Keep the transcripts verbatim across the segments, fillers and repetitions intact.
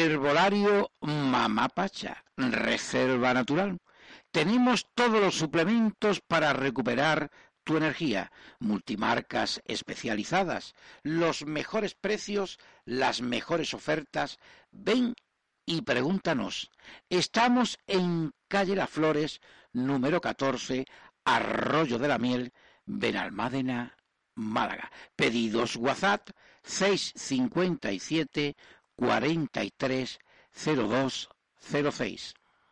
Herbolario Mamá Pacha, reserva natural. Tenemos todos los suplementos para recuperar tu energía, multimarcas especializadas, los mejores precios, las mejores ofertas. Ven y pregúntanos. Estamos en calle Las Flores, número catorce, Arroyo de la Miel, Benalmádena, Málaga. Pedidos WhatsApp seis cinco siete, cuarenta y tres, cero dos cero seis.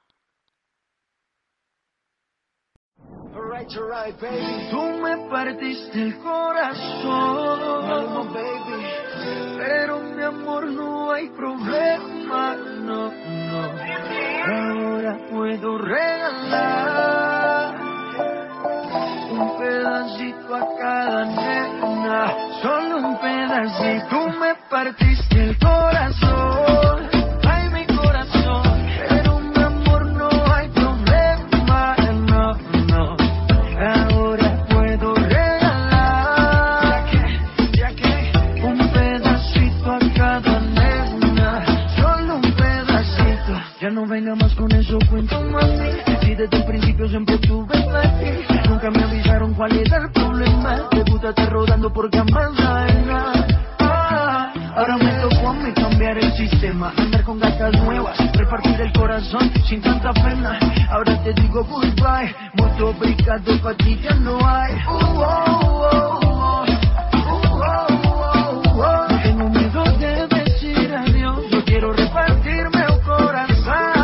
Alright, alright, baby. Tú me partiste el corazón, no, baby. Pero mi amor, no hay problema, no, no. Ahora puedo regalar un pedacito a cada nena, solo un pedacito. Tú me partiste el corazón, ay mi corazón, pero mi amor, no hay problema, no, no. Ahora puedo regalar, ya que un pedacito a cada nena, solo un pedacito. Ya no venga más con eso, cuento mami, si desde el principio siempre tuve ti. Nunca me avisaron cuál era el problema. Te gusta estar rodando por camas ajenas. Ah, ahora me tocó a mí cambiar el sistema, andar con gatas nuevas, repartir el corazón sin tanta pena. Ahora te digo goodbye, mucho obrigado, pa' ti ya no hay. Uh, oh, oh, oh. Uh, oh, oh, oh. No tengo miedo de decir adiós, yo quiero repartirme el corazón.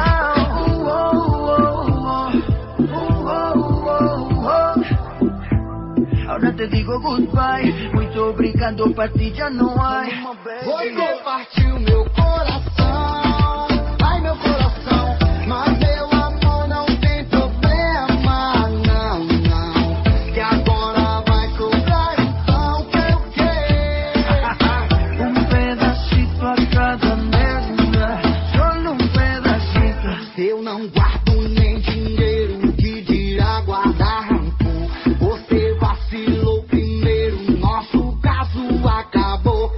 Ahora te digo goodbye, muito obrigado, pra ti já não há. Você partiu meu coração, ai meu coração, mas meu amor não tem problema, não, não. Que agora vai cobrar então, que o quê? Um pedacito a cada nena, só um pedacito. Eu não guardo nem dinheiro, que dirá guardar rancor. Você vacilou primeiro, nosso caso acabou.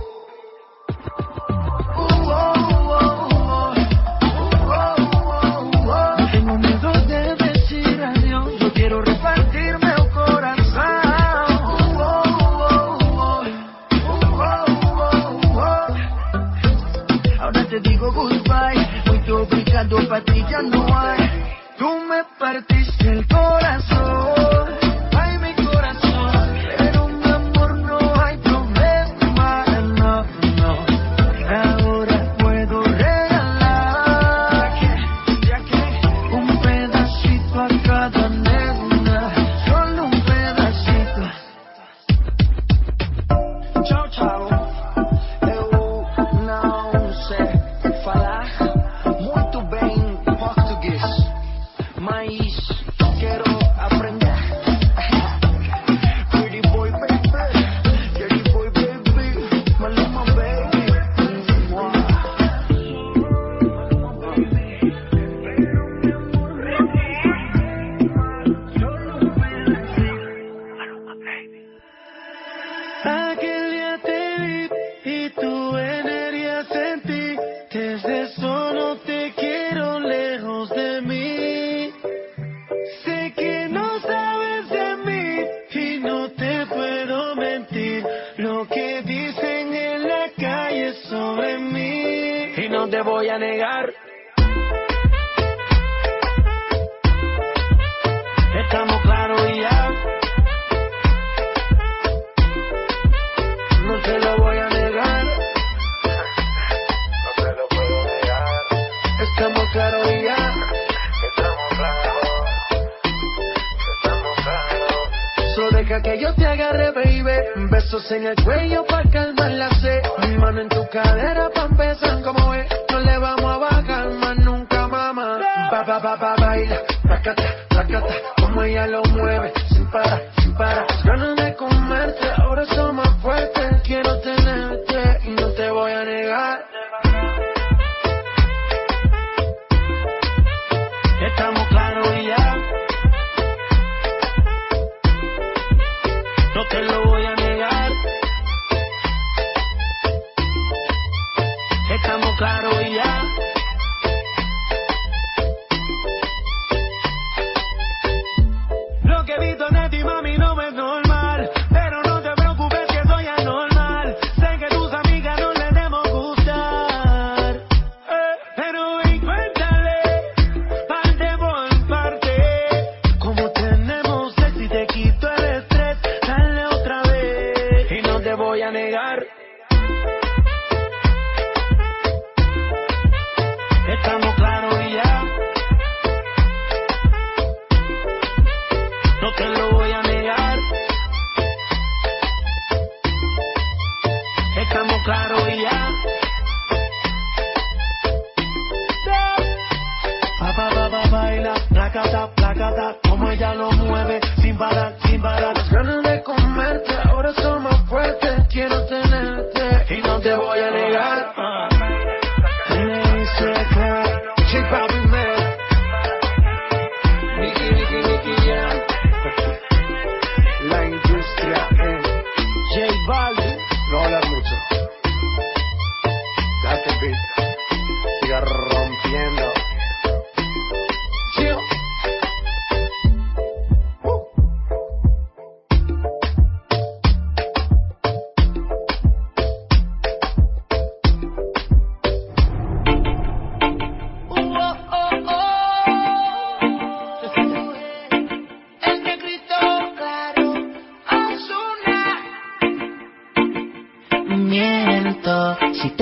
Uh, oh, oh, oh. Uh, oh, oh, oh. No tengo miedo de decir adiós, yo quiero repartir meu corazón. Uh, oh, oh, oh. Uh, oh, oh, oh. Ahora te digo goodbye, muito obrigado, pra ti ya no hay. Tú me partiste el corazón, ay mi corazón, pero mi amor, no hay problema, no, no. Ahora puedo regalar, ya que un pedacito a cada nena, solo un pedacito. Tchau, tchau. Eu não sei falar muito bem português, mas quero aprender. Pretty boy, baby, dirty boy, baby, Maluma, baby. Aquel día te vi y tu energía sentí. Desde eso no te quiero lejos de mí. Sé que no sabes de mí y no te puedo mentir. Lo que dicen en la calle sobre mí, y no te voy a negar. Estamos claros y ya. No te lo voy a negar. No se lo puedo negar. Estamos claros y ya. Estamos claros. Estamos claros. Solo deja que yo te agarre, baby. Besos en el cuello pa' calmar la sed. Mi mano en tu cadera pa' empezar como ve. No le vamos a bajar más nunca, mamá. Pa, pa, pa, pa, baila. Tacata, tacata. Como ella lo mueve. Sin parar, sin parar. Ganas de comerte. Ahora son más fuertes. Quiero tenerte y no te voy a negar. Estamos claros y ya. No te lo voy a negar. Estamos claros y ya.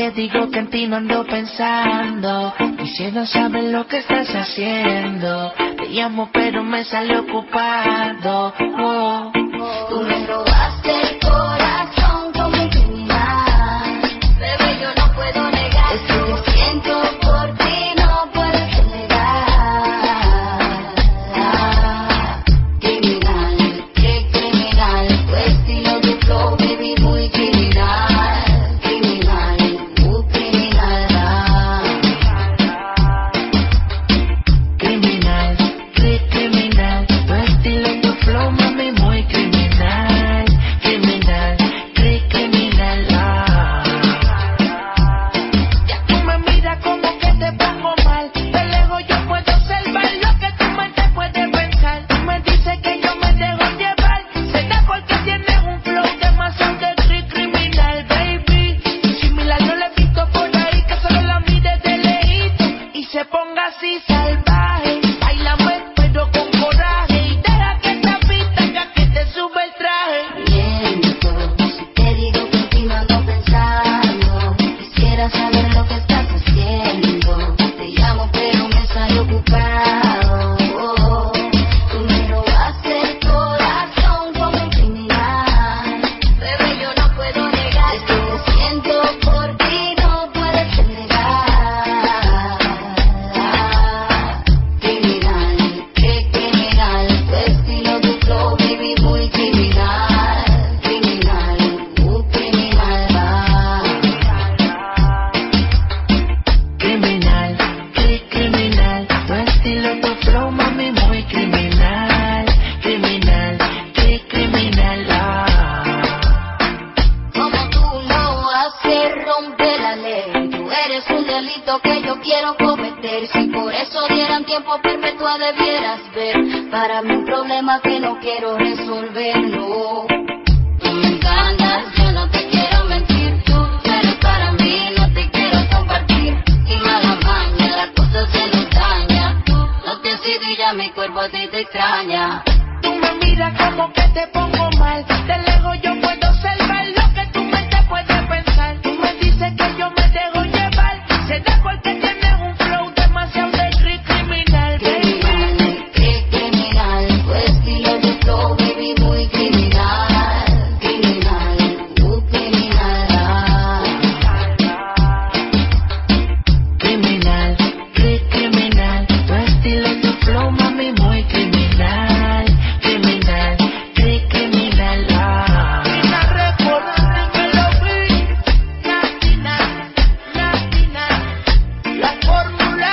te digo que en ti no ando pensando. Quisiera saber lo que estás haciendo. Te llamo pero me sale ocupado. Oh. Tú me robaste el corazón como un criminal. Bebé, yo no puedo negar esto que siento por ti, no puedes negar. Criminal, qué criminal, tu estilo de flow, baby, muy criminal. Criminal, muy criminal. Criminal, qué criminal, tu estilo, tu flow, mami, muy criminal. Criminal, qué criminal. Ah. Ya tú me miras como que te pongo mal. De lejos yo puedo observar lo que tu mente puede pensar. Tú me dices que yo me dejo llevar. Será porque tienes un flow demasiado de cri- criminal, baby. Similar no le he visto por ahí, que solo la mire de lejito y se ponga así salvaje. Bailame pero con coraje y deja que esta pista haga que te sube el traje. Miento, si te digo que en ti no ando pensando. Quisiera saber lo que estás haciendo. Te llamo pero me sale ocupado. Oh, tú me robaste el corazón como un criminal. Bebé, yo no puedo negar esto que siento por ti, no puedes negar. Criminal, qué criminal, tu estilo, tu flow, baby, muy criminal. Criminal, muy criminal. Criminal, qué criminal, tu estilo, tu flow, mami, muy criminal. Criminal, qué criminal. Ah. Como tú lo haces, rompe la ley. Tú eres un delito que yo quiero cometer. Si por eso dieran tiempo perpetua debieras ver. Para mí un problema que no quiero resolver, no. Tú me encantas, yo no te quiero mentir. Tú eres para mí, no te quiero compartir. Y mala maña, la cosa se nos daña. Tú no te has ido y ya mi cuerpo a ti te extraña. Tú me miras como que te pongo mal. De lejos yo puedo observar lo que tu mente puede pensar. Tú me dices que yo me dejo llevar. Será porque tienes un flow demasiado de cri- criminal, baby. Criminal, qué criminal, tu estilo de flow, baby, muy criminal. Criminal, muy criminal. Criminal, qué criminal, tu estilo, tu flow, mami, muy criminal. Criminal, qué criminal. Ah. Latina Record, dímelo, vi. Latina, Latina, la fórmula.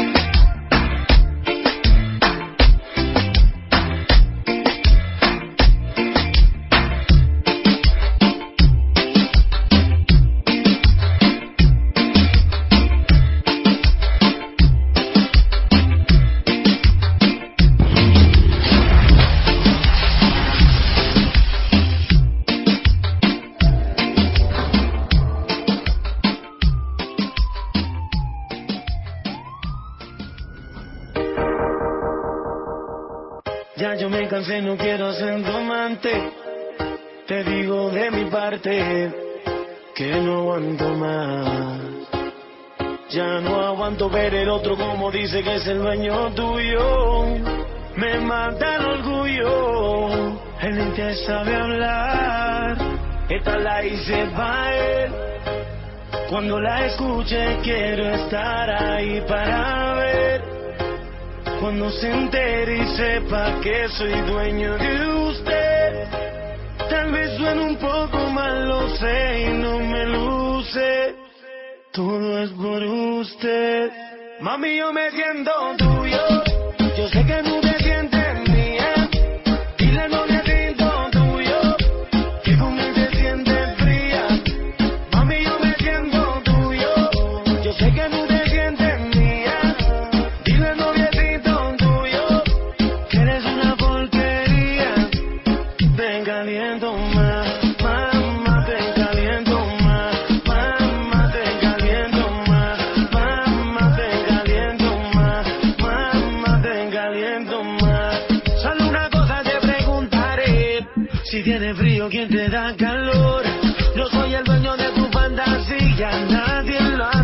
Ya yo me cansé, no quiero ser tu amante. Te digo de mi parte que no aguanto más. Ya no aguanto ver el otro como dice que es el dueño tuyo. Me mata el orgullo. Él ni te sabe hablar. Esta la hice para él. Cuando la escuche quiero estar ahí para ver. Cuando se entere y sepa que soy dueño de usted. Tal vez suene un poco mal, lo sé, y no me luce. Todo es por usted. Mami, yo me siento tuyo. Yo sé que tú te sientes mía. Dile no me siento tuyo, que con él te sientes fría. Mami, yo me siento tuyo. Yo sé que tú te sientes mía. Dile no me siento tuyo, que eres una porquería. Te caliento más, mamá, te caliento más. Mamá, te caliento más. Mamá, te caliento más. Mamá, te caliento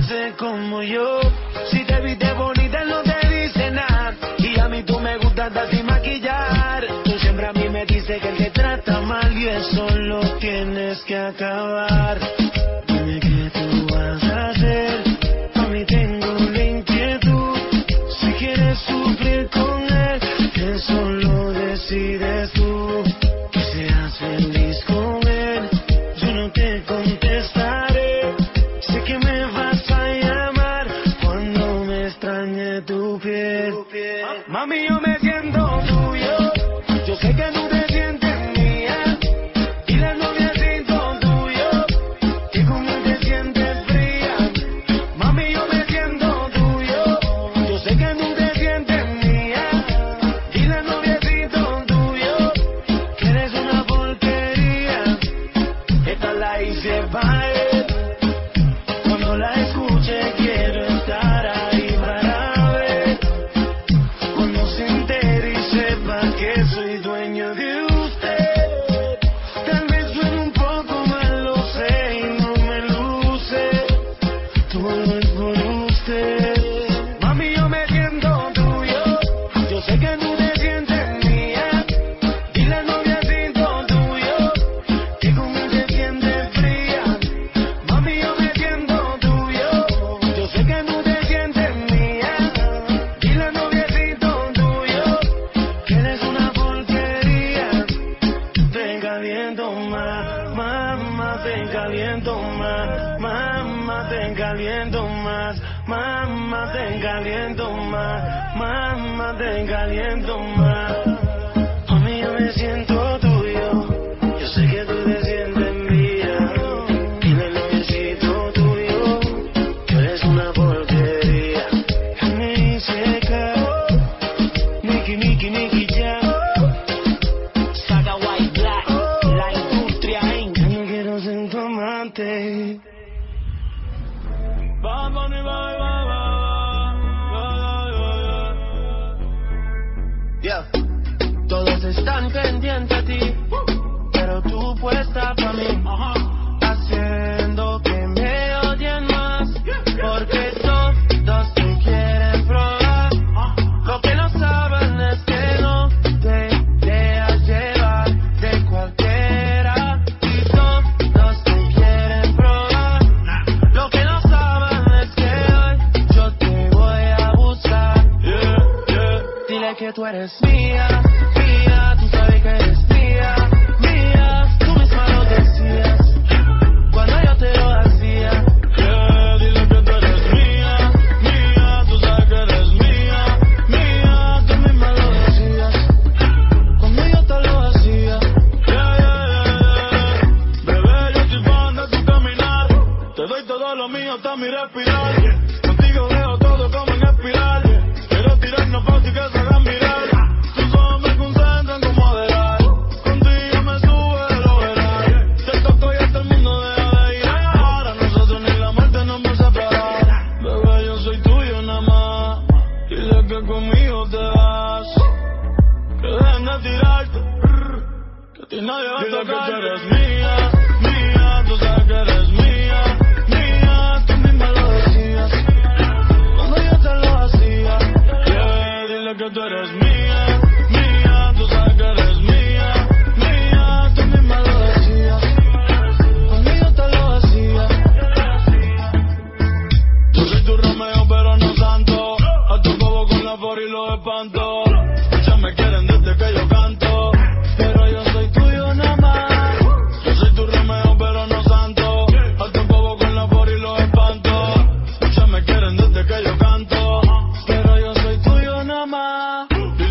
hace como yo. Si te viste bonita no te dice nada. Y a mí tú me gustas hasta sin maquillar. Tú siempre a mí me dices que te trata mal y eso lo tienes que acabar. Dime qué tú vas a hacer. A mí tengo la inquietud. Si quieres sufrir con él, eso lo decides tú. Que seas feliz con él, yo no te contestaré. Sé que me vas a llamar cuando me extrañe tu piel. Mami, yo me siento tuyo. Yo sé que tú te sientes mía. Y la novia siento tuyo. Que conmigo te sientes fría. Mami, yo me siento tuyo. Yo sé que tú te sientes mía. Y la novia siento tuyo. Que eres una porquería. Esta la hice para él. Cuando la escuche quiero estar ahí para ver. Cuando se entere y sepa que soy dueño de usted. Tal vez suene un poco mal, lo sé y no me luce. Todo es por usted. Mami, yo me siento tuyo. Yo sé que tú te sientes mía. Y la novia siento tuyo. Que conmigo te sientes fría. Mami, yo me siento tuyo. Yo sé que tú te sientes mía. Y la novia siento tuyo. Que eres una porquería. Te caliento más, mamá, te caliento más, mamá, te caliento más, mamá, te caliento más, mamá, te caliento más. Mami, yo me siento tuyo. Yo sé que tú te sientes mía. Y la noviecito tuyo. Que eres una porquería. Me seca. Nicky, Nicky, Nicky, ya. Saga White Black, la industria inc. No quiero ser tu amante. Bad Bunny, bye, bye, bye, bye, bye, bye. Yeah. Todos están pendientes a ti, pero tú puesta para mí, haciendo que me odien más, porque todos te quieren probar. Lo que no saben es que no te dejas llevar de cualquiera, y todos te quieren probar. Lo que no saben es que hoy yo te voy a buscar. Dile que tú eres mía, mía, tú sabes que eres mía, mía, tú misma lo decías cuando yo te lo hacía. Yeah, dile que tú eres mía, mía, tú sabes que eres mía, mía, tú misma lo decías cuando yo te lo hacía. Yeah, yeah, yeah, yeah. Bebé, yo soy fan de tu caminar, te doy todo lo mío hasta mi respirar. Contigo veo todo como en espiral. Quiero tirarnos fácil que se hagan mirar. Tus ojos me concentran como adelar. Contigo me sube lo verás. Te toco y hasta el mundo deja de ir. Ahora nosotros ni la muerte nos va a separar. Bebé, yo soy tuyo nada más. Dile que conmigo te vas. Que dejen de tirarte. Que a ti nadie va a tocar. Dile que tú eres mía, mía. Tú sabes que eres mía, mía. Tú misma lo decías cuando yo te lo hacía. Yeah, dile que tú eres mía, mía. Tú sabes que eres mía, mía. Tú misma lo decías cuando yo te lo hacía. Yo soy tu Romeo pero no santo. A tu bobo con la por y los espanto. Muchas me quieren desde que yo canto, pero yo soy tuyo nada más. Yo soy tu Romeo pero no santo. A tu bobo con la por y los espanto. Muchas me quieren desde que yo canto, pero yo soy tuyo nada más.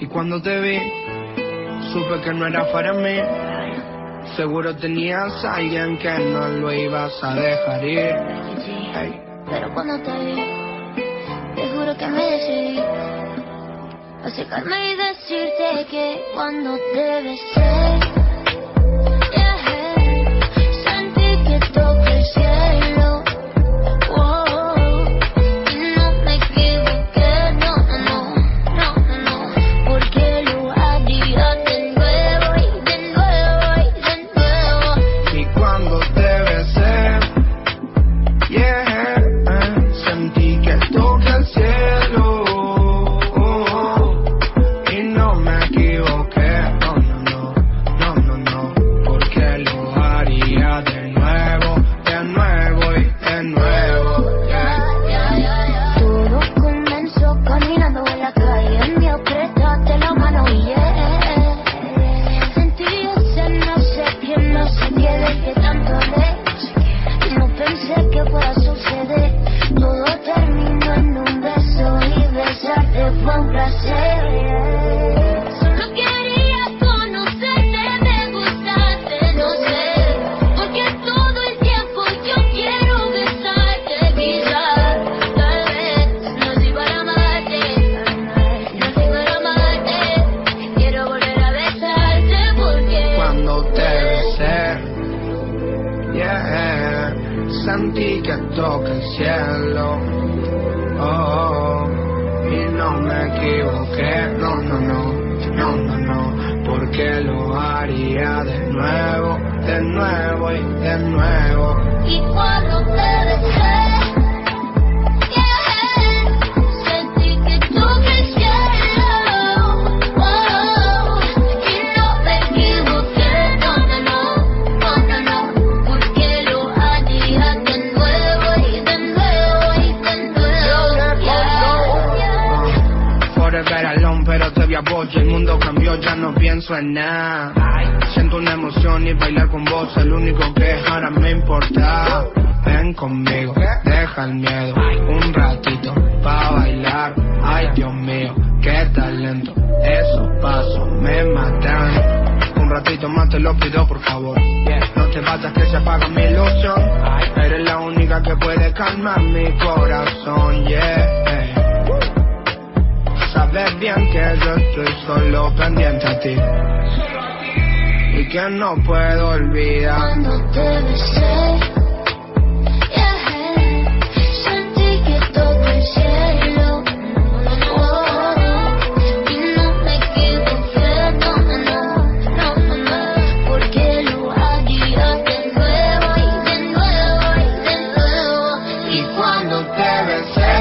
Y cuando te vi, supe que no era para mí. Seguro tenías a alguien que no lo ibas a dejar ir. Hey. Pero cuando te vi, te juro que me decidí a acercarme y decirte que cuando te besé, yeah, sentí que toqué el cielo. Wow, y no me equivoqué, no, no, no, no, no, porque lo haría de nuevo y de nuevo y de nuevo. Y cuando te besé, yeah, sentí que toqué el cielo. Y no me equivoqué, no, no, no, no, no, no, porque lo haría de nuevo, de nuevo y de nuevo, yeah. Todo comenzó caminando en la calle, me apretaste la mano y yeah, sentí ese no sé qué, no sé qué de que tanto hablé. No pensé que fuera a suceder. Todo terminó en un beso y besarte fue un placer. Solo quería conocerte, me gustaste, no sé, porque todo el tiempo yo quiero besarte. Quizás, tal vez, nací para amarte, nací para amarte. Quiero volver a besarte porque Cuando te besé, yeah, sentí que toqué el cielo, oh, y no me equivoqué, no, no, no, no, no, no, porque lo haría de nuevo, de nuevo y de nuevo. y cuando te besé, yeah, sentí que toqué el cielo, oh, y no me equivoqué, no, no, no, no, no, no, porque lo haría de nuevo y de nuevo y de nuevo, yeah, yeah. Forever alone, pero te vi a vos y el mundo cambió, ya no pienso en nada. Siento una emoción y bailar con vos es lo único que ahora me importa. Ven conmigo, deja el miedo, un ratito pa' bailar. Ay Dios mío, qué talento, esos pasos me matan. Un ratito más te lo pido por favor, no te vayas que se apaga mi ilusión. Eres la única que puede calmar mi corazón, yeah. Sabes bien que yo estoy solo pendiente a ti y que no puedo olvidar. Cuando te besé, yeah, sentí que toqué el cielo, oh, y no me equivoqué, no, no, no, no, no, porque lo haría de nuevo y de nuevo y de nuevo. Y cuando te besé,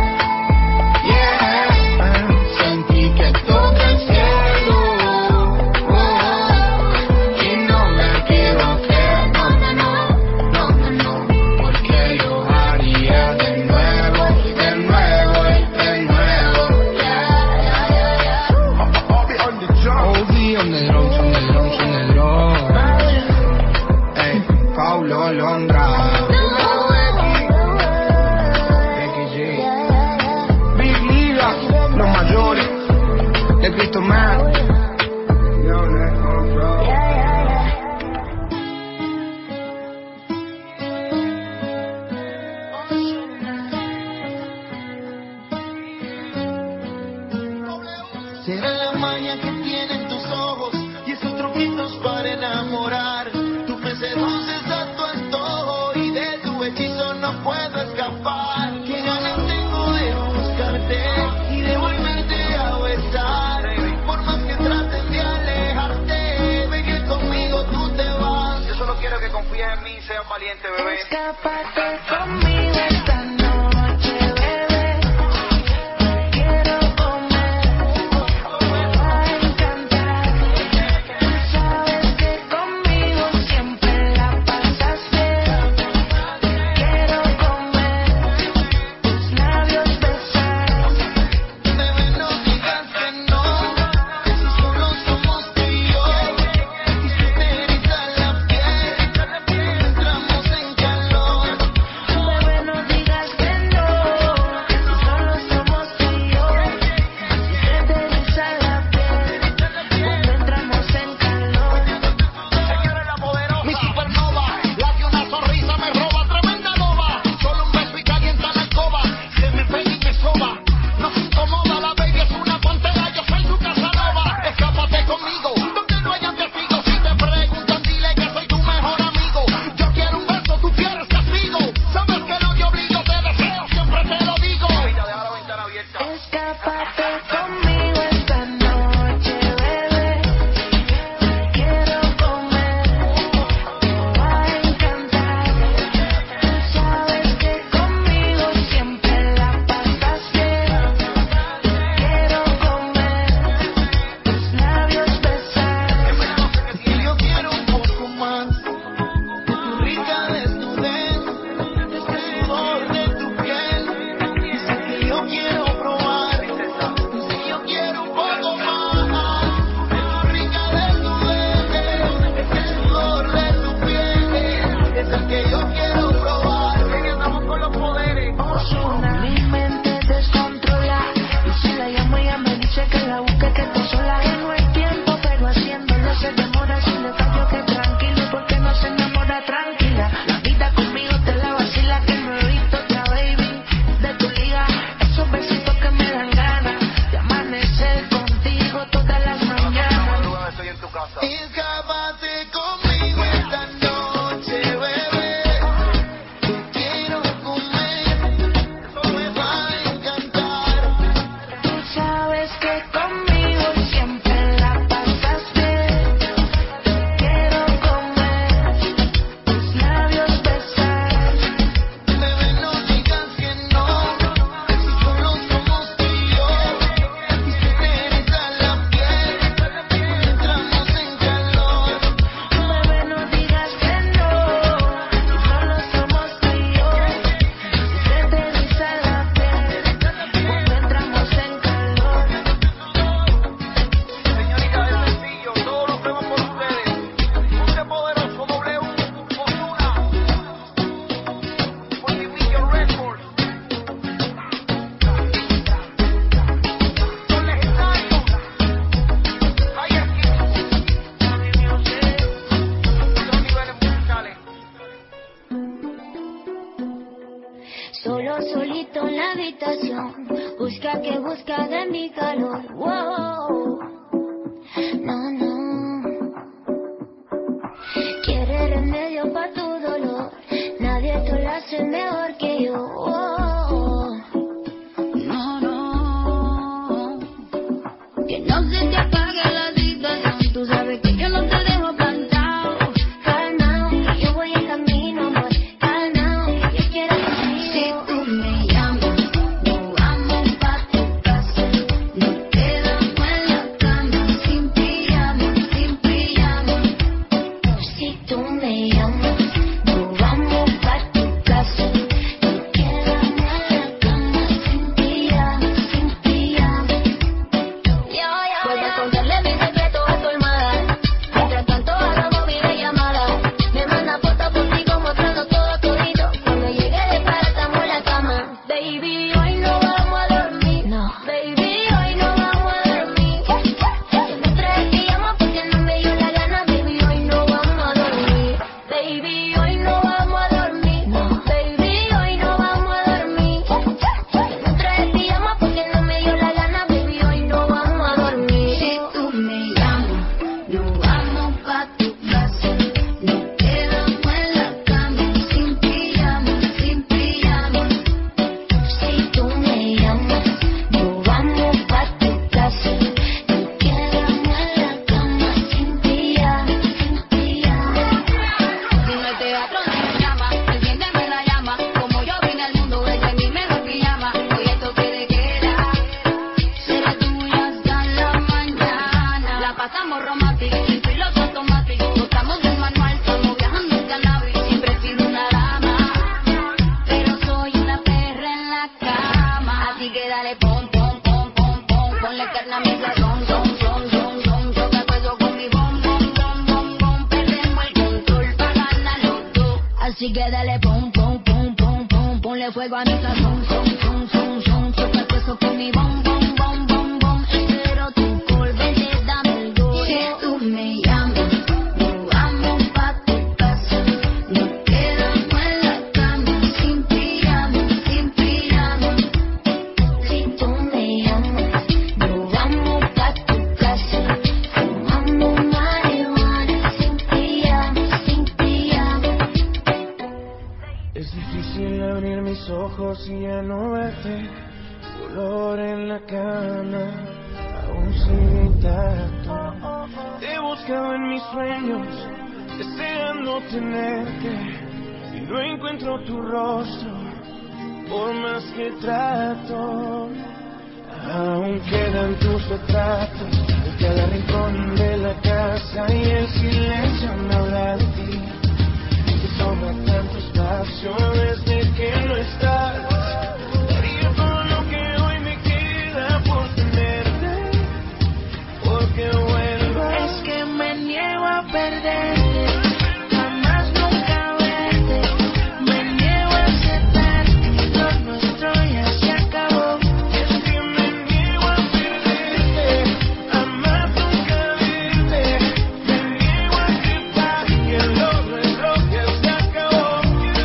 yeah, sentí que toqué el cielo, oh, y no me equivoqué, no, no, no, no, no, no, porque lo haría de nuevo, de nuevo y de nuevo, yeah, yeah, yeah, yeah. I'll be on the drum, on the drums, on the drums, on the drums. Ey, Paulo Londra, Becky G, Big Liga, los mayores, de Cristo Man. Yo, let's go, bro. Será la magia que tienen tus ojos y esos truquitos para enamorar. Tú me seduces a tu antojo y de tu hechizo no puedo escapar. Qué ganas tengo de buscarte y de volverte a besar. Por más que trates de alejarte, ve que conmigo tú te vas. Yo solo quiero que confíes en mí y seas valiente, bebé. Escápate conmigo esta noche, bebé. Te quiero comer, me va a encantar. Tú sabes que conmigo siempre la pasas bien. Te quiero comer, tus labios besar. Bebé, no digas que no, si solo somos tú y yo. Y se me eriza la piel, entramos en calor. Bebé, la que busca de mi calor. Wow. No, no. Quiere remedio pa' tu dolor. Nadie te lo hace mejor que yo. Wow. No, no. Que no se te apague la situación. Tú sabes que yo no te dejo plantado. Calmao, que yo voy en camino, amor. Calmao, que yo quiero contigo. Si tú me llamas, nos vamos pa' tu casa. Nos quedamos en la cama, sin pijama, sin pijama. Si tú me llamas, nos vamos pa' tu casa. Nos quedamos en la cama, sin pijama, sin pijama. Yo, yo, puedes contarle mis secretos a tu hermana. Mientras tanto hagamos videollamada. Me manda fotos contigo mostrando todo todito. Cuando llegue de para estamos en la cama. Baby, hoy no vamos a dormir. No. Baby, hoy no vamos a dormir. Yo me traje pijama porque no me dio la gana. Baby, hoy no vamos a dormir. Baby, hoy no vamos a dormir. No. Baby, hoy no vamos a dormir. Yo me traje pijama porque no me dio la gana. Baby, hoy no vamos a dormir. Si tú me llamas, nos vamos pa' tu casa. Nos quedamos en la cama, sin pijama, sin pijama. Si tú me llamas, nos vamos pa' tu casa. Nos quedamos en la cama, sin pijama, sin pijama. Si no hay teatro, no me llama. Enciéndeme la llama. Como yo vine al mundo, ella es mi mejor pijama. Hoy esto quiere queda. Será tuya hasta la mañana. La pasamos romántico, sin piloto automático. Botamos del manual, estamos viajando en cannabis. Siempre he sido una dama, pero soy una perra en la cama. Así que dale pom, pom, pom, pom, pom. Ponle carne a mi sazón, son, son, son, son. Choca todo con mi bom, bom, bom, bom, bom. Perdemos el control pa' ganar los dos. Así que dale pom, pom, pom, pom, pom. Ponle fuego a mi sazón, son, son, son, son. Choca todo con mi bom, bom, bom, bom, bom. Pero tu colvete, dame el go. Si tú me llamas, nos vamos pa' tu casa. Nos quedamos en la cama, sin pijama, sin pijama. Si tú me llamas, nos vamos pa' tu casa. Fumando marihuana, sin pijama, sin pijama. Es difícil abrir mis ojos y ya no verte. Dolor en la cama, aún sigue intacto. Te he buscado en mis sueños, deseando tenerte, y no encuentro tu rostro, por más que trato. Aún quedan tus retratos en cada rincón de la casa, y el silencio me habla de ti. Te sobra tanto espacio desde que no estás. Daría todo lo que hoy me queda por tenerte, porque vuelvas. Es que me niego a perderte, jamás nunca verte. Me niego a aceptarte, lo nuestro ya se acabó. Es que me niego a perderte, jamás nunca verte. Me niego a aceptar que lo nuestro ya se acabó.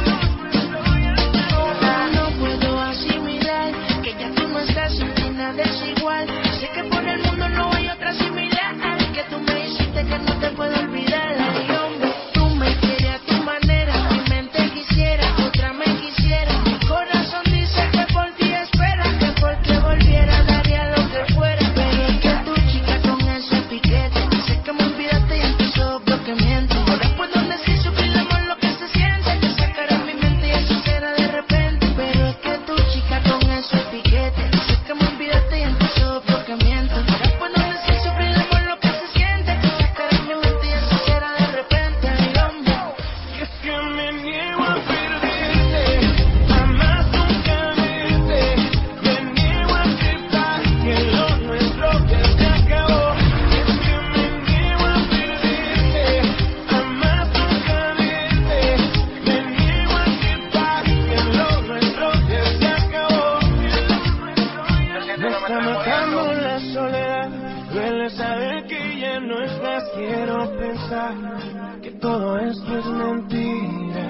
No puedo asimilar que ya tú no estás, sin ti nada es igual. Sé que por el mundo no hay otra similar, que tú me hiciste que no te puedo olvidar. Ay, hombre, tú me quieres a tu manera, mi mente quisiera, otra me quisiera. Mi corazón dice que por ti espera, que por ti volviera daría lo que fuera. Pero es que tu chica con ese piquete, sé que me olvidaste y en tus ojos que miento. Ahora puedo decir sufrir amor lo que se siente, que sacará mi mente y eso será de repente. Pero es que tu chica con ese piquete, sé que me olvidaste y en tus ojos que miento. Ahora puedo decir sufrir amor lo que se siente, que sacará mi mente y eso será de repente. Ay, hombre. Es que me niego a perderte, jamás nunca verte. Me niego a aceptar que lo nuestro ya se acabó. Es que me niego a perderte, jamás nunca verte. Me niego a aceptar que lo nuestro ya se acabó. Me está matando la soledad, duele saber que ya no estás. Quiero pensar que todo esto es mentira.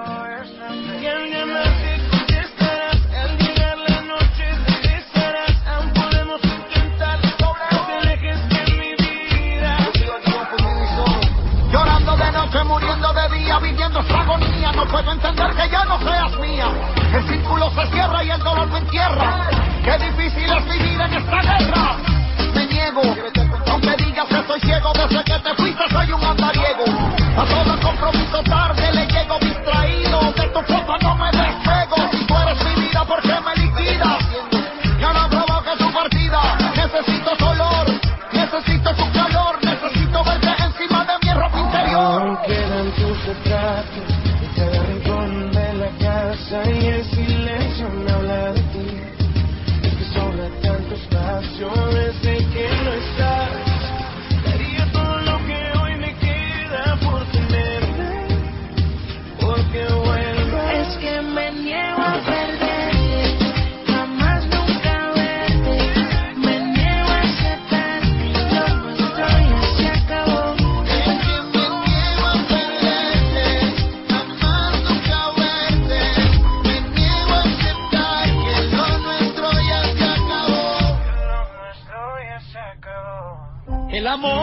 Y al llamarte contestarás, al llegar la noche regresarás a puedo entender que ya no seas mía. El círculo se cierra y el dolor me entierra. Qué difícil es vivir en esta guerra. Me niego, aunque digas que soy ciego, desde que te fuiste soy un andariego. A todo compromiso tarde le llego distraído. De tu foto no me despego. Si tú eres mi vida, ¿por qué me liquidas? Ya no provoque tu partida. Necesito tu olor, necesito tu calor, necesito verte encima de mi ropa interior. Aún quedan tus retratos en cada rincón de la casa y el silencio me habla de ti. Es que sobra tanto espacio desde que no estás. Daría todo lo que hoy me queda por tenerte, porque vuelve. Es que me niego a perderte, jamás nunca verte. Me niego a aceptar lo nuestro ya se acabó. Es que me niego a perderte, jamás nunca verte. Me niego a aceptar que lo nuestro ya se acabó. Lo nuestro ya se acabó. El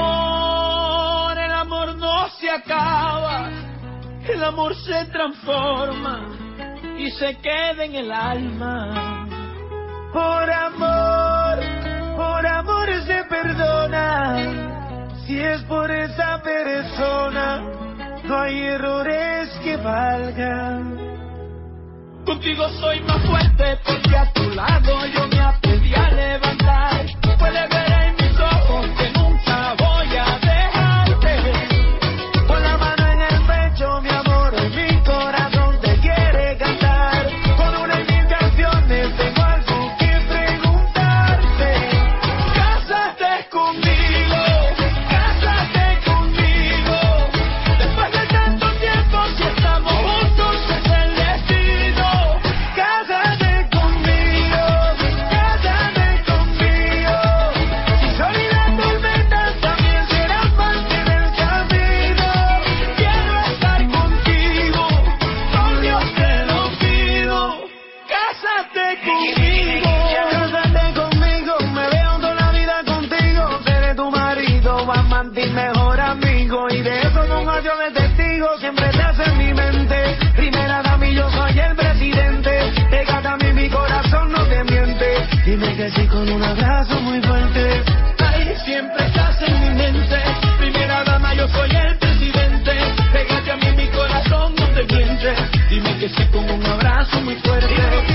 amor, el amor no se acaba, el amor se transforma y se queda en el alma. Por amor, por amor se perdona. Si es por esa persona, no hay errores que valgan. Contigo soy más fuerte porque a tu lado yo me aprendí a levantar. Puedes ver en mis ojos que nunca voy a dejarte. Con la mano en el pecho, mi amor, en mi corazón te quiere cantar. Con una y mil canciones tengo algo que preguntarte. Cásate conmigo, cásate conmigo. Después de tanto tiempo, si estamos juntos es el destino. Cásate conmigo, cásate conmigo. Si sol y la tormenta también serán parte del camino. Quiero estar contigo, con Dios te lo pido. Cásate conmigo. Cásate conmigo, me veo toda la vida contigo. Seré tu marido, amante y mejor amigo. Y de eso no hallo de testigo, siempre estás en mi mente. Primera dama y yo soy el presidente. Pégate a mí, mi corazón no te miente. Dime que sí con un abrazo muy fuerte. Ay, siempre estás en mi mente. Primera dama, yo soy el presidente. Pégate a mí, mi corazón no te miente. Dime que sí con un abrazo muy fuerte.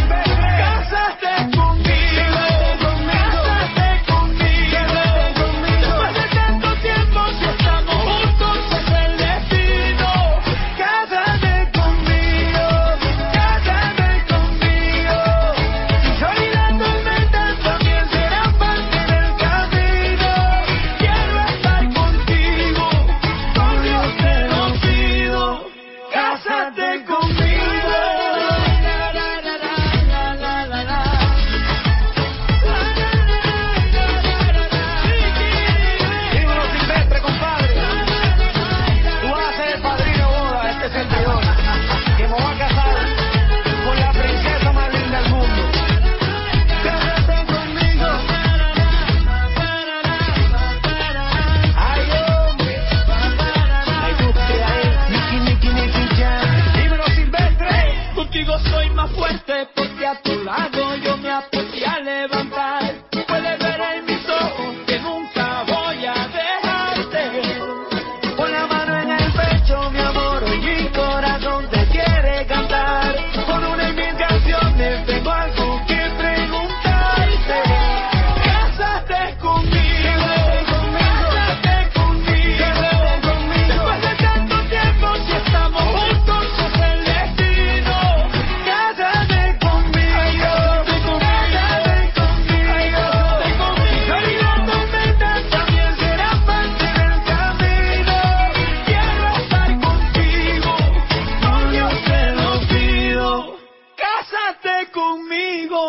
Cásate conmigo, cásate conmigo. Después de tanto tiempo, si estamos juntos es el destino. Cásate conmigo, cásate conmigo. Si sol y la tormenta también serán parte del camino. Quiero estar contigo, con Dios te lo pido. Cásate conmigo. Dímelo Silvestre, compadre. Tú vas a ser el padrino de boda de este servidor, que me va a casar con la princesa más linda del mundo. Cásate conmigo. Ay, hombre. Me gusta ahí. Nicky, Nicky, Nicky Jam. Dímelo Silvestre. Contigo soy más fuerte porque a tu lado yo me aprendí a levantar. Puedes ver en mis ojos que nunca voy a dejarte. Con la mano en el pecho, mi amor, y mi corazón te quiere cantar. Con una y mil canciones tengo algo que preguntarte. Cásate conmigo, cásate conmigo. Después de tanto tiempo, si estamos juntos es el destino. Cásate conmigo, cásate conmigo. Si sol y la tormenta también serán parte del camino. Quiero estar contigo, con Dios te lo pido. Cásate conmigo.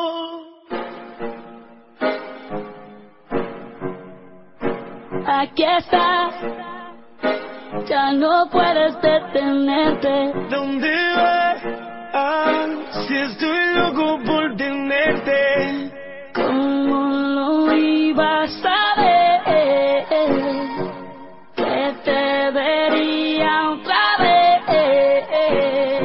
Aquí estás, ya no puedes detenerte. ¿Dónde vas? Ah, si estoy loco por tenerte. ¿Cómo lo ibas a ver? Que te vería otra vez.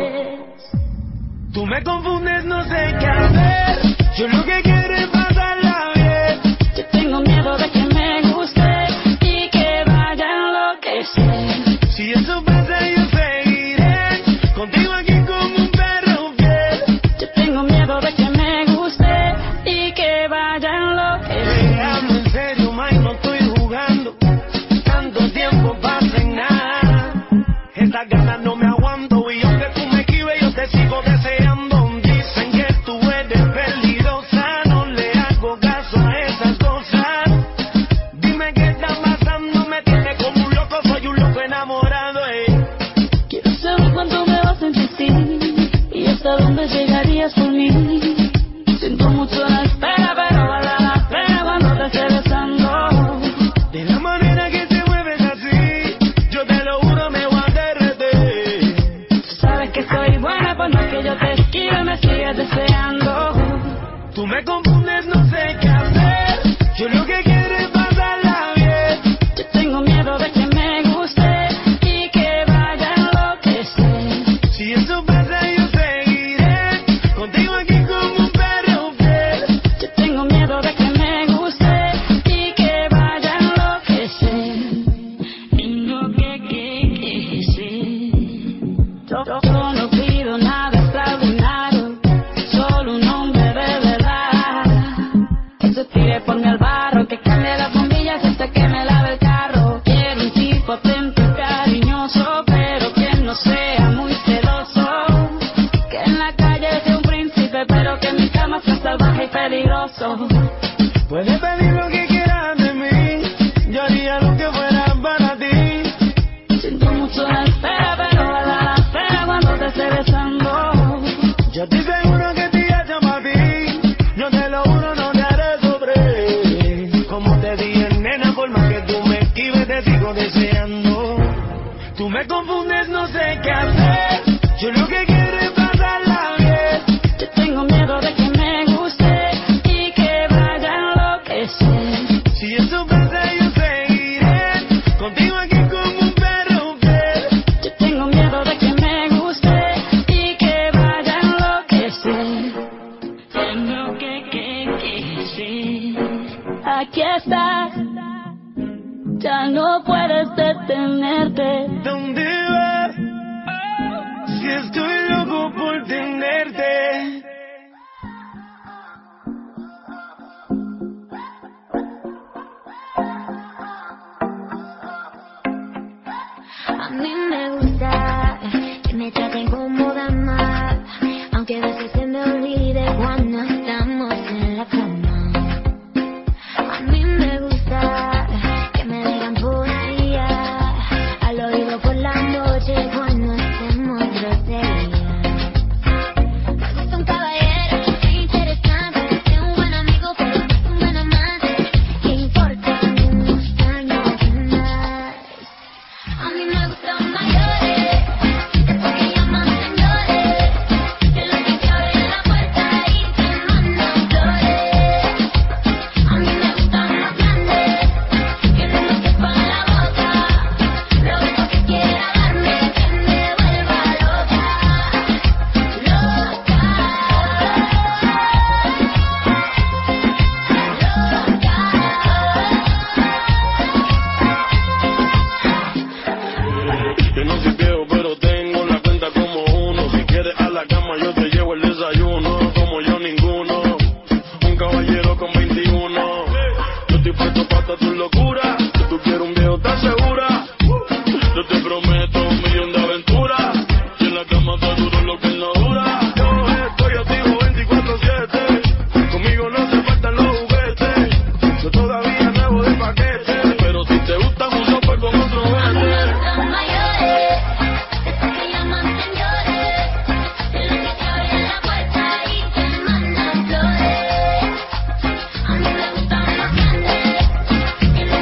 quieres por mí. Siento mucho la espera, pero vale la pena cuando te esté besando. De la manera que te mueves así, yo te lo juro me voy a derretir. Tú sabes que soy buena, por más que yo te esquive, me sigues deseando. Tú me confundes, no sé qué hacer. Yo lo que quiero es pasarla bien. Yo tengo miedo de que me guste y que vaya a enloquecer. Si eso pasa yo seguiré contigo aquí como un perro fiel. Yo tengo miedo de que me guste y que vaya a enloquecer. Y lo que quise. Yo, yo no pido nada extraordinario, solo un hombre de verdad. Que se tire por mi al barro, que cambie las bombillas hasta que me lave el carro. Quiero un tipo atento y cariñoso, pero que no sea muy celoso. Que en la calle sea un príncipe, pero que en mi cama sea salvaje y peligroso. Puedes pedir lo que quieras de mí, yo haría lo que fuera para ti. Siento mucho la espera, pero vale la pena cuando te esté besando. Yo estoy seguro que te llamo a ti, yo te lo juro no te haré sobre. Como te dije nena, por más que tú me esquives te sigo deseando. Tú me confundes, no sé qué hacer, yo lo que quiero es pasarla bien. Yo tengo miedo de que me guste y que vaya a enloquecer. Si eso pasa yo seguiré contigo aquí como un perro fiel. Yo tengo miedo de que me guste y que vaya a enloquecer. Tengo que, que, que, sí. Aquí estás, ya no puedes detenerte. ¿Dónde vas? Si estoy loco por tenerte. A mí me gusta que me traten como dama, aunque a veces se me olvide cuando estamos en la cama. A mí me gusta que me digan poesía al oído por la noche cuando estemos grosería. Me gusta un caballero que sea interesante, que sea un buen amigo pero que sea un buen amante, que importa unos años más. A mí me gustan mayores, después que llaman señores, que los que te abren la puerta y te mandan flores. A mí me gustan más grandes, que no me sepan la boca, lo único que quiera darme que me vuelva loca, loca, Yo no soy viejo, pero tengo la cuenta como uno. Si quieres a la cama, yo te llevo el desayuno. Como yo ninguno, un caballero con veintiuno. Yo estoy puesto para tu locura. Si tú quieres un viejo, ¿estás segura? Yo te prometo un millón de aventuras. Y en la cama te duro lo que él no dura. Yo estoy activo veinticuatro siete. Conmigo no te faltan los juguetes. Yo todavía nuevo de paquete. Pero si te gusta mucho, pues con otro a mí me vete. gustan mayores, después que llaman señores, que los que te abren la puerta y te mandan flores. A mí me gustan más grandes, que no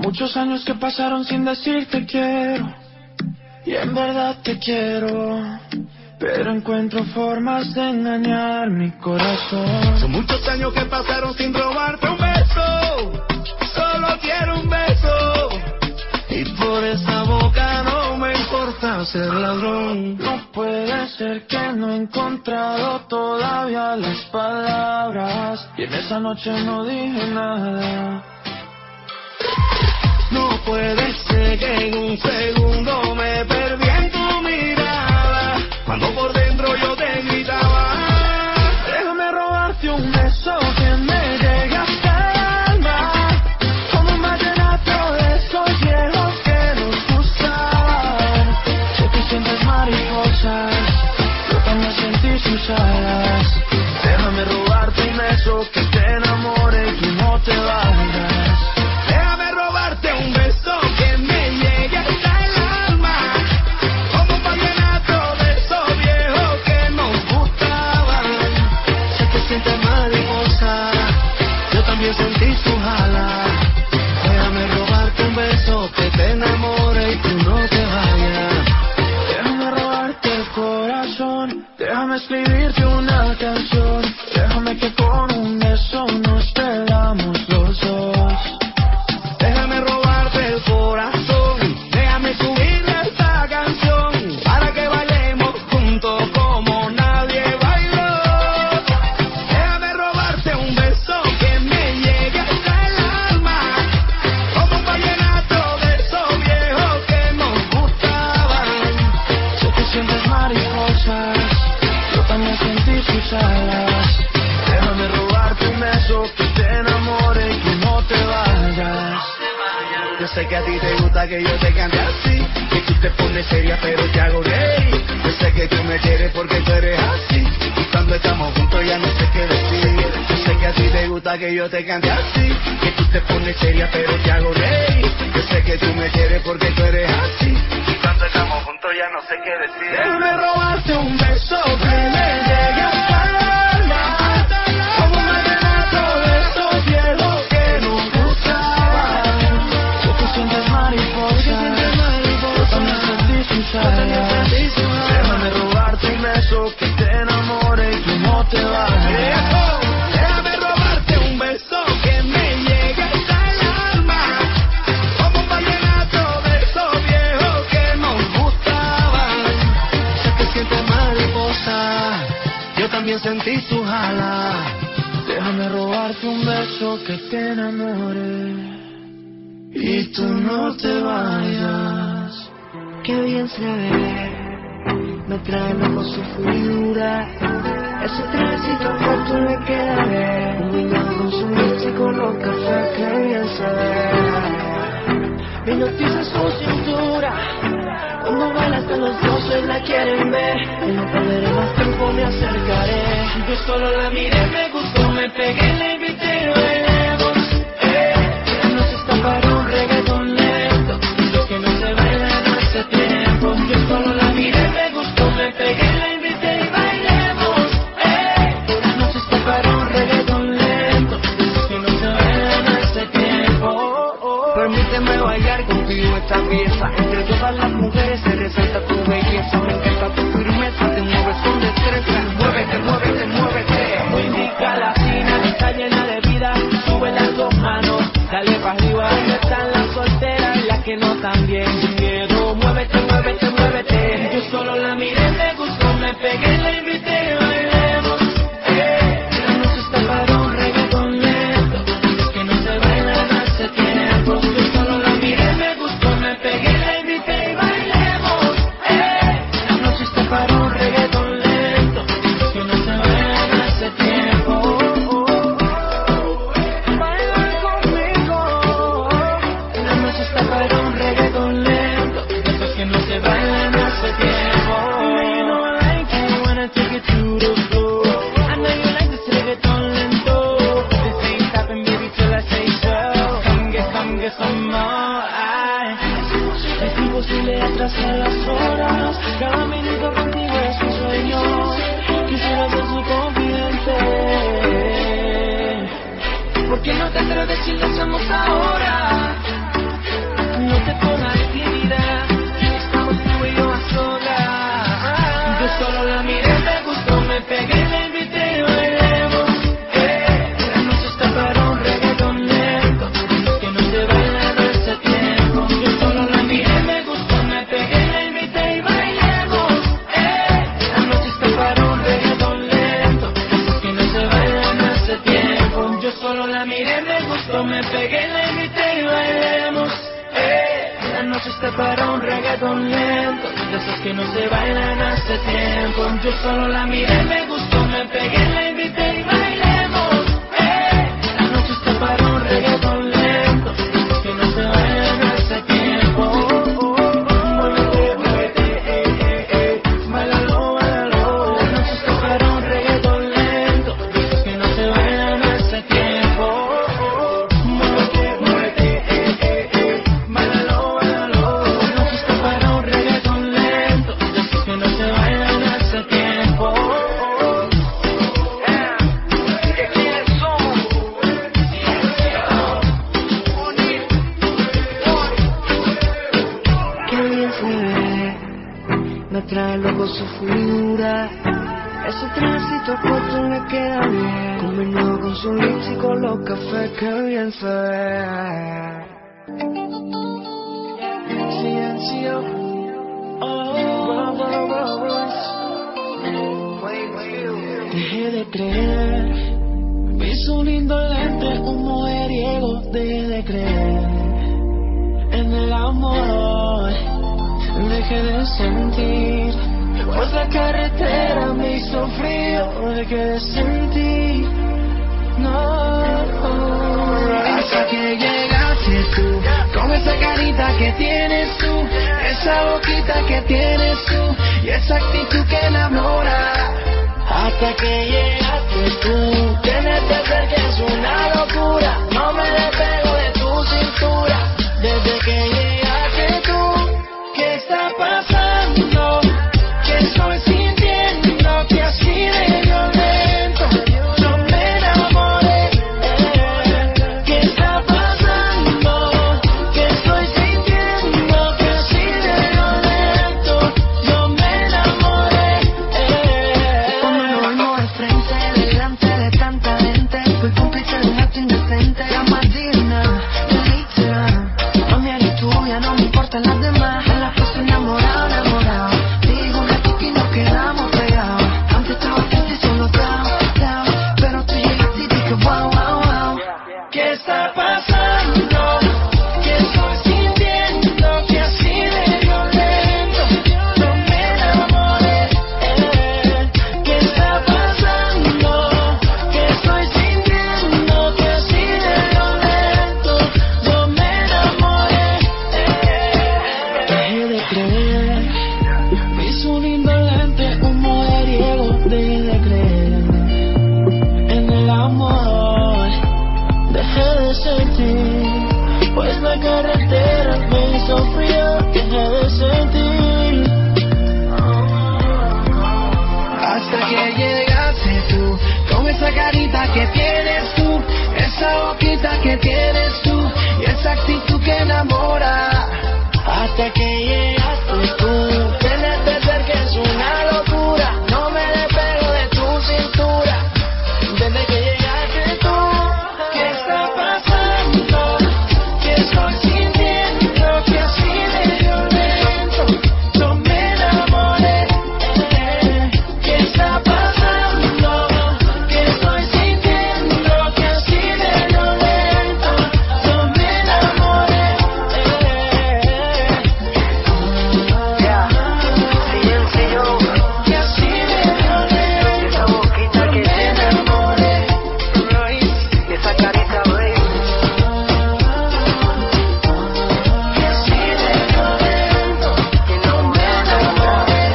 Muchos años que pasaron sin decirte quiero, y en verdad te quiero, pero encuentro formas de engañar mi corazón. Son muchos años que pasaron sin robarte un beso, solo quiero un beso, y por esa boca no me importa ser ladrón. No puede ser que no he encontrado todavía las palabras, y en esa noche no dije nada. No puede ser que en un segundo me perdí en tu mirada, cuando por dentro yo te gritaba. Déjame robarte un beso que me llegue hasta el alma, como un vallenato de esos viejos que nos gustaban. Sé que sientes mariposas, yo también sentí sus alas. Déjame robarte un beso que te enamore y que no te vayas. Sentí su jala. Déjame robarte un beso que te enamore y tú no te vayas. Déjame robarte el corazón, déjame escribirte una canción. Déjame que con un beso nos perdamos los dos. Déjame robarte el corazón, déjame subirle esta canción, para que bailemos juntos como nadie bailó. Déjame robarte un beso que me alas. Déjame robarte un beso que te enamore y que no te vayas. Yo sé que a ti te gusta que yo te cante así, que tú te pones seria pero te hago reír. Yo sé que tú me quieres porque tú eres así, y cuando estamos juntos ya no sé qué decir. Yo sé que a ti te gusta que yo te cante así, que tú te pones seria pero te hago reír. Yo sé que tú me quieres porque tú eres así, y cuando estamos juntos ya no sé qué decir. Déjame robarte un beso que me llegue hasta el alma, como un vallenato de esos viejos que nos gustaban. Sé que sientes mariposas, yo también sentí sus alas. Déjame robarte un beso que te enamore y que no te vayas. Déjame robarte un beso que me llegue hasta el alma, como un vallenato de esos viejos que nos gustaban. Sé que sientes mariposa, yo también sentí su jala. Déjame robarte un beso que te enamore y tú no te vayas. Qué bien se ve, me trae loco su figura. Ese trajecito corto le queda bien, combinado con su leche y con los cafés, qué bien se ve. Me hipnotiza su cintura, cuando baila hasta los doce la quieren ver. Y no perderé más tiempo, me acercaré. Yo solo la miré, me gustó, me pegué, la invité, bailemos. Eh, la noche está para un reggaetón lento, lo que no se baila en hace tiempo. Yo solo la miré, me gustó, me pegué, la invité y bailemos. Eh, la noche está para un reggaetón lento, lo que no se baila en hace tiempo. Oh, oh. Permíteme bailar contigo esta pieza, entre todas las mujeres se resalta tu belleza. Me encanta tu firmeza, te mueves con destreza. Muévete, muévete, muévete. Muy rica la cena, está llena de vida. Sube las dos manos, dale para arriba. ¿Dónde están las solteras y las que no están bien? Sin miedo, muévete, muévete, muévete. Yo solo la miré, me gustó, me pegué, la invité, bailemos. Eh, la noche está para un reggaetón lento, lo que no se baila hace tiempo. Yo solo la miré, me gustó, me pegué, la invité y bailemos. Eh, la noche está para un reggaetón lento, lo que no se baila hace tiempo. Oh, oh, oh. Baila conmigo. La noche está para un reggaetón lento, esos que no se bailan hace tiempo. You know I like you when I take it to the floor. I know you like this reggaetón lento. This ain't stopping, baby, till I say so. Come get, come get some more. Ay, es imposible atrasar las horas. Cada minuto contigo es un sueño. Quisiera ser su confidente. ¿Por qué no te atreves si lo hacemos ahora? verte por la intimidad. Estamos tú y yo a solas. Yo solo la miré, me gustó, me pegué, la invité y bailemos. Eh, la noche está para un reggaetón lento, que no se baila en ese tiempo. Yo solo la miré, me gustó, me pegué, la invité y bailemos. Eh, la noche está para un reggaetón lento, que no se baila en ese tiempo. Yo solo la miré, me gustó, me pegué, la invité y bailemos. Eh, la noche está para un reggaetón lento, de esos que no se bailan hace tiempo. Yo solo la miré, me gustó, me pegué, la invité y bailemos. Eh, la noche está para un reggaetón lento, que no se bailan hace tiempo. Muévete, muévete, eh, eh, eh, bailalo, bailalo. La noche está para un reggaetón lento, de esos que no se bailan hace tiempo. Muévete, muévete, eh, eh, eh, bailalo, bailalo. La noche está para un reggaetón lento, de esos que no se bailan hace tiempo. ¿De quiénes somos? Qué bien se ve, me trae loco su figura. Ese trajecito corto le queda bien, combinado con su lips y con los cafés, qué bien se ve. Silencio, oh, oh, oh, oh. Dejé de creer, vi su lindo lente, un mujeriego. Dejé de creer en el amor, dejé de sentir, pues la carretera me hizo frío. Dejé de sentir, no, hasta que llegaste tú, con esa carita que tienes tú, esa boquita que tienes tú, y esa actitud que enamora. Hasta que llegaste tú, tenerte cerca es una locura, no me despego de tu cintura. Desde que llegaste tú, ¿qué está pasando? ¿Qué estoy sintiendo? Que así de violento yo me enamoré. ¿Qué está pasando? ¿Qué estoy sintiendo? Que así de violento yo me enamoré. Cuando nos vimos de frente, delante de tanta gente, fui cómplice de un acto indecente. La más digna, delita, no mía ni tuya, no me importan las demás. En la cosa enamorado, enamorado, digo un ratito y nos quedamos pegados. Antes estaba triste y solo down, down, pero tú llegaste y dije wow, wow, wow. ¿Qué está pasando? ¿Qué estoy sintiendo? Que así de violento yo me enamoré. ¿Qué está pasando? ¿Qué estoy sintiendo? Que así de violento yo me enamoré. Dejé de creer, vi su lindo lente, un mujeriego. Dejé de creer en el amor, dejé de sentir, pues la carretera me hizo frío. Dejé de sentir, hasta que llegaste tú, con esa carita que tienes tú, esa boquita que tienes tú, y esa actitud que enamora. Hasta que llegaste tú, tenerte cerca es una locura, no me despego de tu cintura. Desde que llegaste tú, ¿qué está pasando? ¿Qué estoy sintiendo? Que así de violento yo me enamoré. ¿Qué está pasando? ¿Qué estoy sintiendo? Que así de violento yo me enamoré. Yeah, silencio, que así de violento esa boquita que me enamoré. Y esa carita, baby, que así de violento que no me enamoré.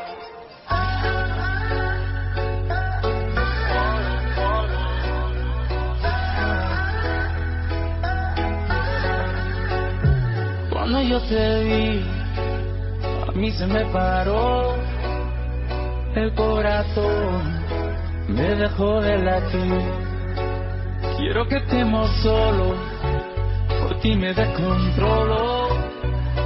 Cuando yo te vi, a mí se me paró el corazón, me dejó de latir. Quiero que estemos solos, por ti me descontrolo.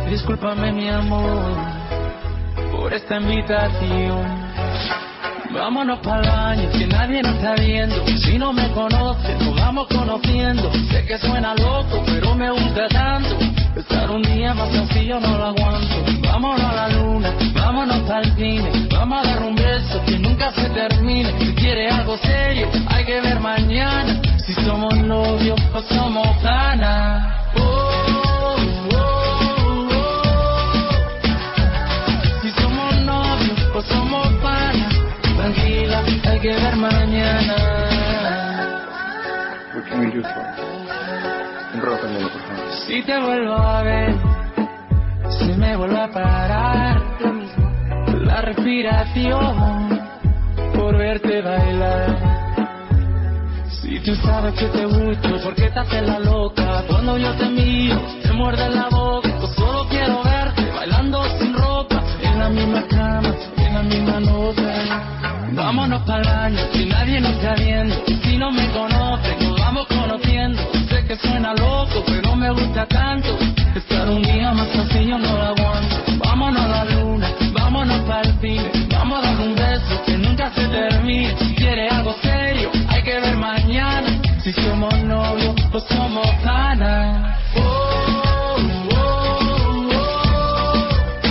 Discúlpame mi amor por esta invitación. Vámonos para el baño, que nadie nos está viendo. Si no me conoces, nos vamos conociendo. Sé que suena loco, pero me gusta tanto. Estar un día más sencillo no lo aguanto. Vámonos a la luna, vámonos para el cine. Vamos a dar un beso que nunca se termine. Si quieres algo serio, hay que ver mañana. Si somos novios o somos panas. Oh, oh, oh, oh. Si somos novios o somos panas. Tranquila, hay que ver mañana. What can we do for you? Enrójame, por favor. Si te vuelvo a ver, si me vuelve a parar lo mismo, la respiración por verte bailar. Si tú sabes que te gusto, ¿por qué te haces la loca? Cuando yo te miro, te muerde la boca. Yo solo quiero verte bailando sin ropa, en la misma cama, en la misma nota. Vámonos para el baño, que nadie nos está viendo. Si no me conoces, nos vamos conociendo. Sé que suena loco, pero me gusta tanto. Estar un día más así yo no lo aguanto. Vámonos a la luna, vámonos para el cine. Vamos a dar un beso que nunca se termine. Si quieres algo serio, hay que ver mañana. Si somos novios o somos panas. Oh, oh, oh, oh.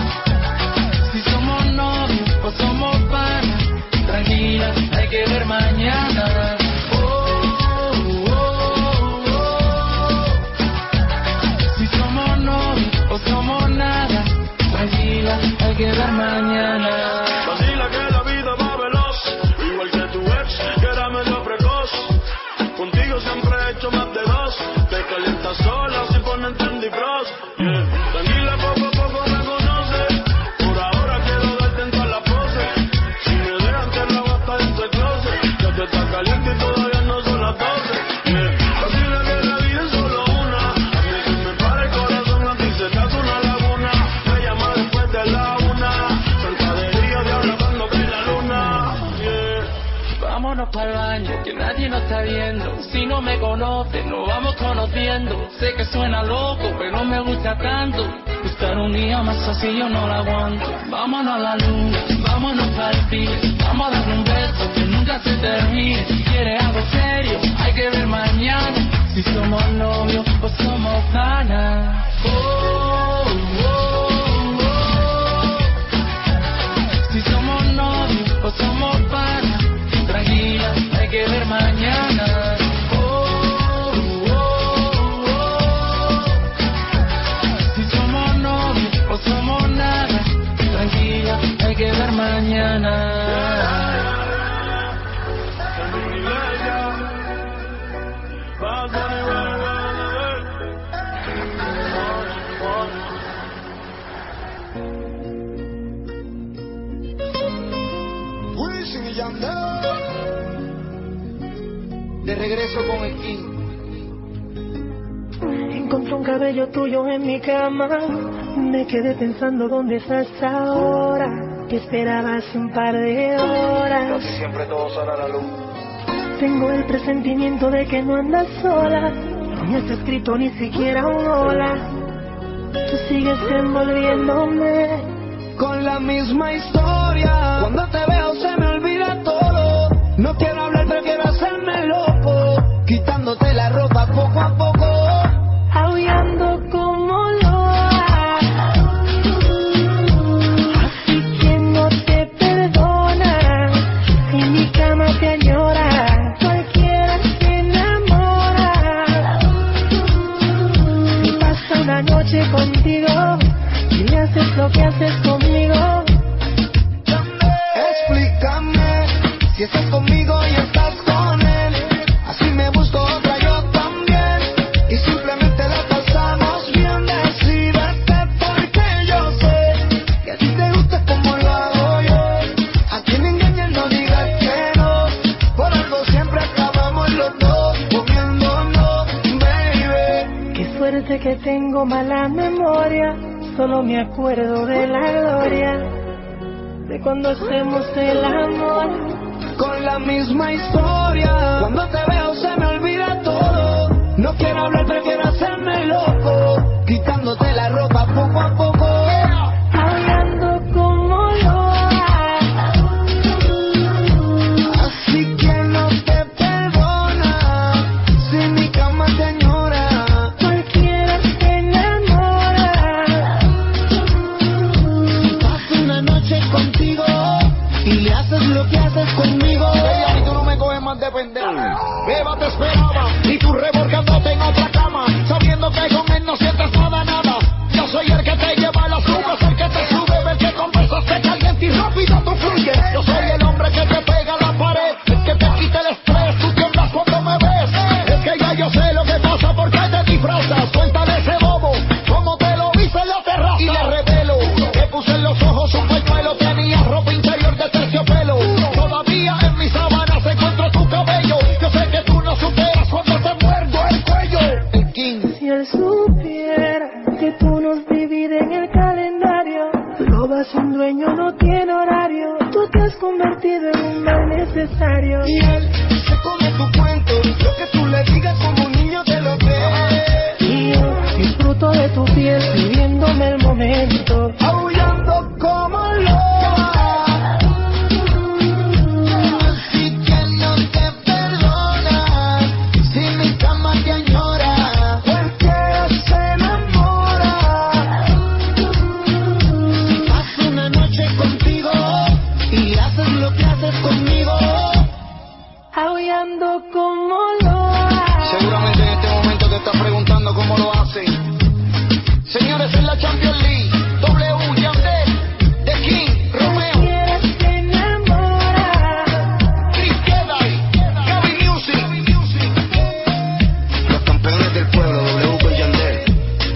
Si somos novios o somos panas. Tranquila, hay que ver mañana. Oh, oh, oh, oh. Si somos novios o somos nada. Tranquila, hay que ver mañana. Vacila que la vida va veloz, igual que tu ex, que era medio precoz. Contigo siempre he hecho más de dos. Te calientas sola sin ponerte en defrost. Yeah. Tranquila, poco a poco me conoces. Por ahora quiero darte en todas las poses. Si me dejan te la basta dentro del closet. Ya te está caliente y todavía no son las doce. Yeah. Vacila que la vida es solo una. A mí se me para el corazón, a ti se te hace una laguna. Me llama después de la una. Zancadería de ahora cuando cae la luna. Yeah. Vámonos para el baño, que nadie nos está viendo. Si no me conoces, nos vamos conociendo. Sé que suena loco, pero me gusta tanto. Estar un día más así yo no lo aguanto. Vámonos a la luna, vámonos para el cine. Vamos a dar un beso que nunca se termine. Si quieres algo serio, hay que ver mañana. Si somos novios o somos panas. Oh, oh, oh, oh. Si somos novios o somos panas. Tranquila, hay que ver mañana. Oh, oh, oh, oh. Si somos novios o somos nada. Tranquila, hay que ver mañana. De regreso con el King. Encontré un cabello tuyo en mi cama. Me quedé pensando dónde estás ahora. Que esperabas un par de horas. Casi siempre todo sale a la luz. Tengo el presentimiento de que no andas sola. No está escrito ni siquiera un hola. Tú sigues envolviéndome con la misma historia. Cuando te veo se me olvida todo. No quiero hablar, prefiero hacerme loco. Quitándote la ropa poco a poco. Aullando como loa. Así que no te perdona. En mi cama te añora. Cualquiera se enamora. Si pasa una noche contigo y haces lo que haces conmigo. Explícame si estás conmigo y estás con él. Así me busco otra yo también. Y simplemente la pasamos bien. Decídete porque yo sé que a ti te gusta como lo hago yo. A quien engañes no digas que no. Por algo siempre acabamos los dos comiéndonos, baby. Qué suerte que tengo mala memoria. Solo me acuerdo de la gloria de cuando hacemos el amor. Con la misma historia. Cuando te veo se me olvida todo. No quiero hablar, prefiero hacerme loco. Quitándote la ropa poco a poco. pasa? ¿Por qué te disfrazas? Cuéntale ese bobo, cómo te lo hice en la terraza. Y le revelo, te puse en los ojos un pañuelo, tenía ropa interior de terciopelo. Todavía en mis sábanas encuentro tu cabello. Yo sé que tú no superas cuando te muerdo el cuello. El King. Si él supiera que tú nos divides en el calendario, tú robas un dueño, no tiene horario. Tú te has convertido en un mal necesario. Y él se come tu cuento, lo que tú le digas como un niño te lo cree. Y yo disfruto de tu piel, viviéndome el momento, aullando como loba. Así que no te perdona si mi cama te añora. Cualquiera se enamora. Si paso una noche contigo y haces lo que haces conmigo, aullando como loba. Seguramente en este momento te estás preguntando cómo lo hacen. Señores, en la Champions League, W, Yandel, The King, Romeo, Cualquiera se enamora. Chris Kedai, Gaby Music, los campeones del pueblo, W con Yandel.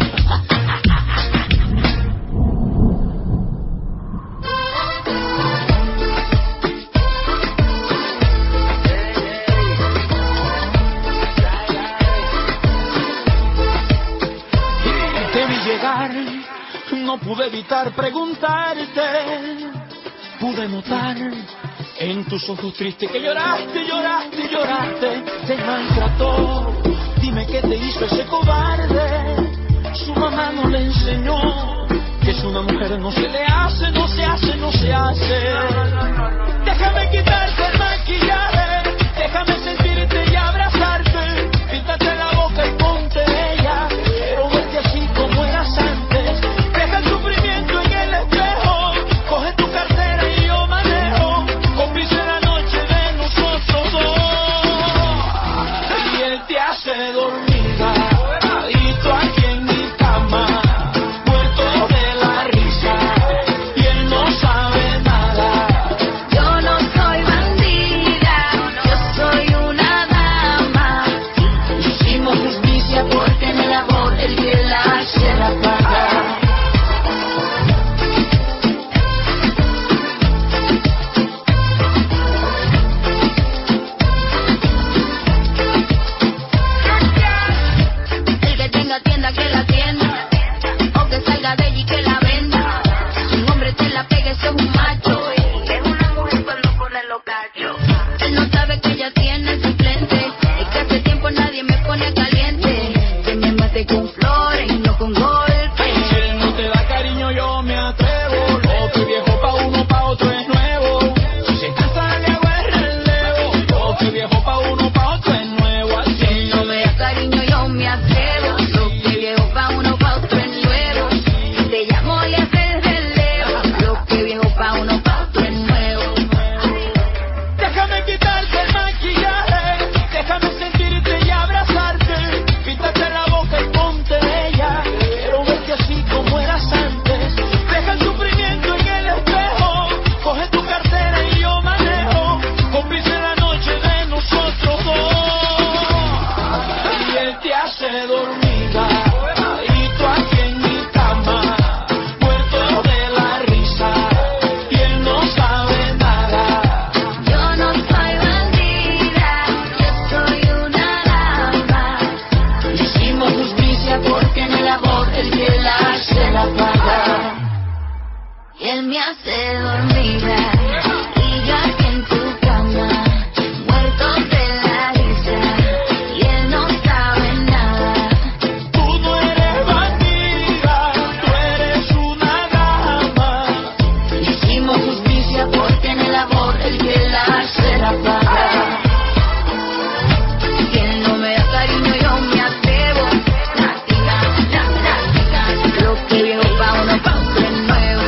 Te vi llegar, no pude evitar preguntarte. Pude notar en tus ojos tristes que lloraste, lloraste, lloraste. Te maltrató, dime qué te hizo ese cobarde. Su mamá no le enseñó que es una mujer, no se le hace, no se hace, no se hace. Déjame quitarte el maquillaje, déjame sentirte y abrazarte. Píntate la boca y ponte ella. Quiero verte así como eras antes. Deja el sufrimiento en el espejo. Coge tu cartera y yo manejo. Cómplice la noche de nosotros dos. Y él te hace dormida, adicto aquí en mi cama, muerto de la risa. Y él no sabe nada. Yo no soy bandida, yo soy una dama. Hicimos justicia porque en el amor el que la hace la paga. El que tenga tienda que la tienda, o que salga de allí que la venda. Si un hombre te la pega, ese es un macho. Y es una mujer solo con el locacho. Él no sabe que ella tiene suplente. Es que hace tiempo nadie me pone caliente. Que me mate con flores y no con golpes. Si él no te da cariño yo me atrevo. Lo que viejo pa' uno, pa' otro es nuevo. Si se cansa le hago el relevo. Lo que viejo pa' uno, pa' otro es nuevo. Si él no me da cariño yo me atrevo. Lo que viejo pa' uno, pa' otro es nuevo. Si te llamo le haces el relevo. Lo que viejo pa' uno, pa' otro es nuevo. Déjame quitarte el maquillaje, déjame sentirte y abrazarte. Píntate la boca y ponte ella. Quiero verte así como eras antes. Deja el sufrimiento en el espejo. Coge tu cartera y yo manejo. Cómplice la noche de nosotros dos. Y él te hace dormida, adicto aquí en mi cama, muerto de la risa. Y él no sabe nada. Yo no soy bandida, yo soy una dama. Hicimos justicia porque en el amor el que la hace la paga. Y él me hace dormida. Y yo aquí en tu cama, muerto de la risa. Y él no sabe nada. Tú no eres bandida, tú eres una dama. Hicimos justicia porque en el amor el que la hace la paga. Si él no me da cariño yo me atrevo. Nática, nática, lo que viejo pa' uno, pa' otro es nuevo.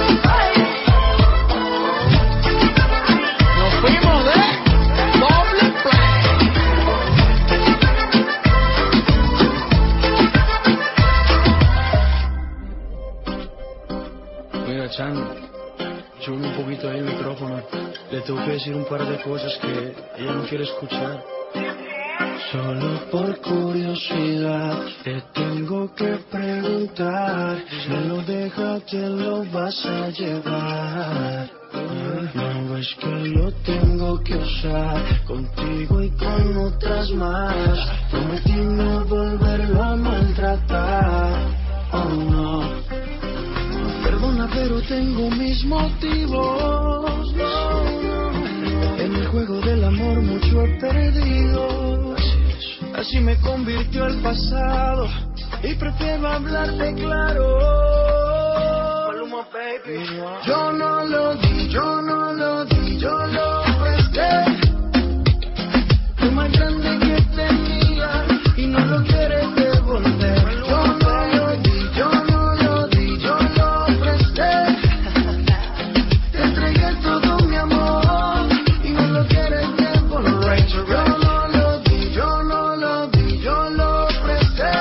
Nos fuimos de doble play. Mira, Chan, sube un poquito ahí el micrófono. Le tengo que decir un par de cosas que ella no quiere escuchar. Solo por curiosidad te tengo que preguntar. Si me lo dejas, te lo vas a llevar. No ves que lo tengo que usar contigo y con otras más. Prometí no volverlo a maltratar. Oh no. Perdona, pero tengo mis motivos. No, no. En el juego del amor mucho he perdido. Así me convirtió el pasado y prefiero hablarte claro. Maluma, baby. Yo no lo di, yo no lo di, yo lo presté. Lo más grande que tenía y no lo quieres devolver. Yo no lo di, yo no lo di, yo lo presté. Te entregué todo mi amor y no lo quieres devolver. Yo no lo di, yo no lo di, yo lo presté.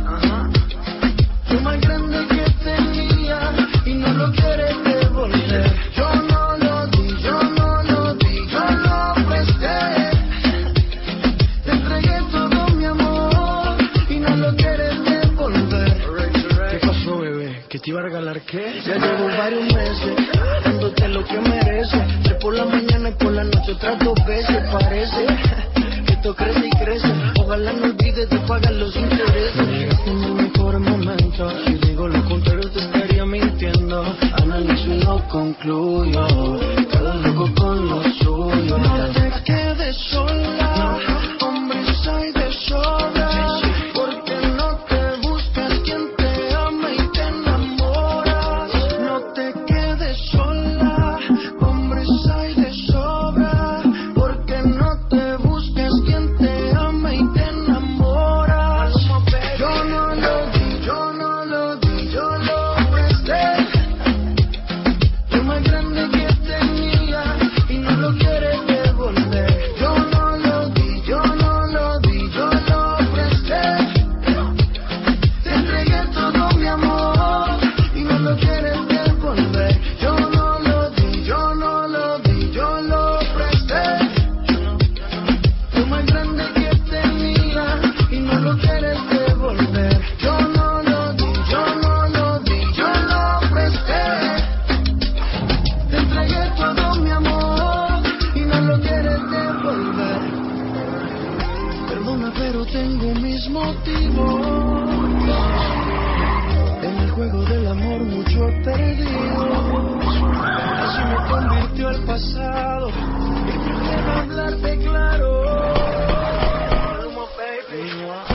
Lo más grande que tenía y no lo quieres devolver. Yo no lo di, yo no lo di, yo lo presté. Te entregué todo mi amor y no lo quieres devolver. ¿Qué pasó, bebé? ¿Que te iba a regalar qué? Ya llevo varios meses dándote lo que mereces. Tres por la mañana y por la noche otras dos veces. Parece que esto crece y crece. Ojalá no olvides de pagar los intereses. Llegaste en el mejor momento. Si digo lo contrario te estaría mintiendo. Analizo y no concluyo. Cada loco con lo suyo. No te quedes sola. Hombres hay de sobra. Porque no te buscas quien te ama y te enamoras. No te quedes sola. Hombres hay de sobra. Porque no te buscas quien te ama y te enamoras. Yo no lo di, yo no lo di, yo lo presté. Lo más grande que tenía y no lo quieres devolver. Yo no lo di, yo no lo di, yo lo presté. Te entregué todo mi amor y no lo quieres devolver. Yo no lo di, yo no lo di, yo lo presté. Lo más grande que tenía y no lo quieres devolver. Yo no lo di, yo no lo di, yo lo presté. Te entregué todo mi amor y no lo quieres devolver. Perdona, pero tengo mis motivos. En el juego del amor mucho he perdido. Así me convirtió el pasado y prefiero hablarte claro. Maluma, baby.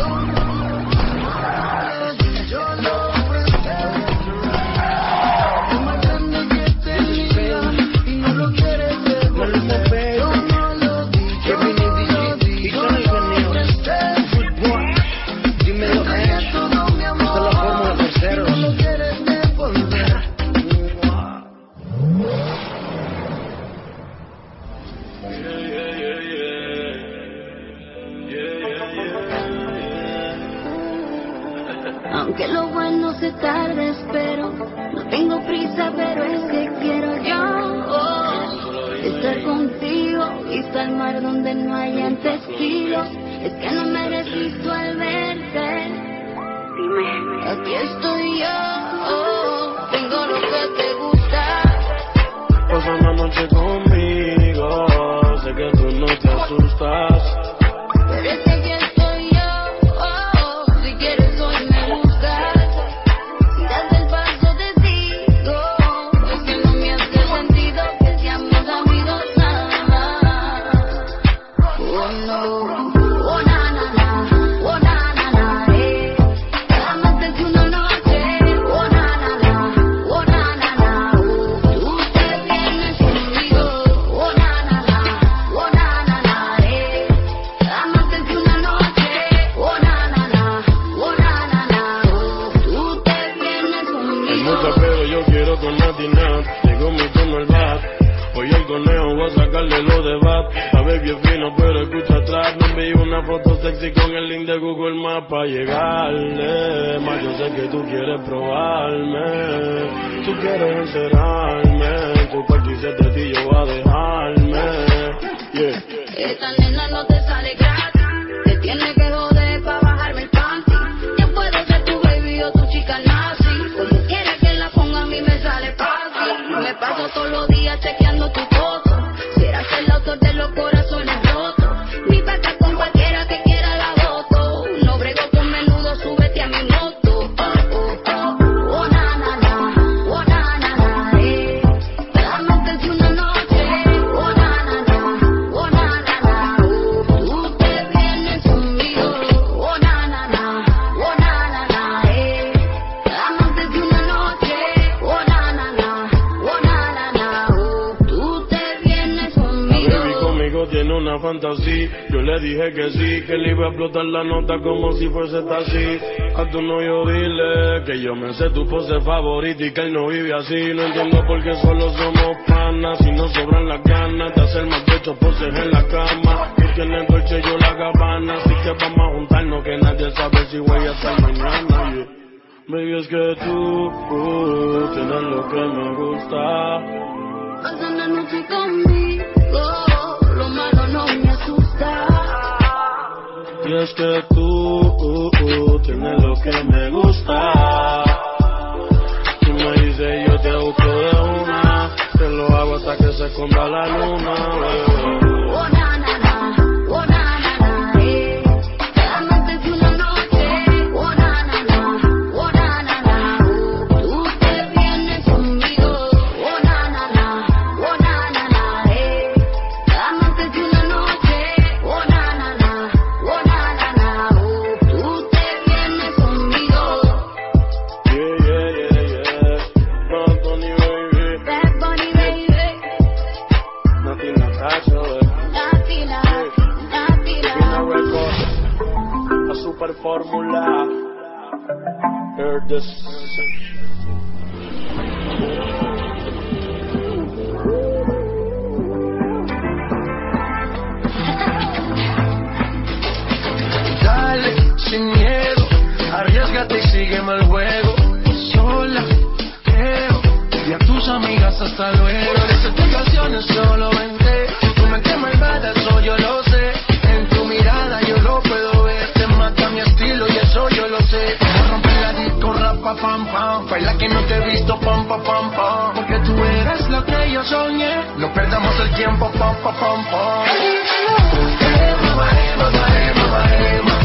Yo no lo di, yo lo presté. Lo más grande que tenía y no lo quieres devolver. Yo no lo di, yo no lo di, yo lo presté. Dímelo, Te entregué todo mi amor esta es la fórmula, y terceros. no lo quieres devolver. Aunque lo bueno se tarde, espero. No tengo prisa, pero es que quiero yo oh, estar contigo. Vista al mar donde no hayan testigos. Es que no me resisto al verte. Dime, aquí estoy yo. Oh, tengo lo que te gusta. Pasa una noche conmigo. Sé que tú no te asustas. Pero es que aquí estoy yo. Oh, si quieres hoy me buscas. Si das el paso te sigo. Es que no me hace sentido que seamos amigos nada más. Oh no. Oh na na na. Oh na na na. Eh. Amarte que una noche. Oh na na na. Oh na na na. Oh, tú te vienes conmigo. Oh na na na. Oh na na na. Eh. Amarte que una noche. Oh na na na. Oh na na na. Oh, tú te vienes Hay conmigo. mucho pero yo quiero con Natina. Llegó mi turno al bat. Hoy el conejo voy a sacarle lo de bat. La baby es fino pero escucha atrás. Me envié una foto sexy con el link de Google Maps para llegarle. Más yo sé que tú quieres probarme. Tú quieres encerrarme. Tu cualquier de ti yo voy a dejarme. Yeah. Esta nena no te sale gratis. Te tiene que una fantasía. Yo le dije que sí, que le iba a explotar la nota como si fuese así. A tu novio dile que yo me sé tu pose favorita y que él no vive así. No entiendo por qué solo somos panas, si no sobran las ganas de hacer más de ocho poses en la cama. Tú tienes Dolce y yo la Gabbana, así que vamos a juntarnos que nadie sabe si voy a estar mañana. Yeah. Baby, es que tú uh, tienes lo que me gusta. Pasa la noche conmigo, lo malo no me asusta. Y es que tú uh, uh, tienes lo que me gusta. Tú me dices yo te busco de una, te lo hago hasta que se esconda la luna. Baby. Oh na na na, oh na na na, eh. Amarte de una noche, oh na na na, oh na na na, oh. Tú te vienes conmigo, oh na na na, oh na na na, eh. Amarte de una noche, oh na na na, oh na na na, oh. Tú te vienes conmigo. Yeah, yeah, yeah, yeah. Bad Bunny, baby. Bad Bunny, baby. Nothing Natasha, baby. Latina, Latina. Vino Record, la super fórmula. Heard this. Dale, sin miedo, arriésgate y sígueme el juego. Sola, creo, y a tus amigas hasta luego. Las explicaciones solo vente, tú me quemas malvada, eso yo lo sé. En tu mirada yo lo puedo ver, te mata mi estilo y eso yo lo sé. Vamos a romper la disco, rapa, pam, pam, baila que no te he visto, pam, pam, pam, pam. Porque tú eres lo que yo soñé, no perdamos el tiempo, pam, pam, pam, pam. Eh, mamá, eh, mamá, eh, mamá, eh, mamá.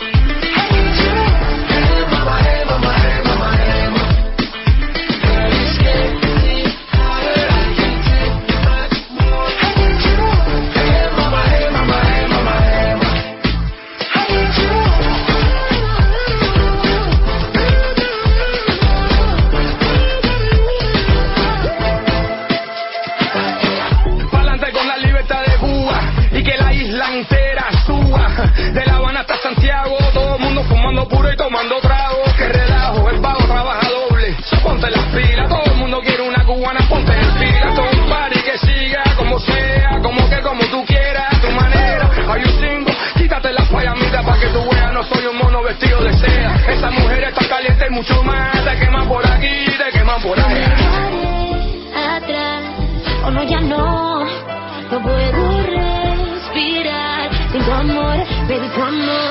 De La Habana hasta Santiago, todo el mundo fumando puro y tomando trago. Que relajo, el vago trabaja doble. So ponte las pilas, todo el mundo quiere una cubana, ponte en fila. Todo un party que siga como sea, como que como tú quieras, a tu manera. Hay un single, quítate las payamitas pa' que tú veas, no soy un mono vestido de seda. Esa mujer está caliente y mucho más, te queman por aquí, te queman por allá. Atrás, o no, ya no, no puedo respirar sin tu amor, baby, tu amor.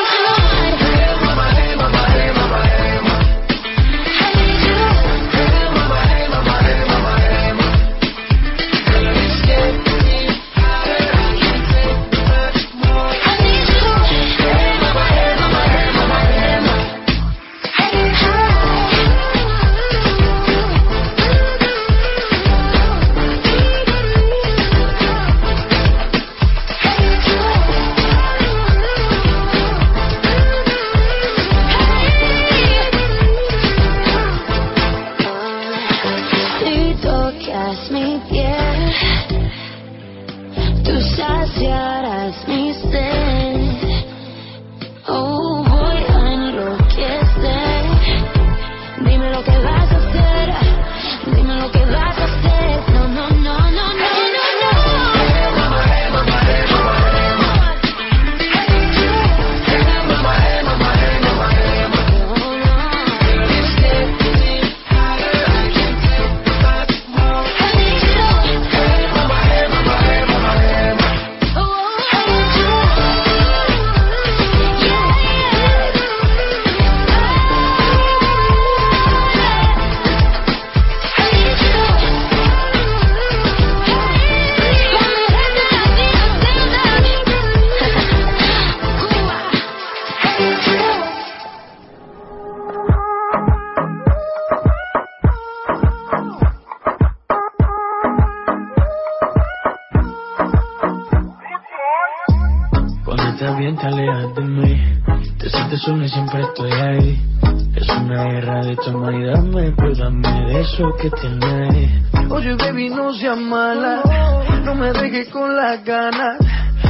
bien te alejas de mí. Te sientes sola y siempre estoy ahí. Es una guerra de toma y dame, pues dame de eso que tienes. Oye baby, no seas mala, no me dejes con las ganas.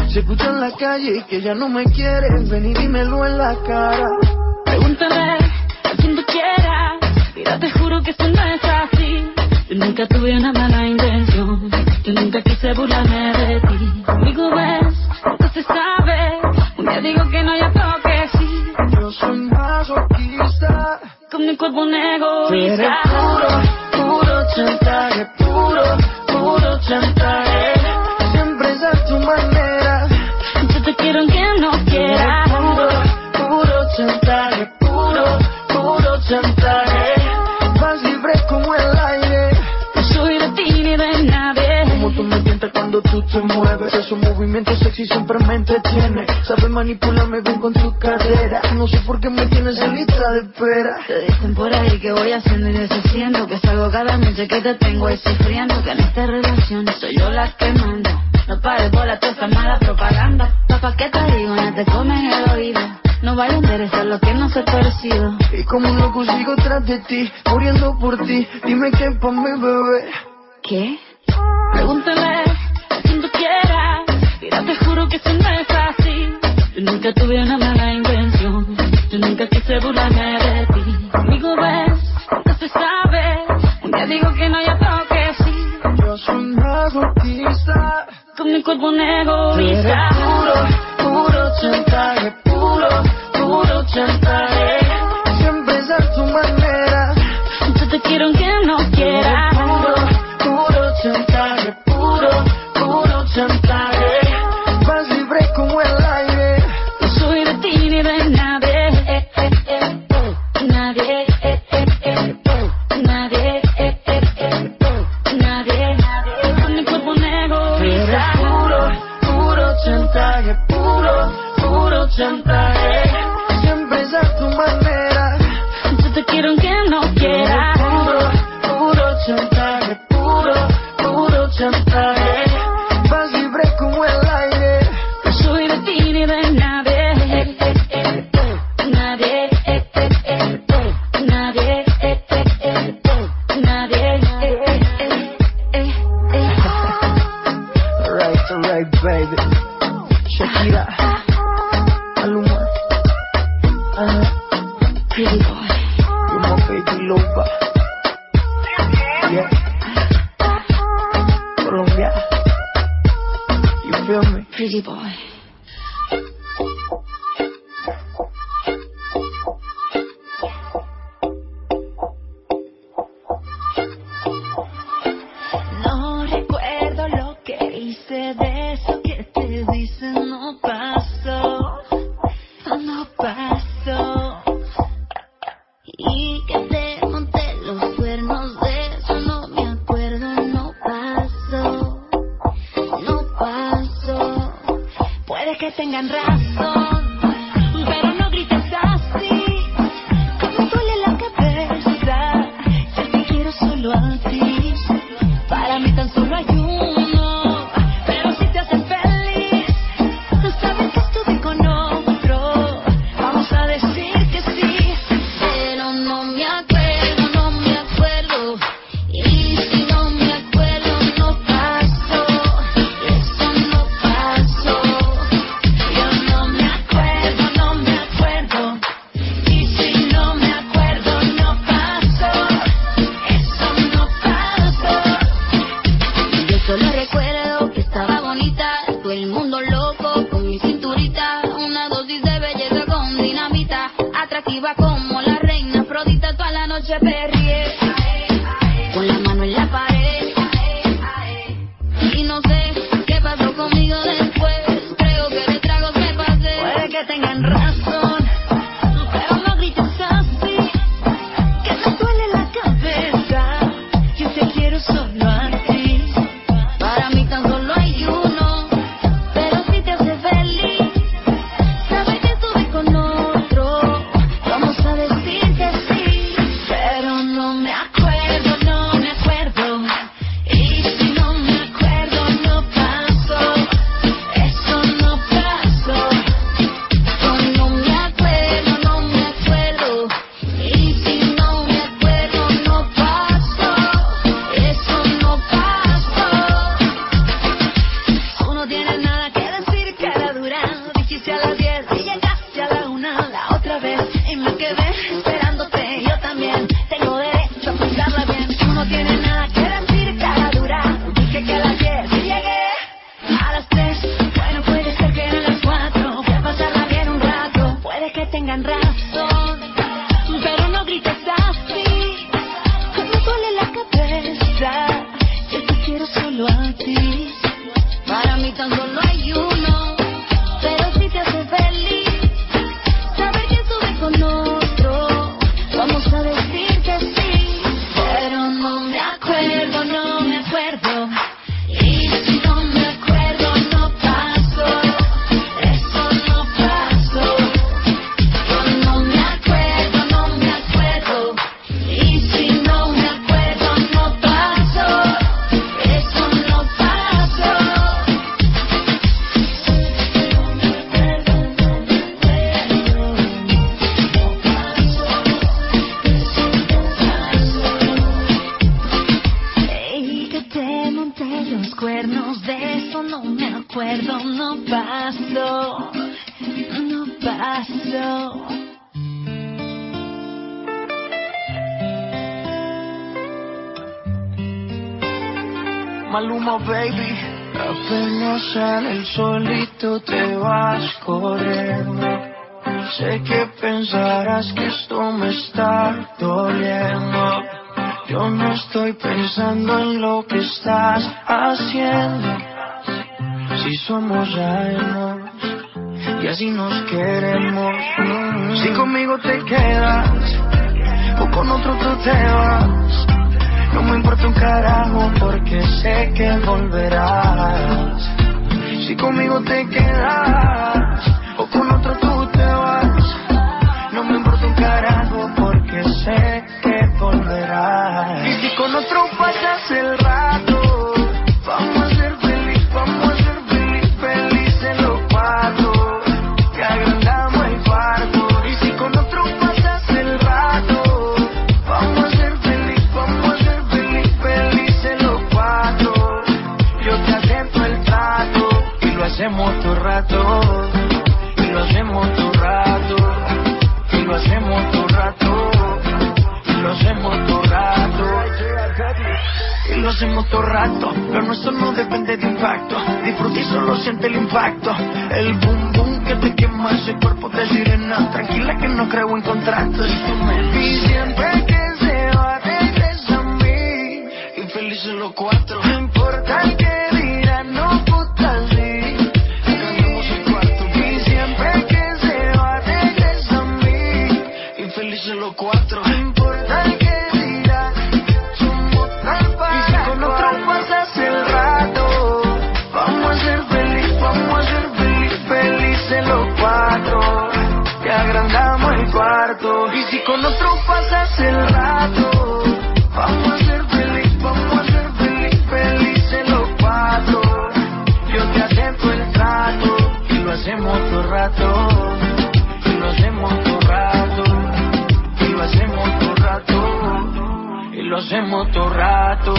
Se escucha en la calle que ya no me quieres, ven y dímelo en la cara. Pregúntale a quien tú quieras, mira, te juro que eso no es así. Yo nunca tuve una mala intención, yo nunca quise burlarme de ti. Conmigo ves, nunca se sabe, un día digo que no, ya creo que sí. Yo soy masoquista, con mi cuerpo un tú eres egoísta. puro, puro chantaje, puro, puro chantaje. Siempre es a tu manera. Yo te quiero aunque no quieras. Puro, puro chantaje, puro, puro chantaje. Vas libre como el aire. No soy de ti ni de nadie. Como tú me tientas cuando tú te mueves. Esos movimientos sexy siempre me entretiene. Sabes manipularme bien con tu cadera. No sé por qué me tienes en lista de espera. Te dicen por ahí que voy haciendo y deshaciendo, que salgo cada noche que te tengo ahí sufriendo, que en esta relación soy yo la que manda. No pares por la toda esa mala propaganda. Papá, ¿qué te digo? No te comen el oído. No vaya a interesar lo que no se ha parecido. Y como un loco sigo tras de ti, muriendo por ti. Dime qué pa' mi bebé. ¿Qué? Pregúntale a quien tú quieras. Mira, te juro que eso no es así. Yo nunca tuve una mala intención, yo nunca quise burlarme de ti. Conmigo ves, nunca se sabe, un día digo que no, ya creo que sí. Yo soy masoquista, Con mi cuerpo un tú eres egoísta. puro, puro chantaje, puro, puro chantaje. Siempre es a tu manera. Yo te quiero aunque no quieras. Puro, puro chantaje, puro, puro chantaje. Vas libre como el aire. No soy de ti ni de nadie. Eh, eh, eh, eh. Nadie. Eh, eh, eh, eh. Nadie. Eh, eh, eh, eh. Nadie. Con mi cuerpo un Eres egoísta. puro, puro chantaje, puro, puro chantaje. Siempre es a tu manera. Yo te quiero aunque no quieras. Puro, puro chantaje, puro, puro chantaje. Vas libre como el aire. No soy de ti ni de nadie. Eh, eh, eh, eh. Nadie. Eh, eh, eh, eh. Nadie. Eh, eh, eh, eh. Nadie. Eh, eh, eh, eh, eh. Alright, alright, baby. Shakira, Maluma, uh, Pretty boy. you're my baby lover. Yeah. Colombia, you feel me? Pretty boy. No recuerdo lo que hice, de eso que te dicen no pasó, no pasó. Y que te monté los cuernos, de eso no me acuerdo, no pasó, no pasó. Puede que tengan razón, pero no grites así, como duele la cabeza, si te quiero solo a ti. Para mí tan solo hay uno, pero si te hacen feliz, no sabes que estuve con otro. Vamos a decir que sí, pero no me acuerdo, no me acuerdo. Y si no me acuerdo, no pasó, eso no pasó. Yo no me paso, no paso. Maluma, baby. Apenas sale el solito te vas corriendo. Sé que pensarás que esto me está doliendo. Yo no estoy pensando en lo que estás haciendo. Si somos ajenos y así nos queremos. Si conmigo te quedas o con otro tú te vas, no me importa un carajo porque sé que volverás. Si conmigo te quedas o con otro tú te vas, no me importa un carajo porque sé que volverás. Y si con otro pasas el rato, vamos a ser feliz, vamos a ser feliz, felices los cuatro, que agrandamos el cuarto. Y si con otro pasas el rato, vamos a ser feliz, vamos a ser feliz, felices los cuatro. Yo te acepto el trato y lo hacemos todo rato, y lo hacemos todo rato, y lo hacemos todo rato, y lo hacemos todo rato, y lo hacemos todo rato. Pero nuestro no depende de impacto, disfruta y solo siente el impacto. El boom boom que te quema ese cuerpo de sirena. Tranquila que no creo en contratos. Y siempre que se va regresa a mí, infelices los cuatro. No importa el que dirán, no puta sí, ganamos el cuarto. Y siempre que se va regresa a mí, infelices los cuatro. No importa el que dirán, somos tal para. Y si con otro pasas el rato, vamos a ser feliz, vamos a ser feliz, felices los cuatro, que agrandamos el cuarto. Y si con otro pasas el rato, vamos a ser feliz, vamos a ser feliz, felices los cuatro. Yo te acepto el trato y lo hacemos todo rato, y lo hacemos todo rato, y lo hacemos todo rato, y lo hacemos todo rato.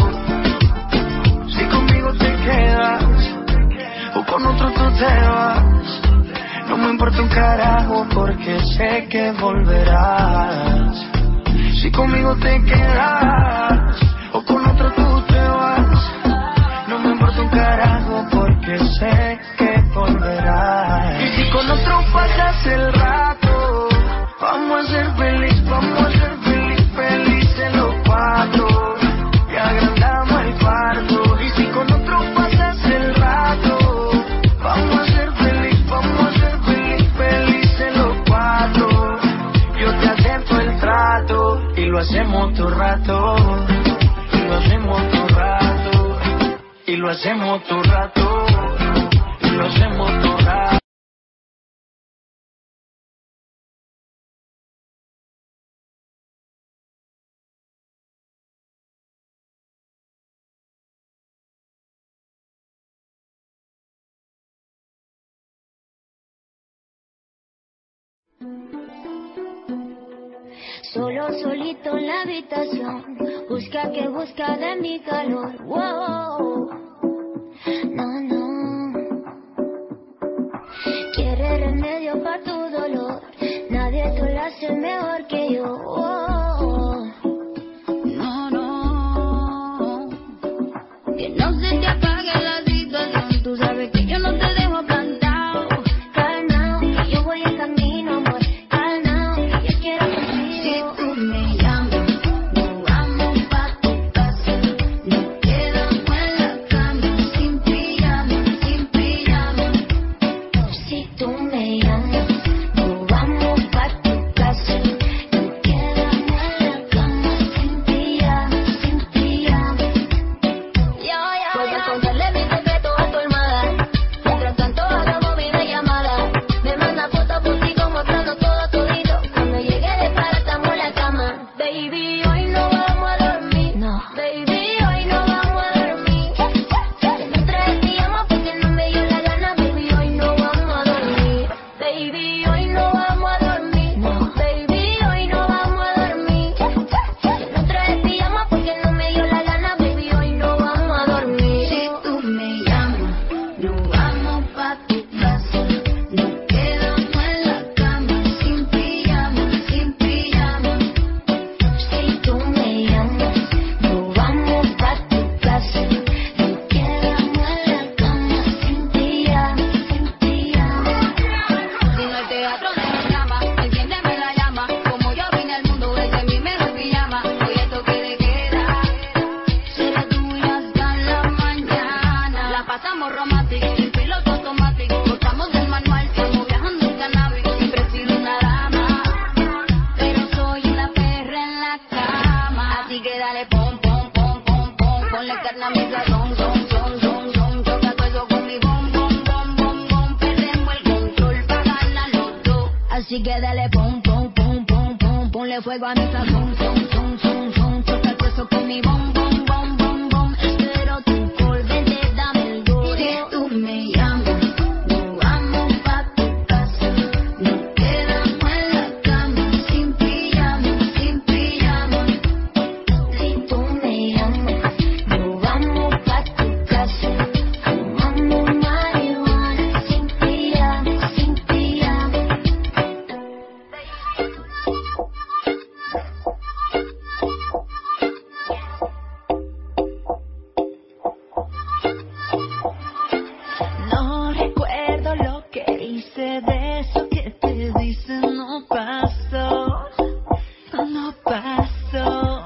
Si conmigo te quedas o con otro tú te vas, no me importa un carajo porque sé que volverás. Si conmigo te quedas o con otro tú te vas, no me importa un carajo porque sé que volverás. Y si con otro pasas el rato, vamos a ser feliz, vamos a ser feliz, felices los cuatro, que agrandamos el cuarto. Y si con otro pasas el rato, vamos a ser feliz, vamos a ser feliz, felices los cuatro. Yo te acepto el trato y lo hacemos todo rato, y lo hacemos todo rato, y lo hacemos todo rato, y lo hacemos todo rato. Solo, solito en la habitación, busca que busca de mi calor. Wow, no, no. Quiere remedio para tu dolor, nadie te lo hace mejor que yo. Wow, no, no. Que no se te apague la situación, tú sabes que yo no te dejo plantado. Calma, que yo voy en camino, amor. Calma, que yo quiero contigo. Si tú me llamas, nos vamos pa' tu casa. Nos quedamos en la cama, sin pijama, sin pijama. Si tú me llamas, nos vamos pa' tu casa. Nos quedamos en la cama, sin pijama, sin pijama. Yo, yo, puedes contarle mi secreto a tu hermana. Mientras tanto hagamos videollamada. Me manda fotos por ti como mostrando todo todito. Cuando llegue de para estamos en la cama. Baby, hoy no vamos a dormir. No. Baby, hoy no vamos a dormir. Que no traes pijama porque no me dio la gana. Baby, hoy no vamos a dormir. Baby, hoy no vamos a dormir. No. Baby, hoy no vamos a dormir. Que no traes pijama porque no me dio la gana. Baby, hoy no vamos a dormir. Si tú me llamas, nos vamos pa' tu casa. Así que dale pum, pum, pum, pum, pum, ponle fuego a mi sazón, zum, zum, zum, zum, toca el hueso con mi bom, bom, bom, bom, bom. Espero tu call, vente, dame el go. Si tú me llamas, nos vamos pa' tu casa. Nos quedamos en la cama, sin pijama, sin pijama. Si tú me llamas, nos vamos pa' tu casa. Fumamos marihuana, sin pijama, sin pijama. No recuerdo lo que hice, de eso que te dicen no pasó, no pasó.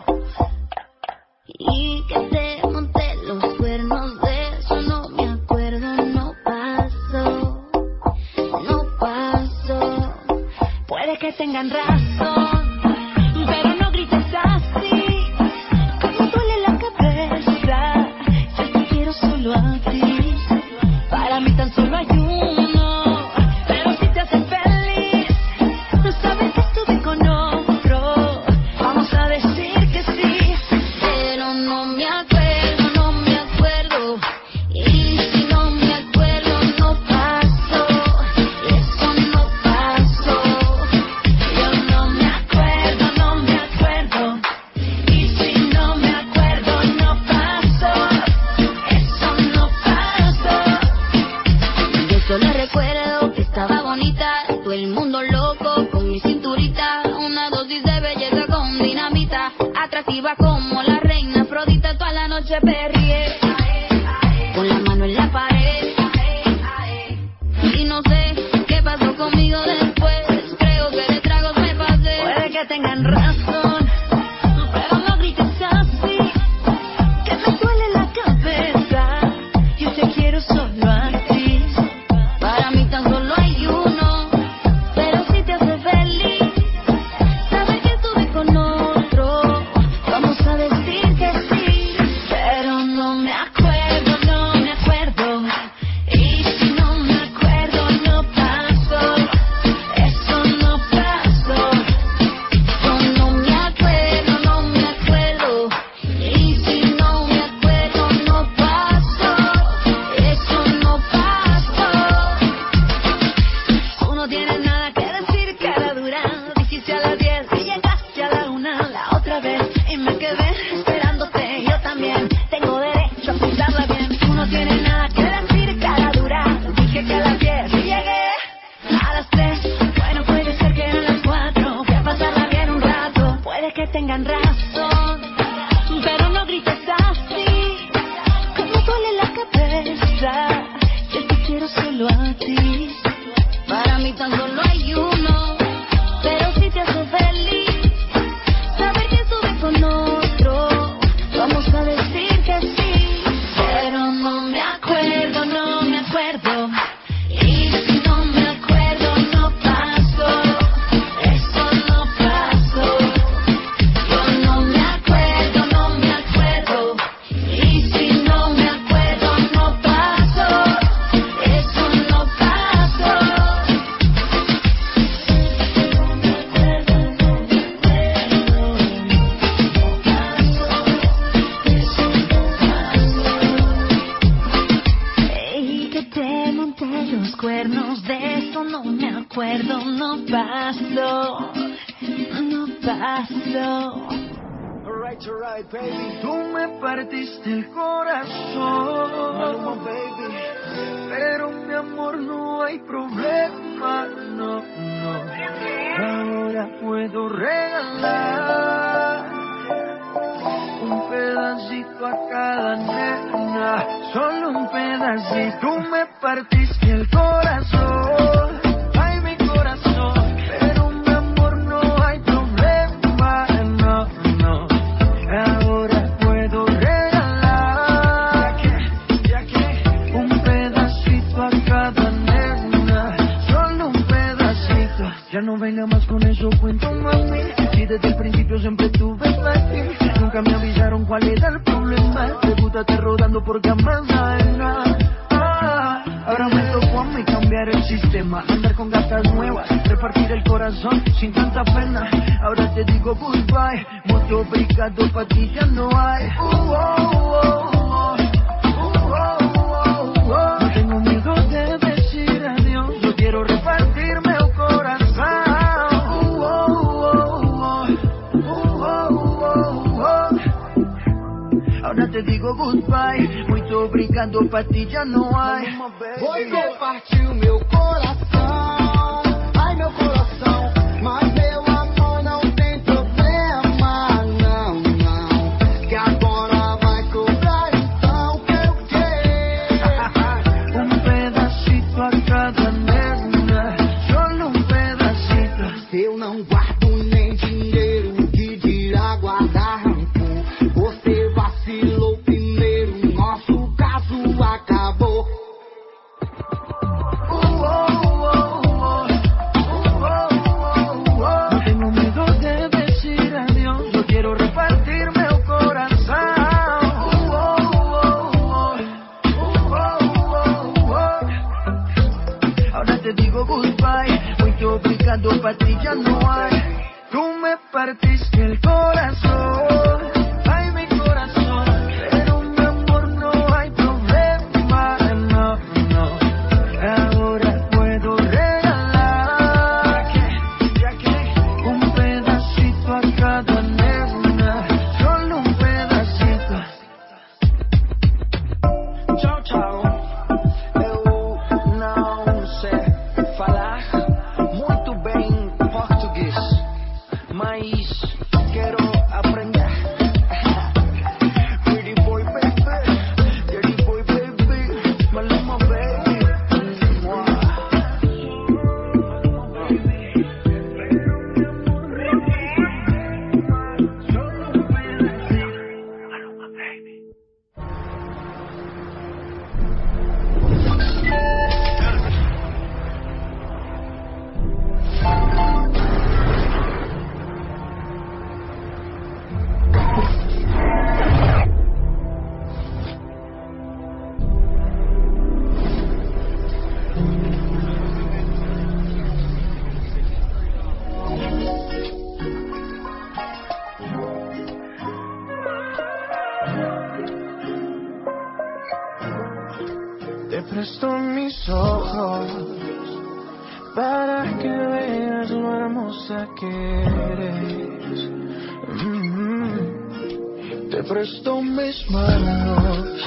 Y que te monté los cuernos, de eso no me acuerdo, no pasó, no pasó. Puede que tengan razón, pero no grites así, que me duele la cabeza. Yo te quiero solo a ti, para mí tan solo hay uno. Pero si te hace feliz, no sabes que estuve con otro. Vamos a decir que sí, pero no me acuerdo, no me acuerdo. Y si no me acuerdo, no pasó, eso no pasó. Yo no me acuerdo, no me acuerdo. Y si no me acuerdo, no pasó, eso no pasó. Yo solo recuerdo que estaba bonita, todo el mundo loco con mi cinturita, una dosis de belleza con dinamita, atractiva como la reina Afrodita. Toda la noche perrié, con la mano en la pared, y no sé qué pasó conmigo después. Creo que de tragos me pasé. Puede que tengan razón, pero no grites así, que me duele la cabeza. Yo te quiero solo a ti, para mí tan solo hay uno. Pero si te hace feliz, sabes que estuve con otro. Vamos a decir que sí, pero no me acuerdo, no me acuerdo. Y si no me acuerdo, no pasó, eso no pasó. Yo no me acuerdo, no me acuerdo. Y si no me acuerdo, no pasó, eso no pasó. Tú no tienes nada que decir, cara dura. Dijiste a las diez y llegaste a la una la otra vez, y me quedé esperándote. Yo también tengo derecho a pensarla bien. Tú no tienes nada que decir, cara dura. Dije que a las diez y llegué a las tres. Bueno, puede ser que a las cuatro. Voy a pasarla bien un rato. Puede que tengan razón, pero no grites así, que me duele la cabeza. Yo te quiero solo a ti, para mí tan solo hay uno. Pero si te hace feliz, saber que estuve con otro. Vamos a decir que sí, pero no me acuerdo, no me acuerdo. Y si no me acuerdo, no pasó, eso no pasó. Yo no me acuerdo, no me acuerdo. Y si no me acuerdo, no pasó, eso no pasó. Y que te monté los cuernos, de eso no me acuerdo, no pasó, no pasó. Alright, alright, baby. Tú me partiste el corazón, Maluma, baby. pero mi amor no hay problema, no, no. Ahora puedo regalar un pedacito a cada nena, solo un pedacito. Tú me partiste el corazón, ay mi corazón, pero mi amor no hay problema, no, no. Ahora puedo regalar un pedacito a cada nena, solo un pedacito. Ya no venga más con eso, cuento mami, si desde el principio siempre tuve aquí. Nunca me avisaron cuál era el problema. Debútate rodando por camas ajenas. Ah, ahora me tocó a mí cambiar el sistema, andar con gatas nuevas, partir el corazón sin tanta pena. Ahora te digo goodbye, mucho obrigado, pa' ti ya no hay. Uh, oh, oh, oh. Uh, oh, oh, oh. No tengo miedo de decir adiós, yo quiero repartirme el corazón. Uh, oh, oh, oh. Uh, oh, oh, oh. Ahora te digo goodbye, muito obrigado, pa' ti já não há. Você partiu meu coração, ai meu coração, mas meu amor não tem problema, não, não, que agora vai cobrar então que eu quero. Um pedacito a cada nena, só um pedacito. Eu não guardo nem dinheiro, que dirá guardar rancor. Você vacilou primeiro, nosso caso acabou. Pa' ti ya no hay. Tú me partiste el corazón, ay mi corazón, pero mi amor no hay problema, no, no. Ahora puedo regalar ya que un pedacito a cada nena, solo un pedacito. Chao, chao. Eu não sei falar muito bem português, mas quero aprender. Pretty boy baby, dirty boy baby, Maluma baby. Te presto mis ojos para que veas lo hermosa que eres. Mm-hmm. Te presto mis manos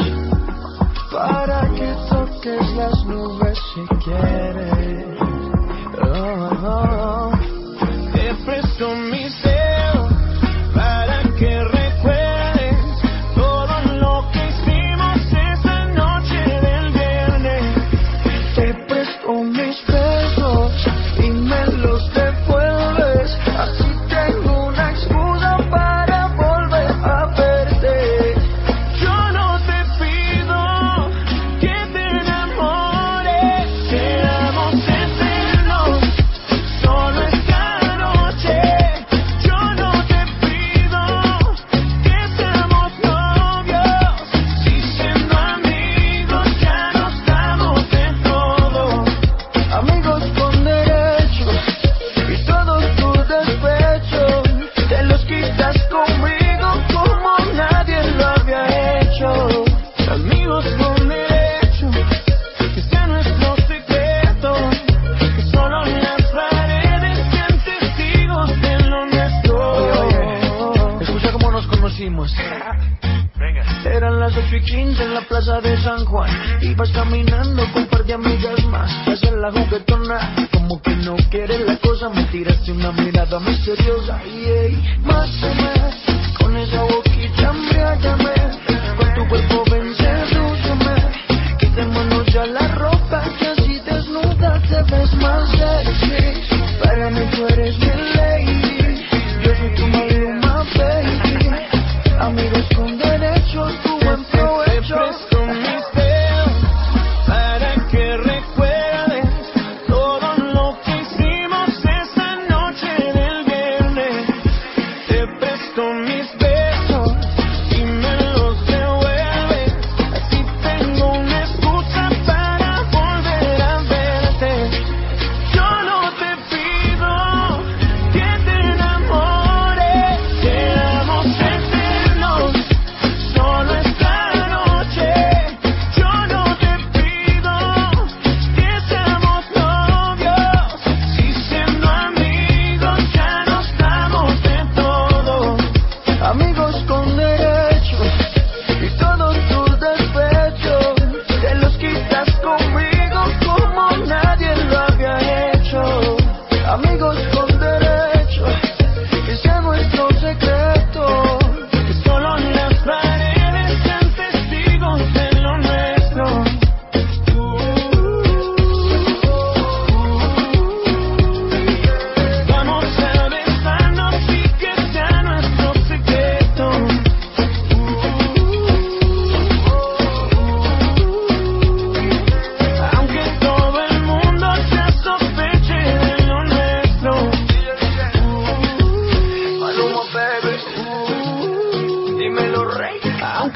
para que toques las nubes si quieres. Oh, oh, oh. Te presto mis dedos para que recuerdes todo lo que hicimos esa noche del viernes. Te presto mis besos y me los devuelves, así tengo una excusa para volver a verte. Yo no te pido que te enamores, seamos eternos, solo esta noche. Yo no te pido que seamos novios, si siendo amigos ya nos damos de todo. Amigos con derecho y todo tu despecho, te los quitas conmigo como nadie lo había hecho. Amigos con derecho, que sea nuestro secreto, que solo las paredes sean testigos de lo nuestro. Oye, oye, escucha cómo nos conocimos. Eran las ocho y quince en la plaza de San Juan. Ibas caminando con un par de amigas más. Hacer la juguetona, como que no quieres la cosa. Me tiraste una mirada misteriosa. Y hey, más o menos, con esa boquita embriágame. Con tu cuerpo ven, sedúceme. Quitémonos ya la ropa, que así desnuda te ves más sexy. Para mí tú eres mi lady, yo soy tu Maluma baby. Amigos con derecho, tu buen provecho. Te presto mis dedos para que recuerdes todo lo que hicimos esa noche del viernes. Te presto mis besos y me los devuelves, así tengo una excusa para volver a verte. Yo no te pido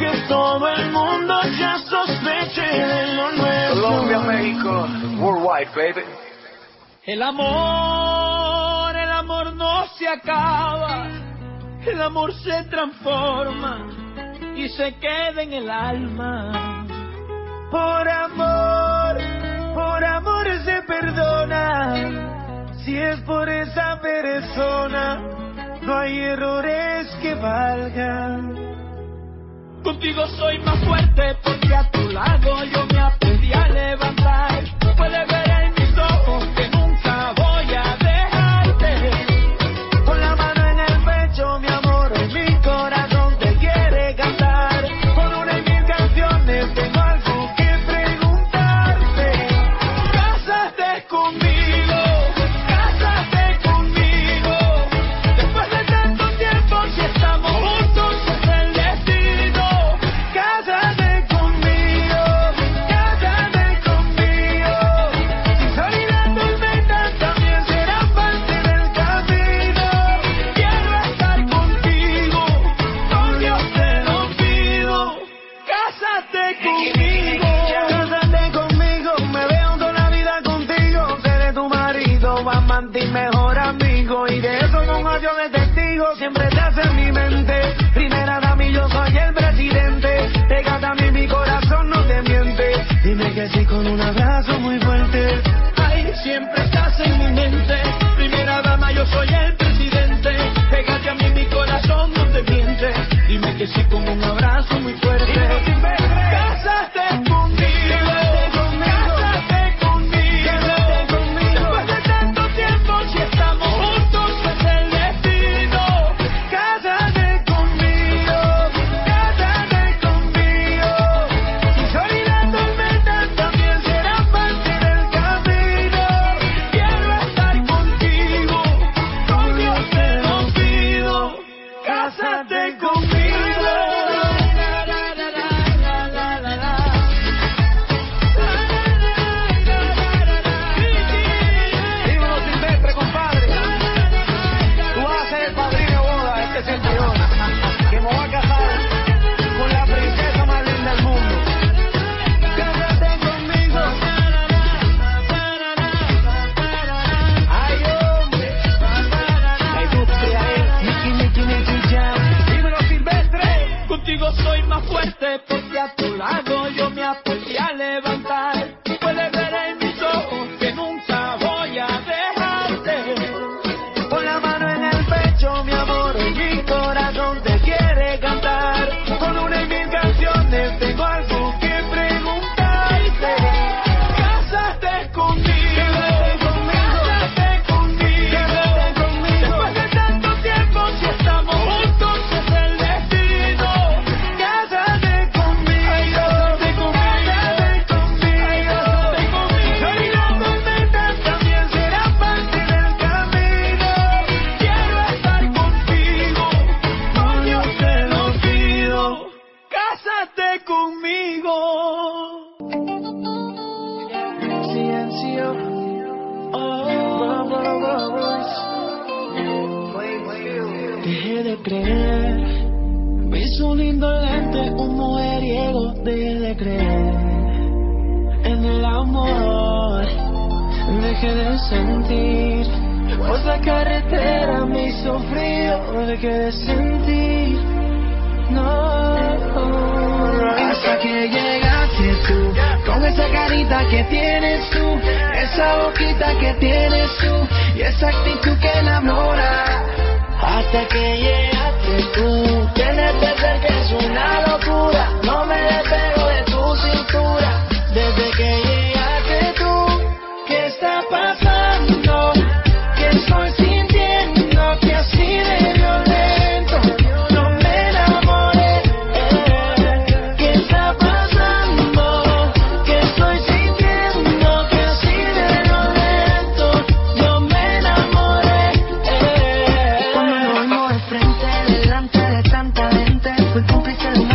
que todo el mundo ya sospeche de lo nuestro. Colombia, México, worldwide, baby. El amor, el amor no se acaba. El amor se transforma y se queda en el alma. Por amor, por amor se perdona. Si es por esa persona, no hay errores que valgan. Contigo soy más fuerte porque a tu lado yo me aprendí a levantar. Puedes ver en mis ojos que nunca voy a dejarte. Con la mano en el pecho, mi amor, en mi corazón te quiere cantar. Con una y mil canciones tengo algo que preguntarte. Cásate conmigo, cásate conmigo. Después de tanto tiempo, si estamos juntos es el destino. Cásate conmigo, cásate conmigo. Si sol y la tormenta también serán parte del camino. Quiero estar contigo, por Dios te lo pido. Cásate conmigo, cásate conmigo. Me veo toda la vida contigo. Seré tu marido, amante y mejor amigo. Y de eso pongo yo de testigo. Siempre estás en mi mente. Primera dama y yo soy el presidente. Pégate a mí, mi corazón no te miente. Dime que sí con un abrazo muy fuerte. Ay, siempre estás en mi mente. Primera dama, yo soy el presidente. Pégate a mí, mi corazón no te miente. Dime que sí con un abrazo muy fuerte. Cásate conmigo, cásate conmigo. Después de tanto tiempo, si estamos juntos es el destino. Cásate conmigo, cásate conmigo. Si sol y la tormenta también serán parte del camino. Quiero estar contigo, con Dios te lo pido. Cásate conmigo. Dímelo, Silvestre, compadre. Tú vas a ser el padrino de boda, este servidor, que me voy a casar con la princesa más linda del mundo. Cásate conmigo. Ay, hombre. La industria es Nicky, Nicky, Nicky Jam. Dímelo, Silvestre. Contigo soy más fuerte porque a tu lado yo me aprendí a levantar. Puedes ver en mis ojos que nunca voy a dejarte. Con la mano en el pecho, mi amor, en mi corazón te quiere cantar. Con una y mil canciones tengo algo que preguntarte. Cásate conmigo, cásate conmigo. Después de tanto tiempo, si estamos juntos es el destino. Cásate conmigo, cásate conmigo. Si sol y la tormenta también será parte del camino. Quiero estar contigo, por Dios te lo pido. Cásate conmigo. Silencio. Oh, dejé de creer. Vi su lindo lente, un mujeriego. Dejé de creer en el amor. Dejé de sentir, pues la carretera me hizo frío. Dejé de sentir, no. Hasta que llegaste tú, con esa carita que tienes tú, esa boquita que tienes tú, y esa actitud que enamora. Hasta que llegaste tú, tienes que ser que es una locura. No me despego de tu cintura. Desde que llegaste tú, ¿qué está pasando? ¿Qué estoy sintiendo? Que así de violento no me enamoré. ¿Qué está pasando? ¿Qué estoy sintiendo? Que así de violento no me enamoré. Cuando nos vimos de frente, delante de tanta gente, fui cómplice de una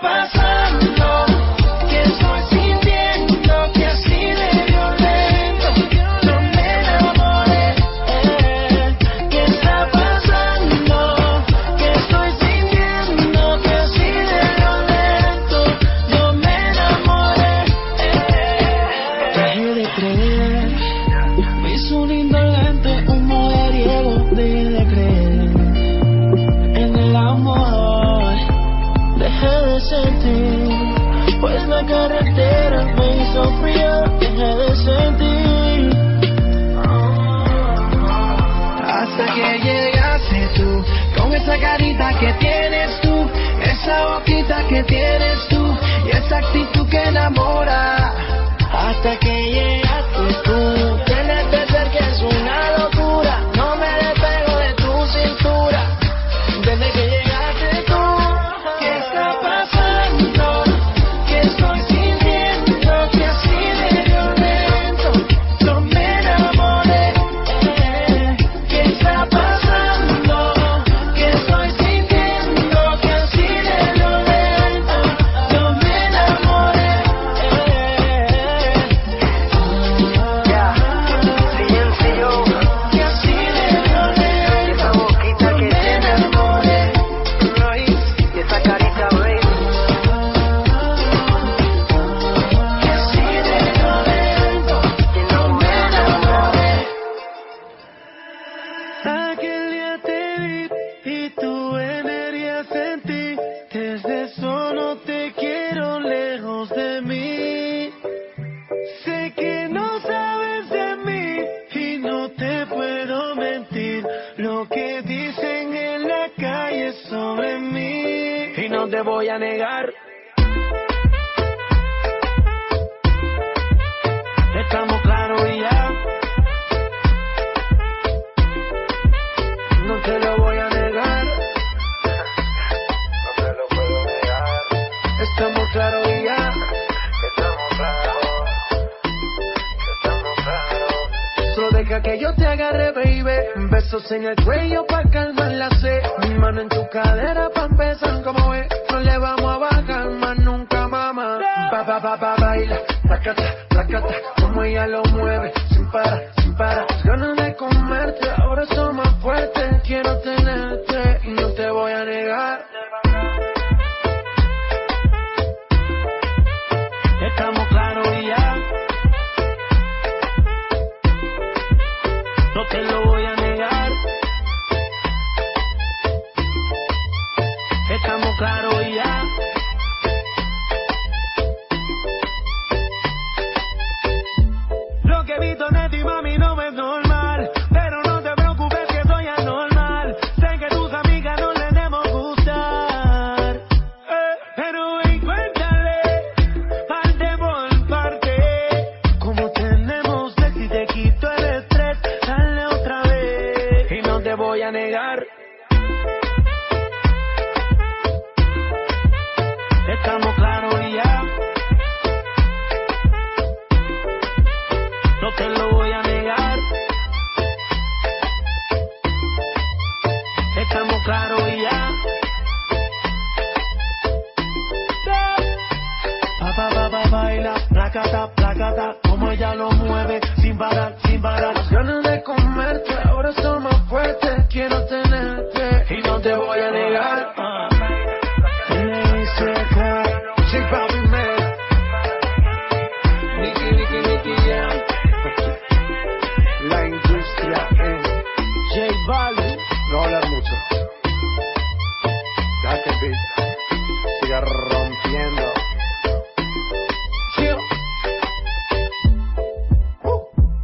pasando? Que estoy sintiendo que así de violento yo me enamoré. Eh, ¿qué está pasando? Que estoy sintiendo que así de violento yo me enamoré. Eh, dejé de creer, me hizo un indolente, un mujeriego. Dejé de creer en el amor, dejé de sentir, pues la carretera me hizo frío. Dejé de sentir hasta que llegaste tú, con esa carita que tienes tú, esa boquita que tienes tú y esa actitud que enamora. Hasta que llegaste tú, tienes que ser que es una locura, no me despego de tu cintura. Desde que llegaste tú, ¿qué está pasando? Que estoy sintiendo que así de violento yo me enamoré. Eh, ¿qué está pasando? Que estoy sintiendo que así de violento yo me enamoré. Ya, silencio. Que así de violento esa boquita que tienes y esa carita, baby. Que así de violento que no me enamoré. Aquel día te vi y tu energía sentí. Desde eso no te quiero lejos de mí. Sé que no sabes de mí y no te puedo mentir. Lo que dicen en la calle sobre mí y no te voy a negar. Estamos claros y ya. No te lo voy a negar. No te lo puedo negar. Estamos claros y ya. Estamos claros. Estamos claros. Solo deja que yo te agarre, baby. Besos en el cuello pa' calmar la sed. Mi mano en tu cadera pa' empezar, como ves. No le vamos a bajar más nunca, mamá. Pa, pa, pa, pa, baila. Placata, placata. Como ella lo mueve. Sin parar, sin parar. Ganas de comerte. Ahora son más fuertes. Quiero tenerte y no te voy a negar. Estamos claros y ya. No te lo voy a negar. Estamos claros y ya. Lo que he visto de ti, mami, no es normal. Pero no te preocupes que soy anormal. Sé que tus amigas no les debemos gustar. Eh, pero ven, cuéntale, parte por parte. Como tenemos sexo y te quito el estrés. Dale otra vez y no te voy a negar. Estamos claros y ya. No te lo voy a negar. Estamos claros y ya. Pa, pa, pa, pa, baila, placata, placata. Como ella lo mueve, sin parar, sin parar. Las ganas de comerte, ahora son más fuertes. Quiero tenerte y no te voy a negar. Uh. La industria en J Balvin. No hablar mucho. Deja que el beat siga rompiendo. Chill. Uh.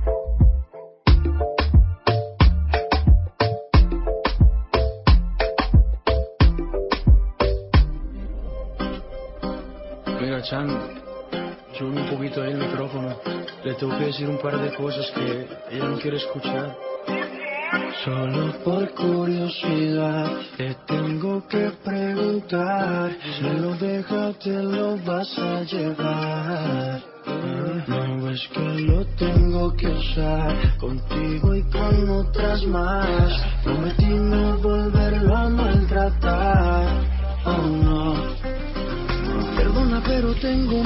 Mira, Chan, sube un poquito ahí el micrófono. Le tengo que decir un par de cosas que ella no quiere escuchar. Solo por curiosidad te tengo que preguntar. Si lo dejas te lo vas a llevar. No es que lo tengo que usar contigo y con otras más. Prometí no volverlo a maltratar. Oh no.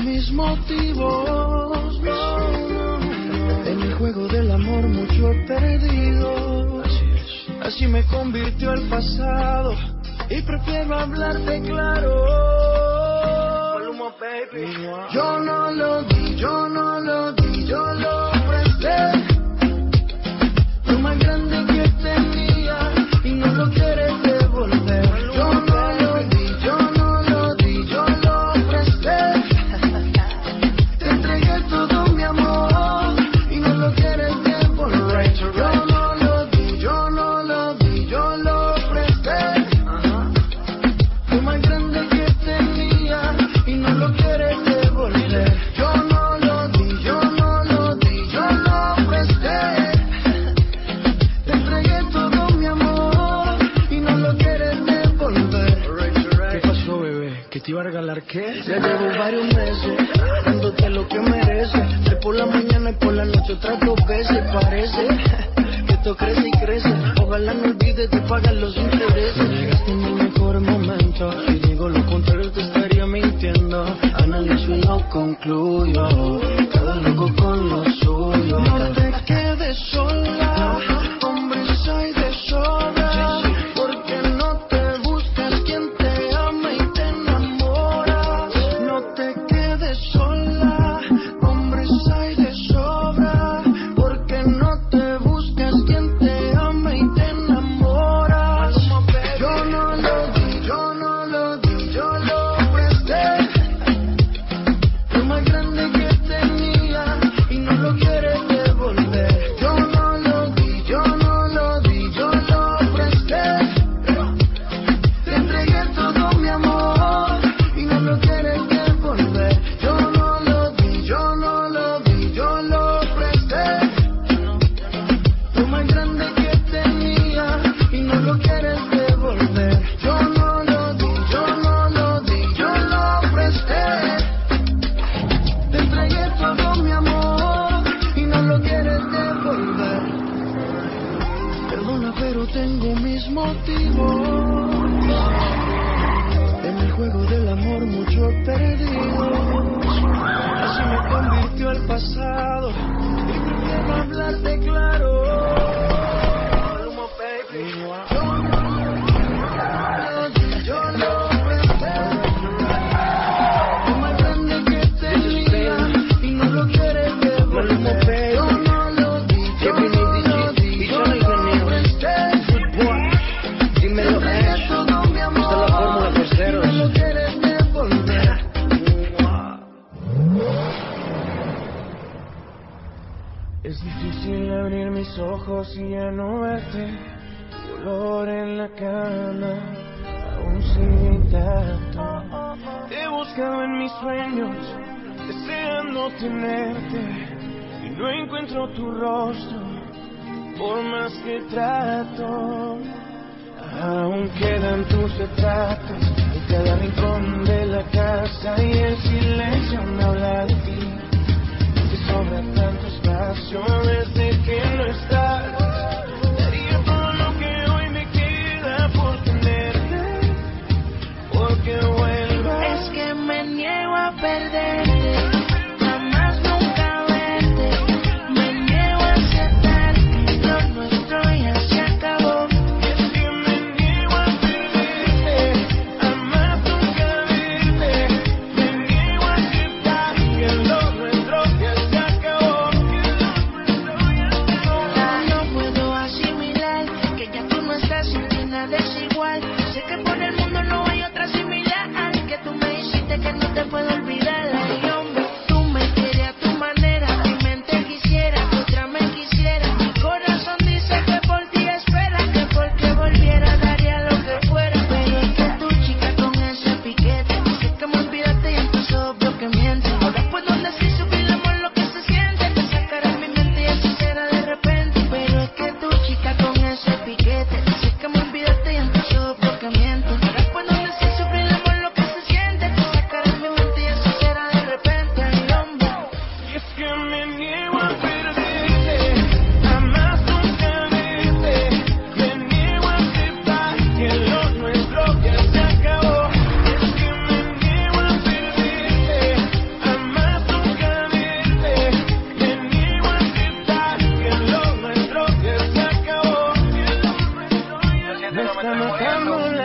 mis motivos. En el juego del amor mucho he perdido. Así es. Así me convirtió el pasado y prefiero hablarte claro. Baby. Yo no lo di, yo no lo di, yo lo presté. Lo más grande que tenía y no lo quieres devolver. Yo no lo di, yo no lo di, yo lo presté. Te entregué todo mi amor y no lo quieres devolver. Yo no lo di, yo no lo di, yo lo presté. Lo más grande que tenía y no lo quieres devolver. Yo no lo di, yo no lo di, yo lo presté. Te entregué todo mi amor y no lo quieres devolver. ¿Qué pasó, bebé? ¿Que te iba a regalar qué? Ya llevo varios meses dándote lo que mereces. De por la mañana y por la noche otras dos veces. Parece que esto crece y crece. Ojalá no olvides de pagar los intereses. Llegaste en el mejor momento. Si digo lo contrario te estaría mintiendo. Analizo y no concluyo. Cada loco con lo suyo. No te quedes sola, hombres hay de sobra. Porque no te buscas quien te ama y te enamora. No te quedes sola, hombres hay de sobra. Porque no te buscas quien te ama y te enamora. Yo no lo di, yo no lo di, yo lo presté. Lo más grande que tenía y no lo quieres devolver. Yo no lo di, yo no lo di, yo lo presté. Te entregué todo mi amor y no lo quieres devolver. Yo no lo di, yo no lo di, yo lo presté. Lo más grande que tenía y no lo quieres devolver. Yo no lo di, yo no lo di, yo lo presté. Te entregué todo mi amor y no lo quieres devolver. Perdona, pero tengo mis motivos. En el juego del amor mucho he perdido. Así me convirtió el pasado y prefiero hablarte claro. Maluma, baby. Yo no lo di, yo lo presté. Lo más grande que tenía y no lo quieres devolver. Yo no lo di, yo no lo di, yo lo presté. Dímelo, Entregué todo mi amor esta es la fórmula, y parceros. no lo quieres devolver. Es difícil abrir mis ojos y ya no verte. Tu olor en la cama aún sigue intacto. Te he buscado en mis sueños, deseando tenerte, y no encuentro tu rostro, por más que trato. Aún quedan tus retratos en cada rincón de la casa, y el silencio me habla de ti. Te sobra tanto espacio desde que no estás. Daría todo lo que hoy me queda por tenerte, porque vuelvas. Es que me niego a perderte, jamás nunca verte. Me niego a aceptar que lo nuestro ya se acabó. Es que me niego a perderte, jamás nunca verte. Me niego a aceptar que lo nuestro ya se acabó. No puedo asimilar que ya tú no estás y que nada es igual. Sé que por el mundo no hay otra similar. Que tú me hiciste que no te puedo olvidar. Ay, hombre, tú me quieres a tu manera. Mi mente quisiera, otra me quisiera. Mi corazón dice que por ti espera, que porque volviera daría lo que fuera. Pero es que tu chica con ese piquete dice que me olvidaste y entonces obvio que miente. Ahora puedo decir subir el amor lo que se siente. Te sacará mi mente y así será de repente. Pero es que tu chica con ese piquete dice que me olvidaste y entonces obvio que miente. Ahora puedo decir subir el amor lo que se siente. Te sacará mi mente y así será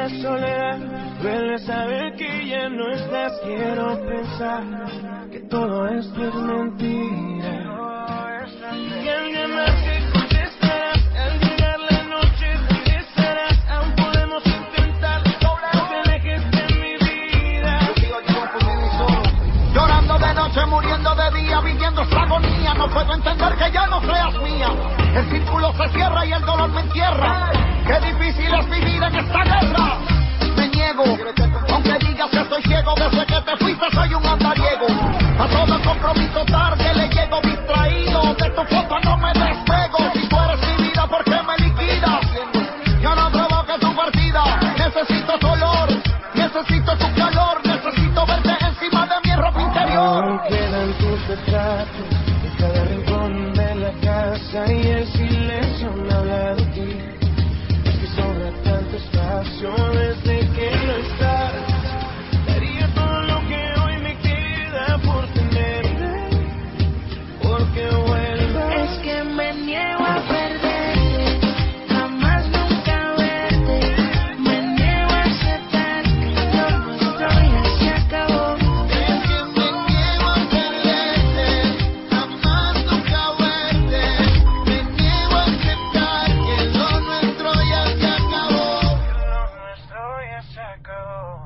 la soledad, duele saber que ya no estás. Quiero pensar que todo esto es mentira. Y alguien más te contestará. Al llegar la noche regresarás. Aún podemos intentar. No te alejes de mi vida. Llorando de noche, muriendo de día, viviendo esta agonía. No puedo entender que ya no seas mía. El círculo se cierra y el dolor me entierra. Qué difícil es vivir en esta guerra. Me niego, aunque digas que estoy ciego. Desde que te fuiste soy un andariego. A todo compromiso tarde le llego distraído. De tu foto no me despego. Si tú eres mi vida, ¿por qué me liquidas? Yo no provoque tu partida. Necesito tu olor, necesito tu calor. Necesito verte encima de mi ropa interior. Aún quedan tus retratos en cada rincón de la casa. Y el silencio me habla de ti. Es que sobra tanto espacio desde que no estás. Daría todo lo que hoy me queda por tenerte, porque vuelvas. Es que me niego a perderte, jamás nunca verte. Me niego a aceptar que lo nuestro ya se acabó. Es que me niego a perderte, jamás nunca verte. Me niego a aceptar que lo nuestro ya se acabó. Lo nuestro ya se acabó.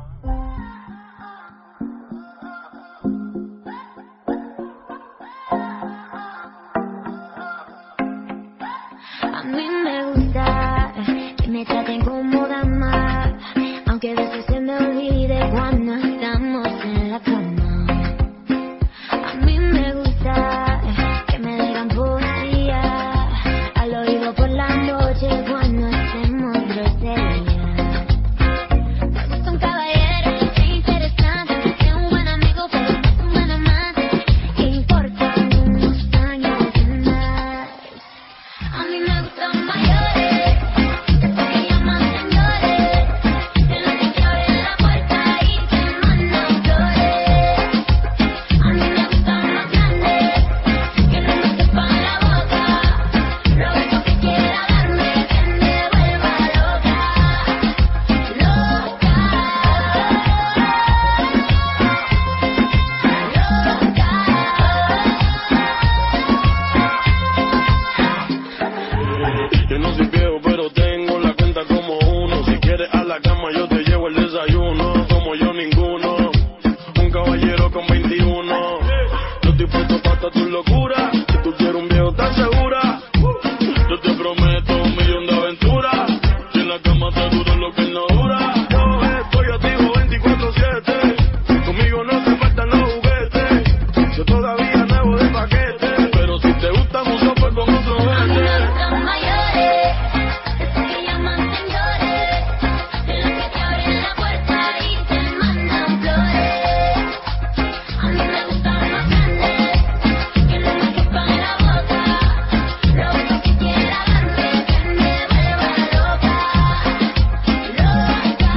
A mí me gusta que me traten como dama, aunque a veces se me olvide cuando estamos en la cama. A mí me gusta que me digan poesía al oído por la noche cuando estemos grosería. Me gusta un caballero que sea interesante, que sea un buen amigo pero no es un buen amante, que importan unos años de más. A mí me gustan mayores, esos que llaman señores, que los que te abren la puerta y te mandan flores. A mí me gustan más grandes, que no me sepan la boca, lo único que quiera darme que me vuelva loca, loca, Yo no soy viejo, pero tengo la cuenta como uno. Si quieres a la cama, yo te llevo el desayuno. Como yo, ninguno. Un caballero con veintiuno. Yo estoy puesto para tu locura. Si tú quieres un viejo, ¿estás segura? Yo te prometo un millón de aventuras. Si en la cama te dura lo que él no dura. Yo estoy activo veinticuatro siete. Conmigo no te faltan los juguetes. Yo todavía nuevo de paquete. Pero si te gusta mucho, pues con otro a mí me vete. gustan mayores, esos que llaman señores, de los que te abren la puerta y te mandan flores. A mí me gustan más grandes, que no me quepan la boca, lo único que quiera darme que me vuelva loca, loca,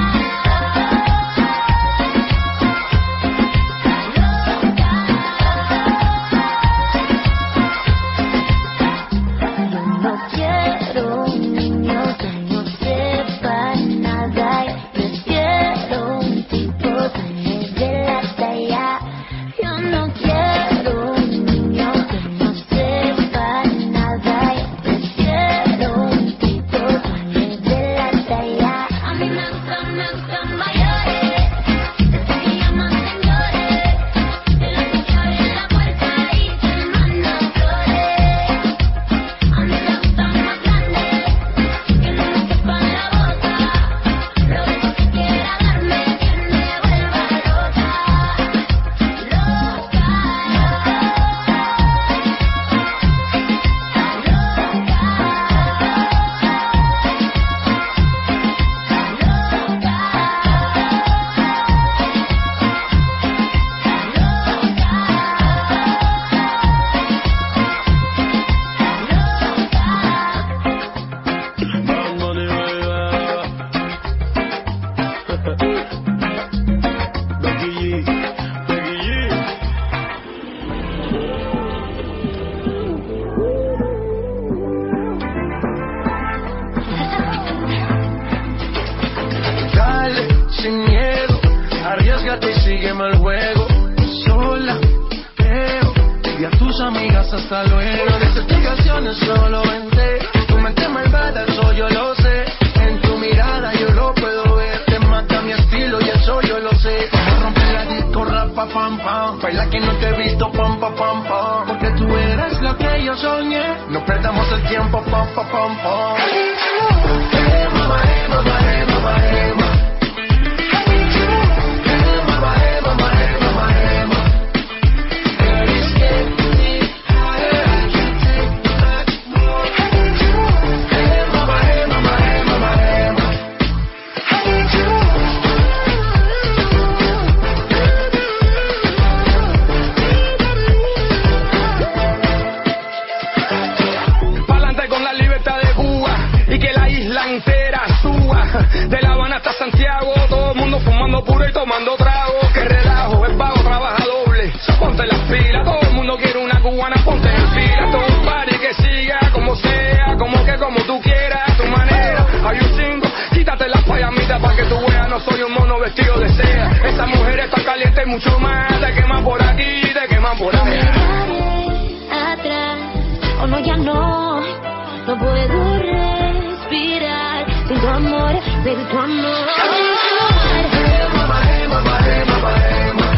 Yo no quiero un niño que no sepa nada. Yo prefiero un tipo que me dé la talla. Yo no quiero un niño que no sepa nada. Yo prefiero un tipo que me dé la talla. A mí me gustan, me gustan mayores, esos que llaman señores, de los que te abren la puerta y te mandan flores. A mí me gustan más grandes, que no me quepan la boca, lo único que quiera darme que me vuelva loca, loca, Bad Bunny, baby. Becky G, Becky G. Ya Arriesgate y sígueme el juego. Sola, pero y a tus amigas hasta luego. No des explicaciones, solo vente. Tu mente malvada, eso yo lo sé. En tu mirada yo lo puedo ver. Te mata mi estilo y eso yo lo sé. Vamos a romper la disco, rapa, pam, pam. Baila que no te he visto, pam, pam, pam, pam. Porque tú eres lo que yo soñé. No perdamos el tiempo, pam, pam, pam, pam. Hey, mama, hey, mama, hey, mama, hey, mama. De La Habana hasta Santiago, todo el mundo fumando puro y tomando trago. Que relajo, es vago, trabaja doble. Ponte las pilas, todo el mundo quiere una cubana, ponte en fila. Todo un party que siga, como sea, como que como tú quieras, a tu manera. Hay un cinco, quítate las payamitas pa' que tú veas, no soy un mono vestido de seda. Esa mujer está caliente y mucho más, te queman por aquí, te queman por allá. Atrás, o no, ya no, no puedo respirar sin tu amor, sin tu amor. Hey, mama, hey, mama, hey, mama, hey, mama.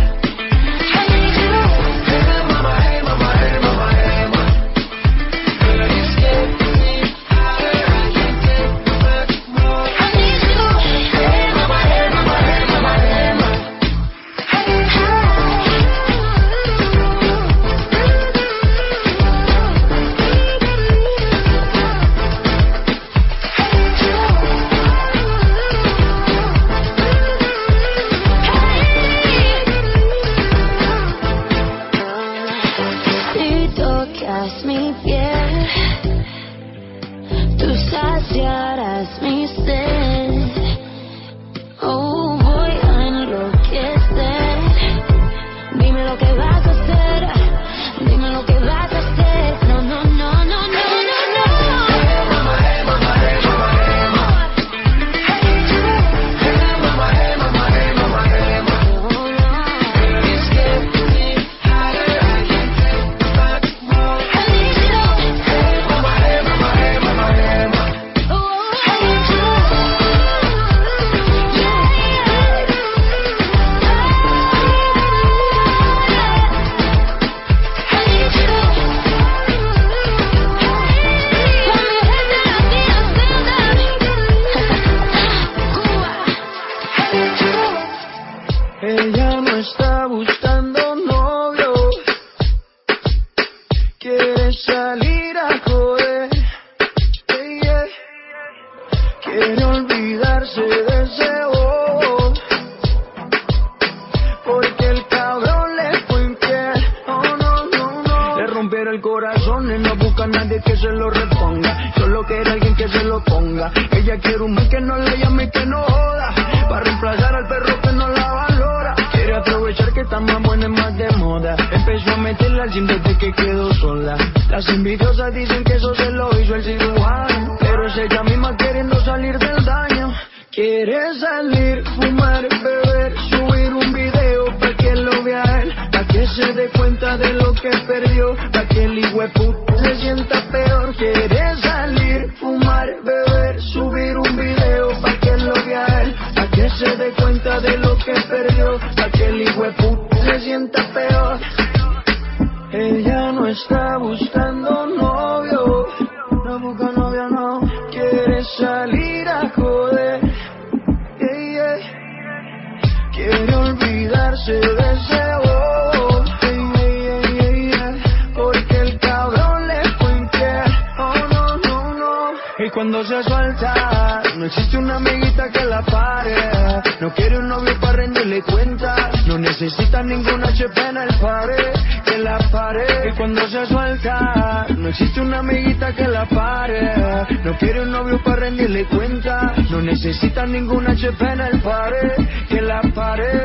Cuando se suelta, no existe una amiguita que la pare. No quiere un novio para rendirle cuenta. No necesita ninguna H P en el pare, que la pare. Y cuando se suelta, no existe una amiguita que la pare. No quiere un novio para rendirle cuenta. No necesita ninguna H P en el pare, que la pare.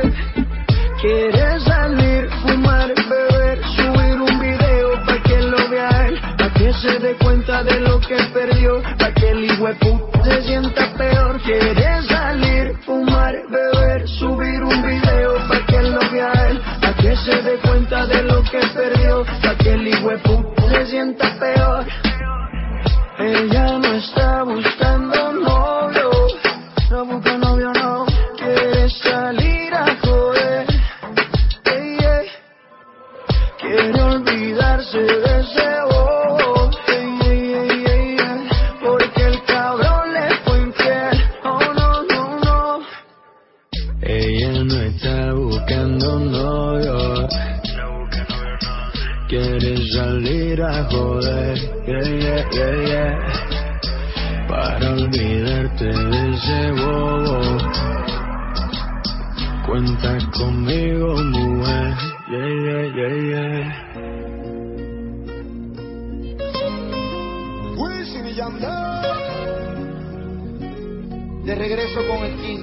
Quiere salir, fumar, beber, subir un video pa' que lo vea él, pa' que se dé cuenta de lo que perdió, pa' que el hijueputa se sienta peor. Quiere salir, fumar, beber, subir un video pa' Ella no está buscando novio, quiere salir a joder, yeah, yeah, yeah, yeah. Para olvidarte de ese bobo, cuenta conmigo, mujer, yeah, yeah, yeah, yeah. Wisin y Yandel, de regreso con el King.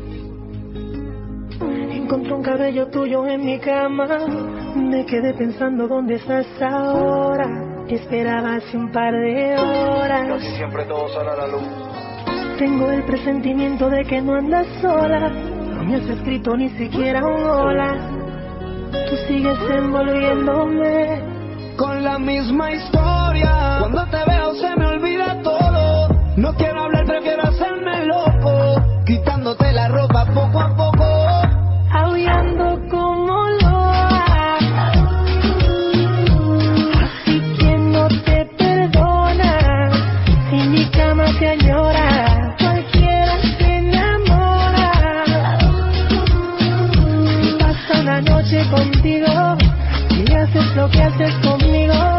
Encontré un cabello tuyo en mi cama, me quedé pensando dónde estás ahora. Te esperaba hace un par de horas. Casi siempre todo sale a la luz. Tengo el presentimiento de que no andas sola, no me has escrito ni siquiera un hola. Tú sigues envolviéndome con la misma historia. Cuando te veo se me olvida todo. No quiero hablar, prefiero hacerme loco, quitándote la ropa poco a poco, aullando como loa. Así que no te perdona, si mi cama te añora, cualquiera se enamora. Si pasa una noche contigo y haces lo que haces conmigo,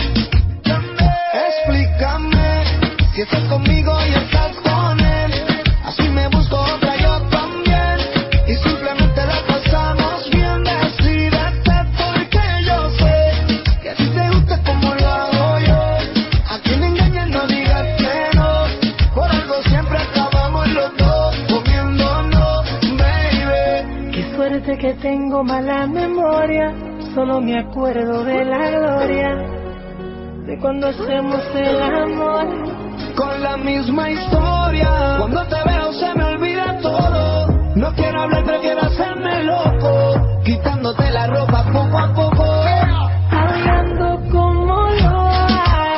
explícame si estás conmigo y estás con él. Así me busco otra yo también, y simplemente la pasamos bien. Decídete porque yo sé que a ti te gusta como lo hago yo. A quien engañes no digas que no, por algo siempre acabamos los dos comiéndonos, baby. Qué suerte que tengo mala memoria, solo me acuerdo de la gloria de cuando hacemos el amor. Con la misma historia, cuando te veo se me olvida todo. No quiero hablar, prefiero hacerme loco, quitándote la ropa poco a poco, hablando como loa.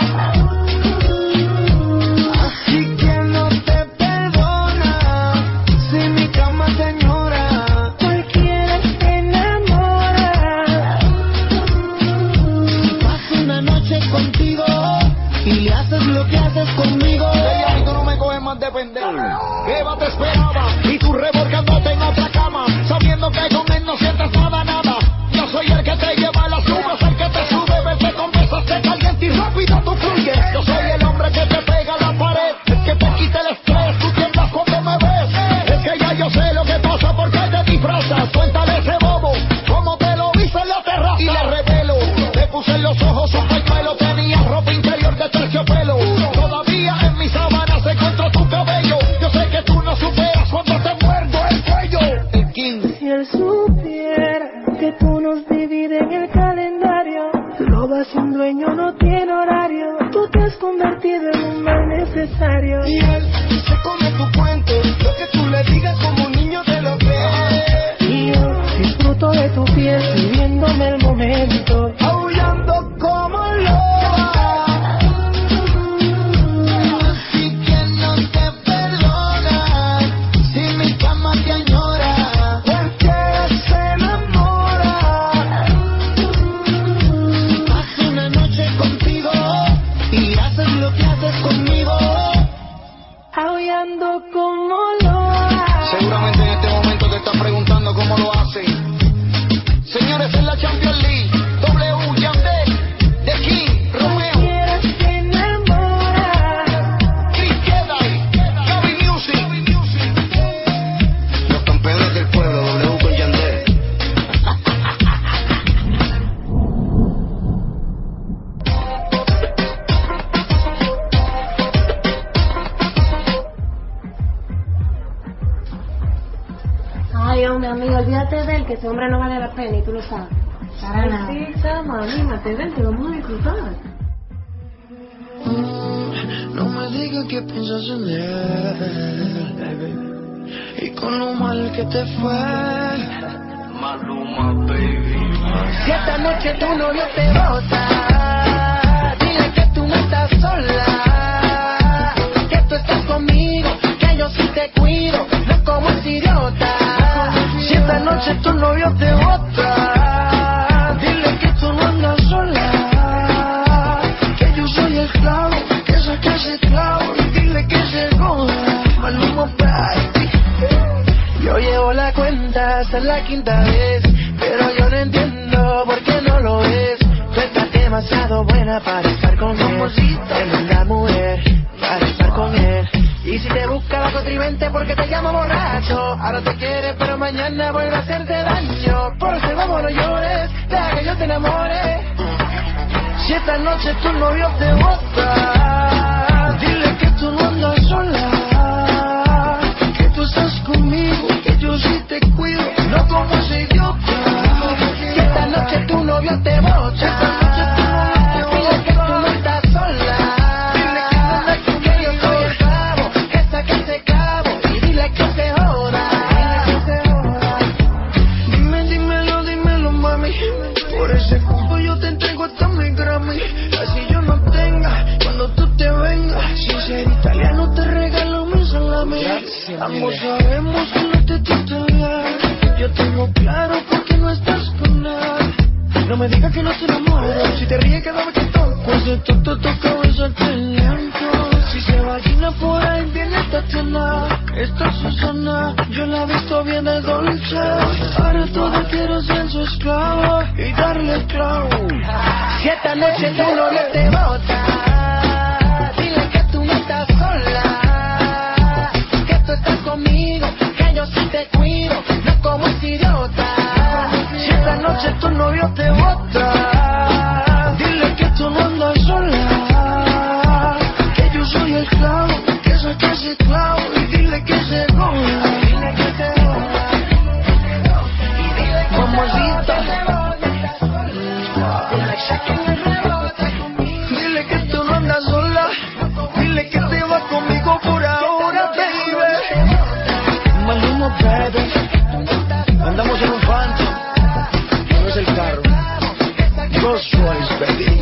Así que no te perdona, si mi cama te añora, cualquiera se enamora. Si paso una noche contigo y le haces lo que haces conmigo, ella y tú no me coges más de pendejo. Eva te esperaba y tú revolcándote en otra cama, sabiendo que con él no sientes nada, nada. Yo soy el que te lleva a las nubes, el que te sube, vete con besos, te caliente y rápido tú fluyes. Yo soy el hombre que te pega a la pared, el que te quita el estrés, tú tiemblas cuando me ves. Es que ya yo sé lo que pasa porque te disfrazas. Cuéntale ese bobo, cómo te lo viste en la terraza. Y le revelo, te puse en los ojos un pañuelo, tenía ropa interior de terciopelo. Todavía en mis sábanas se encontró tu cabello. Yo sé que tú no superas cuando te muerdo el cuello. El King. Si él supiera que tú nos divides en el calendario, roba sin dueño, no tiene horario. Tú te has convertido en un mal necesario. Y él se come tu cuento, lo que tú le digas como un niño te lo cree. Y yo disfruto de tu piel, viviéndome el momento, aullando como loa. Así que no te perdona, si mi cama te añora, cualquiera se enamora. Paso una noche contigo y haces lo que haces conmigo, aullando como loa. seguramente en este momento te estás preguntando cómo lo hacen. Señores, en la Champions League, W, Yandel, The King, Romeo, Cualquiera se enamora. Chris Jedi, Gaby Music, los campeones del pueblo, W con Yandel. Ay, hombre, amigo, olvídate de él, que ese hombre no vale la pena y tú lo sabes. Para nada. Sí, chama, anímate, ven, te vamos a disfrutar. No me digas que piensas en él, baby, y con lo mal que te fue. Maluma, baby. Si esta noche tu novio te bota, dile que tú no estás sola, que tú estás conmigo, que yo sí te cuido, no como ese idiota. Si esta noche tu novio te bota, dile que tú no andas sola, que yo soy el clavo, que saque ese clavo y dile que se joda. Maluma, baby. Yo llevo la la cuenta, esta es la quinta vez, pero yo no entiendo por qué no lo ves. Tú estás demasiado buena para estar con él, tremenda mujer para estar con él. Y si te busca la contrivente porque te llamo borracho, ahora te quiere pero mañana vuelve a hacerte daño. Por eso vamos, no llores, deja que yo te enamore. Si esta noche tu novio te bota, dile que tú no andas sola, que tú estás conmigo, que yo sí te cuido, no como ese idiota. Si esta noche tu novio te bota, dile que tú no estás sola, que yo soy el clavo, que saque ese clavo, y dile que se joda. Dime, dímelo, dímelo, mami, por ese cupo yo te entrego hasta mi Grammy. Así yo no tenga, cuando tú te vengas, sin ser italiano te regalo mi salami. Ambos sabemos que no te trata bien, yo tengo claro por qué no estás con él. No me digas que no te enamoro, si te ríes cada vez que toco, pues de todo toca besarte lento. Si se vagina por ahí viene Tatiana, esta Susana, yo la he visto bien de dolce. Ahora todo quiero ser su esclavo y darle clavo. Si esta noche tu novio te bota, dile que tú no estás sola, que tú estás conmigo, que yo sí te cuido, no como ese idiota. Si esta noche tu novio te bota, dile que tú no andas sola, que yo soy el clavo, que saque ese clavo y dile que se joda. Dile que se joda. Y dile que mamacita. Dile que tú no andas sola, dile que te vas conmigo por ahora, baby. Maluma, baby. Andamos en un Phantom, no es el carro. Rolls Royce, baby.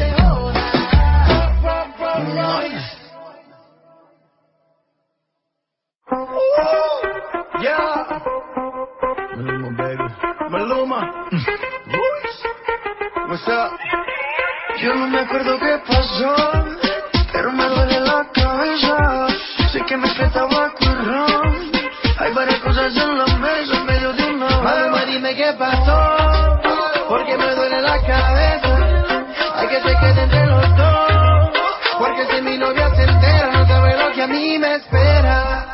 Yeah. Maluma, baby. Maluma. What's up? Yo no me acuerdo qué pasó, pero me duele la cabeza. Sé que me faltaba currón. Hay varias cosas en la mesa en medio de una. Maluma, dime qué pasó, porque me duele la cabeza. Hay que se quede entre los dos, porque si mi novia se entera no sabe lo que a mí me espera.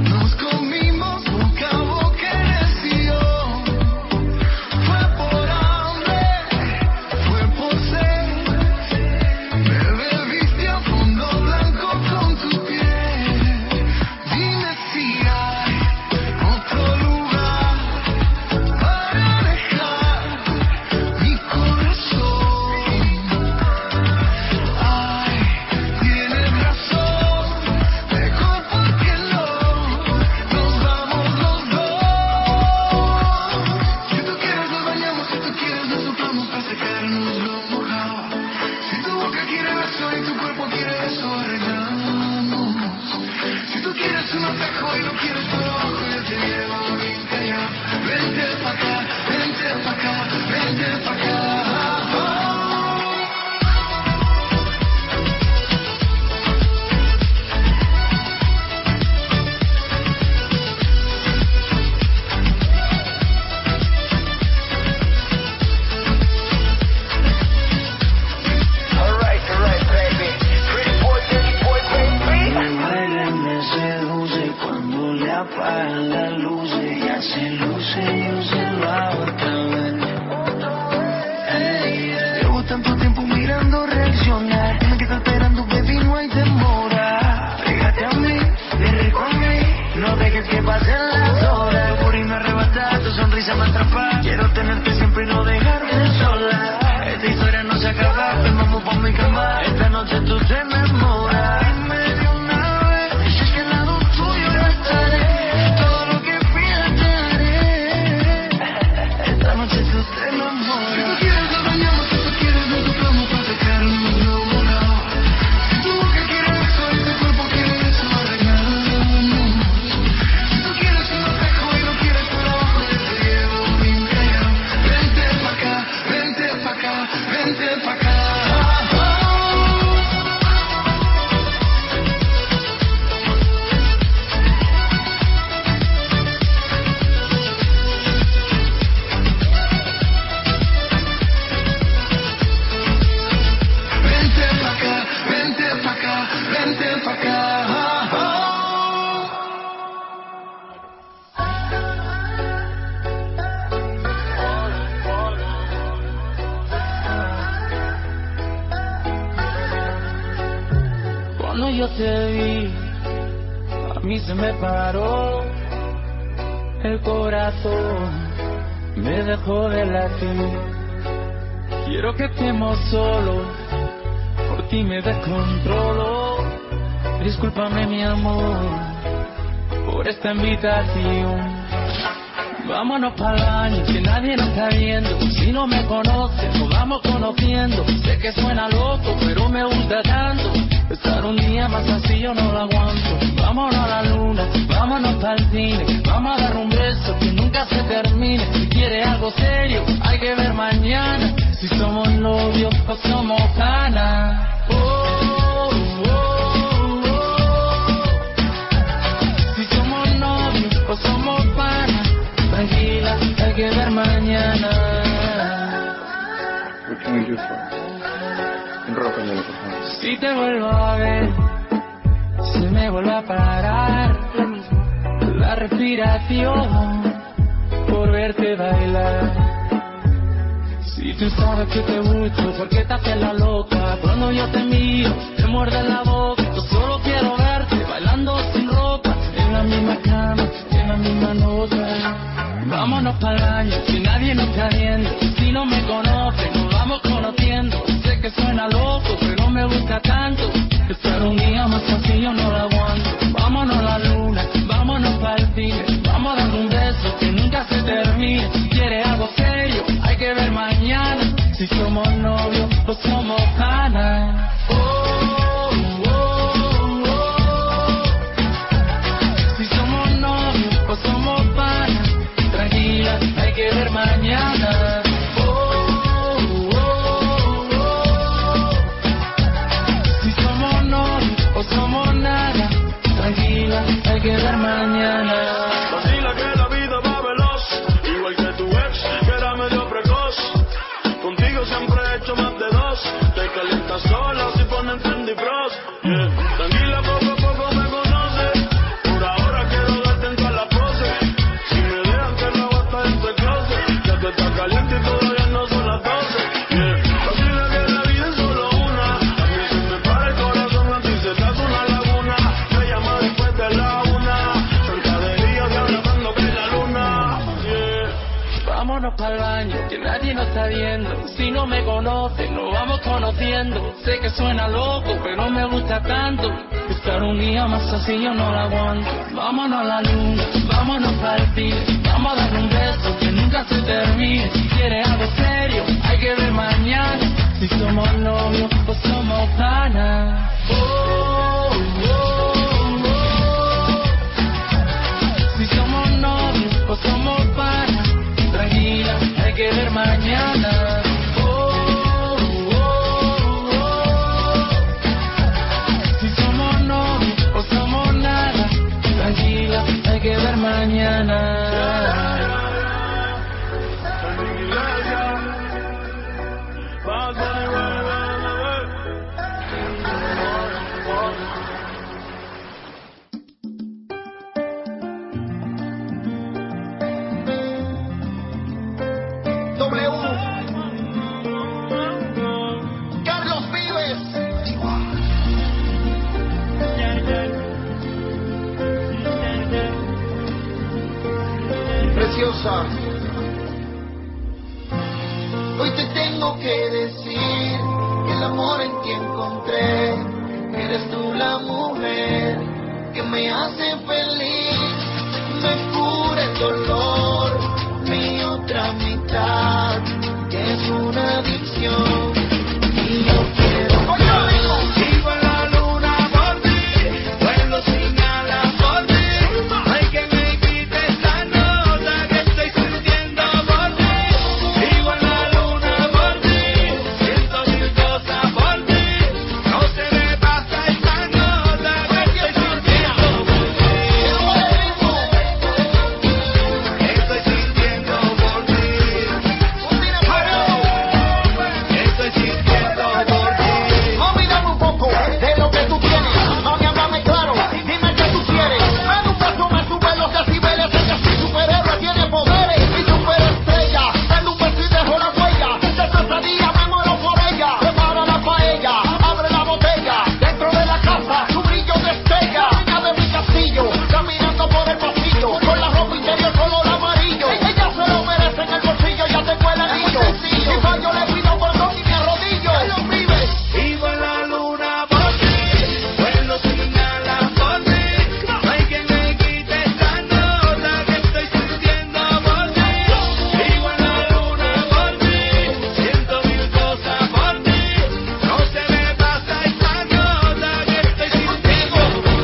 Fue por secarnos lo mojado. Si tu boca quiere beso y tu cuerpo quiere eso, arreglamos. Si tú quieres un atajo y no quieres por abajo, yo te llevo bien callado. Vente pa' acá, vente pa' acá, vente pa' acá. Apagan las luces, ya se luce, luce la otra vez. Hey, yeah. Llevo tanto tiempo mirando reaccionar, me quedo esperando, baby, no hay demora. Pégate a mí, ven con mí, no dejes que pasen las horas. Tu purina arrebatada, tu sonrisa me atrapa. Quiero tenerte siempre y no dejarte sola. Esta historia no se acaba, ven, vamos pa' mi cama. Esta noche tú te enamoras. Cuando yo te vi, a mí se me paró el corazón, me dejó de latir. Quiero que estemos solos, por ti me descontrolo. Discúlpame mi amor, por esta invitación. Vámonos para el baño, que nadie nos está viendo. Si no me conoces, nos vamos conociendo. Sé que suena loco, pero me gusta tanto. Estar un día más así yo no lo aguanto. Vámonos a la luna, vámonos para el cine. Vamos a dar un beso que nunca se termine. Si quieres algo serio, hay que ver mañana. Si somos novios o somos canas. Oh, oh, oh, oh. Si somos novios o somos panas. Tranquila, hay que ver mañana. What can we do for you? Enrócame, por favor. Si te vuelvo a ver, se me vuelve a parar la respiración por verte bailar. Si tú sabes que te gusto, ¿por qué te haces la loca? Cuando yo te miro, te muerde la boca. Yo solo quiero verte bailando sin ropa, en la misma cama, en la misma nota. Vámonos para el baño, que nadie nos está viendo. Si no me conoces, nos vamos conociendo. Sé que suena loco, pero me gusta tanto. Estar un día más así yo no lo aguanto. Vámonos a la luna, vámonos para el cine. Vamos a dar un beso que nunca se termine. Si quieres algo serio, hay que ver mañana. Si somos novios o somos canas. Oh, oh, oh, oh. Si somos novios o somos panas. Tranquila, hay que ver mañana. Oh, oh, oh, oh. Si somos novios o somos nada. Tranquila, hay que ver mañana. Vacila que la vida va veloz, igual que tu ex, que era medio precoz. Contigo siempre he hecho más de dos. Te calientas sola si ponen trendy bros. Yeah. Tranquila, poco a poco me conoces. Por ahora quiero darte en todas las poses. Si me dejan que la bata en tu closet, ya que está caliente y todavía no son las doce. Yeah. Vacila que la vida es solo una. A mí se me para el corazón, a ti se te hace una laguna. Me llama después de la una. Cerca de día y ahora cuando cae la luna. Yeah. Vámonos para el baño, que nadie nos está viendo. Si no me conoces, nos vamos conociendo. Sé que suena loco, pero me gusta tanto. Estar un día más así yo no lo aguanto. Vámonos a la luna, vámonos para el cine. Vamos a dar un beso que nunca se termine. Si quieres algo serio, hay que ver más. Si somos novios o somos panas. Oh, oh, oh. Si somos novios o somos panas. Tranquila, hay que ver mañana. Oh, oh, oh. Si somos novios o somos nada. Tranquila, hay que ver mañana. Hoy te tengo que decir que el amor en ti encontré, que eres tú la mujer que me hace feliz, me cura el dolor, mi otra mitad, que es una adicción, y yo quiero. Sigo en la luna por ti, vuelo sin alas por ti, hay que me quite esta nota que estoy sintiendo por ti. Sigo en la luna por ti, siento mil cosas por ti, no se me pasa esta nota que estoy sintiendo por ti. Estoy sintiendo por ti. Estoy sintiendo por ti. Mami, dame un poco de lo que tú tienes. Mami, háblame claro, dime qué tú quieres. Me da un beso, me sube los decibeles. Ella sí superhéroe, tiene poderes y superestrella. Dale un beso y dejo la huella. De pesadilla me muero por ella. Prepara la paella, abre la botella. Dentro de la casa, su brillo destella. Dueña de mi castillo, caminando por el pasillo, con la ropa interior color amarillo. Ella se lo merece en el bolsillo, ya tengo el anillo. Si fallo le pido perdón y me arrodillo. Vivo en la luna por ti, vuelo sin alas por ti, no hay quien me quite esta nota que estoy sintiendo por ti. Vivo en la luna por ti, siento mil cosas por ti, no se me pasa esta nota que estoy sintiendo por ti.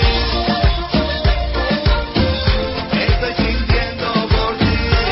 Estoy sintiendo por ti.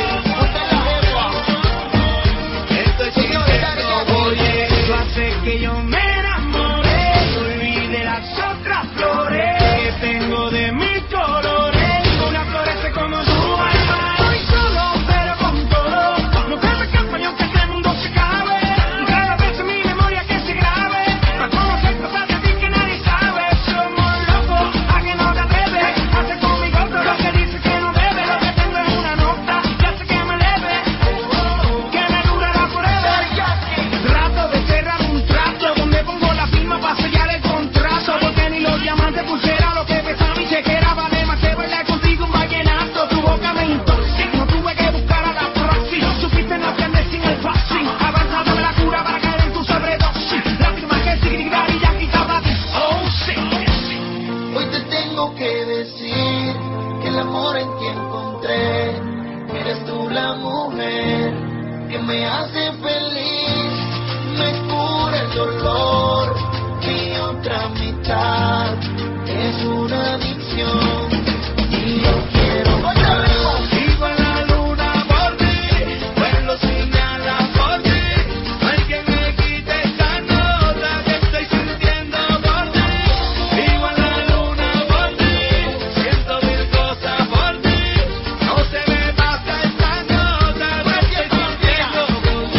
Estoy sintiendo por ti. Tú haces que yo me enamore, olvide las otras flores que tengo de mil colores. Una florece como tú, alma. Hoy solo, pero con todo. No te me escapas ni aunque este mundo se acabe. Cada vez en mi memoria que se grabe. Para conocer cosas de ti que nadie sabe. Somos locos, a que no te atreves. Hace conmigo todo lo que dices que no debes. Lo que tengo es una nota que hace que me eleve, que me durará forever. Trato de cerrar un trato donde pongo la firma para sellar el contrato, porque ni los diamantes pulsera lo que pesa mi chequera vale más que bailar contigo un vallenato. Tu boca me intoxica, no tuve que buscar a la proxy. Supiste no aprender sin el boxing, avanzado de la cura para caer en tu sobredosis. La firma que sigue y ya quitaba ti. Oh sí. Hoy te tengo que decir que el amor en ti encontré, que eres tú la mujer que me hace feliz, me cura el dolor, mi otra mitad es una adicción y yo quiero más. Vivo en la luna por ti, vuelo sin alas por ti, no hay quien me quite esta nota que estoy sintiendo por ti. Vivo en la luna por ti, siento mil cosas por ti, no se me pasa esta nota que estoy sintiendo por ti.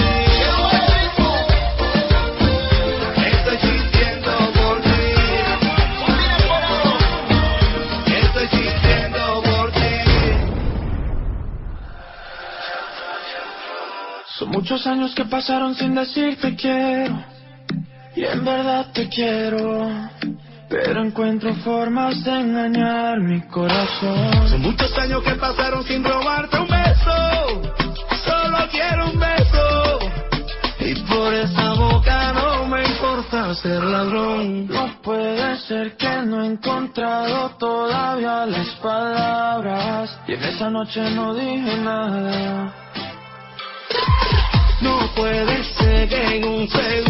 Estoy sintiendo por ti. Estoy sintiendo por ti. Son muchos años que pasaron sin decir te quiero, y en verdad te quiero, pero encuentro formas de engañar mi corazón. Son muchos años que pasaron sin robarte un beso, solo quiero un beso, y por esa boca no me importa ser ladrón. No puede ser que no he encontrado todavía las palabras, y en esa noche no dije nada. No puede ser que en un segundo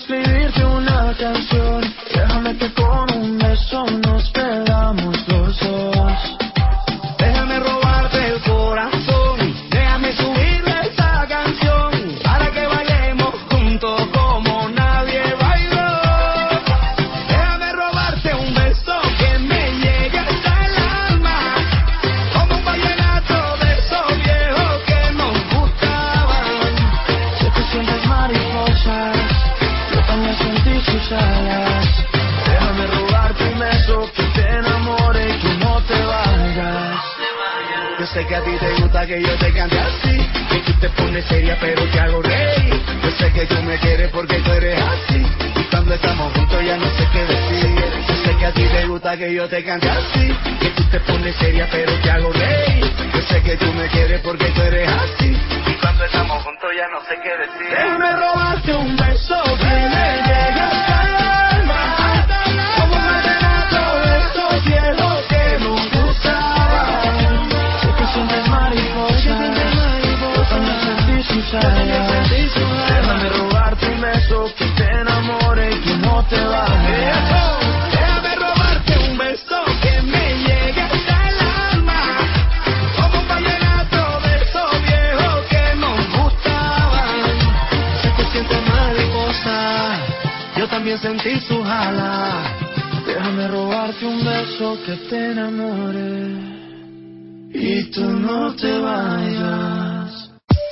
escribirte una canción. Déjame que con un beso nos perdamos los dos. Déjame robarte el corazón. Déjame subirle esta canción para que bailemos juntos como nadie bailó. Déjame robarte un beso que me llegue hasta el alma, como un vallenato de esos viejos que nos gustaban. Sé que sientes mariposas, yo también sentí sus alas. Déjame robarte un beso que te enamore y que no te vayas. Yo sé que a ti te gusta que yo te cante así, que tú te pones seria pero te hago reír. Yo sé que tú me quieres porque tú eres así, y cuando estamos juntos ya no sé qué decir. Yo sé que a ti te gusta que yo te cante así, que tú te pones seria pero te hago reír. Yo sé que tú me quieres porque tú eres así, y cuando estamos juntos ya no sé qué decir. Déjame robarte un beso que me llegue hasta el alma, como un vallenato de esos viejos que nos gustaban. Sé que sientes mariposas, yo también sentí sus alas. Déjame robarte un beso que te enamore y que no te vayas. Déjame robarte un beso que me llegue hasta el alma, como un vallenato de esos viejos que nos gustaban. Sé que sientes mariposa, yo también sentí sus alas. Déjame robarte un beso que te enamore y tú no te vayas.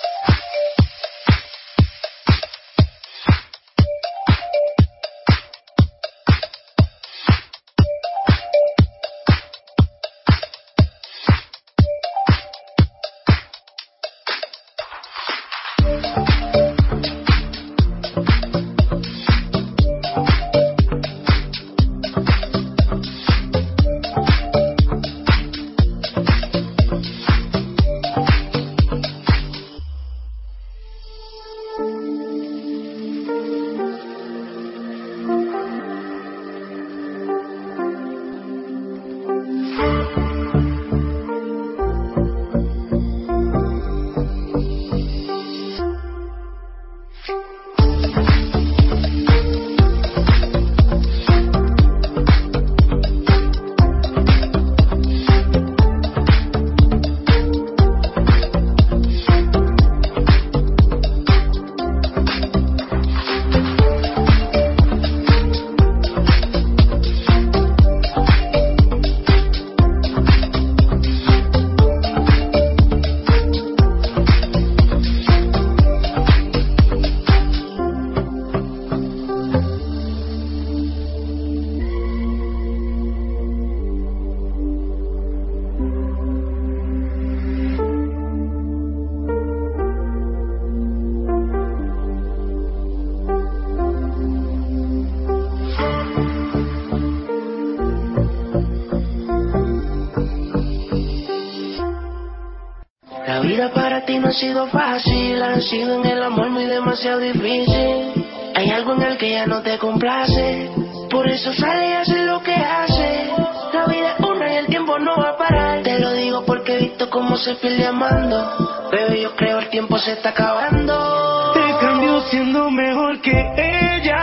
La vida para ti no ha sido fácil, ha sido en el amor muy demasiado difícil. Hay algo en el que ya no te complace, por eso sale y hace lo que hace. La vida es una y el tiempo no va a parar. Te lo digo porque he visto cómo se pierde amando. Bebé, yo creo el tiempo se está acabando. Te cambió siendo mejor que ella,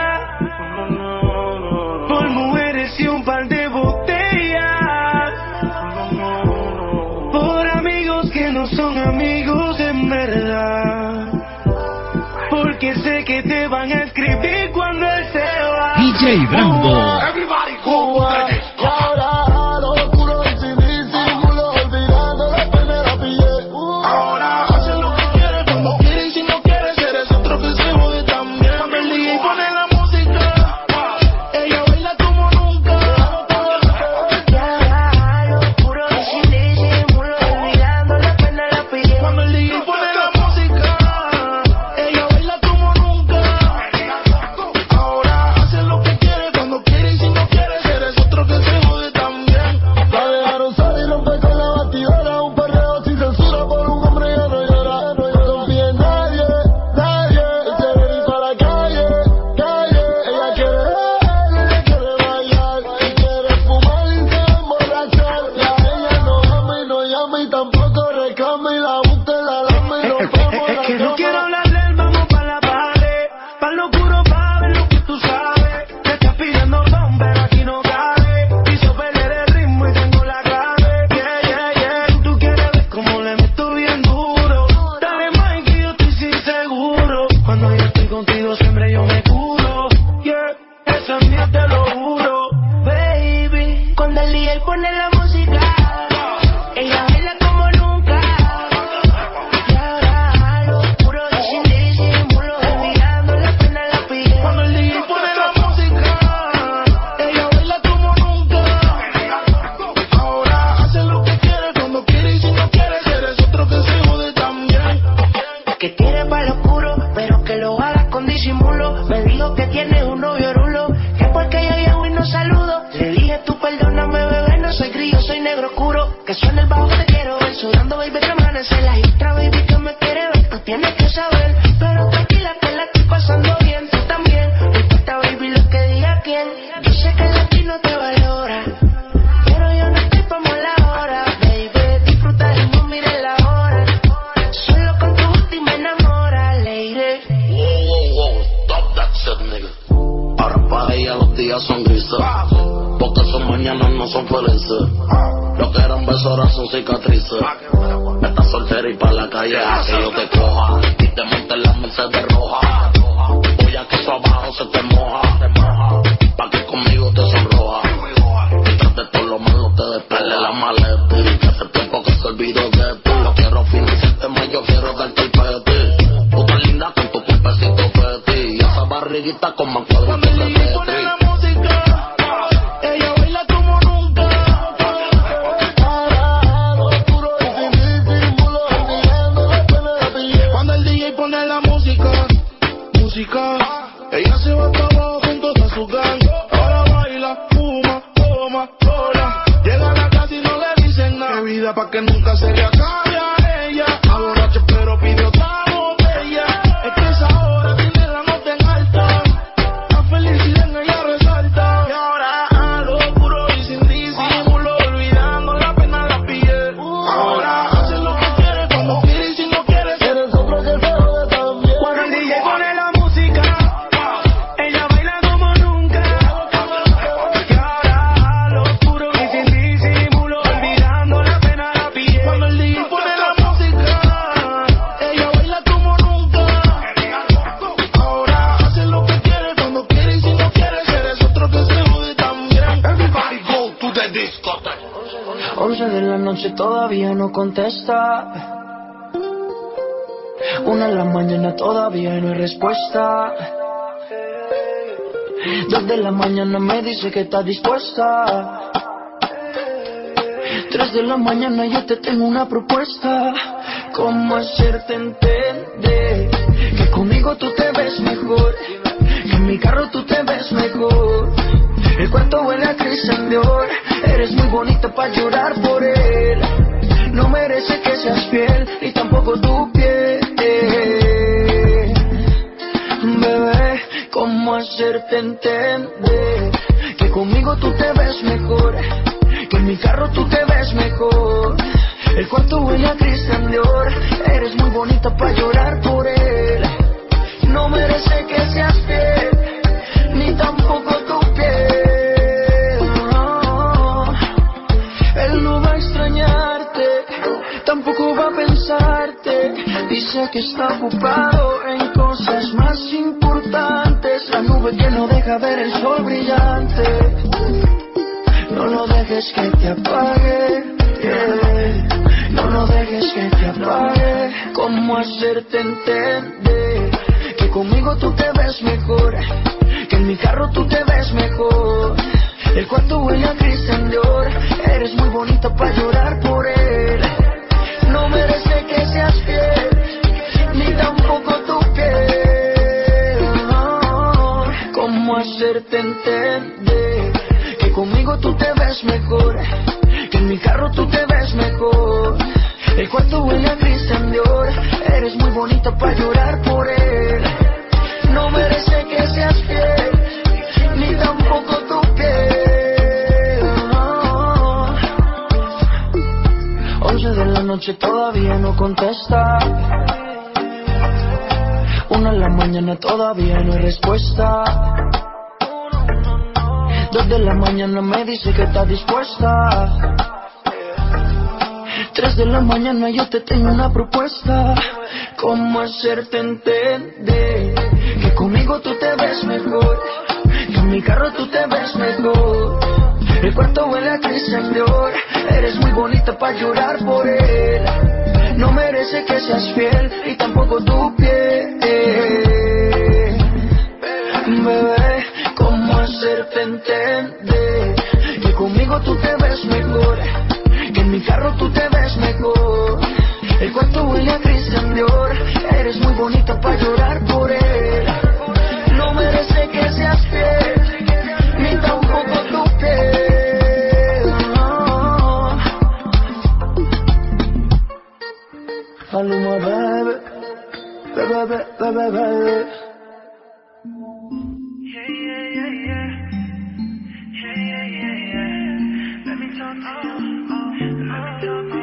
por mujeres y un par de botellas, por amigos que no son amigos en verdad, porque sé que te van a escribir cuando él se va. D J Brando. Everybody go. Ahora hace lo que quiere cuando quiere y si no quiere, eres otro vela y otra baby que me quiere ver, no tienes que saber. Pero tranquila que la estoy pasando bien, tú también. No importa baby lo que diga quién. Yo sé que el latino te valora, pero yo no estoy pa' mala hora. Baby, disfruta del mundo, mire la hora. Solo con tu última enamora, lady. Wow, wow, wow, stop that shit, nigga. Ahora pa' ella los días son grises, porque sus mañanas no son felices. Lo que eran besos ahora son cicatrices. Estás soltera y pa' la calle a que yo te coja y te monte en la Mercedes roja. Voy a que eso abajo se te moja, pa' que conmigo te sonroja. Mientras de todo lo malo te despele la maleta. Y que hace tiempo que se olvidó de ti. No quiero financiarte más, yo quiero darte el peti. Tú tan linda con tu cuerpecito peti y esa barriguita con más cuadritos de Tetris. Ella se va para abajo junto a su gang. Ahora baila, fuma, toma, sola. Llega a la casa y no le dicen nada. Bebida pa' que nunca se le acabe a ella. Aborracho pero pide otra botella. Es que esa hora tiene la nota en alta. La felicidad en ella resalta. Y ahora a lo puro y sin disimulo, olvidando la pena la piel. Ahora hace lo que quiere, cuando quiere y si no quiere. Eres otro que se jode también. Cuando el D J pone la once de la noche todavía no contesta. Una de la mañana todavía no hay respuesta. Dos de la mañana me dice que está dispuesta. Tres de la mañana yo te tengo una propuesta. ¿Cómo hacerte entender que conmigo tú te ves mejor? Que en mi carro tú te ves mejor. El cuarto huele a Christian Dior. Eres muy bonita pa' llorar por él. No merece que seas fiel, ni tampoco tu piel. Bebé, ¿cómo hacerte entender que conmigo tú te ves mejor? Que en mi carro tú te ves mejor. El cuarto huele a Christian Dior. Eres muy bonita pa' llorar por él. No merece que seas fiel, ni tampoco tu piel. Tampoco va a pensarte. Dice que está ocupado en cosas más importantes. La nube que no deja ver el sol brillante. No lo dejes que te apague, yeah. No lo dejes que te apague. ¿Cómo hacerte entender que conmigo tú te ves mejor? Que en mi carro tú te ves mejor. El cuarto huele a Christian Dior. Eres muy bonita pa' llorar por él. No merece que seas fiel, ni tampoco tu piel. No. ¿Cómo hacerte entender que conmigo tú te ves mejor? Que en mi carro tú te ves mejor. El cuarto huele a Christian Dior. Eres muy bonita pa' llorar por él. No merece que seas fiel, ni tampoco tu piel. No. Once de la noche todavía no contesta. Una de la mañana todavía no hay respuesta. Dos de la mañana me dice que está dispuesta. Tres de la mañana yo te tengo una propuesta. ¿Cómo hacerte entender que conmigo tú te ves mejor? Que en mi carro tú te ves mejor. El cuarto huele a Christian Dior. Eres muy bonita pa' llorar por él. No merece que seas fiel, y tampoco tu piel. Bebé, ¿cómo hacerte entender que conmigo tú te ves mejor? Que en mi carro tú te ves mejor. El cuarto huele a Christian Dior. Eres muy bonita pa' llorar por él. No merece que seas fiel, ni tampoco tu piel. No. Maluma, baby, baby, baby, baby. Yeah, yeah, yeah, yeah. Yeah, yeah, yeah, yeah. Let me talk to you. Let me talk to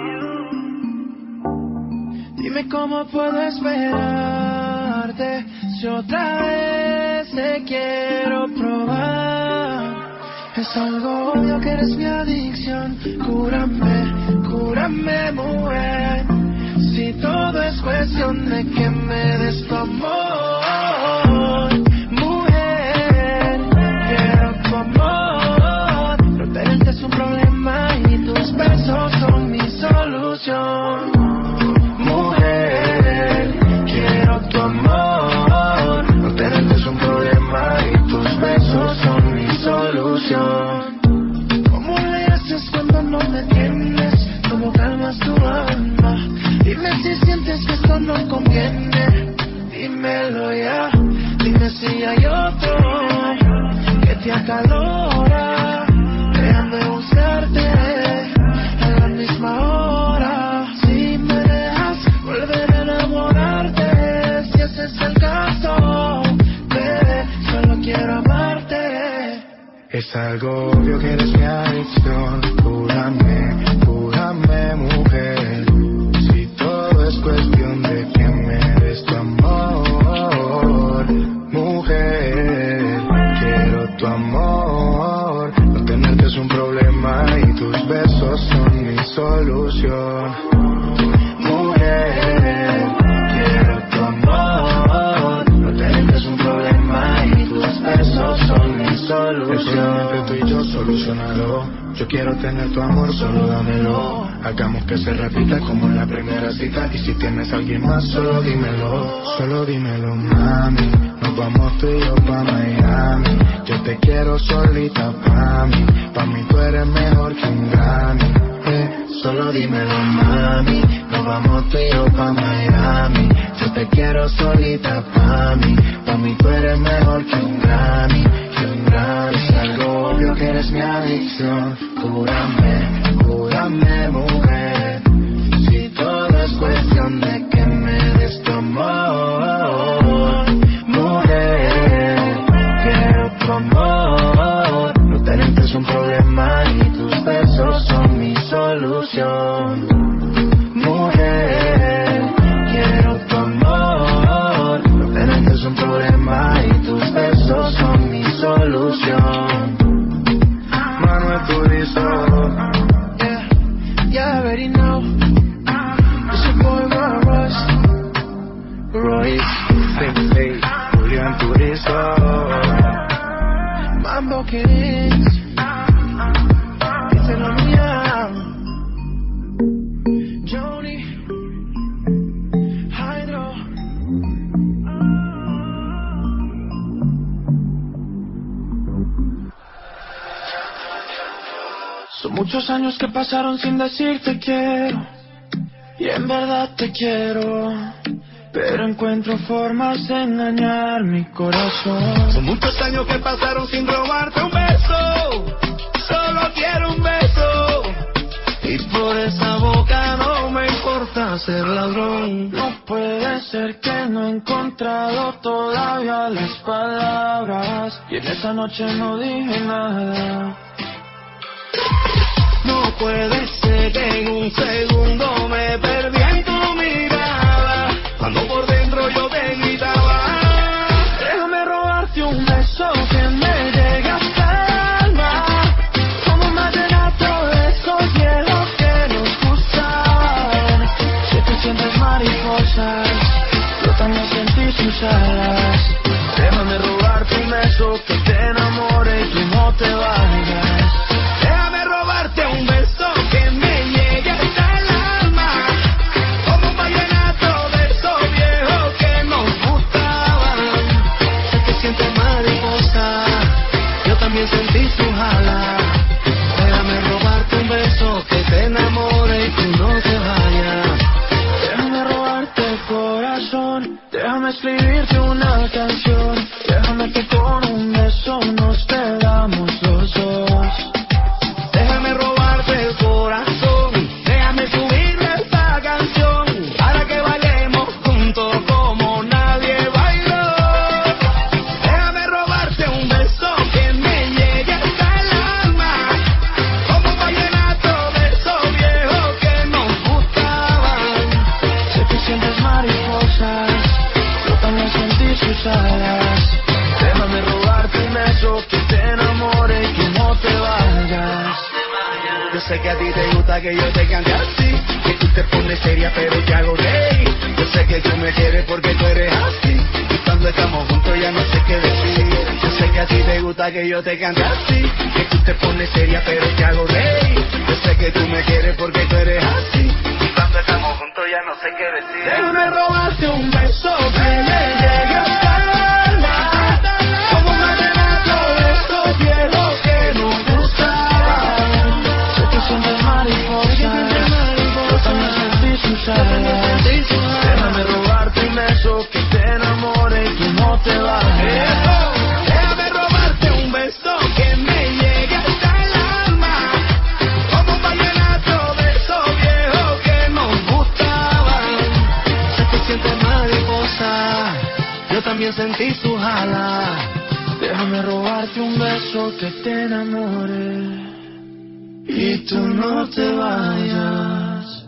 you. Dime cómo puedo esperarte si otra vez te quiero probar. Es algo obvio que eres mi adicción. Cúrame, cúrame, mujer. Si todo es cuestión de que me des tu amor, mujer, quiero tu amor. No tenerte es un problema y tus besos son mi solución. Mujer, quiero tu amor. No tenerte es un problema y tus besos son mi solución. ¿Cómo le haces cuando no me tienes? ¿Cómo calmas tu alma? Dime si sientes que esto no conviene. Dímelo ya. Dime si hay otro que te acalora. Déjame buscarte a la misma hora. Si me dejas volver a enamorarte, si ese es el caso, bebé, solo quiero amarte. Es algo obvio que eres mi adicción. Cúrame, cúrame, mujer. Es cuestión de que me des tu amor, mujer. Quiero tu amor. No tenerte es un problema y tus besos son mi solución. Mujer, quiero tu amor. No tenerte es un problema y tus besos son mi solución. El problema entre tú y yo, solucionalo. Yo quiero tener tu amor, solo dámelo. Hagamos que se repita como en la primera cita. Y si tienes a alguien más, solo dímelo. Solo dímelo, mami. Nos vamos tú y yo pa' Miami. Yo te quiero solita pa' mí. Pa' mí tú eres mejor que un Grammy. Eh, solo dímelo, mami. Nos vamos tú y yo pa' Miami. Yo te quiero solita pa' mí. Pa' mí tú eres mejor que un Grammy. Que un Grammy. Es algo obvio que eres mi adicción. Cúrame, cúrame, mujer. Si todo es cuestión de que me des tu amor, mujer, quiero tu amor. No tenerte es un problema y tus besos son mi solución. Mujer, quiero tu amor. No tenerte es un problema y tus besos son mi solución. Manuel Turizo, yeah, yeah, I already know. It's your boy Royce, Royce, Sensei, Julián Turizo, Mambo Kings, díselo mía, Johnny, Hydro. Son muchos años que pasaron sin decirte quiero. Y en verdad te quiero, pero encuentro formas de engañar mi corazón. Son muchos años que pasaron sin robarte un beso. Solo quiero un beso. Y por esa boca no me importa ser ladrón. No puede ser que no he encontrado todavía las palabras. Y en esa noche no dije nada. No puede ser que en un segundo me perdí en tu mirada. Cuando por dentro yo te gritaba. Déjame robarte un beso que me llegue hasta el alma. Como un vallenato de esos hielos que nos gustan. Si tú sientes mariposas, yo también sentí sus alas. Déjame robarte un beso que te enamore y tú no te vayas. Déjame robarte un beso que me llegue hasta el alma. Como un vallenato de esos viejos que nos gustaban. Sé que sientes mariposa, yo también sentí su jala. Déjame robarte un beso que te enamore y tú no te vayas. Déjame robarte el corazón, déjame escribirte una canción. Déjame que con un beso nos pegamos los dos. Déjame robarte el corazón, déjame subirle esta canción para que sé que a ti te gusta que yo te cante así, que tú te pones seria pero te hago reír. Yo sé que tú me quieres porque tú eres así, y cuando estamos juntos ya no sé qué decir. Yo sé que a ti te gusta que yo te cante así, que tú te pones seria pero te hago reír. Yo sé que tú me quieres porque tú eres así, y cuando estamos juntos ya no sé qué decir. Déjame robarte un beso que me llegue hasta el alma, como un vallenato de estos viejos que nos gustaban. Sé que sientes mariposa, yo también sentí sus alas. Déjame robarte un beso que te enamore y que no te bajes. Déjame robarte un beso que me llegue hasta el alma, como un vallenato de esos viejos que nos gustaban. Sé que sientes mariposa, yo también sentí sus alas. Déjame robarte un beso que te enamore y tú no te vayas.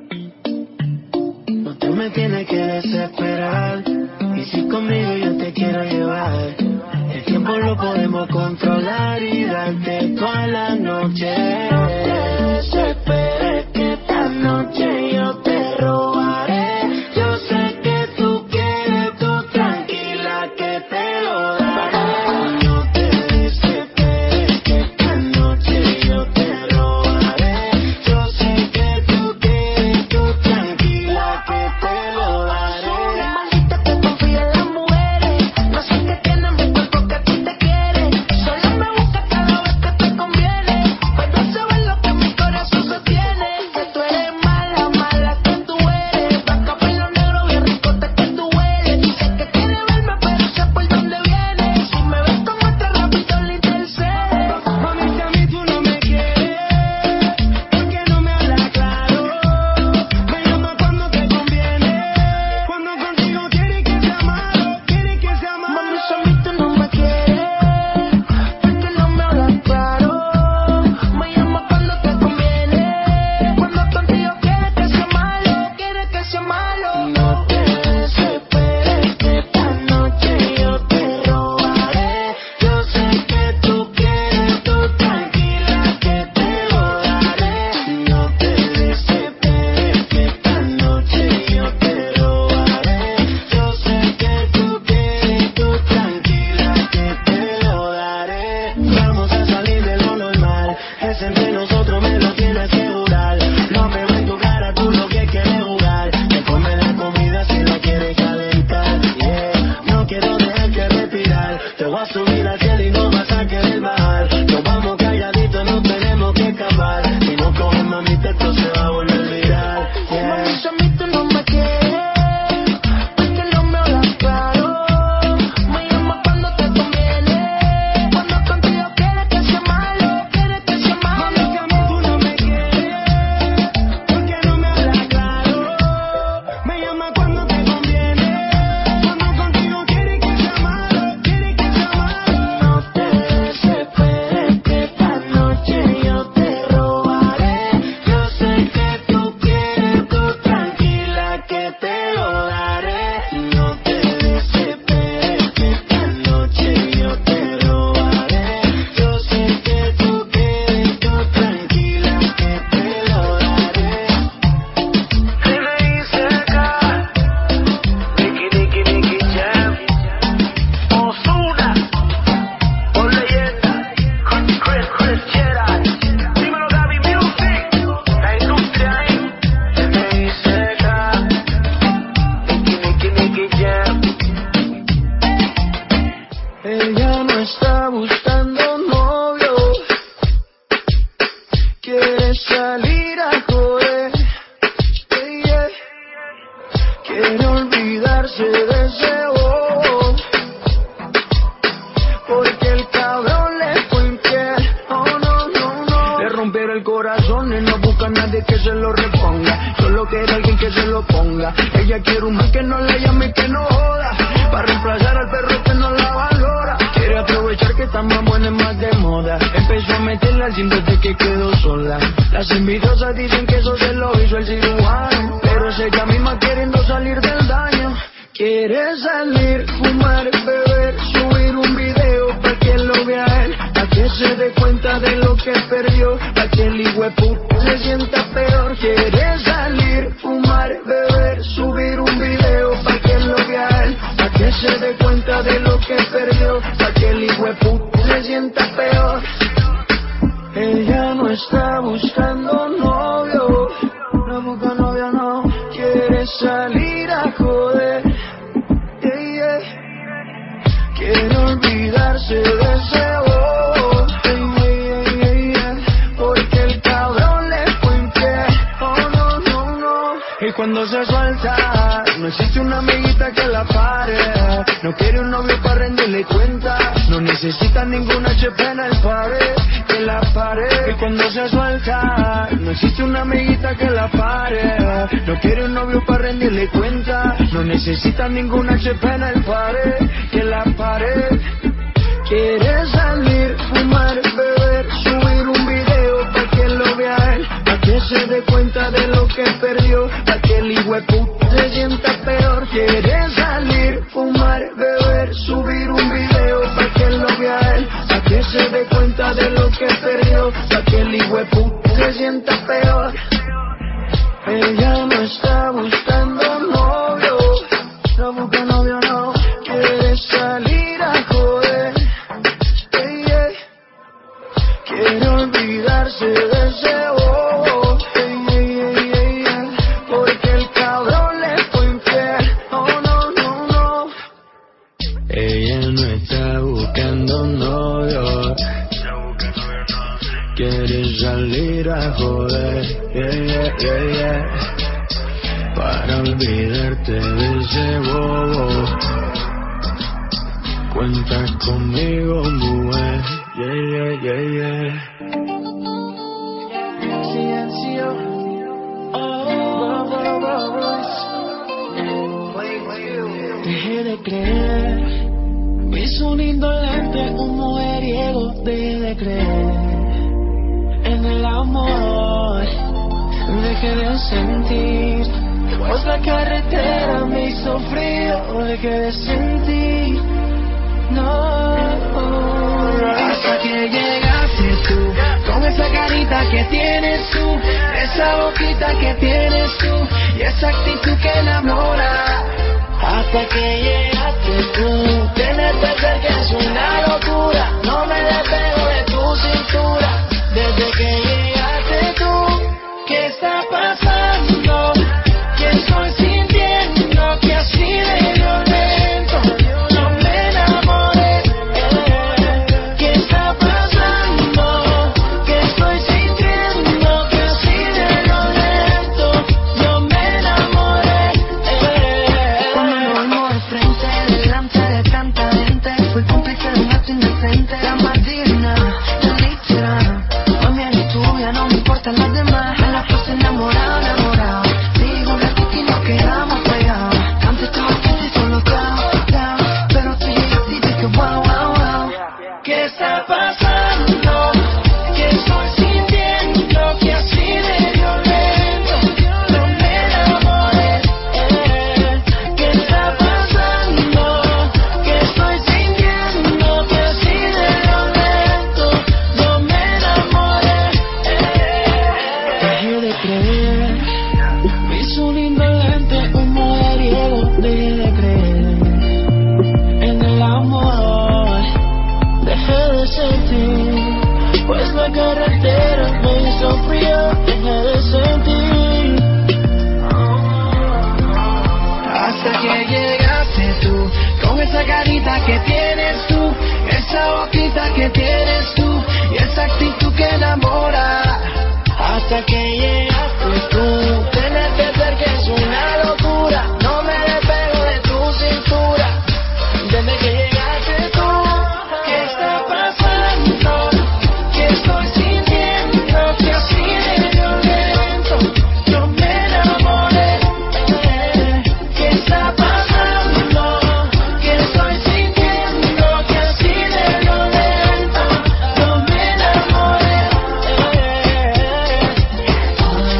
No te me tienes que desesperar, y si conmigo yo te quiero llevar, el tiempo lo podemos controlar y darte toda la noche. No te desesperes que esta noche yo te robaré. Yo sé que tú quieres, tú tranquila que te lo daré. No te desesperes que esta noche yo te robaré. Yo sé que tú quieres, tú tranquila que te lo daré. Una maldita que confía en las mujeres, no sé qué tiene mi cuerpo que a ti te quiere. Solo me busca cada vez que te conviene, pero sabes lo que mi corazón sostiene. Que tú eres mala, mala que tú eres. Vaca pelo negro, bien ricota que tú eres. Dice que quiere verme, pero sé por dónde viene. Si me ves con otra rápido le intercede. Mami, si a mí tú no me quieres, ¿por qué no me hablas claro? Me llama cuando te conviene, cuando contigo quieres que sea malo, quieres que sea malo. Mami, si a mí tú no me quieres, ¿por qué no me hablas claro? Me llama cuando te conviene, cuando contigo quieres que sea malo, quieres que sea malo. No te desesperes que esta noche yo te robaré. Yo sé que tú quieres, tú tranquila que te lo daré. No te desesperes que esta noche yo te robaré. Yo sé que tú quieres, tú tranquila que te lo daré. Vamos a salir de lo normal, es entre nosotros, me lo tienes que jurar. No me veo en tu cara, tú lo que quieres jugar. Te come la comida si la quieres calentar, yeah. No quiero dejarte respirar, te voy a subir al cielo y no vas a querer bajar. Nos vamos calladitos, no tenemos que escapar. Si no coges mamita, esto se va a volver viral, yeah. Mami, si a mí tú no me quieres, ¿por qué no me hablas claro? Me llama cuando te conviene, cuando contigo quieres que sea malo, quieres que sea malo. Mami, si a mí tú no me quieres, ¿por qué no me hablas claro? Me llama cuando te conviene, cuando contigo quieres que sea malo, quieres que sea malo. No te desesperes que esta noche yo te robaré. Yo sé que tú quieres, tú tranquila que te lo daré. No te desesperes que esta noche yo te robaré. Yo sé que tú quieres, tú tranquila que te lo daré. Te me hice acá, Nicky, Nicky, Nicky Jam, Ozuna, por leyenda, Chris, Chris, Chris Gerard, dímelo Gaby Music, la industria ahí. Te me hice acá, Nicky, Nicky, Nicky Jam. Ella no está buscando novio, quiere salir a joder, yeah, yeah. Quiere olvidarse de ese bobo, porque el cabrón le fue infiel. Oh no, no, no. Le rompieron el corazón y no busca a nadie que se lo reponga, solo quiere alguien que se lo ponga. Ella quiere un man que no la llame y que no joda, para reemplazar al perro que no la valora. Quiere aprovechar que está más buena y más de moda. Empezó a meterla sin desde que quedó sola. Las envidiosas dicen que eso se lo hizo el cirujano, pero es ella misma queriendo salir del daño. Quiere salir, fumar, beber, subir un video pa' que lo vea él, pa' que se dé cuenta de lo que perdió, pa' que el hijueputa se sienta peor. Quiere salir, fumar, beber, subir un video pa' que lo vea él, pa' que se dé cuenta de lo que perdió, pa' que el hijueputa se sienta peor. Ella no está buscando novio, no busca novio, no quiere salir a joder, yeah, yeah. Quiere olvidarse de ese bobo, yeah, yeah, yeah, yeah. Porque el cabrón le fue infiel, oh no, no, no. Y cuando se suelta, no existe una amiguita que la pare, no quiere un novio para rendirle cuenta, no necesita ningún H P en el pared, que la pare. Y cuando se suelta, no existe una amiguita que la pare, no quiere un novio para rendirle cuenta, no necesita ningún H P en el pared, que la pare. Quiere salir, fumar, beber, subir un video pa' que lo vea él, pa' que se dé cuenta de lo que perdió, pa' que el hijueputa se sienta peor. Quiere salir, fumar, beber, subir un video pa' que lo vea él, pa' que se dé cuenta de lo que perdió, pa' que el hijueputa se sienta peor. Ella no está buscando novio, no busca novio, no quiere salir a joder, yeah, yeah. Quiere olvidarse de ese bobo, yeah, yeah, yeah, yeah. Porque el cabrón le fue infiel, oh no, no, no. Ella no está buscando novio, quiere salir a joder, yeah, yeah, yeah, yeah. Para olvidarte de ese bobo, cuenta conmigo, mujer, yeah, yeah, yeah, yeah. Silencio, oh, oh, oh, oh. Dejé de creer, hice un indolente, un mujeriego. Dejé de creer en el amor, dejé de sentir, pues la carretera me hizo frío. Dejé de sentir, no, hasta que llegaste tú, con esa carita que tienes tú, esa boquita que tienes tú, y esa actitud que enamora. Hasta que llegaste tú, tenerte cerca es una locura, no me despego de tu cintura. Desde que llegaste tú, ¿qué está pasando? ¿Qué estoy sintiendo? Que así de violento no me enamoré. ¿Qué está pasando? ¿Qué estoy sintiendo? Que así de violento no me enamoré. Cuando nos vimos de frente, delante de tanta gente, fui cómplice de un acto indecente. La más digna del literal, no me importan las demás, a la pose enamorado, enamorado. Digo la que nos quedamos pegados. Antes estaba quieto y solo cao, cao, pero tú llegaste y dije wow, wow, wow. ¿Qué está pasando? ¿Qué estoy sintiendo? Que así de violento no me enamoré. ¿Qué está pasando? ¿Qué estoy sintiendo? Que así de violento no me enamoré. Dejé de creer, me hizo un indolente, un mujeriego. Dejé de creer en el amor, dejé de sentir, pues la carretera me hizo frío. Dejé de sentir, hasta que llegaste tú, con esa carita que tienes tú, esa boquita que tienes tú, y esa actitud que enamora. Hasta que llegaste tú, tenerte cerca es una locura, no me despego de tu cintura. Desde que llegaste tú, ¿qué está pasando? ¿Qué estoy sintiendo? Que así de violento no me enamoré. ¿Qué está pasando? ¿Qué estoy sintiendo? Que así de violento no me enamoré.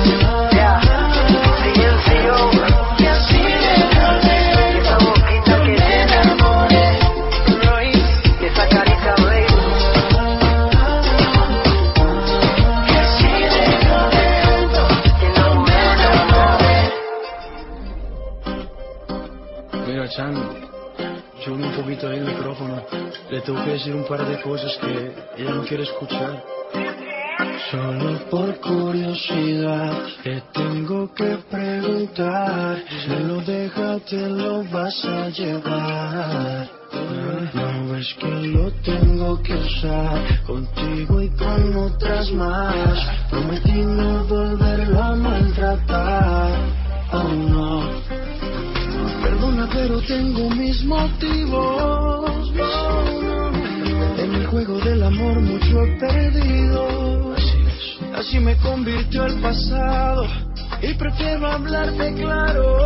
Mira, Chan, sube un poquito ahí el micrófono. Le tengo que decir un par de cosas que ella no quiere escuchar. Solo por curiosidad te tengo que preguntar. Si lo dejas te lo vas a llevar. No ves que lo tengo que usar contigo y con otras más. Prometí no volverlo a maltratar. Oh no. Perdona pero tengo mis motivos. No, no. En el juego del amor mucho he perdido. Así me convirtió el pasado y prefiero hablarte claro.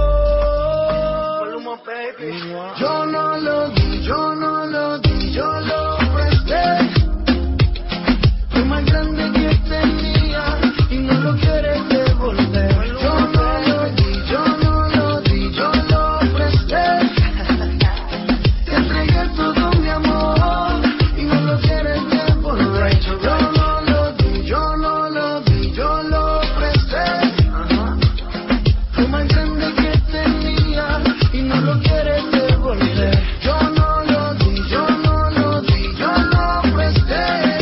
Yo no lo di, yo no lo di, yo lo presté. Lo más grande que tenía y no lo quieres devolver. Yo no lo di, yo no lo di, yo lo presté. Te entregué todo mi amor y no lo quieres devolver. Yo no lo di, yo no lo di, yo lo presté. Lo más grande que tenía y no lo quieres devolver. Yo no lo di, yo no lo di, yo lo presté.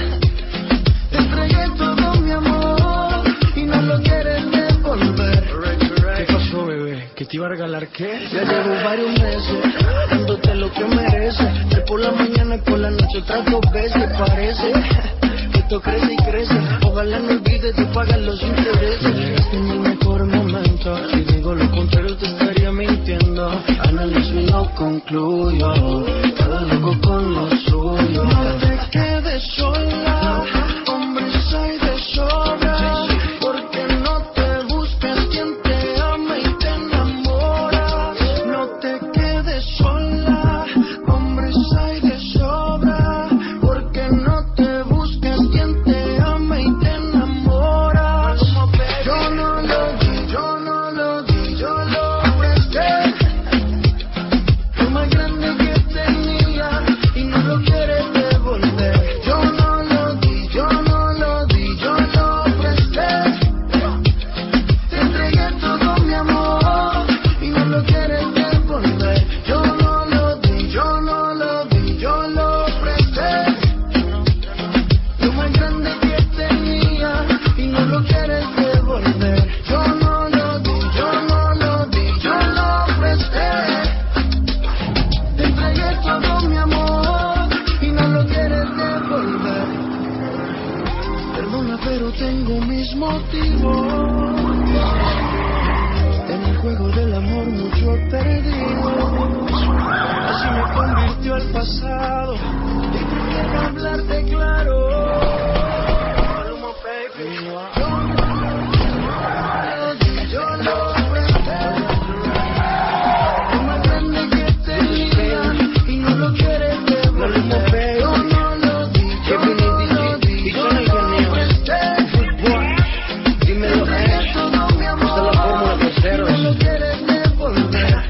Te entregué todo mi amor y no lo quieres devolver. ¿Qué pasó, bebé? ¿Que te iba a regalar qué? Ya llevo varios meses dándote lo que mereces. De por la mañana y por la noche otras dos veces. Parece que esto crece y crece. Ojalá no olvides de pagar los intereses. Llegaste en el mejor momento. Si digo lo contrario te estaría mintiendo. Analizo y no concluyo. Cada loco con lo suyo. No te quedes sola. Hombres hay de sobra. Porque no te busques quien te ama y te enamora. No te quedes sola. Hombres hay de sobra. Porque no te busques quien te ama y te enamora. Yo no lo di, yo no lo di, yo lo presté. Lo más grande que tenía y no lo quieres devolver. Yo no lo di, yo no lo di, yo lo presté. Te entregué todo mi amor y no lo quieres devolver. Yo no lo di, yo no lo di, yo lo presté. Lo más grande que tenía y no lo quieres devolver. Yo no lo di, yo no lo di, yo lo presté. Te entregué todo mi amor y no lo quieres devolver. Perdona pero tengo mis motivos. En el juego del amor mucho he perdido. Así me convirtió el pasado y prefiero hablarte claro. Yo no lo di, yo lo presté. Lo más grande que tenía y no lo quieres devolver. Yo no lo di, yo no lo di, yo lo presté. Dímelo, eh. Todo mi amor Esta es la fórmula y terceros. no lo quieres devolver.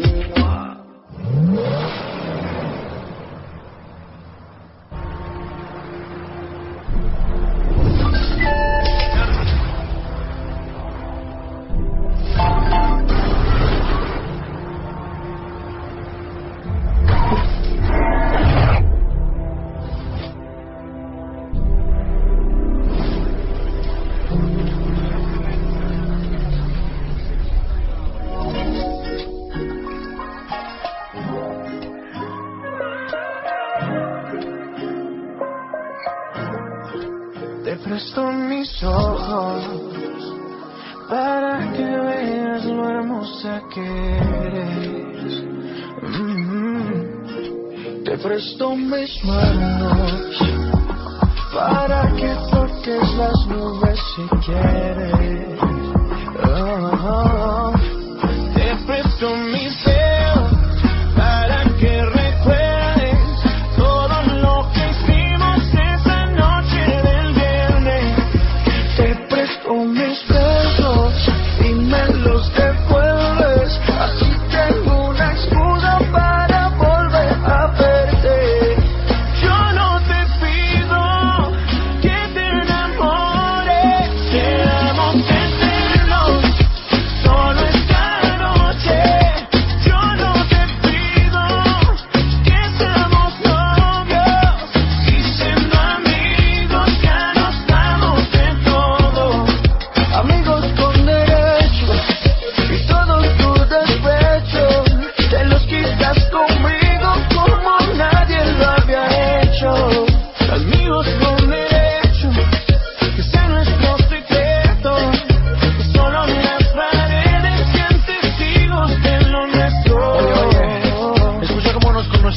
Te presto mis ojos para que veas lo hermosa que eres. Mm-hmm. Te presto mis manos para que toques las nubes si quieres. Oh, oh. Te presto mis dedos para que recuerdes todo lo que hicimos esa noche del viernes. Te presto mis besos y me los devuelves. Así tengo una excusa para volver a verte. Yo no te pido que te enamores. Quedamos eternos solo esta noche.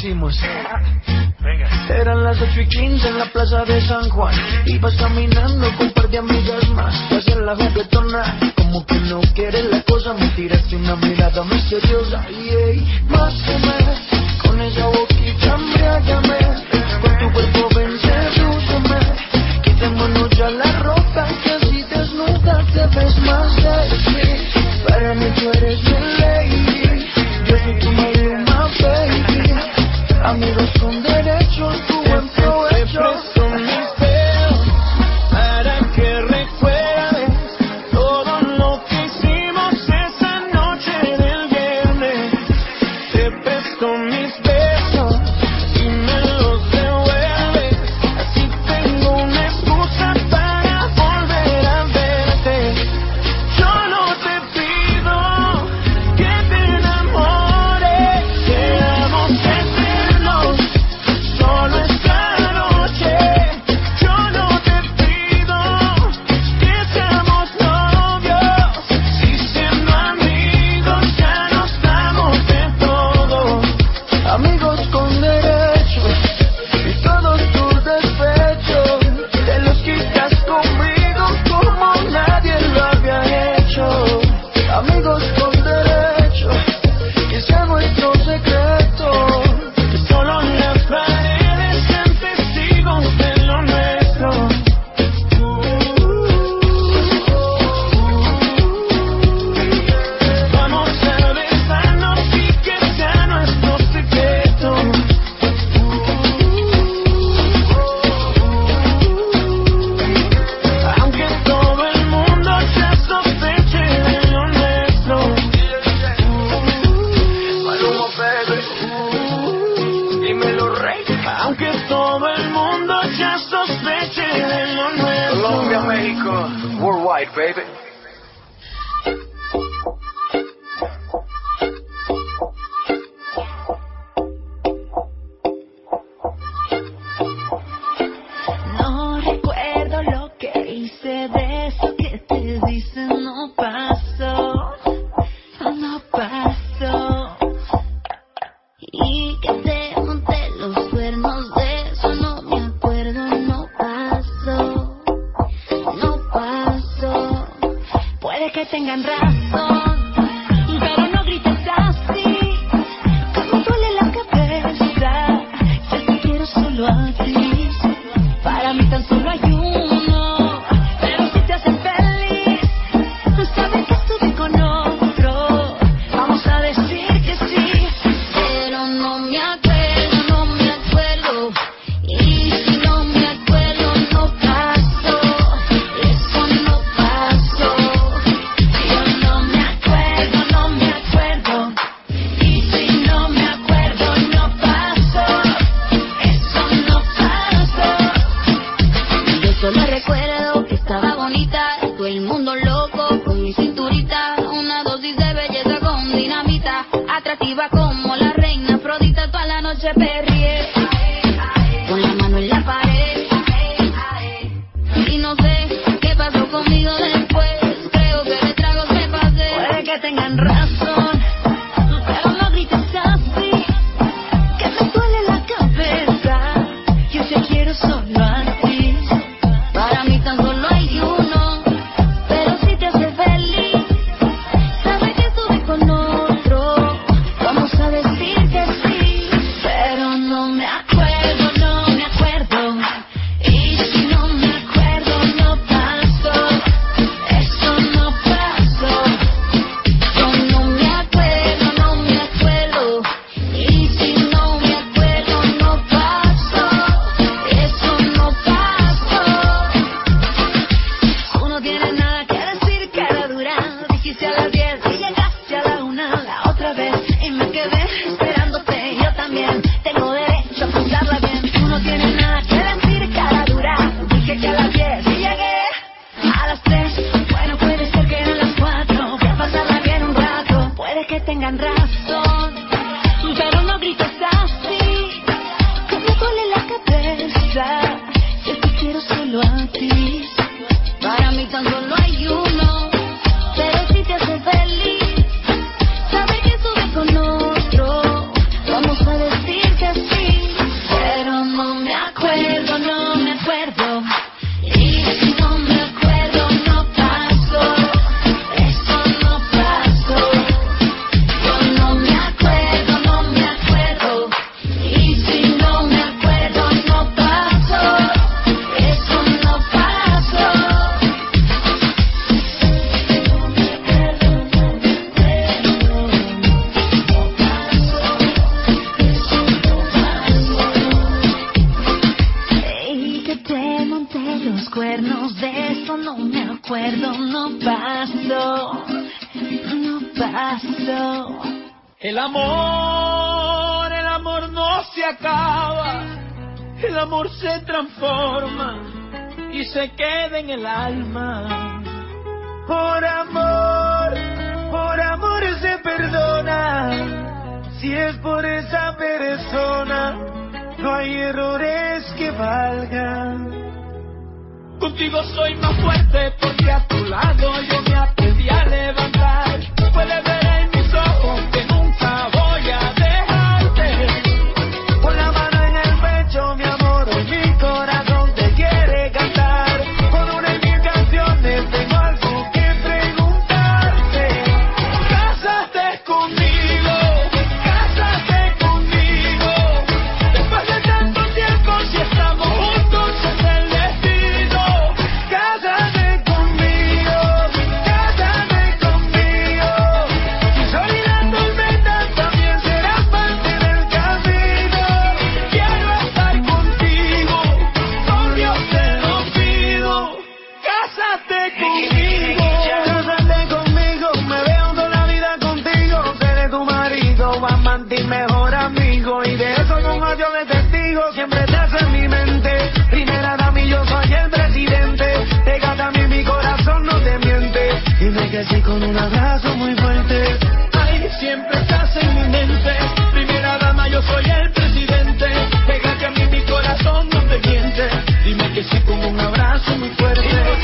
hicimos. Eran las ocho y quince en la plaza de San Juan. Ibas caminando con un par de amigas más. Te hacías la juguetona, como que no quieres la cosa. Me tiraste una mirada misteriosa. Yeah. Mátame, con esa boquita embriágame. Con tu cuerpo ven, sedúceme. Quitémonos ya la ropa, que así desnuda te ves más sexy. Para mí tú eres mi lady. Yo soy tu maluma, baby. Amigos con derechos, tu buen provecho. Te presto mis dedos para que recuerdes todo lo que hicimos esa noche del viernes. Te presto mis besos y me los devuelves. Así tengo una excusa para volver a verte. Yo no te pido que te enamores, seamos eternos. Solo esta noche. Yo no te pido que seamos novios. Si siendo amigos ya nos damos de todo. Amigos con derechos y todos tus despechos te los quitas conmigo como nadie lo había hecho. Amigos con derechos, que sea nuestro secreto. Que solo las paredes sean testigos de lo nuestro. Vamos a besarnos y que sea nuestro secreto. Aunque todo el mundo ya sospeche de lo nuestro. Maluma, baby, dímelo, rey. Aunque todo el mundo ya sospeche de lo nuestro. Colombia, México, worldwide, baby. No recuerdo lo que hice, de eso que te dicen no pasó, no pasó. Y que te monté los cuernos, de eso no me acuerdo, no pasó, no pasó. Puede que tengan razón, pero no grites así, que me duele la cabeza. Yo te quiero solo a ti. Para mí tan solo hay uno, pero si te hace feliz, saber que estuve con otro, vamos a decir que sí. Pero no me acuerdo, no me acuerdo, y si no me acuerdo no pasó, eso no pasó. Yo no me acuerdo, no me acuerdo, y si no me acuerdo no pasó, eso no pasó. Yo solo recuerdo que estaba bonita, todo el mundo loco con mi cinturita, una dosis de belleza con dinamita, atractiva como la reina Afrodita, toda la noche perrié, con la mano en la pared, y no sé qué pasó conmigo después, creo que de tragos me pasé. Puede que tengan razón, pero no grites así, que me duele la cabeza. Yo te quiero solo a ti. Para mí tan solo hay uno, pero si te hace feliz, sabe que estuve con otro, vamos a decir que sí. Pero no me acuerdo, no me acuerdo, y si no me acuerdo no pasó, eso no pasó. Yo no me acuerdo, no me acuerdo, y si no me acuerdo no pasó, eso no pasó. Tú no tienes nada que decir, cara dura. Dijiste a las diez y llegaste a la una la otra vez, y me quedé esperándote. Yo también tengo derecho a pasarla bien. Tú no tienes nada que decir, cara dura. Dije que a las diez y llegué a las tres. Bueno, puede ser que eran las cuatro. Voy a pasarla bien un rato. Puede que tengan razón, pero no grites así, que me duele la cabeza. Yo te quiero solo a ti. Para mí tan solo hay uno, pero si te hace feliz, saber que estuve con otro, vamos a decir que acuerdo, no paso, no paso. El amor, el amor no se acaba, el amor se transforma y se queda en el alma. Por amor, por amor se perdona, si es por esa persona, no hay errores que valgan. Contigo soy más fuerte porque a tu lado yo me aprendí a levantar. Puedes ver en mis ojos que nunca voy a dejarte. Con la mano en el pecho, mi amor, hoy mi corazón te quiere cantar. Con una y mil canciones tengo algo que preguntarte. Cásate conmigo, cásate conmigo. Después de tanto tiempo, si estamos juntos es el destino. Cásate conmigo, cásate conmigo. Si soy la tormenta, también serás parte del camino. Quiero estar contigo, por Dios te lo pido. Cásate conmigo, cásate conmigo. Me veo toda la vida contigo. Seré tu marido, amante y mejor amigo. Y de eso con ocho de testigos siempre te hace en mi mente. Primera dama y yo soy el presidente. Pégate a mí, mi corazón no te miente. Dime que sí con un abrazo muy fuerte. Ay, siempre estás en mi mente. Primera dama, yo soy el presidente. Pégate a mí, mi corazón no te miente. Dime que sí con un abrazo muy fuerte.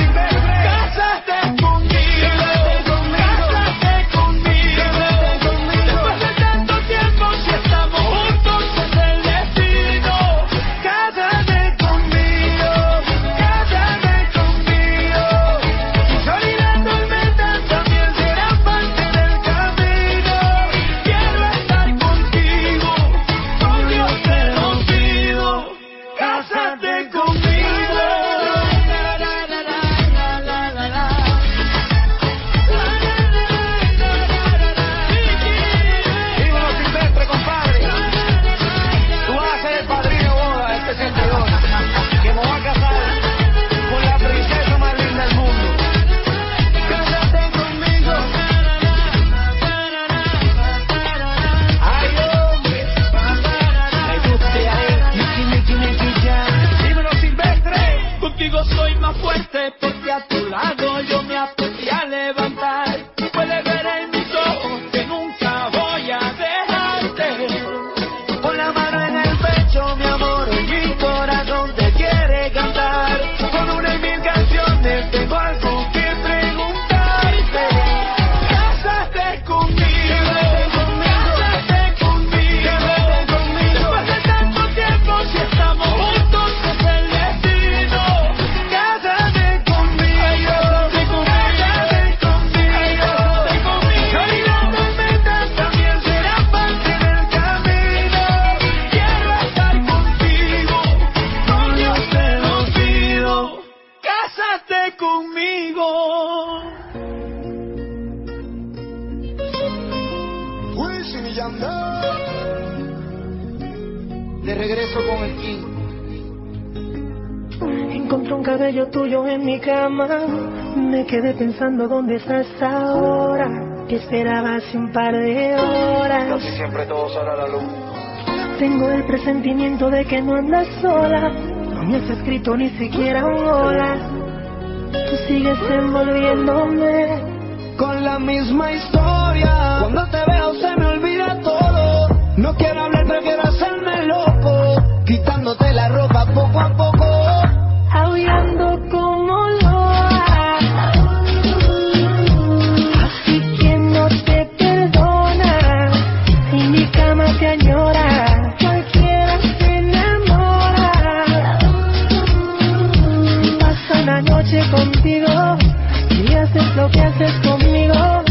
Cásate conmigo, cásate conmigo. Después de tanto tiempo, si estamos juntos es el destino. Cásate conmigo, cásate conmigo. Si soy la tormenta, también serás parte del camino. Quiero estar contigo, por Dios te lo pido. Cásate conmigo. Dímelo, Silvestre, compadre. Tú vas a ser el padrino de boda de este sentidor, que me va a casar con la princesa más linda del mundo. Cásate conmigo. Ay, hombre. Me gusta ahí. Miki, Miki, Miki, ya. Dímelo, Silvestre. Contigo soy más fuerte porque a tu lado yo me aprendí a levantar. Puedes ver en mis ojos que nunca voy a dejarte. Con la mano en el pecho, mi amor, hoy mi corazón te quiere cantar. Con una y mil canciones tengo algo que preguntarte. Cásate conmigo, cásate conmigo. Después de tanto tiempo, si estamos juntos es el destino. Cásate conmigo, cásate conmigo. Soy la tormenta, también serás parte del camino. Quiero estar contigo, por Dios te lo pido. Cásate conmigo. Wisin y Yandel, de regreso con el King. Encontré un cabello tuyo en mi cama. Me quedé pensando dónde estás ahora. Te esperaba hace un par de horas. Casi siempre todo sale a la luz. Tengo el presentimiento de que no andas sola. No me has escrito ni siquiera un hola. Tú sigues envolviéndome Con la misma historia. Cuando te veo se me olvida todo. No quiero hablar, prefiero hacerme loco. Quitándote la ropa poco a poco. aullando como loa. Así que no te perdona. Si mi cama te añora, cualquiera se enamora. Paso la noche contigo y haces lo que haces conmigo.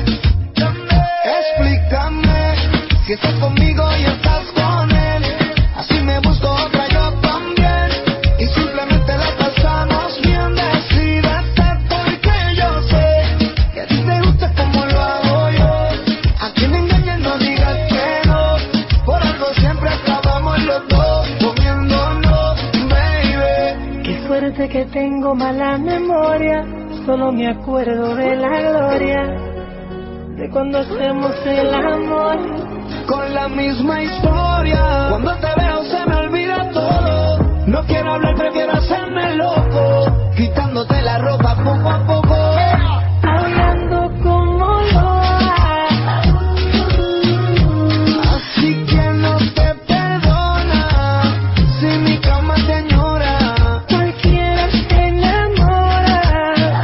Explícame si estás conmigo y estás con él. Así me busco otra yo también. Y simplemente la pasamos bien. Decídete porque yo sé que a ti te gusta como lo hago yo. A quien engañes no digas que no. Por algo siempre acabamos los dos comiéndonos, baby. Qué suerte que tengo mala memoria. Solo me acuerdo de la gloria de cuando hacemos el amor. Con la misma historia, cuando te veo se me olvida todo. No quiero hablar, prefiero hacerme loco, quitándote la ropa poco a poco. Hablando como loa. Así que no te perdona si mi cama te añora. Cualquiera se enamora.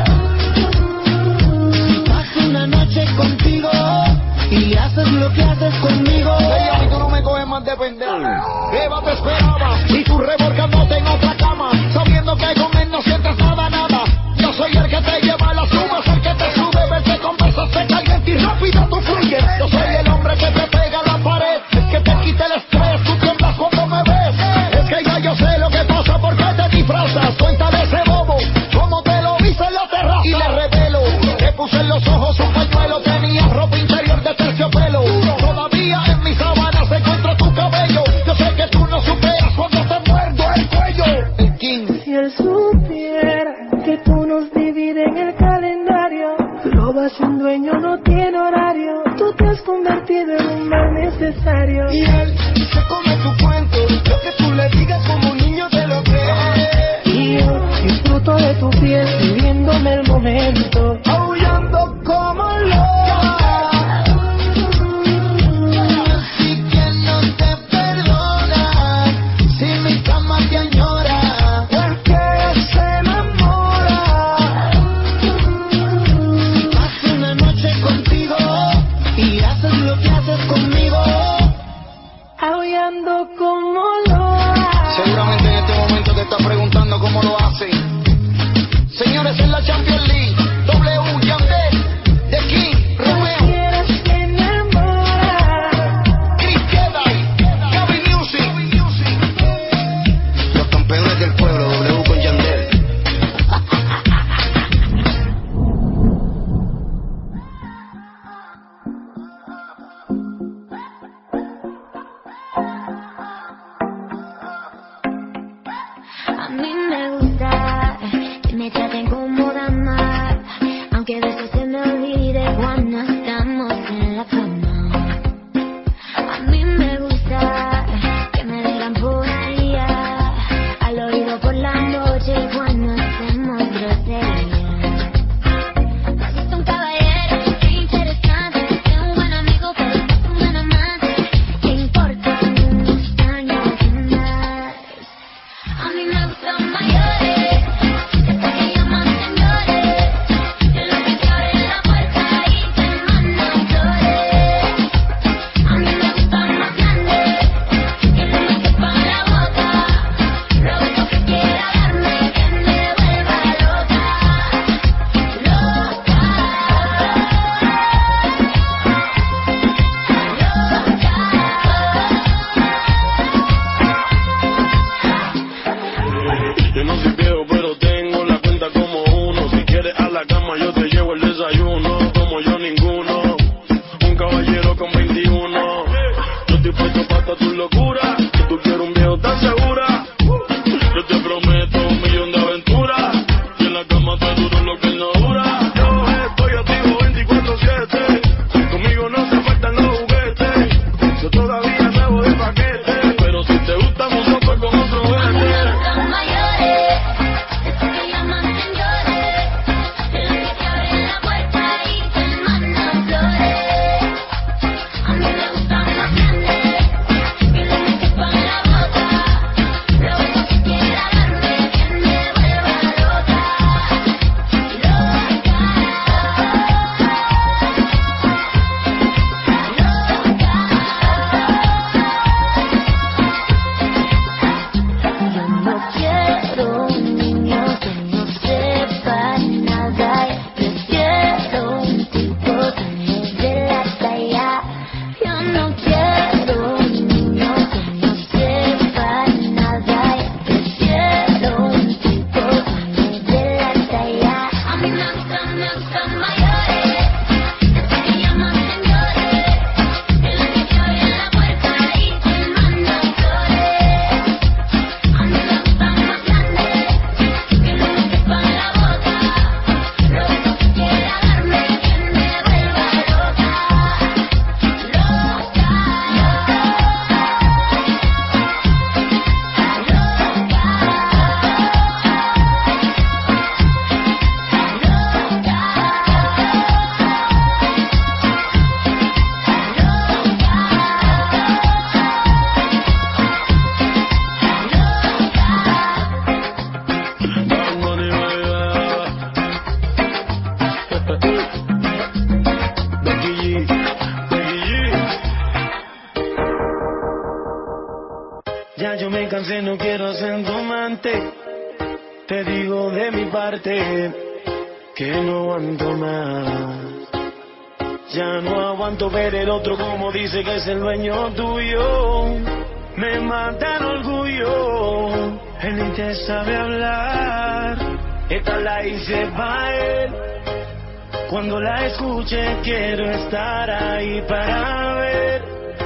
Paso una noche contigo y haces lo que haces conmigo. Ella, y tú no me coges más de pendejo. Eva te esperaba y tú revolcándote en otra cama, sabiendo que con él no sientes nada, nada. Yo soy el que te lleva a las nubes, el que te sube, verte conversas, te caliente y rápido tú fluyes. Yo soy el hombre que te pega a la pared, el que te quita el estrés, tú tiemblas cuando me ves. Es que ya yo sé lo que pasa, porque te disfrazas. Cuéntale ese bobo, cómo te lo hice en la terraza. Y le revelo, te puse en los ojos un pañuelo, tenía ropa interior de terciopelo. Todavía en mis sábanas encuentro tu cabello. Yo sé que tú no superas cuando te muerdo el cuello. El King. Si él supiera que tú nos divides en el calendario, robas un dueño, no tiene horario. Tú te has convertido en un mal necesario. Y él se come tu cuento, lo que tú le digas como un niño te lo cree. Y yo disfruto de tu piel, viviéndome el momento, aullando como loca. Así que no te perdona si mi cama te añora. Porque se enamora. Paso una noche contigo y haces lo que haces conmigo. aullando como loa. Seguramente en este momento te estás preguntando cómo lo hace. Señores, en la Champions League, W Ya yo me cansé, no quiero ser tu amante. Te digo de mi parte que no aguanto más. Ya no aguanto ver el otro como dice que es el dueño tuyo. Me mata el orgullo, él ni te sabe hablar. Esta la hice pa' él. Cuando la escuche quiero estar ahí para ver.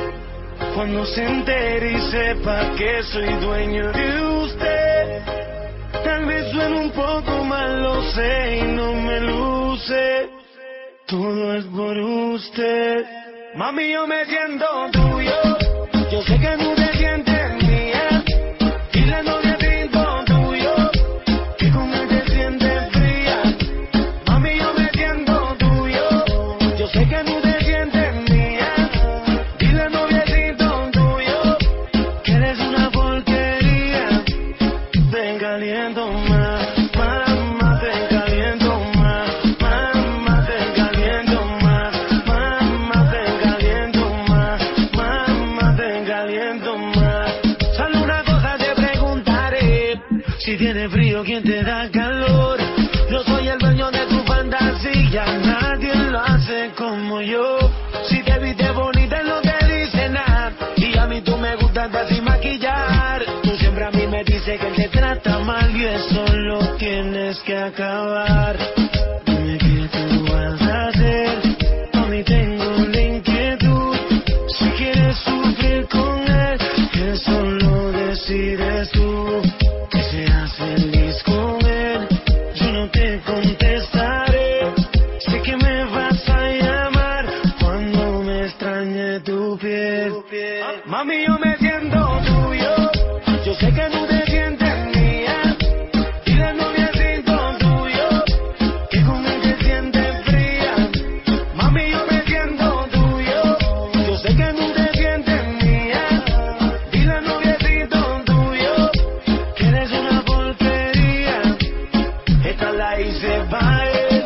Cuando se entere y sepa que soy dueño de usted. Tal vez suene un poco mal, lo sé y no me luce. Todo es por usted. Mami, yo me siento tuyo. Yo sé que tú te sientes mía. Y la novia siento tuyo. Que con él te sientes fría. Mami, yo me siento tuyo. Yo sé que tú te sientes mía. Y la novia siento tuyo. Que eres una porquería. Te caliento más. Mamá, te caliento más. Mamá, te caliento más. Mamá, te caliento más. Mamá, te caliento más. Solo una cosa te preguntaré. Si tienes frío, ¿quién te da calor? Yo soy el dueño de tu fantasía. Nadie lo hace como yo. Si te viste bonita, no te dice nada. Y a mí tú me gustas así maquillar. Tú siempre a mí me dices que él te trata mal. Y eso lo tienes que acabar. Dime qué tú vas a hacer. A mí tengo la inquietud. Si quieres sufrir con él, eso lo decides tú. Que seas feliz con él. Yo no te contestaré. Sé que me vas a llamar cuando me extrañe tu piel. Mami, yo me siento tuyo. Yo sé que tú te sientes mía. Y la novia siento tuyo. Que con él te sientes fría. Mami, yo me siento tuyo. Yo sé que tú te sientes mía. Y la novia siento tuyo. Que eres una porquería. Esta la hice pa' él.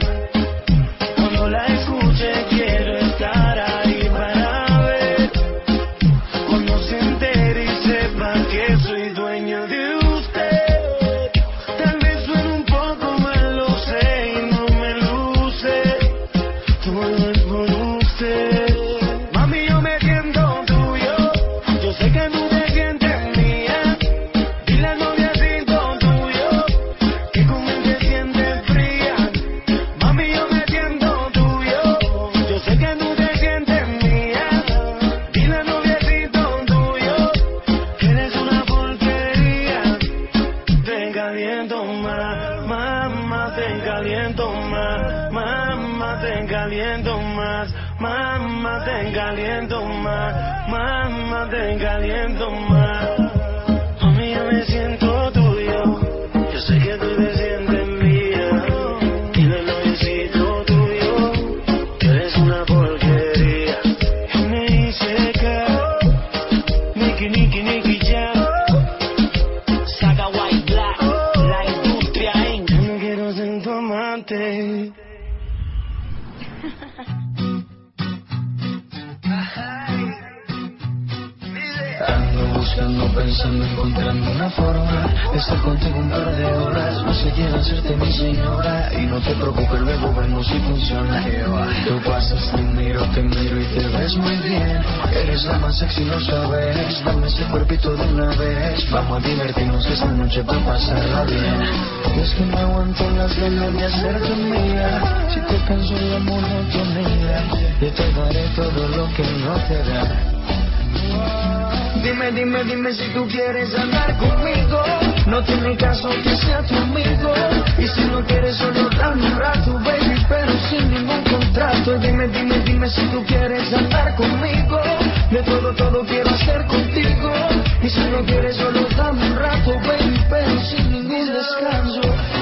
Cuando la escuche quiero estar ahí para ver. Cuando se entere y sepa que soy dueño de usted. Tal vez suene un poco mal, lo sé y no me luce. Todo es por usted. Mami, yo me siento tuyo. Yo sé que tú te sientes mía. Y la novia siento tuyo. Que con él te sientes fría. Mami, yo me siento tuyo. Yo sé que tú te sientes mía. Y la novia siento tuyo. Que eres una porquería. Te caliento más. Mamá, te caliento más. Mamá, te caliento más. Mamá, te caliento más. Mamá, te caliento más. Mami, yo me siento tuyo. Yo sé que tú te sientes mía. Y la noviecito tuyo. Que eres una porquería. M I C K. Nicky, Nicky, Nicky Jam. Saga White Black. La industria en. Yo no quiero ser tu amante. Ando buscando, pensando, encontrando una forma de estar contigo un par de horas. No sé, quiero hacerte mi señora. Y no te preocupes, luego vemos si funciona. Tú pasas, te miro, te miro y te ves muy bien. Eres la más sexy, lo sabes. Dame ese cuerpito de una vez. Vamos a divertirnos esta noche para pasarla bien. Y es que no aguanto las ganas de hacerte mía. Si te canso la monotonía, yo te daré todo lo que no te da. Dime, dime, dime si tú quieres andar conmigo. No tiene caso que sea tu amigo. Y si no quieres solo dame un rato, baby, pero sin ningún contrato. Dime, dime, dime si tú quieres andar conmigo. De todo, todo quiero hacer contigo. Y si no quieres solo dame un rato, baby, pero sin ningún descanso.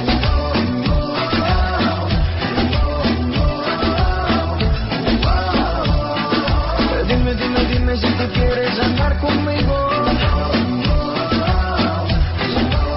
Dime, dime, dime si tú quieres andar conmigo.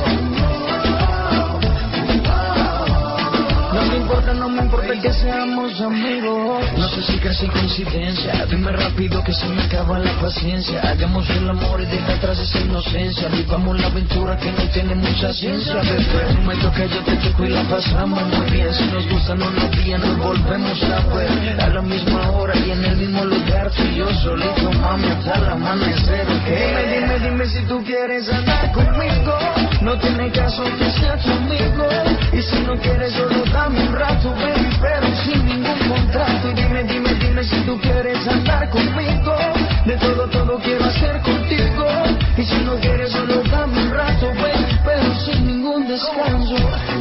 No me importa, no me importa que seamos seamos amigos. No sé si casi coincidencia, dime rápido que se me acaba la paciencia. Hagamos el amor y deja atrás esa inocencia. Vivamos la aventura que no tiene mucha ciencia. Bebé, tú me tocas, yo te toco y la pasamos muy bien. Si nos gustan unos días nos volvemos a ver, a la misma hora y en el mismo lugar. Tú y yo solito, mami, hasta el amanecer. Dime, dime, dime si tú quieres andar conmigo. No tiene caso que sea tu amigo. Y si no quieres solo dame un rato, baby, pero sin ningún contrato. Y dime, dime, dime si tú quieres andar conmigo. De todo, todo quiero hacer contigo. Y si no quieres solo dame un rato, baby, pero sin ningún descanso.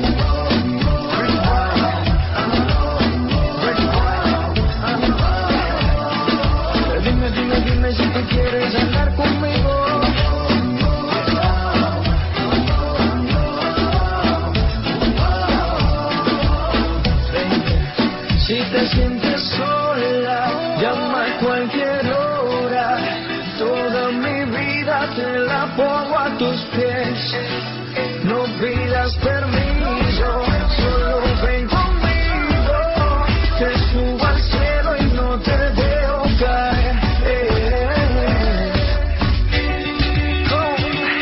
Dime, dime, dime si tú quieres andar conmigo. Si te sientes sola, llama a cualquier hora. Toda mi vida te la pongo a tus pies. No pidas permiso, solo ven conmigo. Te subo al cielo y no te dejo caer. Eh, eh, eh. Oh.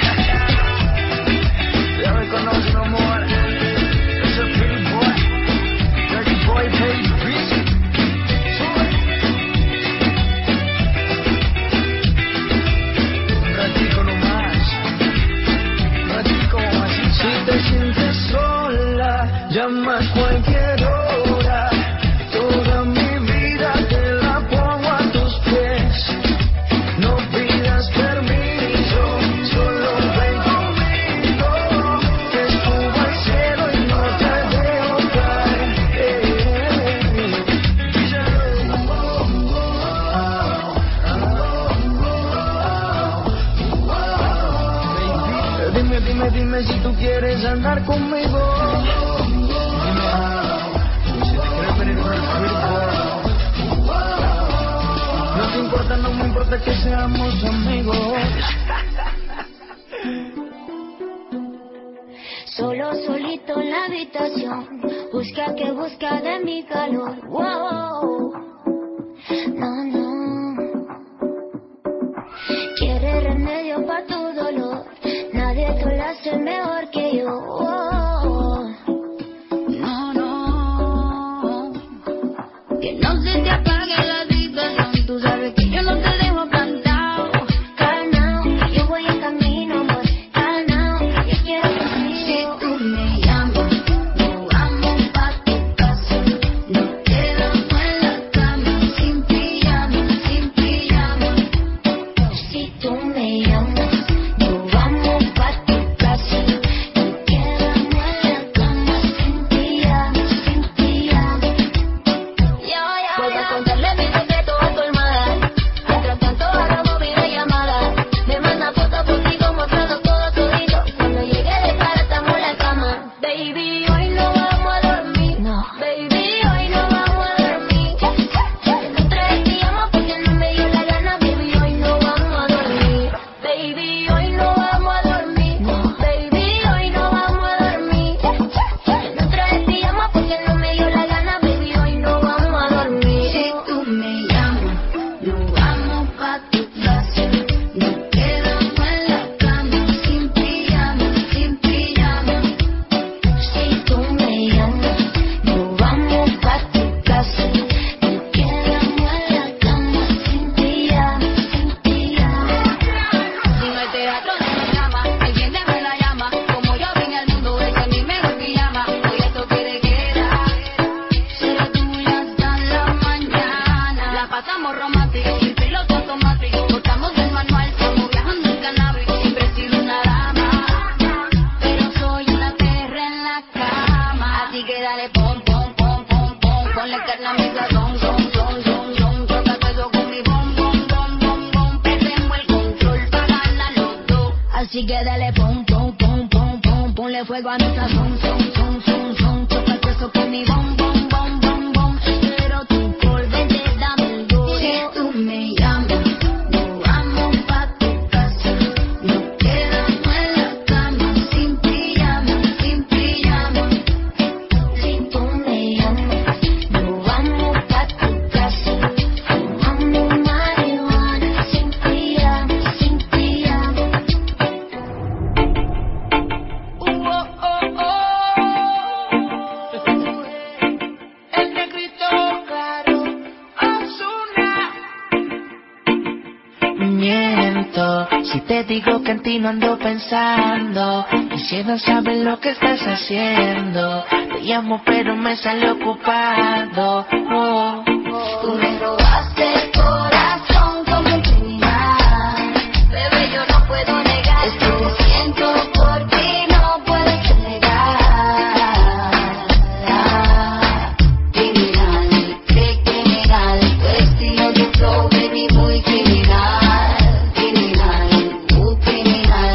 Ya me conoces, no more. Es el pretty boy, dirty boy, baby. Llama a cualquier hora, toda mi vida te la pongo a tus pies. No pidas permiso, solo ven conmigo. Te subo al cielo y no te dejo caer. Eh, eh, eh. Dime, dime, dime si tú quieres andar conmigo. No te importa, no me importa que seamos amigos. Solo solito en la habitación, busca que busca de mi calor. Wow. No, no. Quiere remedio para tu dolor, nadie te lo hace mejor que yo. Wow. No, no. Que no se te apague la situación, tú sabes que yo no te dejo plantado. Calmao, que yo voy en camino, amor. Calmao, que yo quiero contigo. Si tú me llamas, nos vamos pa' tu casa. Nos quedamos en la cama, sin pijama, sin pijama. Si tú me llamas, nos vamos pa' tu casa. Nos quedamos en la cama, sin pijama, sin pijama. Voy a contarle mi secreto a tu hermana. Mientras tanto hagamos videollamada. Me manda fotos por ti mostrando todo todito. Cuando llegue de cara estamos en la cama. Baby, hoy no vamos a dormir. No. Baby, hoy no vamos a dormir. En tres pijama porque no me dio la gana. Baby, hoy no vamos a dormir. Baby, hoy no vamos a dormir. No. Baby, hoy no vamos a dormir. En tres pijama porque no me dio la gana. Baby, hoy no vamos a dormir. Si tú me llamas, nos vamos pa' tu casa. Nos quedamos en la cama, sin pijama, sin pijama. Si tú me llamas, nos vamos pa' tu casa. Nos quedamos en la cama, sin pijama, sin pijama. Si no hay teatro, no nos llama. Alguien me la llama. Como yo vine al mundo, es que mi mejor pijama. Hoy esto quiere quedar. Será tuya hasta la mañana. La pasamos romántico, sin piloto automático. Cortamos el manual, estamos viajando en cannabis. Siempre he sido una dama, pero soy una perra en la cama. Así que dale pom, pom, pom, pom, pom. Ponle carne a mi sazón, son, son, son, son. Toca todo con mi bom, bom, bom, bom, bom. Perdemos el control para ganar los dos. Así que dale pom, pom, pom, pom, pom. Ponle fuego a mi sazón, son, son, son, son. Toca eso con mi bom, bom, bom, bom, bom. Pero tú por vente dame el go. Si tú me llamas, nos vamos pa' tu casa. Nos quedamos en la cama, sin pijama, sin pijama. Si tú me llamas, nos vamos miento si te digo que en ti no ando pensando. Quisiera saber lo que estás haciendo. Te llamo pero me sale ocupado. Oh. Tú me robaste el corazón como un criminal. Bebé, yo no puedo negar. Es que te siento por ti, no puedes negar. Criminal, qué criminal. Tu estilo de flow, baby, muy criminal. Criminal, muy criminal.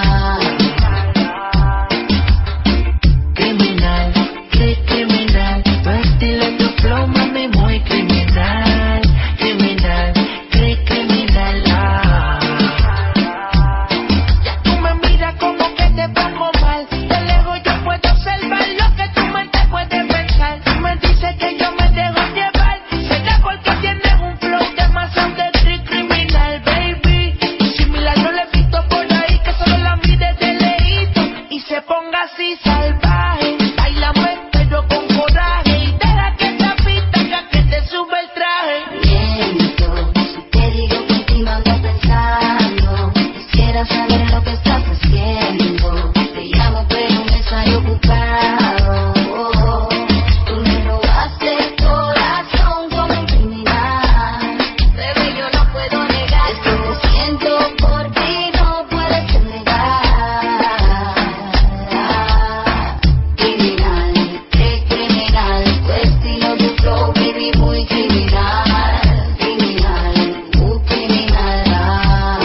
Criminal, qué criminal. Tu estilo de flow, mami, muy criminal. Criminal, qué criminal. Ah. Ya tú me miras como que te pongo mal. De lejos yo puedo observar lo que tu mente puede pensar. Tú me dices que yo me dejo llevar. Será porque tienes un flow demasiado de cri- criminal, baby. Similar no le he visto por ahí, que solo la mire de lejito y se ponga así salvaje. Bailame pero con coraje y deja que esa pista haga que te sube el traje. Miento si te digo que en ti no ando pensando. Quisiera saber lo que estás haciendo. Te llamo pero me sale ocupado. Tú me robaste el corazón como un criminal. Bebé, yo no puedo negar. Es que te siento por ti, no puedes negar. Criminal, qué criminal. Tu estilo de flow, baby, muy criminal. Criminal, muy criminal.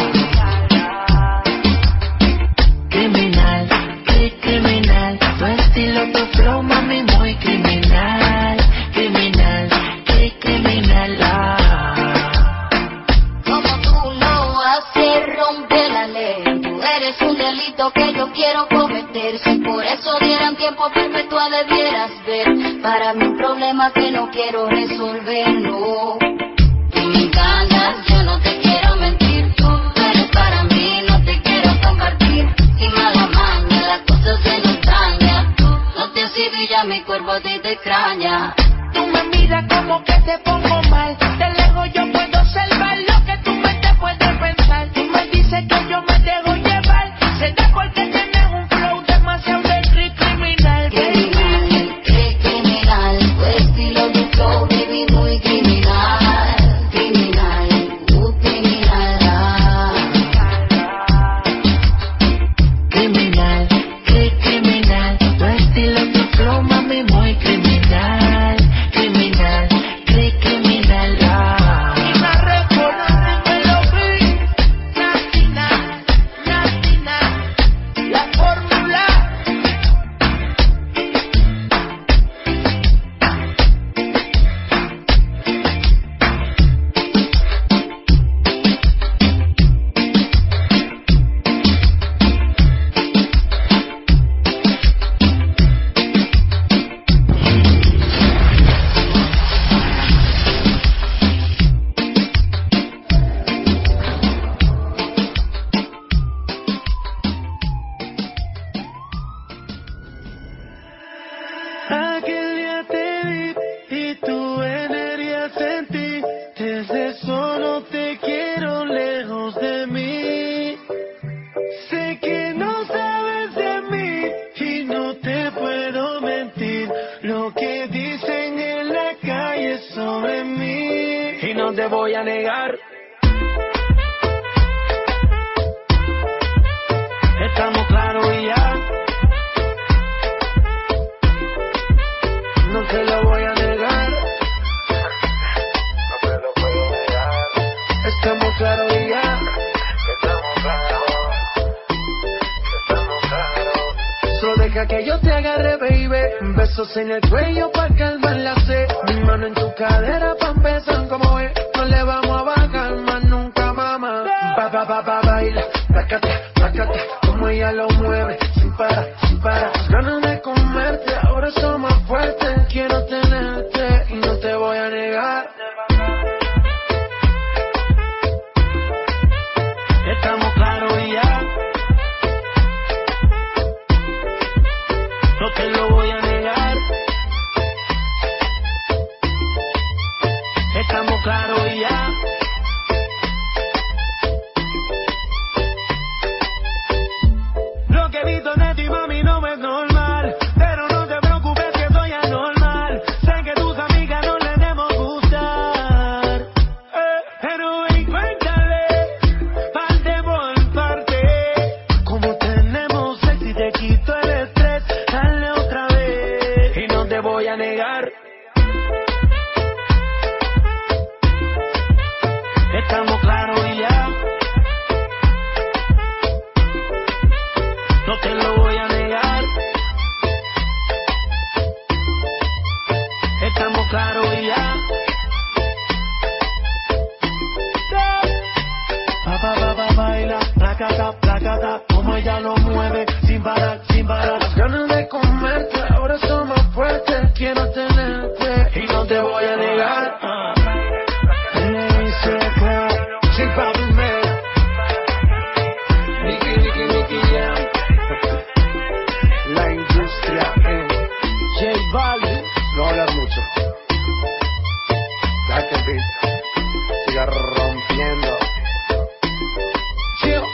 Criminal, qué criminal. Tu estilo, tu flow, mami, muy criminal. Criminal, qué criminal. Ah. Como tú lo haces, rompe la ley. Tú eres un delito que yo quiero cometer. Si por eso dieran tiempo firme, tú debieras ver. Para mí un problema que no quiero resolver, no. Tú me engañas, yo no te quiero mentir. Tú eres para mí, no te quiero compartir. Y mala maña, las cosas se nos dañan. Tú no te has ido y ya mi cuerpo te, te extraña. Tú me miras como que te pongo mal. De lejos yo puedo observar lo que tu mente puede pensar. Tú me dices que yo me dejo llevar. Será porque tienes un flow demasiado de cri- criminal, baby. Criminal, qué criminal. Tu estilo de flow, baby, muy criminal. Criminal, muy criminal. Criminal, qué criminal. Tu estilo, tu flow, mami, muy criminal. Criminal, qué criminal. Ah. Y me recuerdo que lo vi. Latina, latina, la fórmula. Aquel día te vi y tu energía sentí. Desde eso no te quiero lejos de mí. Sé que no sabes de mí y no te puedo mentir. Lo que dicen en la calle sobre mí y no te voy a negar. Estamos claros y ya. No te lo voy a negar. No te lo puedo negar. Estamos claros y ya. Estamos claros. Estamos claros. Solo deja que yo te agarre, baby. Besos en el cuello pa' calmar la sed. Mi mano en tu cadera pa' empezar como es. No le vamos a bajar más nunca, mamá. Pa, pa, pa, pa, baila. Placata, placata. Como ella lo mueve. Sin parar, sin parar. Ganas de comerte. Ahora son más fuertes. Quiero tenerte y no te voy a negar. Estamos claros y ya. No te lo voy a negar. Estamos claros y ya. placata, placata, como ella lo mueve, sin parar, sin parar. Las ganas de comerte, ahora son más fuertes. Quiero tenerte y no te voy a negar. Le hice clap, Sí, papi, me. Nicky, Nicky, Nicky, yeah. la industria es J Balvin. No hablar mucho. Deja que el beat siga rompiendo. Chill.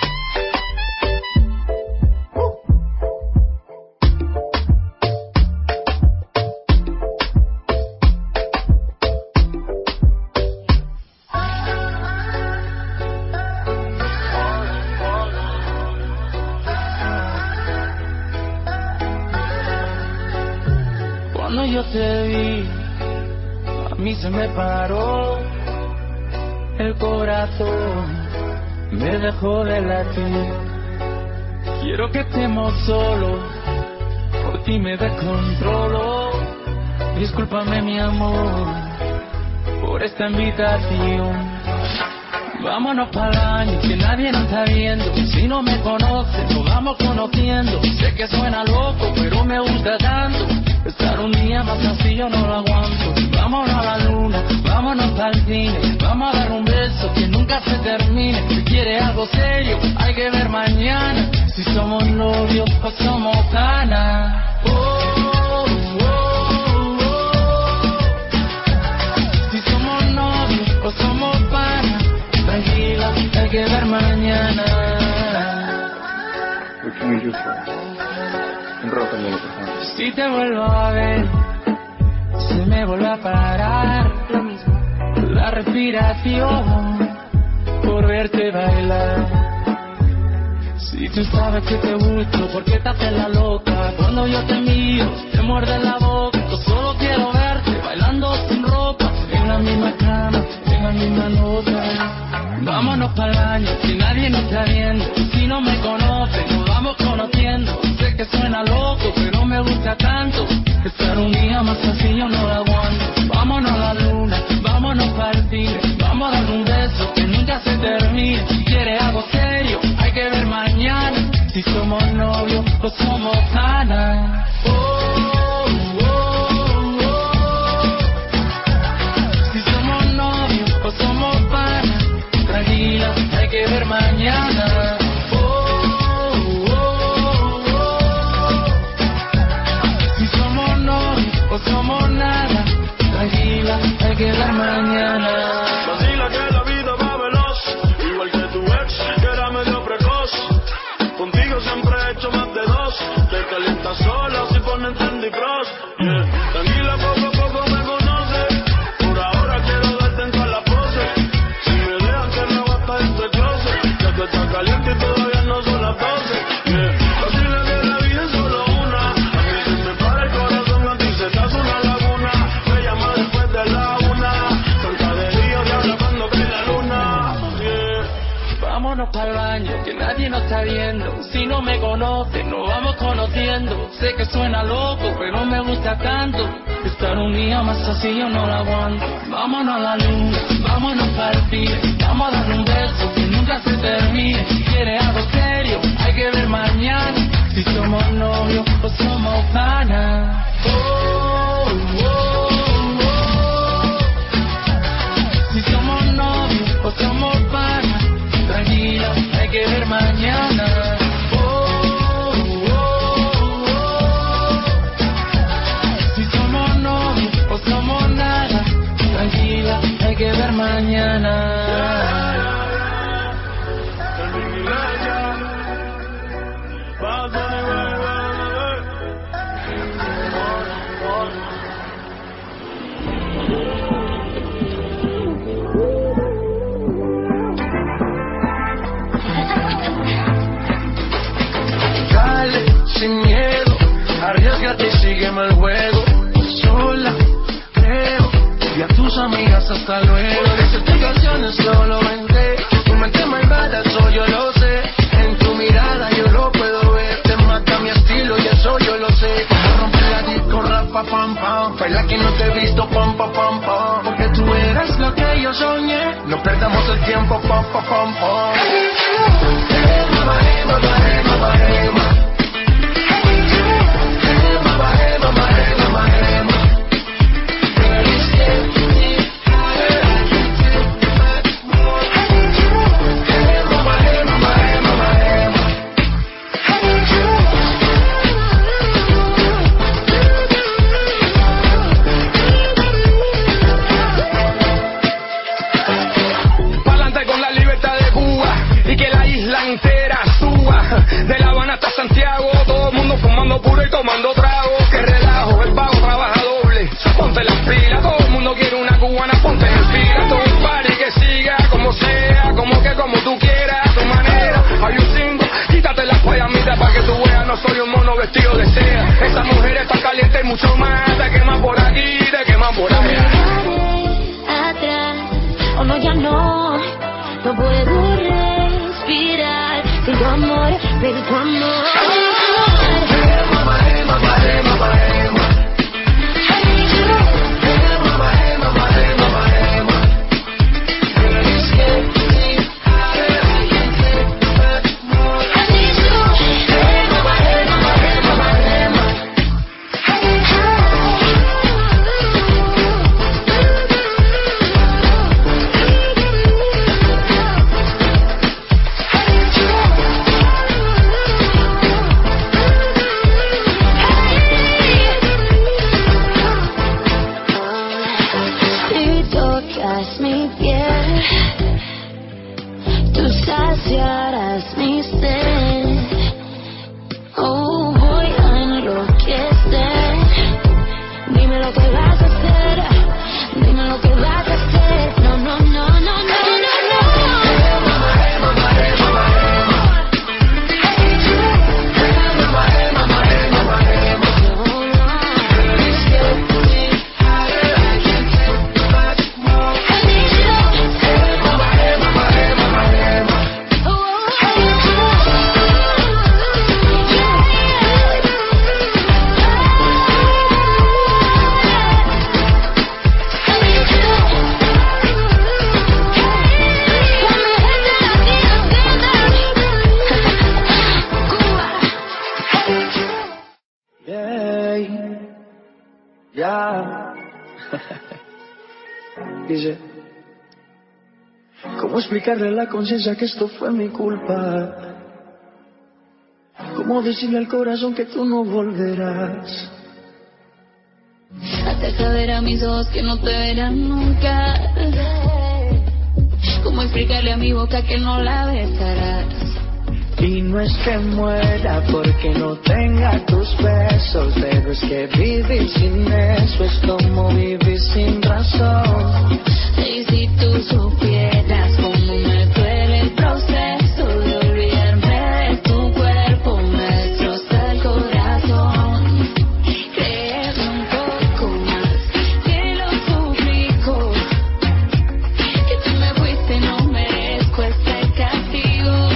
Cuando yo te vi, a mí se me paró el corazón, me dejó de latir. Quiero que estemos solos, por ti me descontrolo. Discúlpame mi amor, por esta invitación. Vámonos para el año, que nadie nos está viendo. Si no me conoces, nos vamos conociendo. Sé que suena loco, pero me gusta tanto. Estar un día más así yo no lo aguanto. Vámonos a la luna, vámonos para el cine. Vamos a dar un beso que nunca se termine. Si quieres algo serio, hay que ver mañana. Si somos novios o somos canas. Oh, oh, oh, oh. Si somos novios o somos panas. Tranquila, hay que ver mañana. What can we do for her? Enrócame, por favor. Si te vuelvo a ver, se me vuelve a parar lo mismo, la respiración por verte bailar. Si tú sabes que te gusto, ¿por qué te haces la loca? Cuando yo te miro, te muerde la boca. Yo solo quiero verte bailando sin ropa, en la misma cama, en la misma nota. Vámonos para el año, que nadie nos está viendo. Si no me conoces, nos vamos conociendo. Sé que suena loco, pero me gusta tanto. Estar un día más así yo no lo aguanto. Vámonos a la luna, vámonos para el cine. Vamos a dar un beso que nunca se termine. Si quieres algo serio, hay que ver mañana. Si somos novios o somos canas. Oh, oh, oh, oh. Si somos novios o somos panas. Tranquila, hay que ver mañana. Oh, oh, oh, oh. Si somos novios o somos nada. Tranquila, hay que ver mañana. Vacila que la vida va veloz, igual que tu ex, que era medio precoz. Contigo siempre he hecho más de dos. Te calientas sola si ponen Candy Crush. Yeah. Tranquila, poco a poco me conoces. Por ahora quiero darte en todas las poses. Si me dejan que no basta este closet, ya que está caliente y todavía no son las doce. Yeah. Vacila que la vida es solo una. A mí se me para el corazón, a ti se te hace una laguna. Me llama después de la una. Tanta de día y habla cuando cae la luna. Yeah. Vámonos para el baño, que nadie nos está viendo. Si no me conoces, nos vamos conociendo. Sé que suena loco, pero me gusta tanto. Estar un día más así yo no lo aguanto. Vámonos a la luna, vámonos para el cine. Vamos a dar un beso que nunca se termine. Si quieres algo serio, hay que ver mañana. Si somos novios o somos panas. Oh, oh, oh. Si somos novios o somos panas. Tranquila, hay que ver mañana. Oh, oh, oh. Si somos novios o somos nada. Tranquila, hay que ver mañana. Dale, sin miedo, arriesgate y sígueme el juego. Sola, creo, y a tus amigas hasta luego. Las explicaciones solo vendré. Tu mente malvada, eso yo lo sé. En tu mirada yo lo puedo ver. Te mata mi estilo y eso yo lo sé. Como romper la disco, rapa, pam, pam. Baila que no te he visto, pam, pam, pam, pam. Porque tú eres lo que yo soñé. No perdamos el tiempo, pam, pam, pam, pam. del tu amor. Dice, ¿cómo explicarle a la conciencia que esto fue mi culpa? ¿Cómo decirle al corazón que tú no volverás? Hacer saber a mis ojos que no te verán nunca. ¿Cómo explicarle a mi boca que no la besarás? Y no es que muera porque no tenga tus besos, pero es que vivir sin eso es como vivir sin razón. Y si tú supieras cómo me duele el proceso de olvidarme de tu cuerpo, me destroza el corazón. Créeme un poco más, te lo suplico, que tú me fuiste, no merezco este castigo.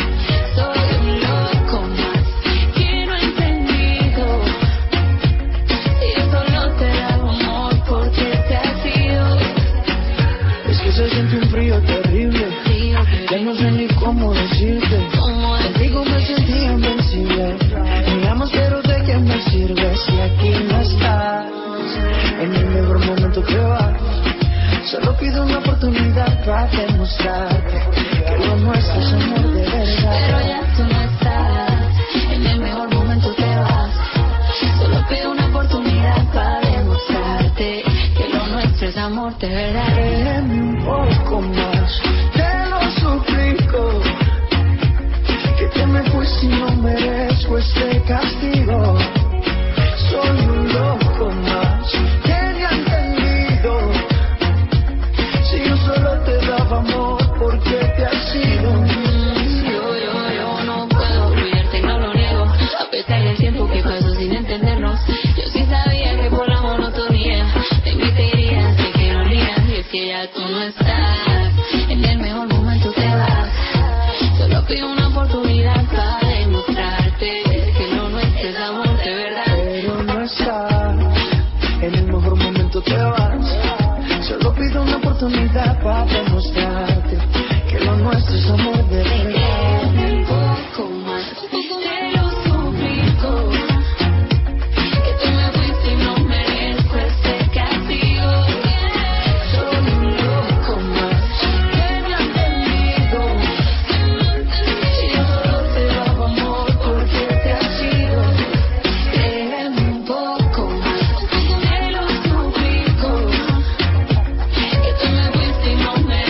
Se siente un frío terrible, ya no sé ni cómo decirte. Contigo me sentí invencible. Me llamas pero de qué me sirve si aquí no estás. En el mejor momento que vas, solo pido una oportunidad para demostrarte que lo nuestro es amor de verdad. Pero ya tú no estás, en el mejor momento te vas. Solo pido una oportunidad para demostrarte que lo nuestro es amor de verdad. Créeme un poco más, te lo suplico, que te me fuiste y no merezco este castigo. Soy un loco más, que ni ha entendido, si yo solo te daba amor, ¿por qué te has ido? Yo, yo, yo no puedo olvidarte, no lo niego, a pesar del tiempo que pasó sin entendernos. Yo sí sabía que por la monotonía te invitaría, sé que no olvidas, y es que ya tú no estás, en el mejor momento te vas. Solo pido una oportunidad para demostrarte que lo nuestro es amor de verdad. Pero no estás, en el mejor momento te vas. Solo pido una oportunidad para demostrarte que lo nuestro es amor de verdad. Un poco más, te lo suplico, que tú me fuiste y no merezco este castigo. Soy un loco más, que me ha entendido, Si yo solo te daba amor, ¿por qué te has ido? Créeme un poco más, te lo suplico, que tú me fuiste y no merezco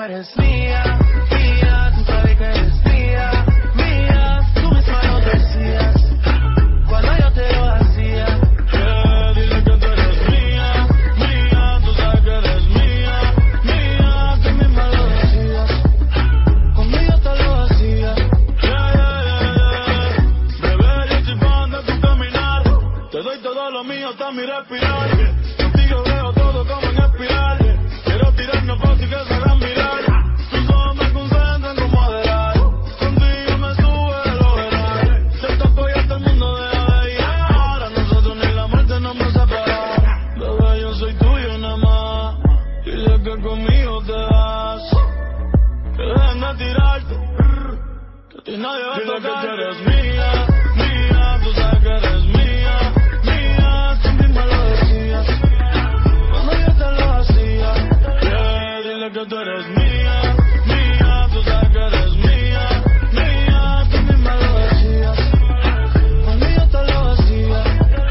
eres mía, mía, tú sabes que eres mía, mía, tú misma lo decías cuando yo te lo hacía. Yeah, dile que tú eres mía, mía, tú sabes que eres mía, mía, tú misma lo decías cuando yo te lo hacía. Yeah, yeah, yeah, yeah. Bebé, yo estoy fan de tu caminar, te doy todo lo mío hasta mi respirar. Contigo veo todo como en espiral. Quiero tirarnos fácil que se hagan mirar. Tus ojos me concentran con moderar. Contigo me sube el overall. Se tocó y hasta el mundo deja de ir. Ahora nosotros ni la muerte nos va a separar. Bebé, yo soy tuyo nada más. Dile que conmigo te vas. Que dejen de tirarte. Que a ti nadie va a tocar. Dile que tú eres mía, mía. Tú sabes que eres mía, mía. Tú misma lo decías cuando yo te lo hacía. Yeah, dile que tú eres mía, mía. Tú sabes que eres mía, mía. Tú misma lo decías cuando yo te lo hacía.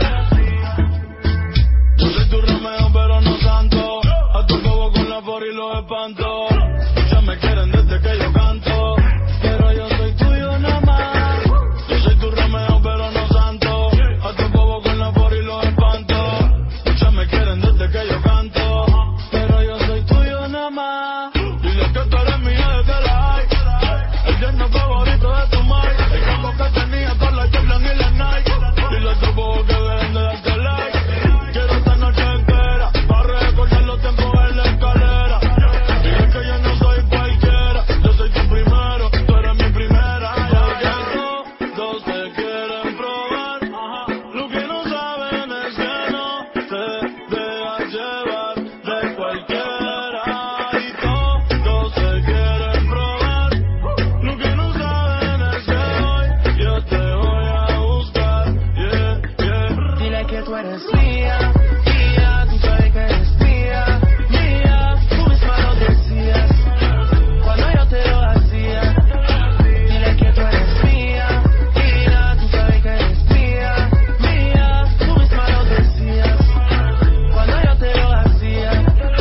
Yo soy tu Romeo pero no santo. A tu bobo con la por y los espanto. Ya me quieren desde que yo canto, pero yo soy tuyo nada más. Yo soy tu Romeo pero no santo. A tu bobo con la por y los espanto. Ya me quieren desde que yo canto, pero yo soy tuyo nada más. Dile que tú eres mía desde la high. El yerno favorito de tu madre. El campo que tenía con la Jordan y la Nike. Dile a tu bobo que dejen de darte like. Quiero esta noche entera para recordar los tiempos en la escalera. Dile que yo no soy cualquiera. Yo soy tu primero, tú eres mi primera. Ya que todos te quieren probar. Lo que no saben es que no te dejas llevar de cualquiera. Y todos te quieren probar. Lo que no saben es que hoy yo te voy a buscar. Yeah, yeah. Dile que tú eres mía, mía, tú sabes que eres mía, mía, tú misma lo decías cuando yo te lo hacía. Dile que tú eres mía, mía, tú sabes que eres mía, mía, tú misma lo decías cuando yo te lo hacía.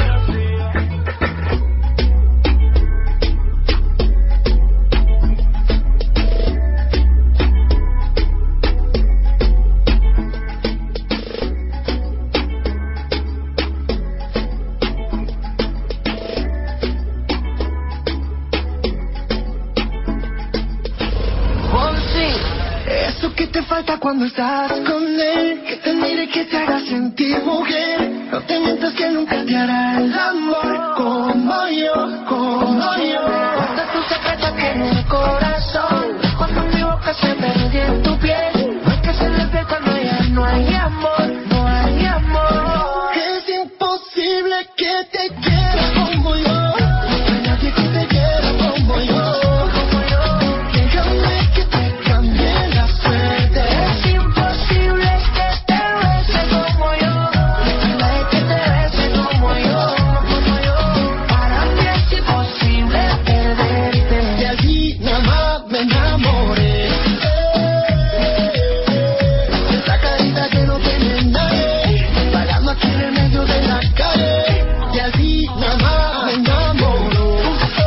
Oh, sí, eso que te falta cuando estás con él, que te mire, que te haga sentir mujer. No te mientas que nunca te hará el amor como yo, como yo. Guarda tus secretos que en el corazón, cuando mi boca se perdí en tu piel. No hay que se le ve cuando ya no hay amor, no hay amor. Es imposible que te quiera como yo. No hay nadie que te quiera como yo. Déjame que te cambie la suerte. Es imposible que te bese como yo. No hay que te bese como yo, como yo. Para mí es imposible perderte. De allí nada más me enamoré. Esa carita que no tiene nadie, parando aquí en el medio de la calle. De allí nada más me enamoró.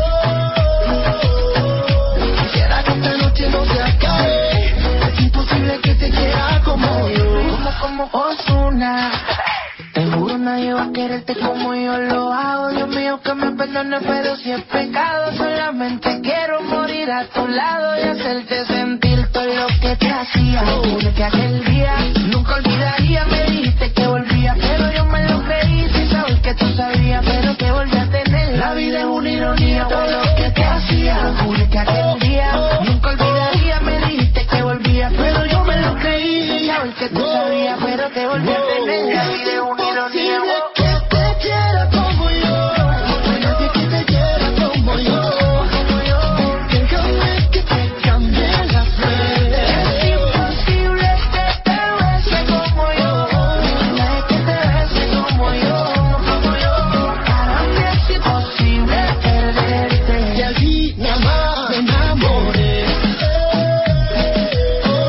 Quisiera que esta noche no se acabe. Es imposible que te quiera como yo. Como, como Ozuna. Te juro nadie va a quererte como yo lo hago. Dios mío que me perdone, pero si es pecado, solamente quiero morir a tu lado y hacerte sentir todo lo que te hacía. Juro que aquel día nunca olvidaría. Me dijiste que volvía, pero yo me lo creí sin saber que tú sabías, pero que volví a tener. La vida es una ironía, todo lo que te hacía. Juro que aquel día nunca olvidaría. Me dijiste que volvía, pero yo me lo creí sin saber que tú sabías, pero que volví a tener. La vida es una ironía. Que te quiera como yo. No hay nadie que te quiera como yo. Déjame que te cambie la suerte. Es imposible que te bese como yo. No hay nadie que te bese como yo, como yo. Para mí es imposible perderte. De allí nada más me enamoré.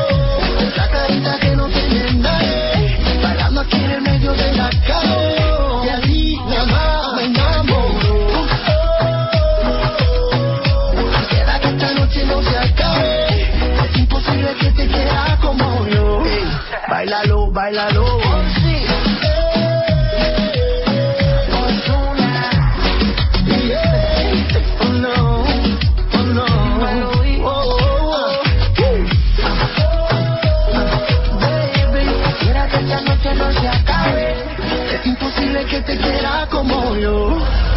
Esa carita que no tiene nadie, parando aquí en el medio de la calle. Villalobos. Que te quiera como yo.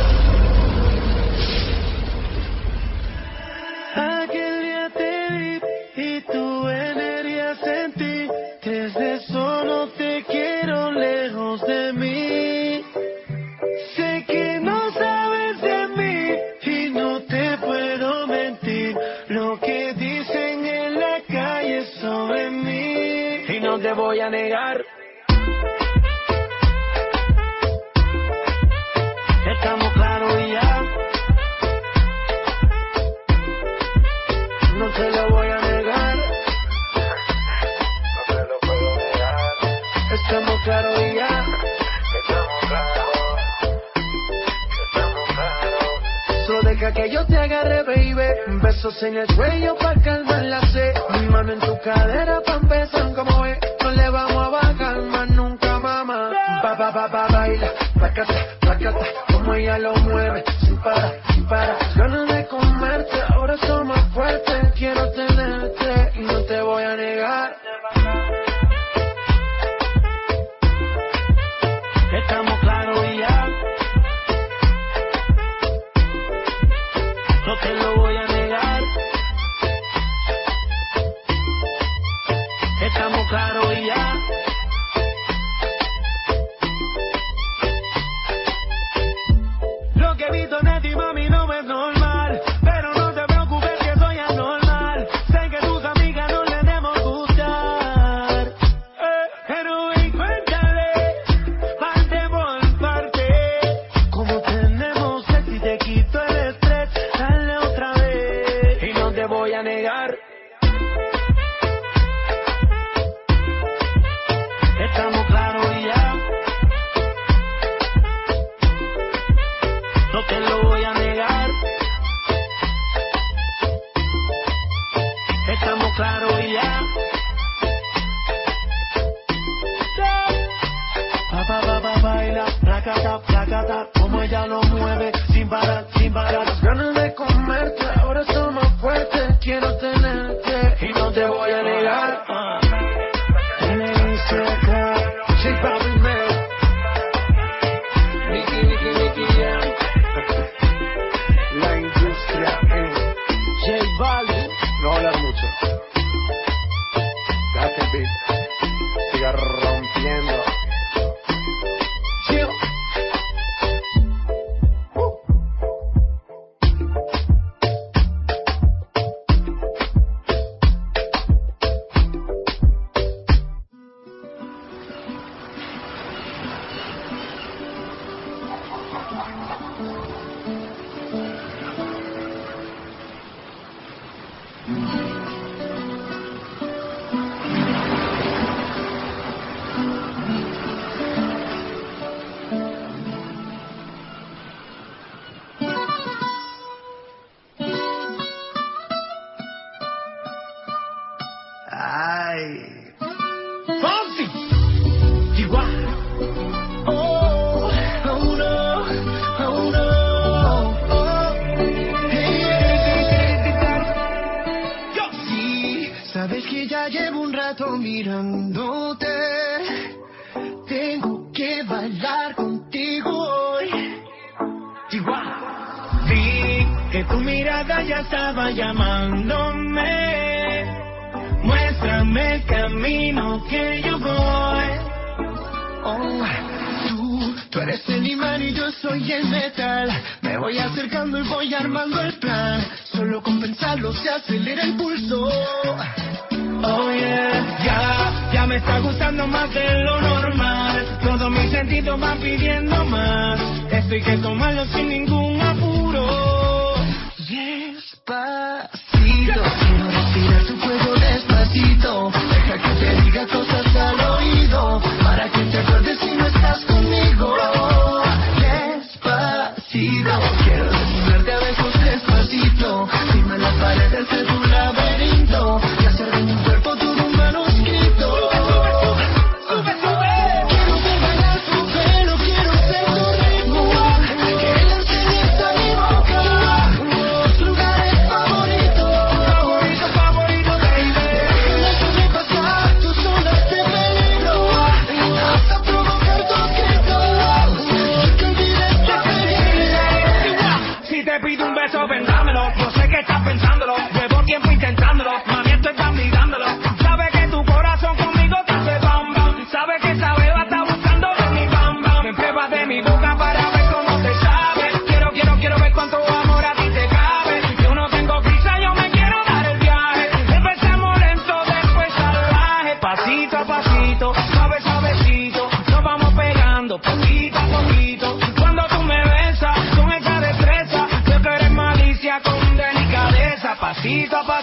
Aquel día te vi y tu energía sentí. Desde eso no te quiero lejos de mí. Sé que no sabes de mí y no te puedo mentir. Lo que dicen en la calle sobre mí y no te voy a negar. Estamos claros y ya. No te lo voy a negar. No te lo puedo negar. Estamos claros y ya. Estamos claros. Estamos claros. Solo deja que yo te agarre, baby. Besos en el cuello pa' calmar la sed. Mi mano en tu cadera pa' empezar como es. No le vamos a bajar más nunca, mamá. Pa, pa, pa, pa, baila. Placata, placata. Como ella lo mueve, sin parar, sin parar. Ganas de comerte, ahora somos fuertes. Quiero tenerte y no te voy a negar. Estamos claros y ya. No te lo voy a negar. Estamos claros y ya. Lo que he visto en ti, mami, no es normal. Pero no te preocupes que soy anormal. Sé que tus amigas no les debemos gustar. Eh, pero y cuéntale, parte por parte. Como tenemos sexo y te quito el estrés. Dale otra vez y no te voy a negar. Estamos claros y ya. No te lo voy a negar. Estamos claros y ya. Pa, pa, pa, pa, baila, placata, placata. Como ella lo mueve, sin parar, sin parar. Las ganas de comerte, ahora somos fuertes. Quiero tenerte y no te voy a negar. En el Instagram, J Balvin, man. Nicky, Nicky, Nicky, yeah. La industria en J Balvin. no hablar mucho. Deja que el beat siga rompiendo. Chill. Ay. Fonsi. Igual. Oh, oh no, oh no. Oh. Hey, hey, hey. Yo. Sí, sabes que ya llevo un rato mirándote. Tengo que bailar contigo hoy. Igual. Vi que tu mirada ya estaba llamándome. Muéstrame el camino que yo voy. Oh, tú, tú eres el imán y yo soy el metal. Me voy acercando y voy armando el plan. Solo con pensarlo se acelera el pulso. Oh yeah, ya, ya me está gustando más de lo normal. Todos mis sentidos van pidiendo más. Esto hay que tomarlo sin ningún apuro. Despacito, quiero respirar tu cuello despacito. Deja que te diga cosas al oído, para que te acuerdes si no estás conmigo. Despacito, quiero desnudarte a besos despacito. Dime las paredes de tu laberinto y hacer de mi cuerpo todo un manuscrito. Sube, sube, sube.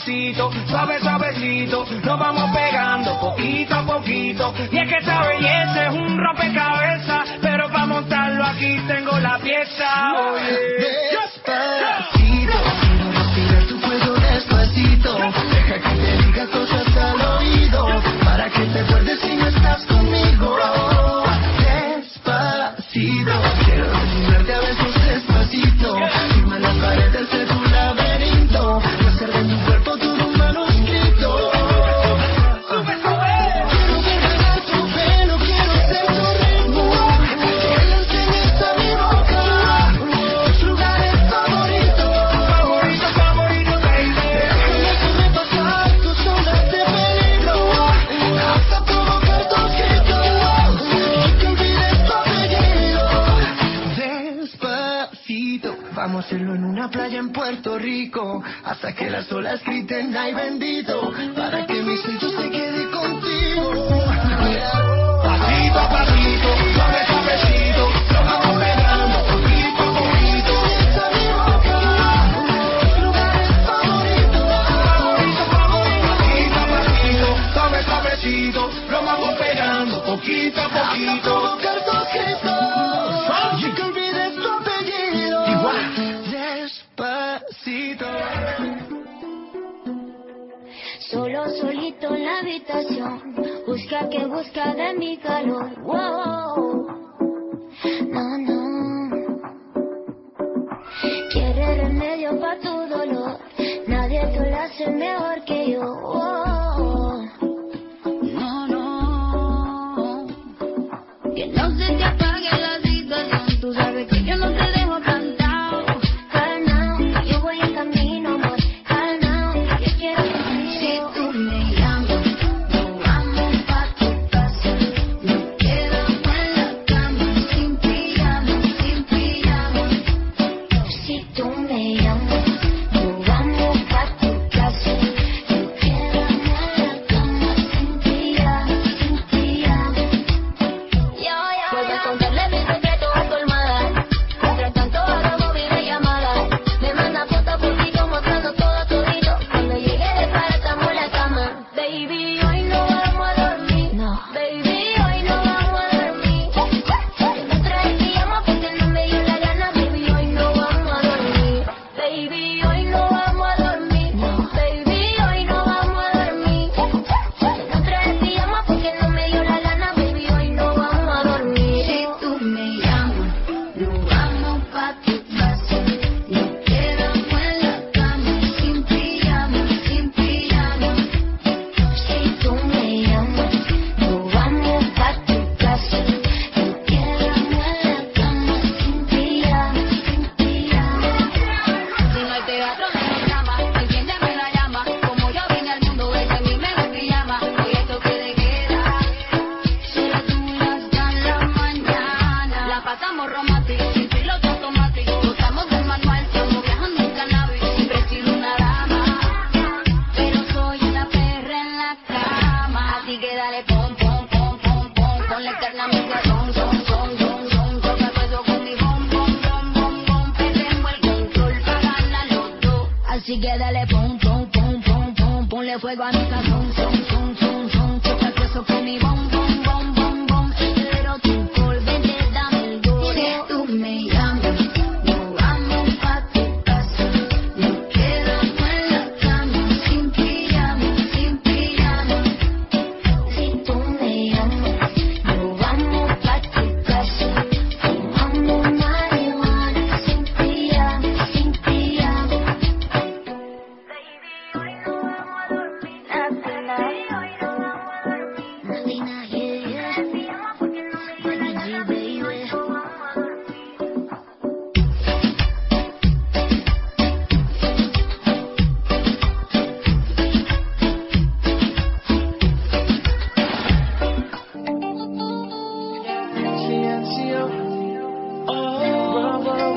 pasito, suave, suavecito, nos vamos pegando poquito a poquito. Y es que esa belleza es un rompecabezas, pero para montarlo aquí tengo la pieza. Oye, despacito, quiero respirar tu fuego despacito. Deja que te diga cosas al oído, para que te acuerdes si no estás conmigo. Despacito, quiero desnudarte a besos despacito. Firma las paredes de tu laberinto, y hacer de tu cuerpo todo un manuscrito. Quiero desnudar tu pelo, quiero ser tu ritmo, que le enseñes a mi boca tus lugares favoritos, favoritos, favoritos, baby. Déjame sobrepasar tus zonas de peligro, hasta provocar tus gritos, y que olvides tu apellido. Despacito, vamos a hacerlo en una playa en Puerto Rico, hasta que las olas griten ay bendito, para que mi sueño se quede contigo. pasito a pasito, suave, suavecito, nos vamos pegando poquito a poquito. Esa mi boca, tus lugares favoritos, Favorito, favorito, pasito a pasito, suave, suavecito, nos vamos pegando poquito a hasta poquito. provocar tus gritos, y que olvides tu apellido. Igual. Despacito. Solo solito en la habitación, busca que busca de mi calor. Wow. No, no. Quiere remedio pa' tu dolor, nadie te lo hace mejor que yo. Wow. No, no. Que no se te apague la situación, tú sabes que yo no te dejo plantado. Calma, yo voy en camino, amor. Calma, yo quiero contigo. Si tú me llamas, nos vamos pa' tu casa. Nos quedamos en la cama, sin pijama, sin pijama. Si tú me llamas, nos vamos pa' tu casa. Nos quedamos en la cama, sin pijama, sin pijama. Yo, yo, puedes contarle mis secretos a tu almohada. Mientras tanto hagamos videollamada. Me manda fotos por ti mostrando todo todito. Cuando llegue de para estamos en la cama. Baby, hoy no vamos a dormir. No. Baby, hoy no vamos a dormir. Yo no traje pijama porque no me dio la gana. Baby, hoy no vamos a dormir. Baby, hoy no vamos a dormir. No. Baby, hoy no vamos a dormir. Yo no traje pijama porque no me dio la gana. Baby, hoy no vamos a dormir. Si tú me llamas, nos vamos pa' tu casa. Nos quedamos en la cama, sin pijama, sin pijama. Si tú me llamas, nos vamos pa' tu casa. Nos quedamos en la cama, sin pijama, sin pijama. Si no hay teatro, no hay drama. Enciéndeme la llama. Como yo vine al mundo, ese es mi mejor pijama. Hoy esto que de queda, solo tú y hasta la mañana. La pasamos romántico, sin piloto automático. Gozamos del manual, estamos viajando en cannabis. Siempre he sido una dama, pero soy una perra en la cama. Así que dale pom, pom, pom, pom, pom. Ponle eternamente son, son, son, son, son. Toca el peso con mi bom, bom, bom, bom, bom. Perdemos el control para ganar los dos. Así que dale pom, pom, pom, pom, pom. Ponle fuego a mi cazón, son, son, son, son. Toca el peso con mi bom, bom, bom, bom, bom. Pero tú por vente dame el gol. Si tú me llamas, nos vamos pa' tu casa. Nos quedamos en la cama, sin pijama, sin pijama. Si tú me llamas, nos vamos pa' tu casa. Fumando marihuana, sin pijama, sin pijama. Baby, hoy no vamos a dormir. Latina, hoy no vamos a dormir. Latina, yeah, yeah. Baby G, baby. Silencio. Oh,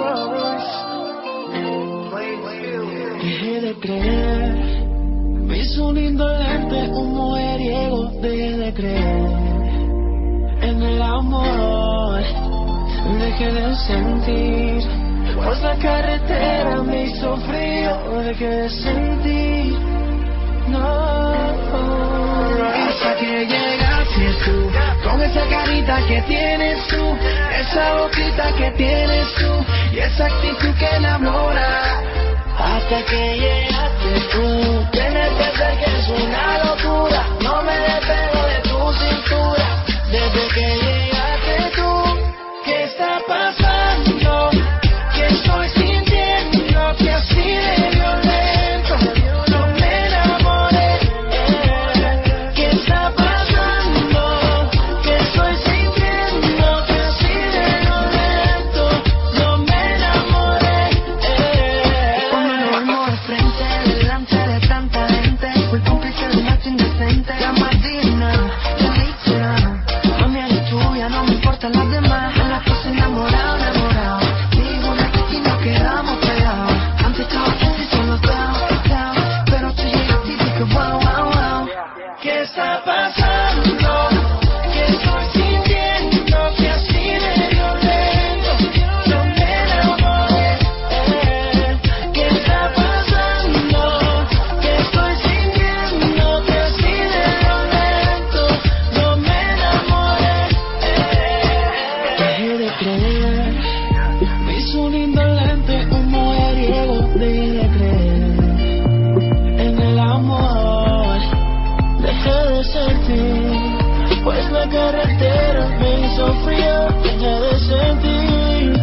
dejé de creer, me hizo un indolente, un mujeriego. Dejé de creer en el amor, dejé de sentir, pues la carretera me hizo frío. Dejé de sentir Hasta que llegaste tú, con esa carita que tienes tú, esa boquita que tienes tú, y esa actitud que enamora. Hasta que llegaste tú, tienes que ser que es una locura. No me despego de tu cintura, desde que llegaste tú. ¿Qué está pasando? ¿Qué estoy sintiendo? Que así de violento no me enamoré. ¿Qué está pasando? ¿Qué estoy sintiendo? Que así de violento no me enamoré. Cuando nos vemos de frente, delante de tanta gente, fui cómplice de un acto indecente. La Martina, la Alicia, mami eres tuya, no me importan las demás. En la cosa enamorado, enamorado, digo una y nos quedamos pegados. Antes estaba casi solo down, down, pero tú llegaste y dije wow, wow, wow. ¿Qué está pasando? ¿Qué estoy sintiendo? Que así de violento no me enamoré. ¿Qué está pasando? ¿Qué estoy sintiendo? Que así de violento no me enamoré. Dejé de creer, me hizo un indolente, un mujeriego. Dejé de creer en el amor, dejé de sentir, pues la carretera me hizo frío. Dejé de sentir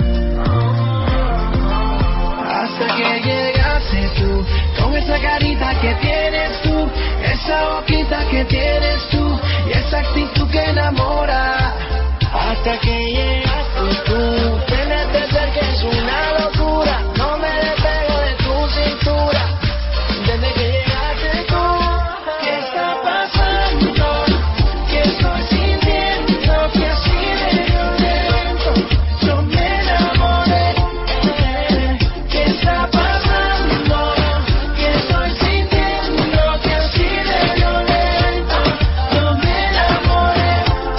hasta que llegaste tú, con esa carita que tienes tú, esa boquita que tienes tú, y esa actitud que enamora. Hasta que llegaste tú, tienes que ser que es una locura. No me despego de tu cintura, desde que llegaste tú. ¿Qué está pasando? ¿Qué estoy sintiendo? Que así de violento no me enamoré. ¿Qué está pasando? ¿Qué estoy sintiendo? Que así de violento no me enamoré.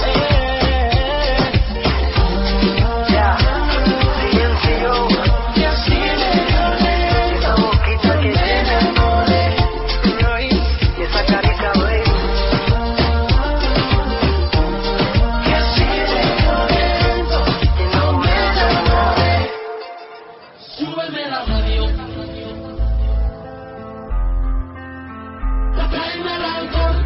Ya, silencio. Que así de violento esa boquita que me enamoré. Y esa carita, baby. Que así de violento no me enamoré. Súbeme la radio, tráeme el alcohol.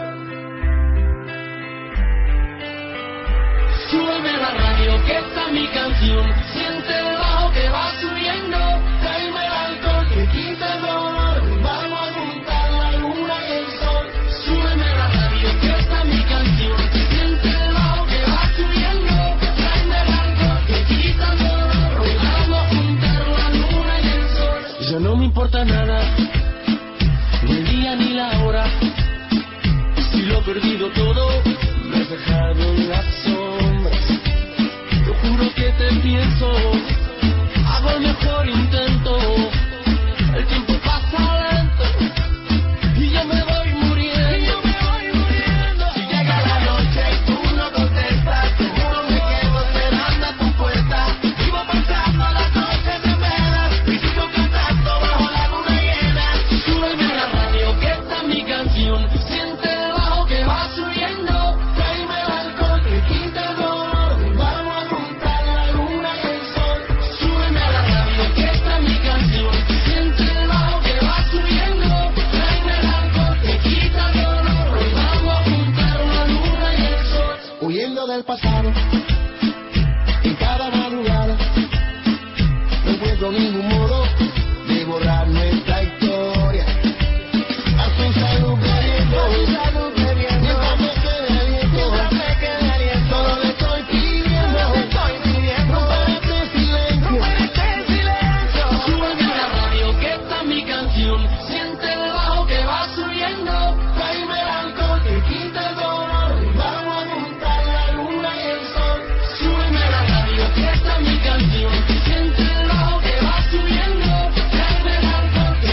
Súbeme la radio, que esta es mi canción. Siente el bajo que va subiendo. Tráeme el alcohol, que quita el dolor. Vamos a juntar la luna y el sol. Súbeme la radio, que esta es mi canción. Siente el bajo que va subiendo. Tráeme el alcohol, que quita el dolor. Vamos a juntar la luna y el sol. Ya no me importa nada, ni el día ni la hora. Si lo he perdido todo, me has dejado en las sombras. Yo juro que te pienso, hago el mejor intento. El tiempo pasa lento y yo me voy muriendo. Si llega la noche y tú no contestas, seguro me quedo esperando a tu puerta. Vivo pensando las noches de veras y sigo cantando bajo la luna llena. Súbeme la radio, que esta es mi canción. Siente el bajo que va subiendo. Tráeme el alcohol, que quita el dolor. Vamos a juntar la luna y el sol. Súbeme a la radio, que esta es mi canción. Siente el bajo que va subiendo. Tráeme el alcohol, que quita el dolor. Vamos a juntar la luna y el sol. Huyendo del pasado, en cada madrugada, no encuentro ningún modo de borrar nuestra historia. A tu salud bebiendo, mientras me quede aliento, solo le estoy pidiendo, romper este silencio. Súbeme a la radio, que esta es mi canción. Siente el bajo que va subiendo. Tráeme el alcohol, que quita el dolor. Vamos a juntar la luna y el sol. Súbeme a la radio, que esta es mi canción. Siente el bajo que va subiendo. Tráeme el alcohol, que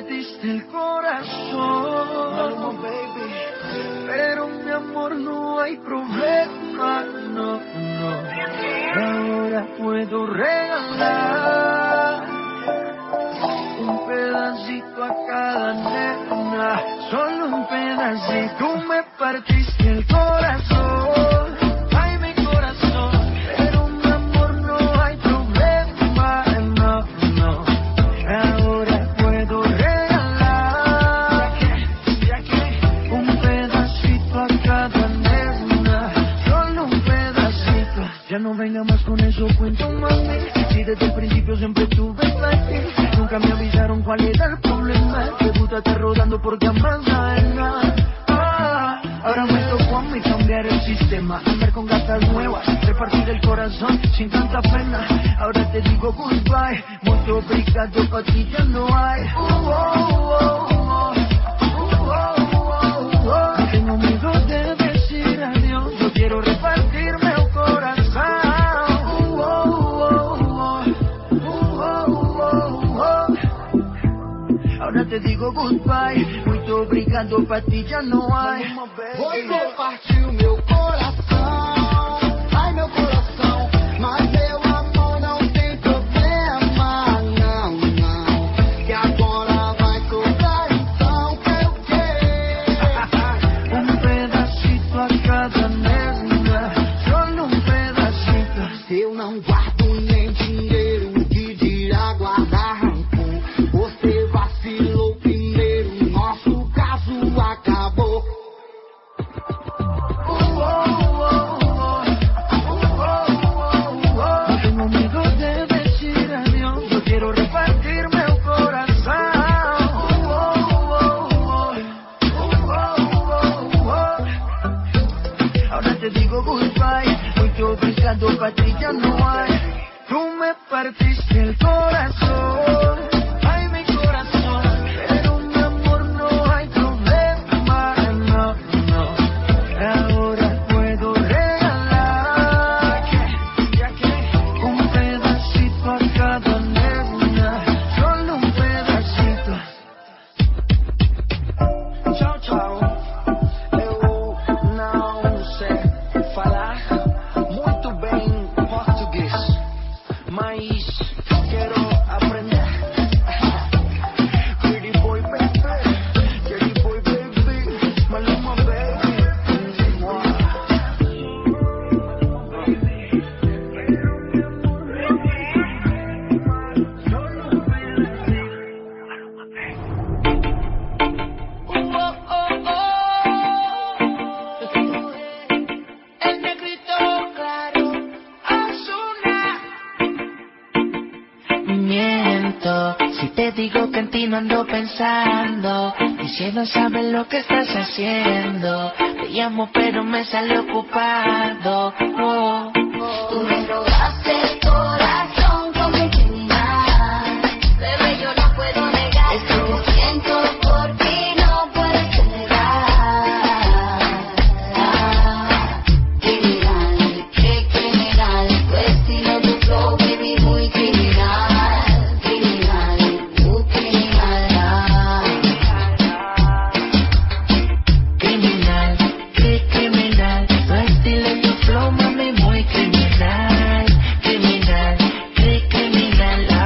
partiste el corazón, baby. Pero mi amor, no hay problema, no, no. Ahora puedo regalar un pedacito a cada nena, solo un pedacito. Tú me partiste el corazón, ay mi corazón, pero mi amor, no hay problema, no, no. Ahora puedo regalar un pedacito a cada nena, solo un pedacito. Ya no venga más con eso, cuento mami, si desde el principio siempre tuve fe. Nunca me avisaron cuál era el problema. Debútate rodando porque amas a nada. Ah, ahora me tocó a mí cambiar el sistema, andar con gatas nuevas, repartir el corazón sin tanta pena. Ahora te digo goodbye, mucho obrigado, pa' ti ya no hay. Uh, oh, oh, oh. Uh, oh, oh, oh. No tengo miedo de decir adiós, yo quiero repartirme el corazón. Uh, oh, oh, oh. Uh, oh, oh, oh. Ahora te digo goodbye, muito obrigado, pa' ti já não há. Você partiu meu coração, ai meu coração, mas meu amor não tem problema, não, não. Que agora vai cobrar, então quer o quê? Um pedacito a cada nena, solo um pedacito. Eu não guardo nem dinheiro, que dirá guardar rancor. Você vacilou primeiro, nosso caso acabou. Uh, oh, oh, oh. Uh, oh, oh, oh. No tengo miedo de decir adiós, yo quiero repartir meu coração. Uh, oh, oh, oh. Uh, oh, oh, oh. Ahora te digo goodbye, muito obrigado, pa' ti já não há. Tú me partiste el corazón, ay mi corazón, pero mi amor, no hay problema, no, no. Ahora puedo regalar un pedacito a cada nena, solo un pedacito. Tchau, tchau. Eu não sei falar muito bem português, mas quero aprender. Pretty boy baby, pretty boy baby, Maluma baby. Oh, oh, oh. El negrito claro, Ozuna. Miento si te digo que en ti no ando pensando, y si no sabes lo que estás haciendo. Te llamo pero me sale ocupado. Oh. Tú me robaste el corazón con mi criminal. Bebé, yo no puedo negar esto que siento por ti, no puedes negar. Criminal, qué criminal, tu estilo, tu flow, baby, muy criminal. Criminal, muy criminal. Criminal, qué criminal, tu estilo, tu flow, mami, muy criminal. Criminal, qué criminal. Ah.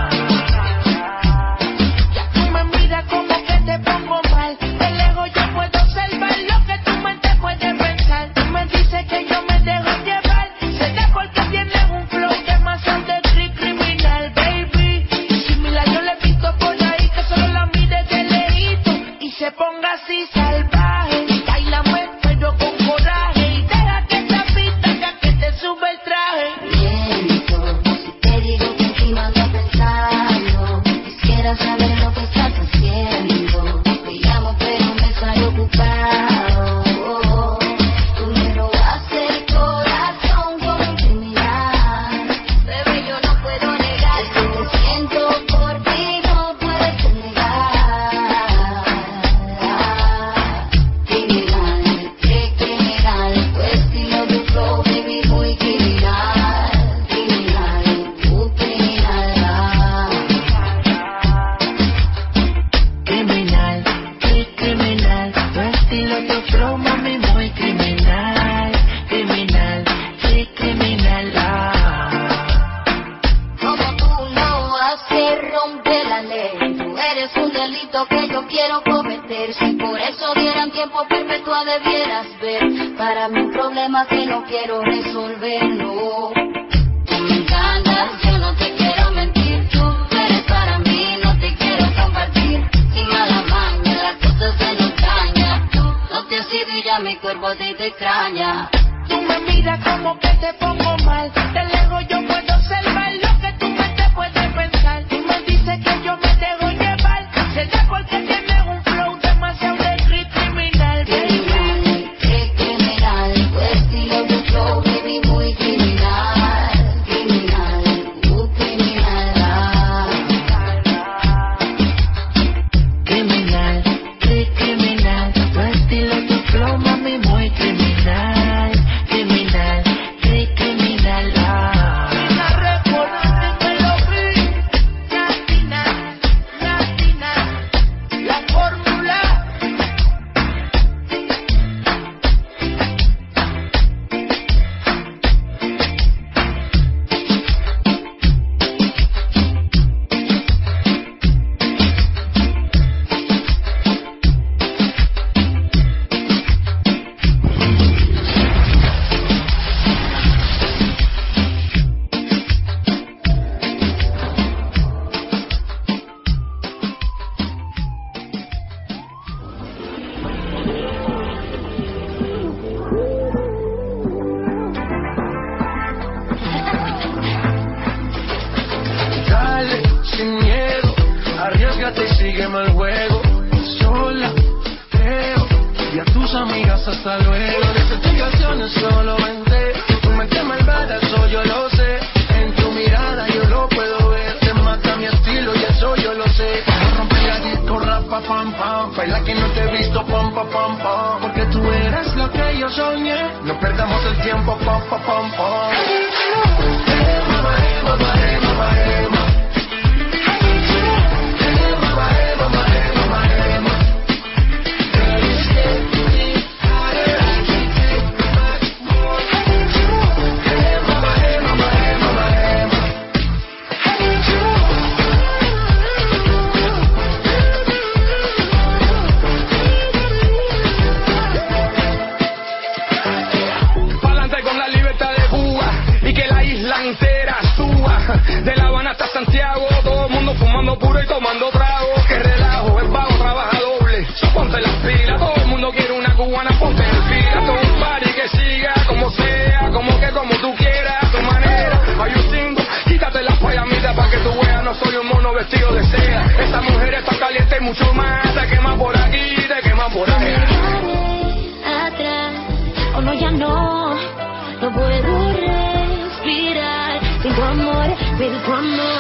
Ya tú me miras como que te pongo mal, de lejos yo puedo observar lo que tu mente puede pensar. Tú me dices que yo me dejo llevar, será porque tienes un flow demasiado de cri- criminal, baby. Similar yo le he visto por ahí que solo la mire de lejito y se ponga así salvaje. Bailame pero con coraje y deja que esta pista ya que te sube el traje. Miento si te digo que encima ando pensando. Quisiera saber lo que estás haciendo. Te llamo pero me sale ocupado. Tú me robaste el corazón con mi criminal. Bebé, yo no puedo negar esto que siento por ti, no puedes negar. que yo quiero cometer. Si por eso dieran tiempo perpetua debieras ver. Para mí un problema que no quiero resolver, no. Tú me encantas, yo no te quiero mentir. Tú eres para mí, no te quiero compartir. Sin mala maña, las cosas se nos dañan. Tú no te has ido y ya mi cuerpo a ti te extraña. Tú me miras como que te pongo mal. De lejos yo puedo observar lo que tu mente puede pensar. Tú me dices que yo me dejo llevar. Será porque tienes un flow demasiado de criminal, baby. Qué criminal, tu estilo, tu flow, baby, muy criminal. Criminal, uh, criminal. Criminal, qué criminal. Tu estilo, tu flow, mami, muy criminal. Criminal, qué criminal. Ah. Latina, recuerda que lo vi. Latina, latina, la fórmula. Dale, sin miedo, arriesgate y sígueme el juego. Sola, creo, y a tus amigas hasta luego. Las explicaciones solo vente. Tu mente malvada, eso yo lo sé. En tu mirada yo lo puedo ver. Te mata mi estilo y eso yo lo sé. No rompe la disco, rapa, pam, pam. Baila que no te he visto, pam, pam, pam, pam. Porque tú eres lo que yo soñé. No perdamos el tiempo, pam, pam, pam, pam. Eh, mamá, eh, mamá, eh, mamá, eh, mamá. Pa'lante con la libertad de Cuba y que la isla entera suba. De La Habana hasta Santiago, todo el mundo fumando puro y tomando trago. Que relajo, el vago trabaja doble. So, ponte las pilas, todo el mundo quiere una cubana, ponte en fila. Todo un party que siga como sea, como que como tú quieras, a tu manera. Hay un cinco, quítate las payamitas pa' que tú veas, no soy un mono vestido de seda. Esta mujer está caliente y mucho más, te quema por aquí, te quema por allá. Atrás, o no, ya no, no puedo respirar sin tu amor, sin tu amor.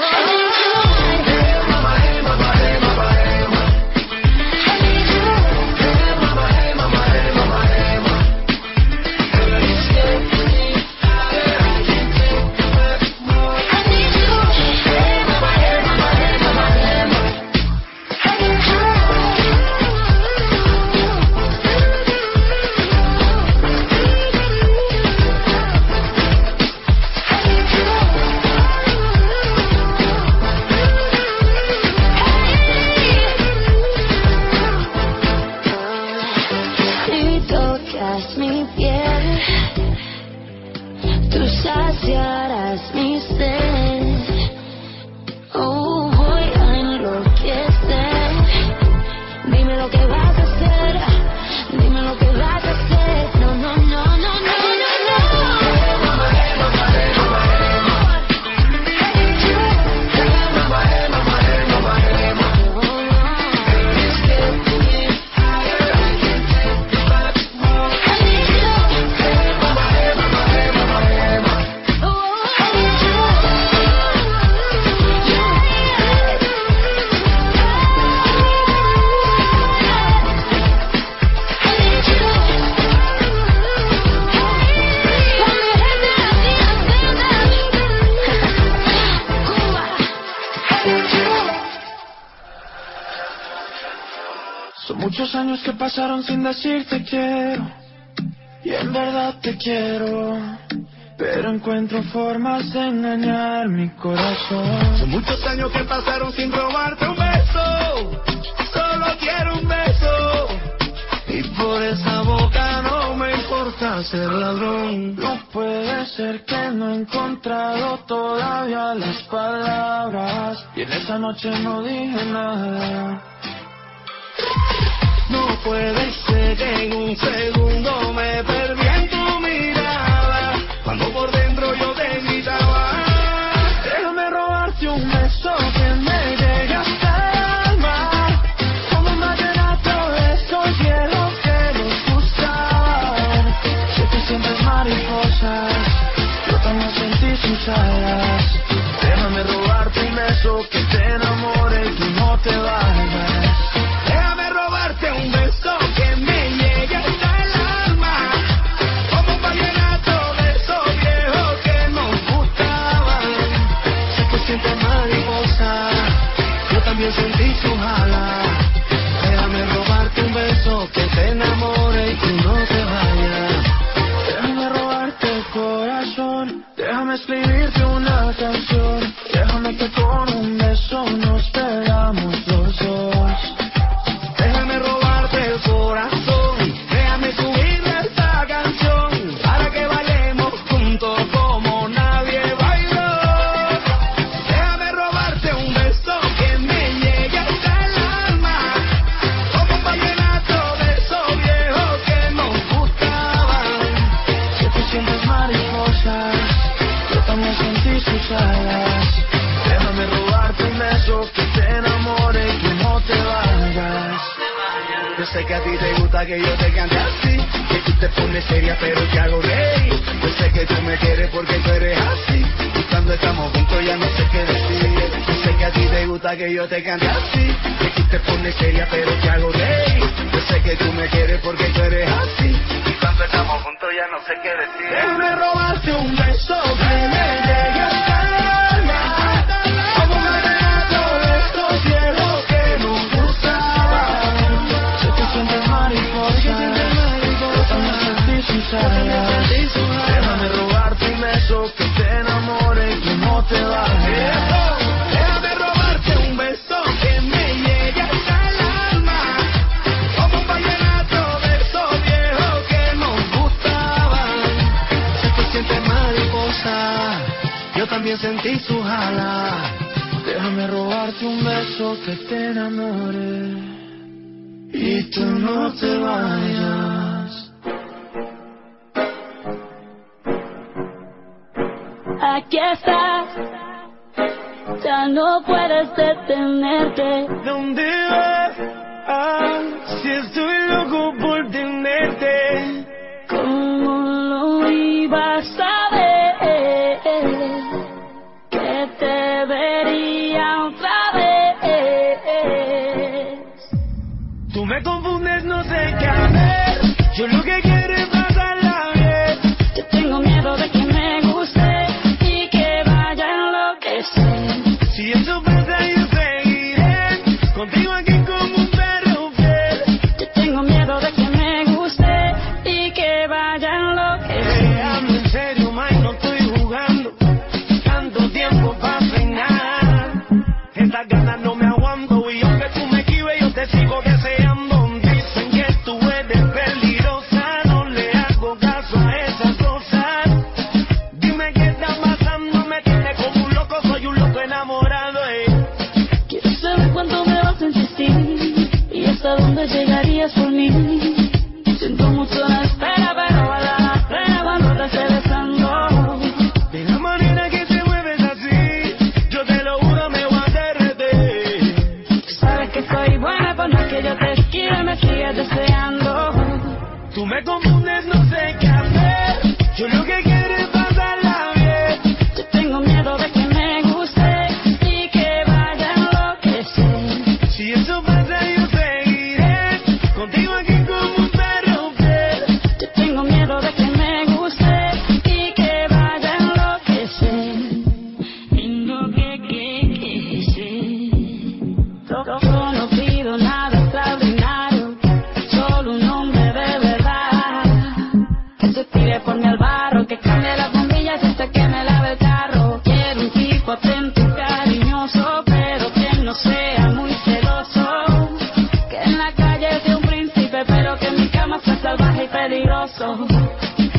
Si tocas mi piel, tú saciarás mi sed. Oh, voy a enloquecer. Dime lo que vas a hacer, dime lo que vas a hacer. No, no, no, no, no, no, no. Son muchos años que pasaron sin decirte quiero. Y en verdad te quiero. Pero encuentro formas de engañar mi corazón. Son muchos años que pasaron sin robarte un beso. Solo a ser ladrón. No puede ser que no he encontrado todavía las palabras, y en esa noche no dije nada. No puede ser que en un segundo me perdí en tu mirada, cuando por dentro yo te gritaba. Déjame robarte un beso que me llegue hasta el alma, como un vallenato de esos viejos que nos gustaban. Sé que sientes mariposas, yo también sentí sus alas. Déjame robarte un beso que te enamore y tú no te vayas. Déjame robarte un beso que me llegue hasta el alma, como un vallenato de esos viejos que nos gustaban. Sé que sientes mariposa, yo también sentí su jala. Déjame robarte un beso que te enamore y tú no te vayas. Déjame robarte el corazón, déjame escribirte una canción. Déjame que con un beso nos pegamos los dos. Déjame robarte el corazón, déjame subirle esta canción, para que bailemos juntos como nadie bailó. Déjame robarte un beso que me llegue hasta el alma, como un vallenato de esos viejos que nos gustaban. Si tú sientes mariposas, yo también sentí sus alas. Déjame robarte un beso que te enamore y que no te vayas. Yo sé que a ti te gusta que yo te cante así, que tú te pones seria pero te hago reír. Yo sé que tú me quieres porque tú eres así, y cuando estamos juntos ya no sé qué decir. Yo sé que a ti te gusta que yo te cante así, que tú te pones seria pero te hago reír. Yo sé que tú me quieres porque tú eres así, y cuando estamos juntos ya no sé qué decir. Déjame robarte un beso que me llegue hasta el alma, como un vallenato de estos viejos que nos gustaban. Sé que sientes mariposa, yo también sentí sus alas. Déjame robarte un beso que te enamore y que no te vayas. Déjame robarte un beso que me llegue hasta el alma, como un vallenato de esos viejos que nos gustaban. Sé que sientes mariposa, yo también sentí su jala. Déjame robarte un beso que te enamore y tú no te vayas. Aquí estás, ya no puedes detenerte. ¿Dónde vas? Ah, si estoy loco por tenerte. ¿Cómo lo ibas a ver? Que te vería otra vez. Tú me confundes, no sé qué hacer. Yo lo que quiero es pasarla bien. Yo tengo miedo de que me guste y que vaya a enloquecer. Si eso pasa yo seguiré contigo aquí como un perro fiel. Yo tengo miedo de que me guste y que vaya a enloquecer. Déjame en serio, man, no estoy jugando. Tanto tiempo pasa y nada. Estas ganas no me aguanto, y aunque tú me esquives yo te sigo deseando. Dicen que tú eres peligrosa, no le hago caso a esas cosas. Dime qué está pasando, me tiene como un loco, soy un loco enamorado, eh. Quiero saber cuánto me vas a insistir y hasta dónde llegarías por mí. Siento mucho la espera, pero vale la pena cuando te esté besando. De la manera que te mueves así, yo te lo juro me voy a derretir. Tú sabes que soy buena, por más que yo te esquive, me sigues deseando. Tú me confundes, no sé qué hacer. Yo lo que quiero es pasarla bien. Yo tengo miedo de que me guste y que vaya a enloquecer. Si eso pasa yo seguiré contigo aquí como un perro fiel. Yo tengo miedo de que me guste y que vaya a enloquecer. Enloquecer. Yo no pido nada extraordinario, solo un hombre de verdad que se tire por mi al barro, que cambie las bombillas hasta que me lave el carro. Quiero un tipo atento y cariñoso, pero que no sea muy celoso, que en la calle sea un príncipe, pero que en mi cama sea salvaje y peligroso.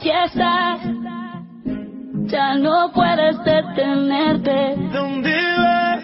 aquí estás, ya no puedes detenerte. ¿Dónde vas?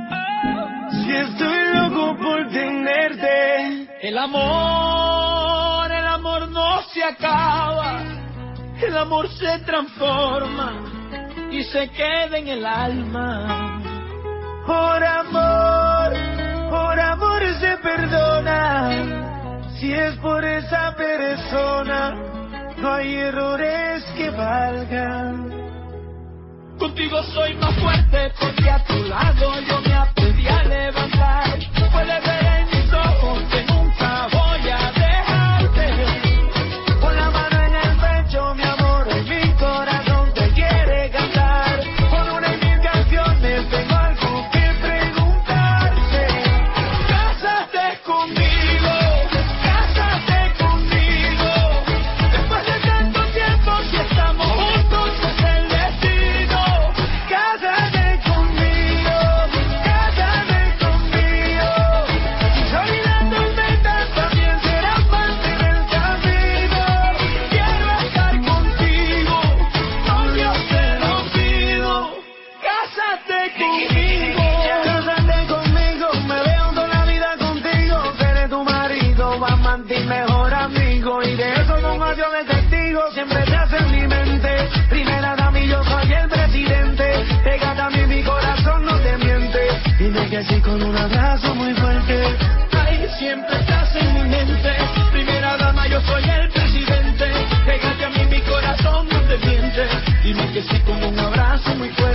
Si estoy loco por tenerte. El amor, el amor no se acaba. El amor se transforma y se queda en el alma. Por amor, por amor se perdona. Si es por esa persona, no hay errores que valgan. Contigo soy más fuerte porque a tu lado yo me aprendí a levantar. Puedes ver en mis ojos que nunca voy a dejarte. Con la mano en el pecho, mi amor, en mi corazón te quiere cantar. Con una y mil canciones tengo algo que preguntarte. Cásate conmigo, cásate conmigo. Después de tanto tiempo, si estamos juntos es el destino. Cásate conmigo, cásate conmigo. Si olvidando el metal también será parte del camino. Quiero estar contigo, novio te lo pido. Cásate conmigo, cásate conmigo. Me veo toda la vida contigo. Seré tu marido, amante y mejor amigo. Y de eso no más yo de testigo. Siempre te hace en mi mente. Primera dama y yo soy el presidente. Pégate a mí, mi corazón no te miente. Dime que sí con un abrazo muy fuerte. Ay, siempre estás en mi mente. Primera dama, yo soy el presidente. Pégate a mí, mi corazón no te miente. Dime que sí con un abrazo muy fuerte.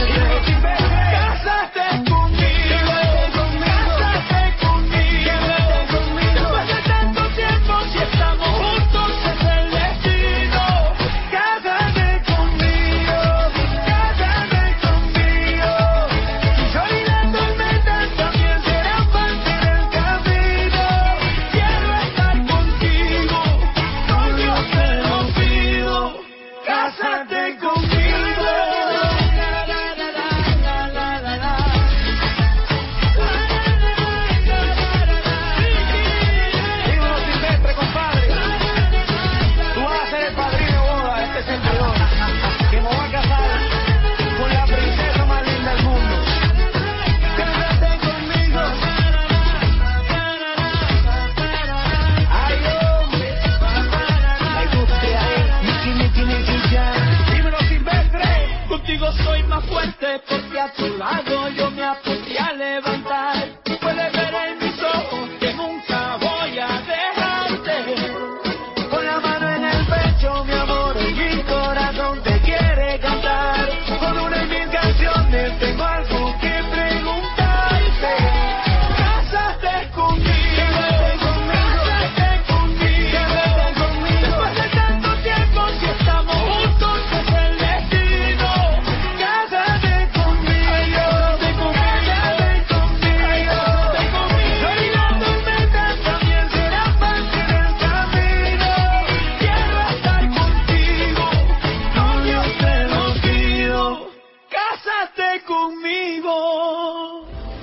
Cásate conmigo, cásate conmigo. Después de tanto tiempo, si estamos juntos es el destino. Cásate conmigo, cásate conmigo. Si olvidando el metal también será parte del camino. Quiero estar contigo, novio te lo pido. Cásate conmigo. Dímelo, Silvestre, compadre. Tú vas a ser el padrino de boda de este servidor, que me voy a casar con la princesa más linda del mundo. Cásate conmigo. Ay, hombre. Me gusta ahí. Miki, Miki, Miki, ya. Dímelo, Silvestre. Contigo soy más fuerte porque a tu lado yo me aprendí a levantar. Puedes ver en mis ojos que nunca voy a dejarte. Con la mano en el pecho, mi amor, y mi corazón te quiere cantar. Con una y mil canciones tengo algo que preguntarte. Cásate conmigo, cásate conmigo, cásate conmigo. Después de tanto tiempo, si estamos juntos es el destino. Cásate conmigo, cásate conmigo, cásate conmigo. Olvidando el metal también será parte del camino. Quiero estar contigo, novio te lo pido. Cásate conmigo.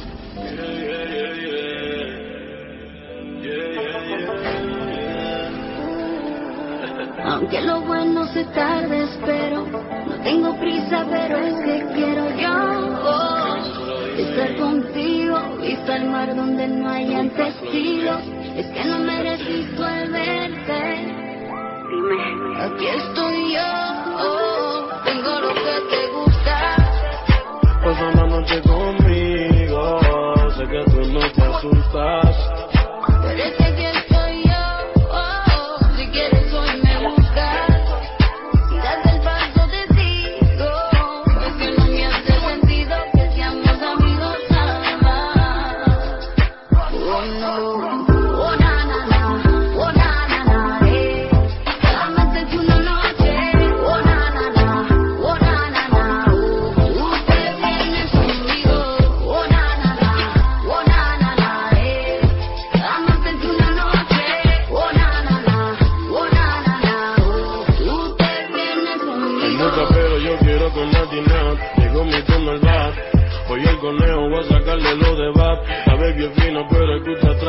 Aunque lo bueno se tarde, espero. No tengo prisa, pero es que quiero yo oh, estar contigo. Vista el mar donde no hayan testigos. Es que no me resisto al verte. Dime, aquí estoy yo. Oh, tengo lo que te gusta. Pasa una noche conmigo. Sé que tú no te asustas. Pero es que aquí estoy yo. Oh, si quieres hoy me buscas. Si das el paso te sigo. Es que no me hace sentido que seamos amigos nada más. Oh no. Oh na na na. Oh na na na. Eh. Solamente una noche. Oh na na na. Oh na na na. Oh. Usted viene conmigo. Oh na na na. Oh na na na. Eh. Solamente una noche. Oh na na na. Oh na na na. Oh. Usted viene Hay conmigo. mucho pero yo quiero con Latina. Llegó mi turno al bat. Hoy el conejo voy a sacarle lo de bat. La baby es fino pero escucha atrás.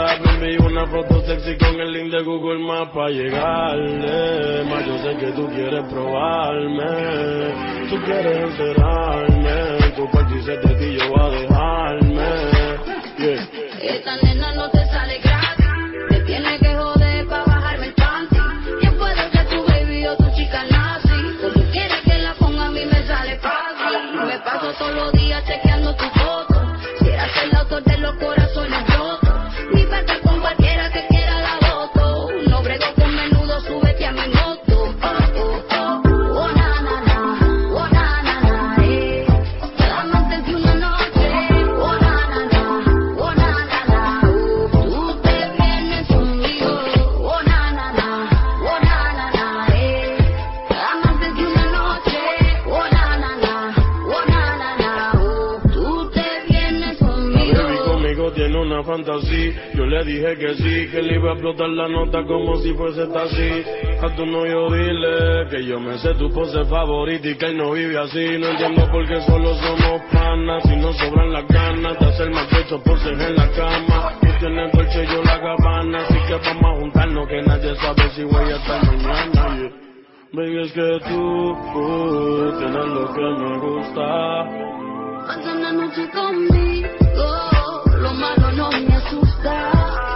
baby, una foto sexy con el link de Google Maps pa' llegarle. Más yo sé que tú quieres probarme, tú quieres encerrarme, tu party se te ti yo va a dejarme. Yeah. Esta nena no te sale gratis, te tiene que joder pa' bajarme el panty. ¿Quién puede ser tu baby o tu chica nazi? Como quieres que la ponga a mí me sale fácil. Me paso todos los días chequeando tu foto. Quieras ser el autor de los corazones rotos. Mi parte con cualquiera que quiera la voto. No brego con menudo, súbete a mi moto. Oh, oh, oh, oh, na, na, na. Oh, na, na, na, eh. Solamente de una noche. Oh, na, na, na. Oh, na, na, na. Uh, tú te vienes conmigo. Oh, na, na, na. Oh, na, na, na, eh. Solamente de una noche. Oh, na, na, na. Oh, na, na, na. Uh, tú te vienes conmigo. Baby conmigo tiene una fantasía. Yo le dije que sí, que le iba a explotar la nota como si fuese taxi. A tu novio dile que yo me sé tu pose favorita y que él no vive así. No entiendo por qué solo somos panas, si no sobran las ganas de hacer más pecho poses en la cama. Tú tienes Dolce y yo la Gabbana, así que vamos a juntarnos que nadie sabe si voy a estar mañana. Yeah. Baby, es que tú, uh, tienes lo que me gusta. Pasa una noche conmigo, lo malo no me asusta.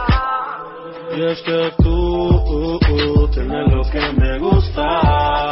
Y es que tú, uh, uh, tienes lo que me gusta.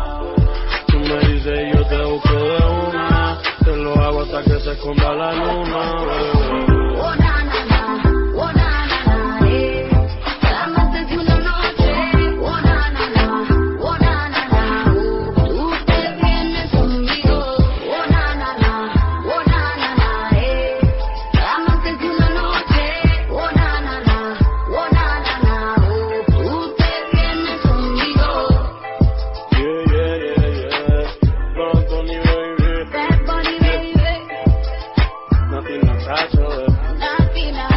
Tú me dices y yo te busco de una. Te lo hago hasta que se esconda la luna, bebé. Oh, na, na, na. Oh, na, na, na, eh. Solamente de una noche. Oh, na, na, na. Oh, na, na, na. Uh, tú te vienes conmigo. Oh, na, na, na. Oh, na, na, na, eh. Solamente de una noche. Oh, na, na, na. Oh, na, na, na. Uh, tú te vienes conmigo. Yeah, yeah, yeah, yeah. Bad Bunny, baby. Bad Bunny, baby. Nothing Natasha, eh. Latina,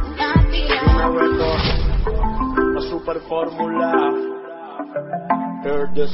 Una Latina. vuelta, la super fórmula. Heard this.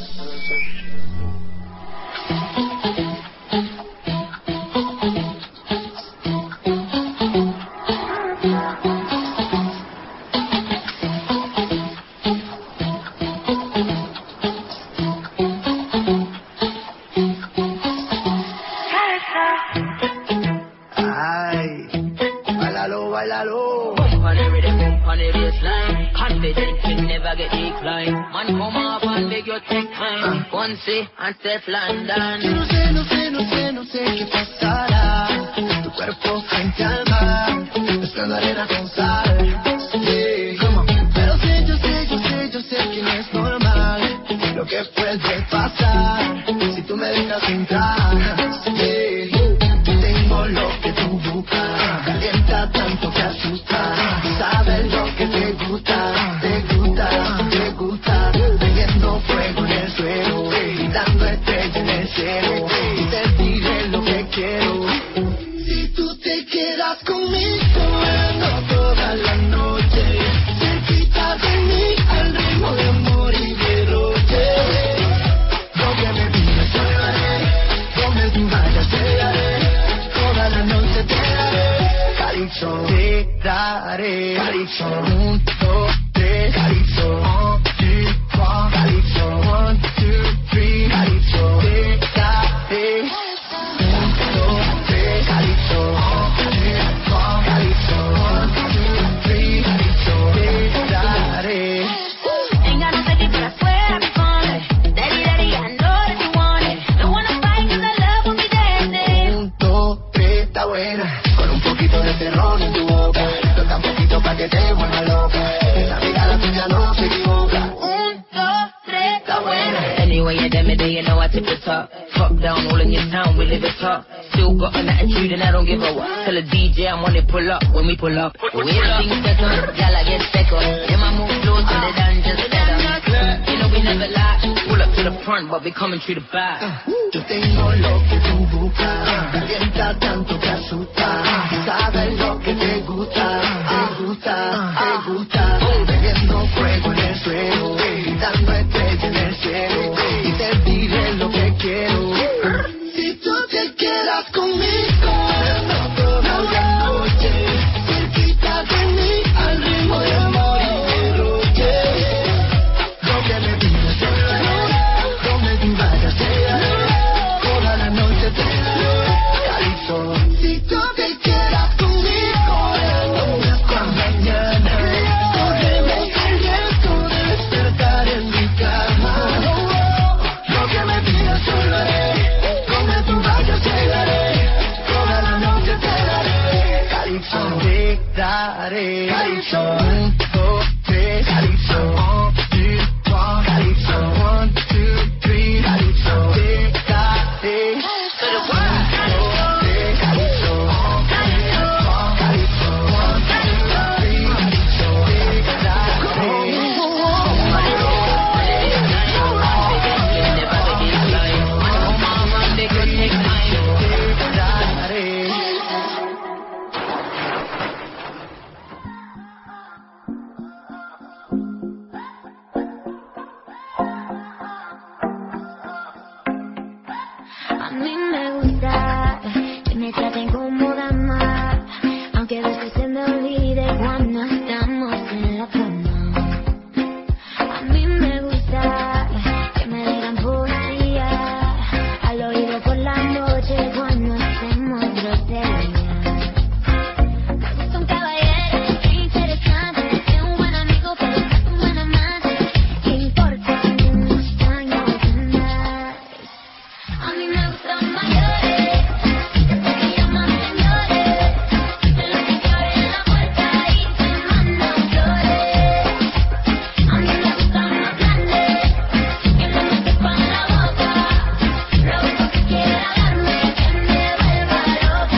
Ay, bailalo, bailalo. Pump on the rhythm, pump on the bassline. Confident can never get declined. Man, come up and beg your take time. One say and Steph Yo London. no sé, no sé, no sé, no sé qué pasará. Tu cuerpo frente al mar, mezclando arena con sal. Yeah. Pero sé, yo sé, yo sé, yo sé que no es normal lo que puede pasar si tú me dejas entrar. Yeah. Tengo lo que tú buscas, calienta tanto que asusta. Sabes lo que te gusta, te gusta, te gusta. Prendiendo fuego en el suelo, gritando estrella en el cielo. Y te diré lo que quiero. Si tú te quedas conmigo, ando toda la noche. Cerquita de mí, al ritmo de amor y derroche. Lo que me pides yo lo haré, donde tú vayas te daré. Toda la noche te daré. Calypso, te daré. Calypso, un, dos, tres. Calypso, one, two, one. Calypso, one, two, three. Calypso, te daré. Un, dos, tres. Calypso, one, two, one. Calypso, one, two, three. Calypso, te daré. Ain't got no second, but I swear I'll be fun. Daddy, daddy, I know that you want it. Don't wanna fight 'cause I love when we dancing. Un, dos, tres, está buena. Con un poquito de terror en tu boca. Toca un poquito pa' que te vuelva loca. Esa mirada tuya no se equivoca. Un, dos, tres, Está buena. Anyway, you damn it, you know I tip the top. Top down, all in your town, we live it top. Still got an attitude and I don't give a what. Tell a D J I'm on it, pull up when we pull up. The way the things set up, y'all I get second. Then I move close to the dungeon setup. You know we never lie. Pull up to the front, but we coming through the back. Yo tengo lo que tú buscas, calienta tanto que asusta. Sabes lo que te gusta, te gusta, te gusta. Bebiendo fuego en el suelo, gritando estrella en el cielo. Y te diré lo que quiero. Si tú te quedas conmigo, no toda la noche. Cerquita de mí, al ritmo me traten como dama, aunque a veces se me olvide cuando estamos en la cama. A mí me gusta que me digan poesía al oído por la noche cuando hacemos grosería. Me gusta un caballero interesante, que un buen amigo pero no es un buen amante, que importa unos años más. A mí me gustan mayores, que llaman señores, de los que te abren la puerta y te mandan flores. A mí me gustan más grandes, que no me sepan la boca, lo único que quiera darme que me vuelva loca,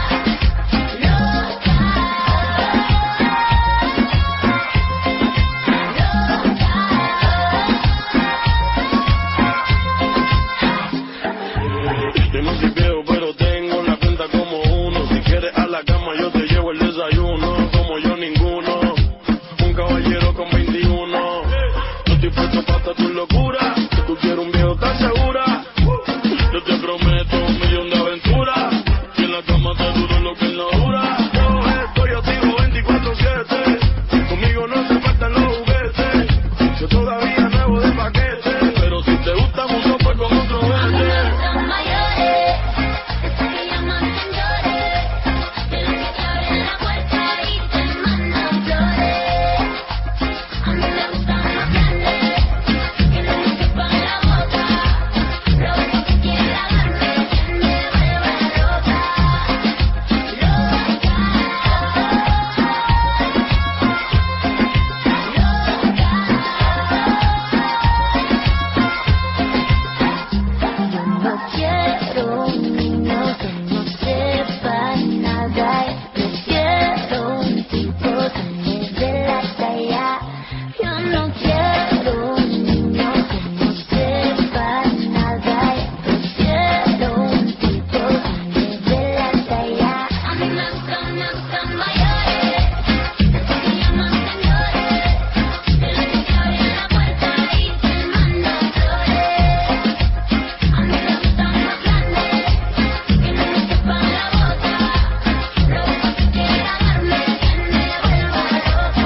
Yo no soy viejo, pero tengo la cuenta como uno. Si quieres a la cama, yo te llevo el desayuno. Como yo, ninguno. Un caballero con veintiuno. No estoy puesto para tu locura. Que tú quieres un viejo tan segura. Yo te prometo un millón de aventuras. Que en la cama te duro lo que en la dura. Yo estoy activo veinticuatro siete. Conmigo no se faltan los juguetes. Yo todavía nuevo de paquete. Pero si te gusta mucho, pues con otro vete. son mayores, esos que llaman señores, de los que te abren la puerta y te mandan flores. A mí me gustan más grandes, que no me sepan la boca, lo único que quiera darme que me vuelva loca, Yo no quiero un niño que no sepa nada, prefiero un tipo que me dé la talla. Yo no quiero un niño que no sepa nada, prefiero un tipo que me dé la talla. A mí me gustan, me gustan mayores, esos que llaman señores, de los que te abren la puerta y te mandan flores. A mí me gustan más grandes, que no me sepan la boca, lo único que quiera darme que me vuelva loca,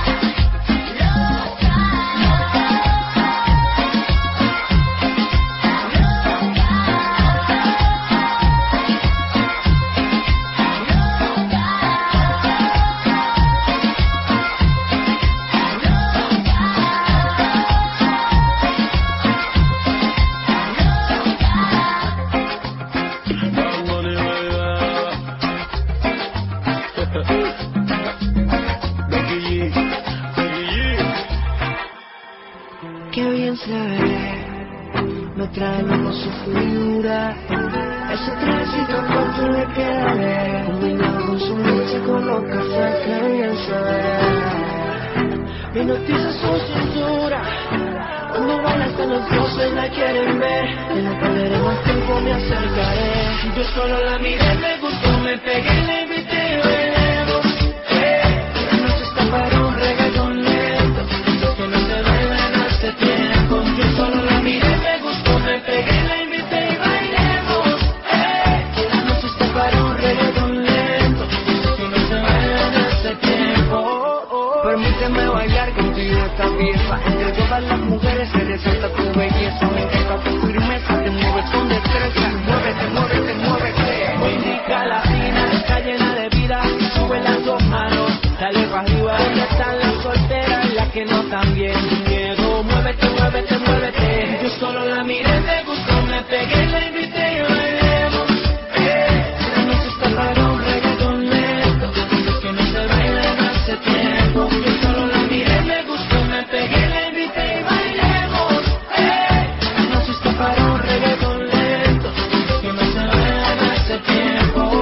Qué bien se ve, me trae loco su figura. Ese trajecito corto le queda bien, combinado con su leche con los cafés, qué bien se ve. Me hipnotiza su cintura, cuando baila hasta los dioses la quieren ver. Que no perderé más tiempo, me acercaré. Yo solo la miré, me gustó, me pegué, la invité y bailemos. Eh, la noche está para un reggaetón lento, lo que no se baila en hace tiempo. Yo solo la miré, me gustó, me pegué, la invité y bailemos. Eh, la noche está para un reggaetón lento, lo que no se baila en hace tiempo. Permíteme bailar contigo esta pieza. Entre todas las mujeres se resalta tu belleza. Me encanta tu firmeza, te mueves con destreza. Muévete, muévete, muévete. Muy rica latina, está llena de vida. Sube las dos manos, dale para arriba. ¿Dónde están las solteras, las que no están bien? Sin miedo, muévete, muévete, muévete. Yo solo la miré, me gustó, me pegué, la invité y bailemos. Eh, la noche está para un reggaetón lento, lo que no se baila en hace tiempo. Yo solo la miré, me gustó, me pegué, la invité y bailemos. Eh, la noche está para un reggaetón lento, lo que no se baila en hace tiempo.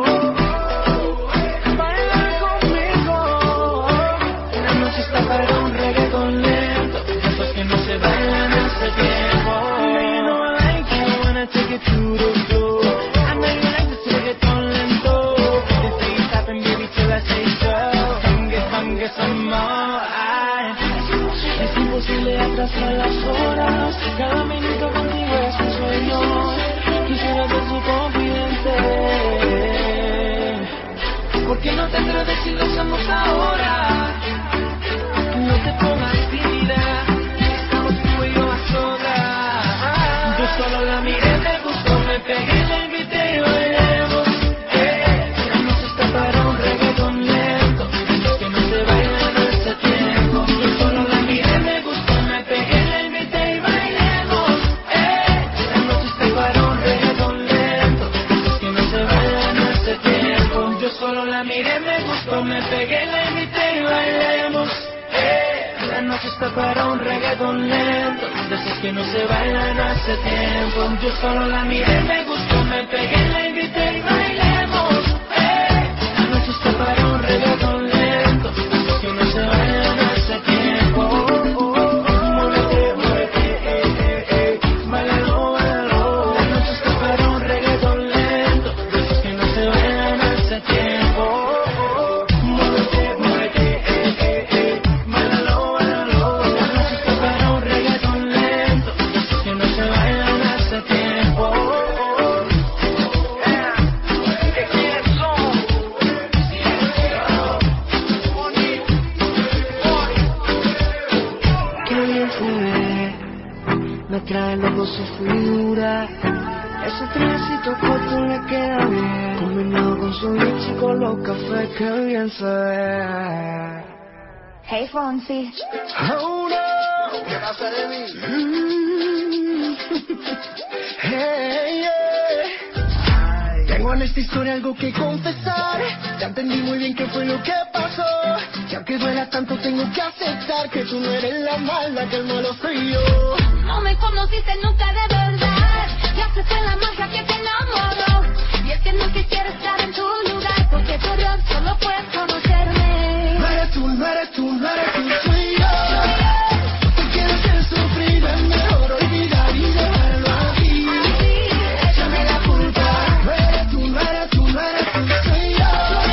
Baila conmigo. La noche está para un reggaetón lento, lo que no se baila en hace tiempo. You know I like you, I wanna take it to the floor. I know you like this reggaetón lento. This ain't stopping, baby, till I say so. Come get, come get some more. Ay, es imposible atrasar las horas. Cada minuto contigo es un sueño. Quisiera ser su confidente. ¿Por qué no te atreves si lo hacemos ahora? No te pongas tímida, estamos tú y yo a solas. Yo solo la miré, me gustó, me pegué, la invité y bailemos. Eh, la noche está para un reggaetón lento, que no se baila en ese tiempo. Yo solo la miré, me gustó, me pegué, la invité y bailemos. Eh, la noche está para un reggaetón lento, que no se baila en ese tiempo. Yo solo la miré, me gustó, me pegué, la invité y bailemos. Eh, la noche está para un reggaetón lento, de esos que no se bailan hace tiempo. Yo solo la miré, me gustó, me pegué, la invité y bailemos. Eh, la noche está para un reggaetón lento, de esos que no se bailan hace tiempo. Oh, oh, oh, muévete, muévete, eh, eh, eh, bailalo, bailalo. La noche está para un reggaetón lento, de esos que no se bailan hace tiempo. Oh, oh, muévete, muévete, eh, eh, eh, bailalo, bailalo. La noche está para un reggaetón lento, de esos que no se bailan hace tiempo. Oh, oh, yeah. ¿Qué quiénes son? Qué bien se ve, me trae loco su figura. Ese trenecito corto le queda bien, combinado con su leche y con los cafés, qué bien se ve. Hey, Fonsi. Oh no, ¿qué pasa de mí? Mm. Hey, yeah. Tengo en esta historia algo que confesar. Ya entendí muy bien qué fue lo que pasó. Y aunque duela tanto tengo que aceptar que tú no eres la mala, que el malo soy yo. No me conociste nunca de verdad, y haces la magia que te enamoró. Y es que no quisiera estar en tu lugar, porque tu error solo puedes conocerme. No eres tú, no eres tú, no eres tú, soy yo. Tú quieres hacer sufrir, es mejor olvidar y dejarlo aquí. Échame la culpa. No eres tú, no eres tú, no eres tú, soy yo.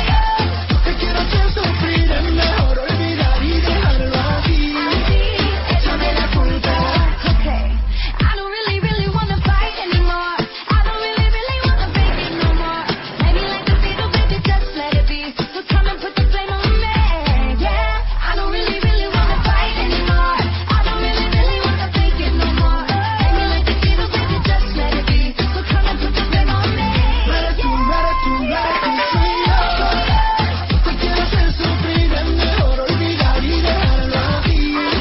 Te quiero hacer sufrir, es mejor olvidar y dejarlo aquí. Échame la culpa. Okay, I don't really, really wanna fight anymore. I don't really, really wanna fake it no more. Maybe like a beetle, baby, just let it be. So come and put the flame on me. Yeah, I don't really, really wanna fight anymore. I don't really, really wanna fake it no more. Maybe like a beetle, baby, just let it be. So come and put the flame on me. No eres tú, no eres tú, no eres tú, soy yo. Te quiero hacer sufrir, es mejor olvidar y dejarlo aquí.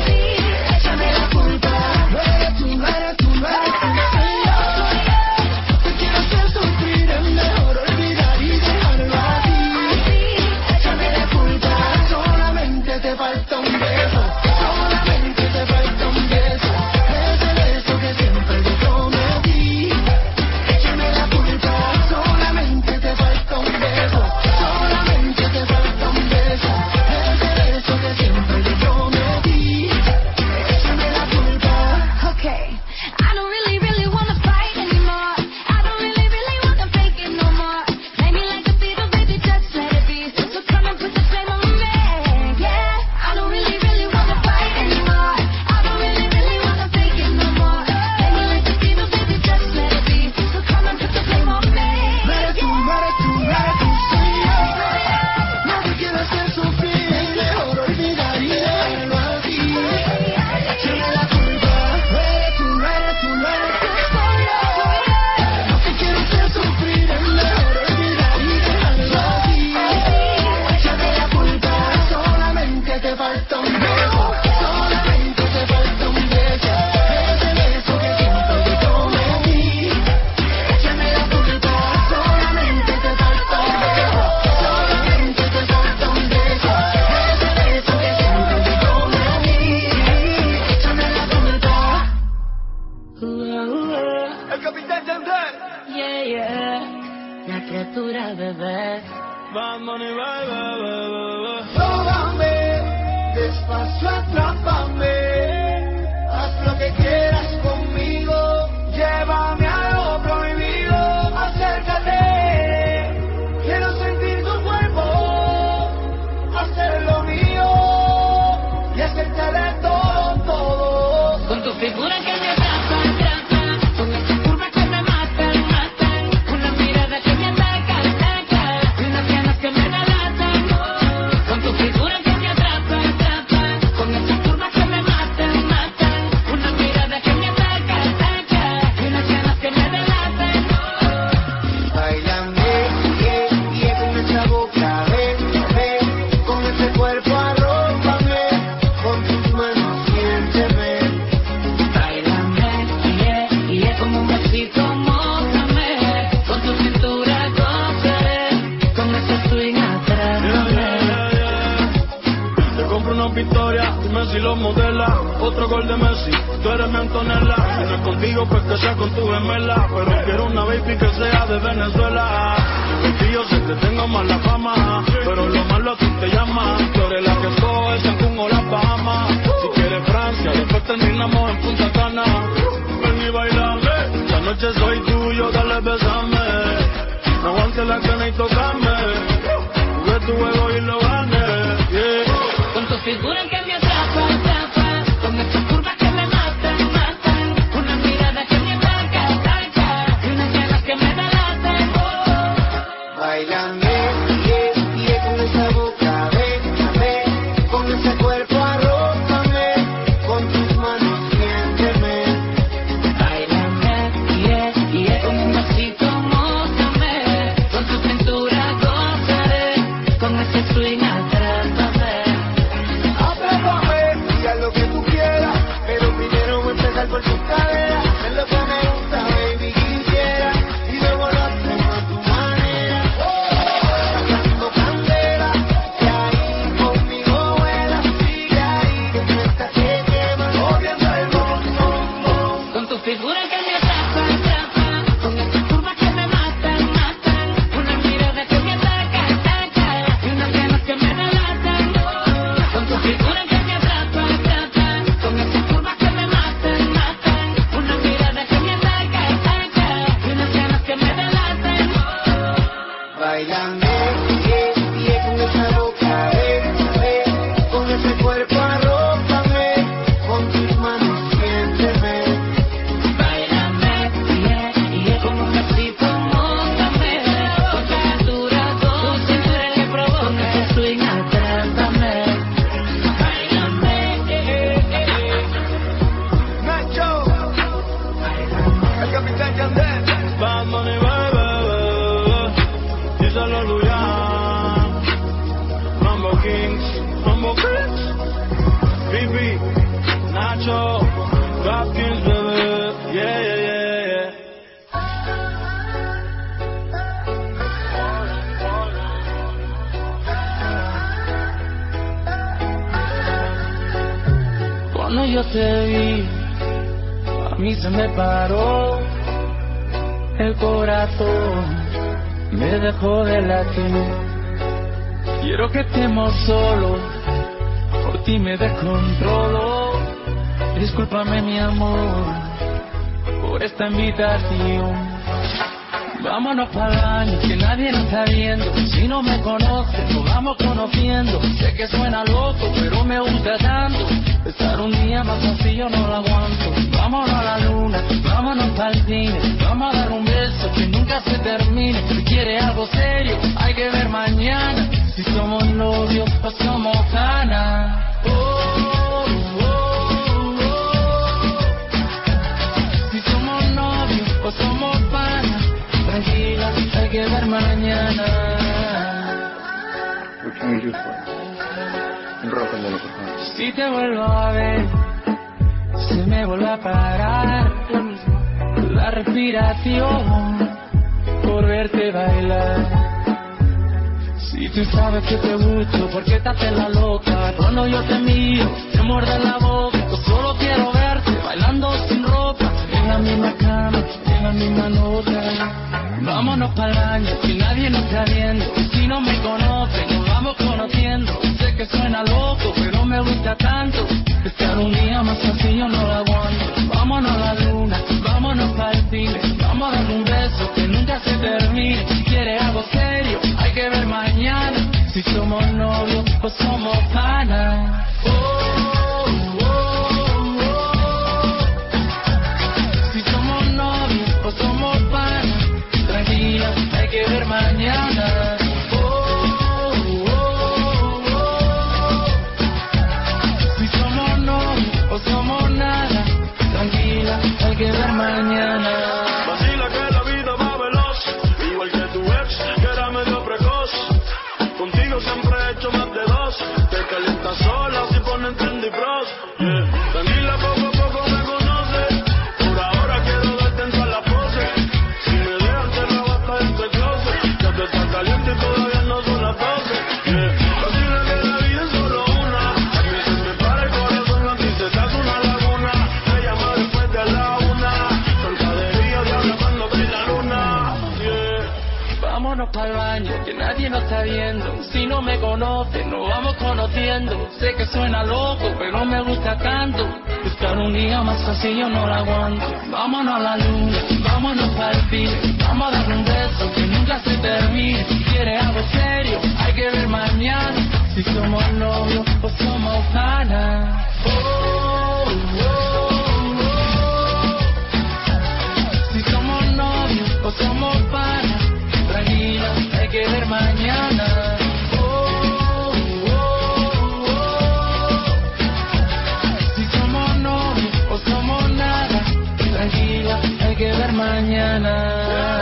Échame la culpa. No eres tú, no eres tú, no eres tú, soy yo. Te quiero hacer sufrir, es mejor olvidar y dejarlo aquí. Échame la culpa. Solamente te falta un beso. Solamente te falta un beso. Ese beso que siempre te prometí. Échame la culpa. Solamente te falta un beso. Solamente te falta un beso. Ese beso que siempre te prometí. Échame la culpa. Okay, I don't really, really wanna fight anymore. I don't really, really wanna fake it no more. Maybe like a beetle, baby, just let it be. So come and put the flame on me. Yeah, I don't really, really wanna fight anymore. I don't really, really wanna fake it no more. Maybe like a beetle, baby, just let it be. So come and put the flame on me. No eres tú, no eres tú, no eres tú, soy yo. No te quiero hacer sufrir, es mejor olvidar y dejarlo así. Échame la culpa. No eres tú, no eres tú, no eres tú, soy yo. No te quiero hacer sufrir, es mejor olvidar y dejarlo así. Échame la culpa. Solamente te falta un beso. Solamente te falta un beso. Ese beso que siempre te prometí. Échame la culpa. Solamente te falta un beso. Solamente te falta un beso. Ese beso que siempre te prometí. Échame la culpa. El capitán Tendé. Yeah, yeah, la criatura bebé. Vamos, bye, bye, bye, bye. Tómame, despacio, atrápame. Haz lo que quieras conmigo. Llévame a lo prohibido. Acércate. Quiero sentir tu cuerpo. Hacer lo mío. Y hacerte de todo, todo. Con tu figura que me atrapa, atrapa. Con esa curva que me matan, matan. Una mirada que me ataca, ataca. Y unas ganas que me relatan. compro una Victoria, dime si lo modela. Otro gol de Messi, tú eres mi Antonella. Si no es contigo, pues que sea con tu gemela. Pero quiero una baby que sea de Venezuela. Y yo sé que tengo mala fama, pero lo malo a ti te llama. Tú eres la que coge Cancún o las Bahamas. Si quieres Francia, después terminamos en Punta Cana. Ven y bailame, esta noche soy tuyo, dale besame. No aguantes la cana y tocame. Jugué tu juego y lo gané, yeah. Con tu figura que me atrapa, atrapa. Con esas curvas que me matan, matan. Una mirada que me ataca, ataca. Y unas ganas que me delatan, oh. Bailame, yeah, yeah, con esa boca, bésame. Con ese cuerpo arrópame. Con tus manos siénteme. Bailame, yeah, yeah, con un vasito mójame. Con tu cintura gozaré. Con ese swing atrápame. Atrápame, y haz lo que tú quieras. Pero primero voy a empezar por tus caderas. Es lo que me gusta, baby, quisiera. Y luego lo hacemos a tu manera. Sacando candela, que ahí conmigo vuela. Sigue ahí, que tú estás que quema. Moviendo el bom, bom, bom. Con tu figura que me atrapa, atrapa. Con esas curvas que me matan, matan. Una mirada que me ataca, ataca. Y unas ganas que me delatan, oh. Con tu figura que me atrapa, atrapa. Con esas curvas que me matan, matan. Una mirada que me ataca, ataca. Y unas ganas que me delatan, oh. Bailame, yeah, yeah, con esa boca, bésame. Con ese cuerpo arrópame. Con tus manos siénteme. Bailame, yeah, yeah, con un besito mójame. Con tu cintura, tu cintura que provoca. Con ese swing atrápame. Bailame, eh, eh, eh. Nacho, el capitán Yandel. Bad Bunny, baby, díselo a Luyan. Mambo Kings, Mambo Kings. Bibi, Nacho, Rap Kings, baby, yeah, yeah, yeah, yeah. Cuando yo te vi, a mí se me paró el corazón, me dejó de latir. Quiero que estemos solos, por ti me descontrolo. Discúlpame mi amor, por esta invitación. Vámonos para el año, que nadie nos está viendo. Si no me conoces, nos vamos conociendo. Sé que suena loco, pero me gusta tanto. Estar un día más así yo no lo aguanto. Vámonos a la luna, vámonos para el cine. Vamos a dar un beso que nunca se termine. Si quieres algo serio, hay que ver mañana. Si somos novios o somos canas. Oh, oh, oh, oh. Si somos novios o somos panas. Tranquila, hay que ver mañana. What can we do for you? Un rock and roll, por favor. Si te vuelvo a ver, se me vuelve a parar la respiración por verte bailar. Si tú sabes que te gusto, ¿por qué te haces la loca? Cuando yo te miro, te muerde la boca. Yo solo quiero verte bailando sin ropa, en la misma cama, en la misma nota. Vámonos para el año, que nadie nos está viendo. Si no me conocen, nos vamos conociendo. Sé que suena loco, pero me gusta tanto. Estar un día más así yo no lo aguanto. Vámonos a la luna, vámonos para el cine. Vamos a dar un beso que nunca se termine. Si quieres algo serio, hay que ver mañana. Si somos novios o somos panas. Oh, oh, oh, oh. Si somos novios o somos panas. Tranquila, hay que ver mañana. Oh, oh, oh, oh. Si somos novios o somos nada. Tranquila, hay que ver mañana. Vacila que la vida va veloz, igual que tu ex, que era medio precoz. Contigo siempre he hecho más de dos, te calientas sola Si no me conoces, nos vamos conociendo. Sé que suena loco, pero me gusta tanto. Buscar un día más así yo no la aguanto. Vámonos a la luna, vámonos para el fin. Vamos a darle un beso que nunca se termine. Si quieres algo serio, hay que ver mañana. Si somos novios o somos panas. Oh, oh, oh, oh. Si somos novios o somos panas. Tranquila, hay que ver mañana. Oh, oh, oh, oh. Si somos novios o somos nada. Tranquila, hay que ver mañana.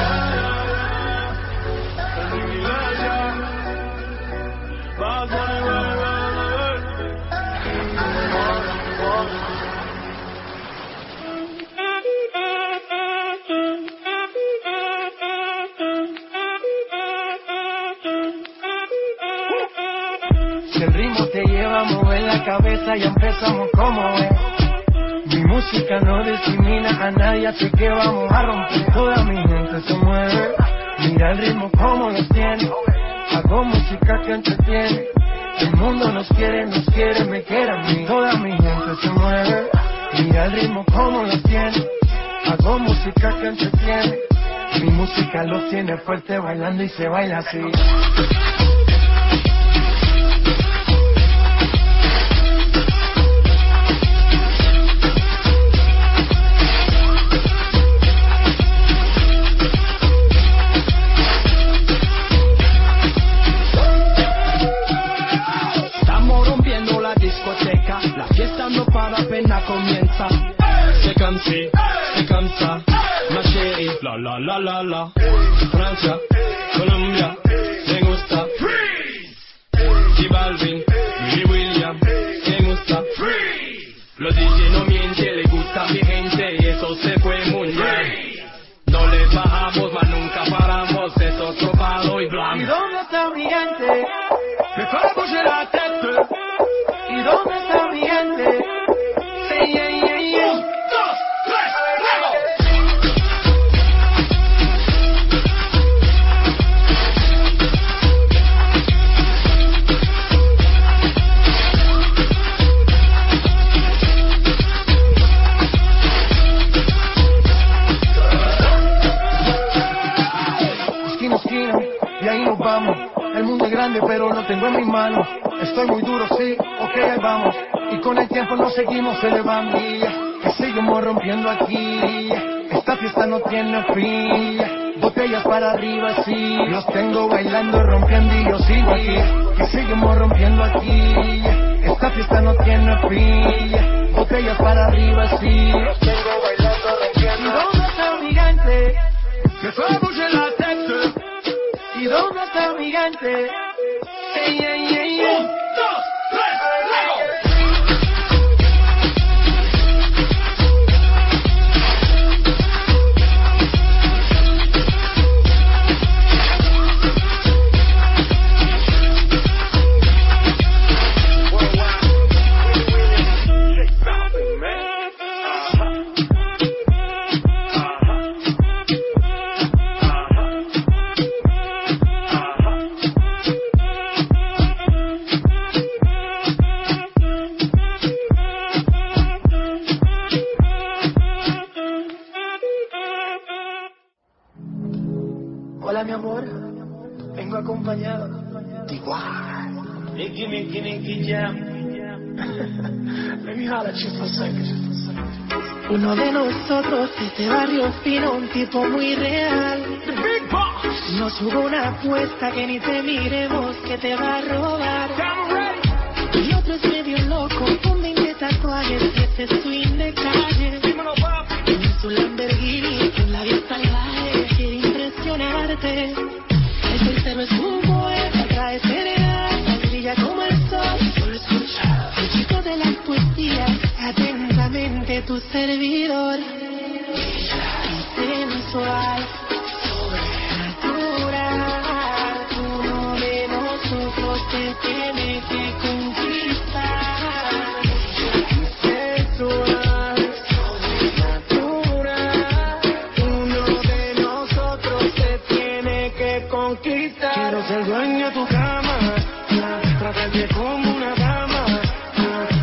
Si el ritmo te lleva a mover la cabeza, ya empezamos como es. Mi música no discrimina a nadie, así que vamos a romper. Toda mi gente se mueve. Mira el ritmo como lo tiene. Hago música que entretiene. El mundo nos quiere, nos quiere, me quiere a mí. Toda mi gente se mueve. Mira el ritmo como lo tiene. Hago música que entretiene. Mi música lo tiene fuerte bailando y se baila así. La fiesta no para, apenas comienza. C'est comme si, c'est comme ça, ma chérie. La la la la la. Francia, Colombia, me gusta. Freeze. J Balvin, Willy William, me gusta. Freeze. Los D J no mienten, le gusta a mi gente y eso se fue muy bien. No le bajamos, mas nunca paramos, es otro palo y blanco. ¿Y dónde está mi gente? Me fais bouger la tête. ¿Y dónde está mi gente? Hey, hey, hey, hey. Un, dos, tres, luego. Esquina, esquina, y ahí nos vamos. El mundo es grande, pero lo tengo en mis manos. Estoy muy duro, sí, ok, ahí vamos. Y con el tiempo nos seguimos elevando. Que seguimos rompiendo aquí. Esta fiesta no tiene fin. Botellas para arriba, sí. Los tengo bailando, rompiendo y yo sigo aquí. Que seguimos rompiendo aquí. Esta fiesta no tiene fin. Botellas para arriba, sí. Los tengo bailando, rompiendo. ¿Y dónde está mi gigante? Me fais bouger la tête. ¿Y dónde está mi gigante? Hey, hey, hey, hey. Un, dos, tres, luego. Hola mi amor, vengo acompañado de igual. Nicky, Nicky, Nicky Jam. Let me holler at you for a second. Uno de nosotros, este barrio fino, un tipo muy real. The Big Boss. Nos jugó una apuesta que ni te miremos, que te va a robar. Y otro es medio loco, con veinte tatuajes y ese swing de calle. Dímelo, papi. En su Lamborghini, con la vista salvaje, quiere impresionarte. El tercero es un poeta, trae cereal, brilla como el sol. Solo escucha el chico de las poesías, atentamente tu servidor. Y sensual, sobrenatural, uno de nosotros te tiene que conquistar. Sensual, sobrenatural, uno de nosotros te tiene que conquistar. Quiero ser dueño de tu cama,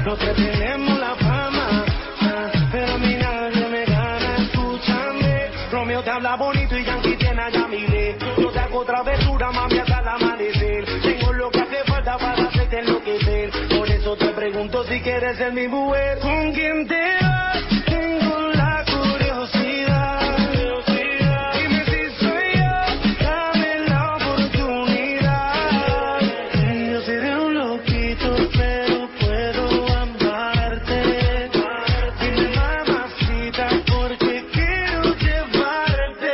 Los tres tenemos la fama, ah, pero a mí nadie me gana. Escúchame, Romeo te habla bonito y Yankee tiene a Yamile. Yo te hago travesura, mami, hasta el amanecer. Tengo lo que hace falta para hacerte enloquecer. Por eso te pregunto si quieres ser mi mujer. ¿Con quién te vas? Tengo la curiosidad. Dime si soy yo, dame la oportunidad. Yo seré un loquito, pero puedo amarte. Dime, mamacita, porque quiero llevarte.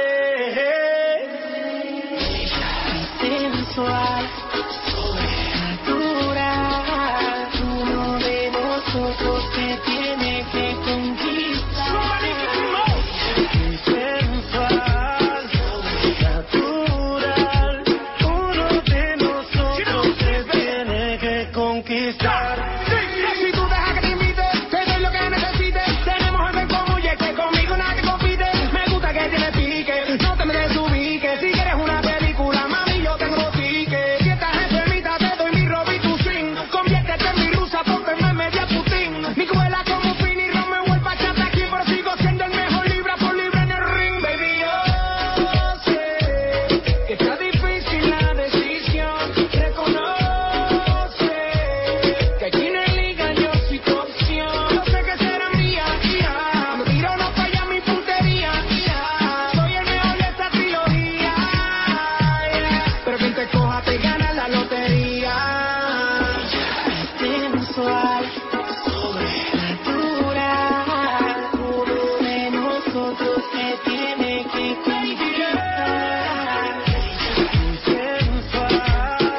Sensual, natural, uno de nosotros que tiene que conquistar. Sensual, natural, uno de nosotros que tiene que conquistar. Si tú dejas que te invite, te doy lo que necesites. Tenemos algo en común y es que conmigo nadie compite. Me gusta que tienes pique, no te me desubiques. Si quieres una película, mami, yo tengo ticket. Si estás enfermita, te doy mi Robbie tu swing. Conviértete en mi rusa, pónteme media Putin. Mi cuela como Fini y Romeo el bachata aquí, pero sigo siendo el mejor libra por libra en el ring, baby. Yo sé que está difícil la decisión. Reconoce que aquí no hay liga, yo soy tu opción. Yo sé que será mía, ya. No tiro, no falla mi puntería, ya. Soy el mejor de esta trilogía, yeah. Pero quien te coja te gana la lotería. Sensual, sobrenatural, uno de nosotros que tiene que conquistar. Sensual,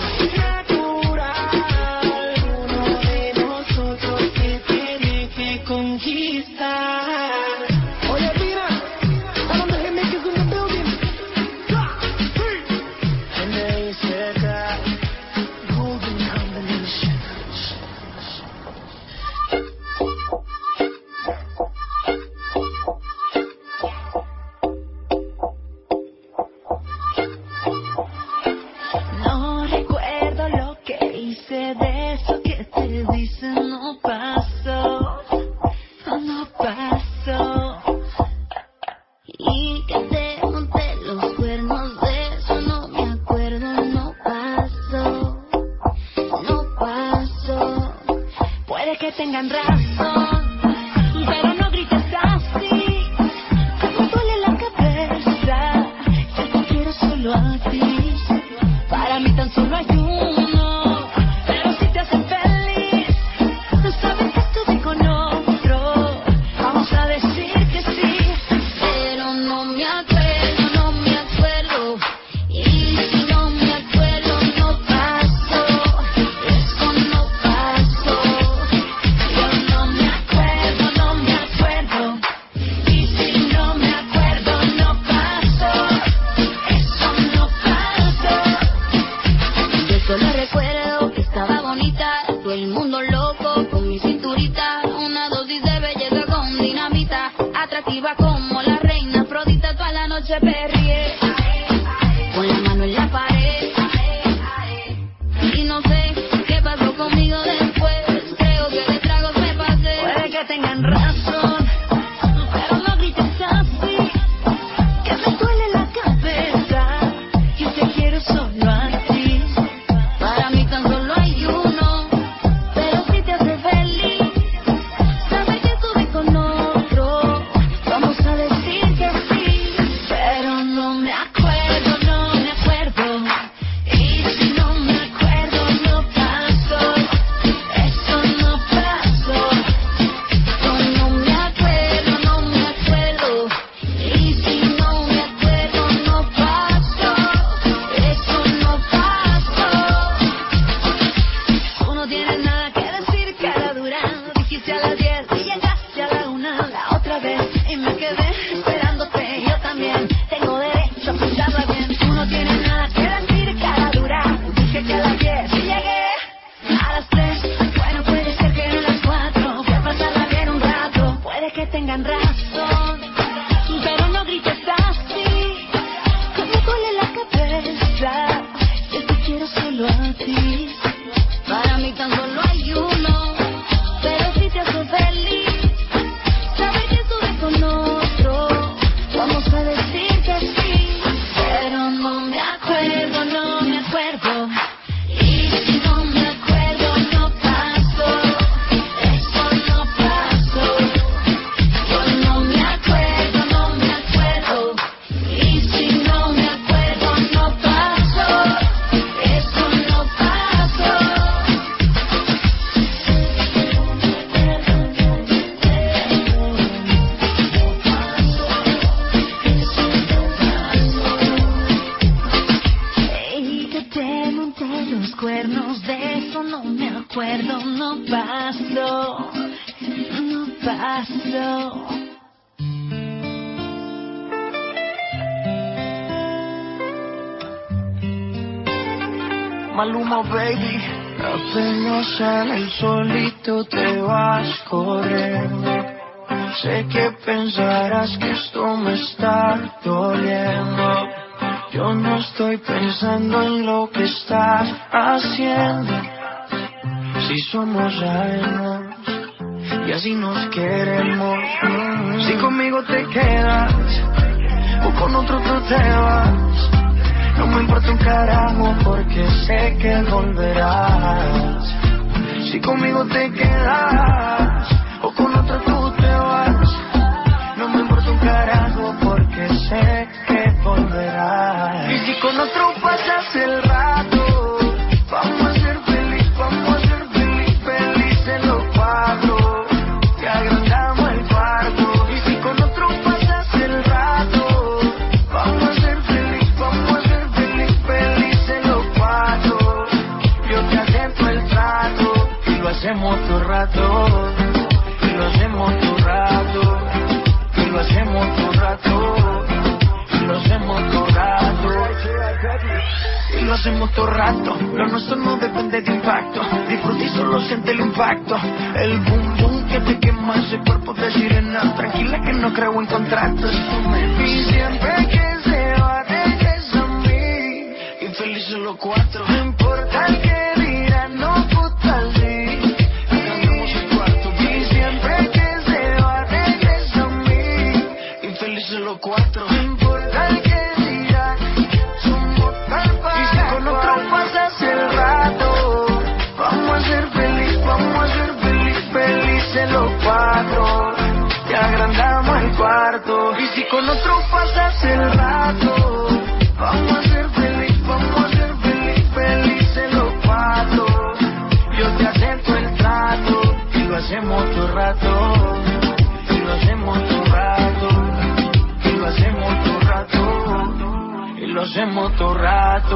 natural, uno de nosotros que tiene que conquistar. Oye, mira, a donde se me quedó in the building. And they said that golden combination. No recuerdo lo que hice de eso que te dicen no pasó, no pasó. Y que te monté los cuernos de eso no me acuerdo, no pasó, no pasó. Puede que tengan razón, pero no grites así. Me duele la cabeza, yo te quiero solo a ti. Para mí tan solo hay uno, pero si te hacen feliz, no sabes que estuve con otro. Vamos a decir que sí, pero no me acuerdo, no me acuerdo. Y si no me acuerdo, no pasó. Eso no pasó. Yo no me acuerdo, no me acuerdo. Y si no me acuerdo, no pasó. Eso no pasó. Yo solo recuerdo que estaba bonita, todo el mundo loco con mi cinturita, una dosis de belleza con dinamita, atractiva como la reina Afrodita, toda la noche perrié, con la mano en la pared, y no sé qué pasó conmigo después, creo que de tragos me pasé. Puede que tengan razón, pero no grites así, que me duele la cabeza, yo te quiero solo a ti. Para mí tan solo hay uno, pero si te hace feliz, saber que estuve con otro. Vamos a decir que sí, pero no me acuerdo, no me acuerdo. Y si no me acuerdo, no pasó. Eso no pasó. Yo no me paso, no paso. Maluma, baby. Apenas sale el solito te vas corriendo. Sé que pensarás que esto me está doliendo. Yo no estoy pensando en lo que estás haciendo. Si somos ajenos y así nos queremos. Si conmigo te quedas o con otro tú te vas, no me importa un carajo porque sé que volverás. Si conmigo te quedas o con otro tú te vas, no me importa un carajo porque sé que volverás. Y si con otro pasas el rato, vamos a ser feliz, vamos a ser feliz, felices los cuatro. Te agrandamos el cuarto. Y si con otro pasas el rato, vamos a ser feliz, vamos a ser feliz, felices los cuatro. Yo te acepto el trato y lo hacemos todo rato. Y lo hacemos todo rato. Y lo hacemos todo rato. Y lo hacemos todo rato. Y lo hacemos todo rato. Lo nuestro no depende de impacto. Disfruta y solo siente el impacto. El boom boom que te quema ese cuerpo de sirena. Tranquila que no creo en contratos. Y siempre que se va regresa a mí. Infelices los cuatro. No importa el que dirán, no puta sí. Cantamos el cuarto. Y siempre que se va regresa a mí. Infelices los cuatro. No importa el que dirán, somos tal para. Y si con otro pasas el rato, vamos a ser feliz, vamos a ser feliz, felices los cuatro. Te agrandamos el cuarto. Y si con otro pasas el rato, vamos a ser feliz, vamos a ser feliz, felices los cuatro. Yo te acepto el trato y lo hacemos todo rato. Y lo hacemos todo rato. Y lo hacemos todo rato. Y lo hacemos todo rato.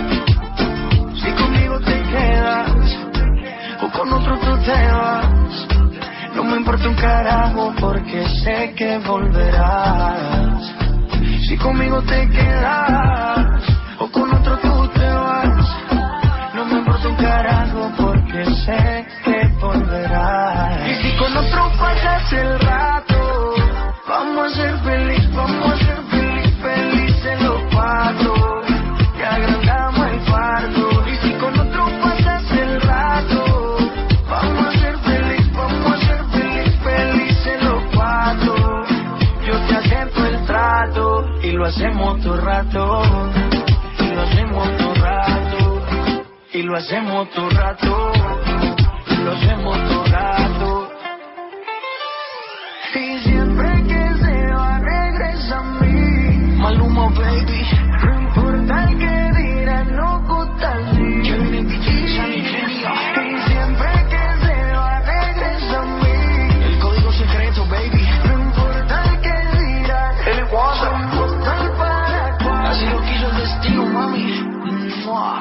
Si conmigo te quedas o con otro tú te vas, no me importa un carajo porque sé que volverás. Si conmigo te quedas o con otro tú te vas, no me importa un carajo porque sé que volverás. Y si con otro pasas el rato, vamos a ser feliz, vamos a ser feliz, felices los cuatro. Te agrandamos el cuarto. Y si con otro pasas el rato, vamos a ser feliz, vamos a ser feliz, felices los cuatro. Yo te acepto el trato y lo hacemos todo rato. Y lo hacemos todo rato. Y lo hacemos todo rato. Y lo hacemos todo rato. Y siempre que se va regresa a mí. Maluma, baby. No importa el que dirán, no gusta así. Kevin D J, Sunny Genio. Y siempre que se va regresa a mí. El código secreto, baby. No importa el que dirán, el WhatsApp. Somos tal para cual. Así lo quiso el destino, mami. Mua.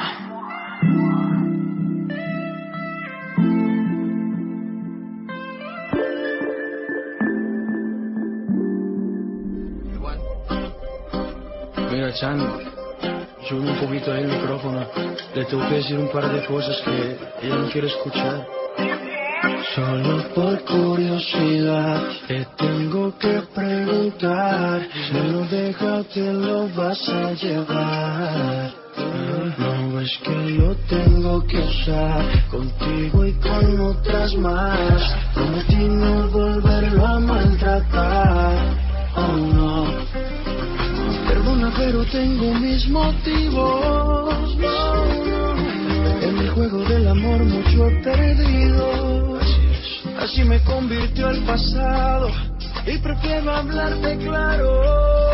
Mira, Chan, sube un poquito ahí el micrófono. Le tengo que decir un par de cosas que ella no quiere escuchar. Solo por curiosidad te tengo que preguntar. Si lo dejas te lo vas a llevar. No ves que lo tengo que usar contigo y con otras más. Prometí no volverlo a maltratar. Oh no. Perdona pero tengo mis motivos. En el juego del amor mucho he perdido. Así me convirtió el pasado y prefiero hablarte claro.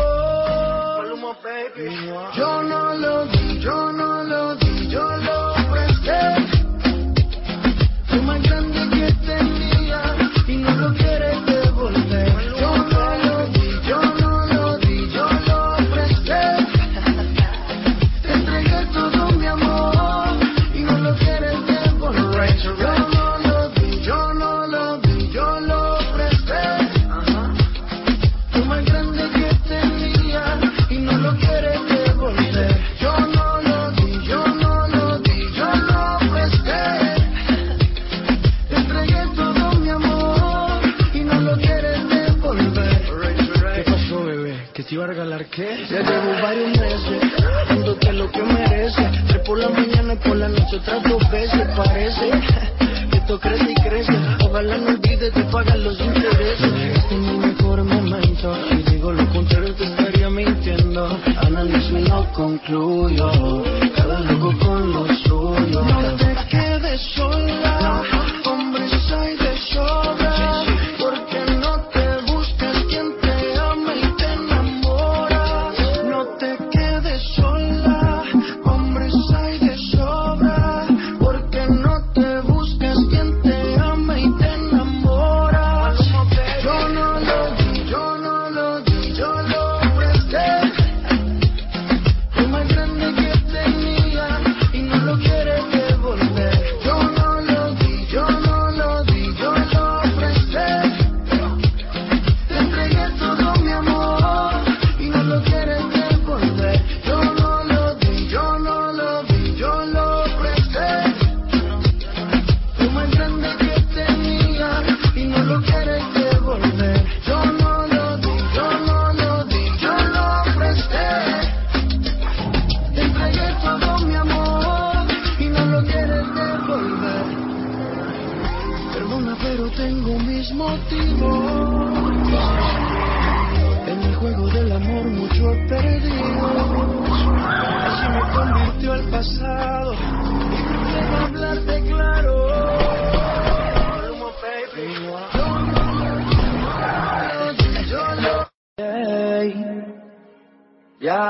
Yo no lo di, yo no lo di, yo lo presté. Lo más grande que tenía y no lo quieres devolver. Yo no lo di, yo no lo di, yo lo presté. Te entregué todo mi amor y no lo quieres devolver. Yo no lo di, yo no te iba a regalar qué. Ya llevo varios meses dándote lo que mereces. Tres por la mañana y por la noche otras dos veces. Parece que esto crece y crece. Ojalá no olvides de pagar los intereses. Este es mi mejor momento y digo lo contrario te estaría mintiendo. Analizo y no concluyo. Cada loco con lo suyo. No te quedes sola, hombres hay de sobra. Porque no te buscas quien te ama y te enamora. No te quedes sola, hombres hay de sobra. Porque no te buscas quien te ama y te enamora. Yo no lo di, yo no lo di, yo lo presté. Lo más grande que tenía y no lo quieres devolver. Yo no lo di, yo no lo di, yo lo presté. Te entregué todo mi amor y no lo quieres devolver. Yo no lo di, yo no lo di, yo lo presté. Lo más grande que tenía y no lo quieres devolver. Yo no lo di, yo no lo di, yo lo presté. Te entregué todo mi amor y no lo quieres devolver. Perdona, pero tengo mis motivos. En el juego del amor mucho he perdido. Así me convirtió el pasado. Y quiero hablarte claro. Yo lo Hey, ya.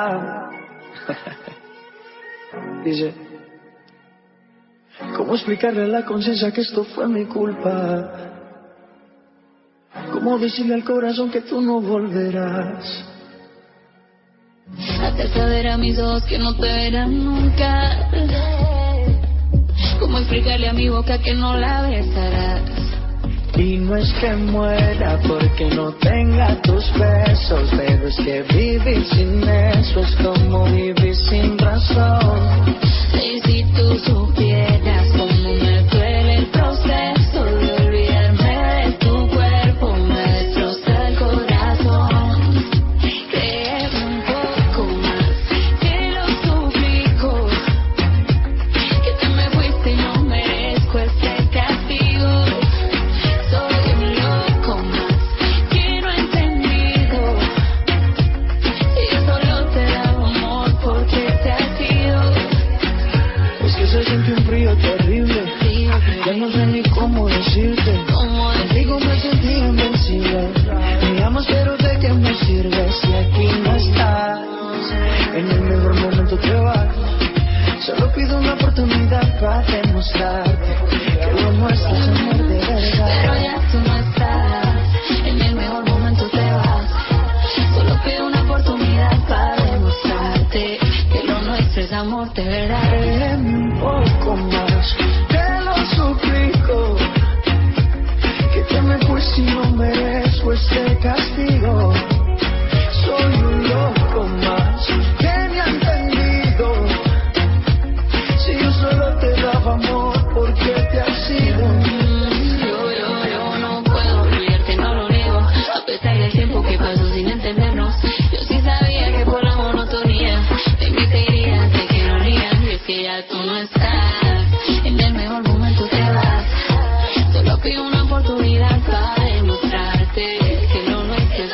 Dice, ¿cómo explicarle a la conciencia que esto fue mi culpa? ¿Cómo decirle al corazón que tú no volverás? Hacer saber a mis ojos que no te verán nunca. ¿Cómo explicarle a mi boca que no la besarás? Y no es que muera porque no tenga tus besos, pero es que vivir sin eso es como vivir sin razón. Y si tú supieras cómo me duele el proceso de olvidarme de tu cuerpo, me destroza el corazón. Créeme un poco más, te lo suplico, que te me fuiste y no merezco este castigo. Soy un loco más que no he entendido, y yo solo te daba amor porque te has ido. Es que se siente un frío terrible, ya no sé ni cómo decirte. Contigo me sentí invencible. Me amas pero de qué me sirve si aquí no estás. En el mejor momento te vas. Solo pido una oportunidad para demostrarte que lo nuestro es amor de verdad. Pero ya tú no estás, en el mejor momento te vas. Solo pido una oportunidad para demostrarte que lo nuestro es amor de verdad. Créeme un poco más, te lo suplico, que te me fuiste y no merezco este castigo. Soy un loco más que me ha entendido. Si yo solo te daba amor, ¿por qué te has ido? Yo, yo, yo no puedo olvidarte, no lo niego. A pesar del tiempo que pasó sin entendernos, yo sí sabía que por la monotonía de mí te irías, de que no rías. Y es que ya tú no estás, en el mejor momento te vas. Solo pido una oportunidad para demostrarte que lo nuestro es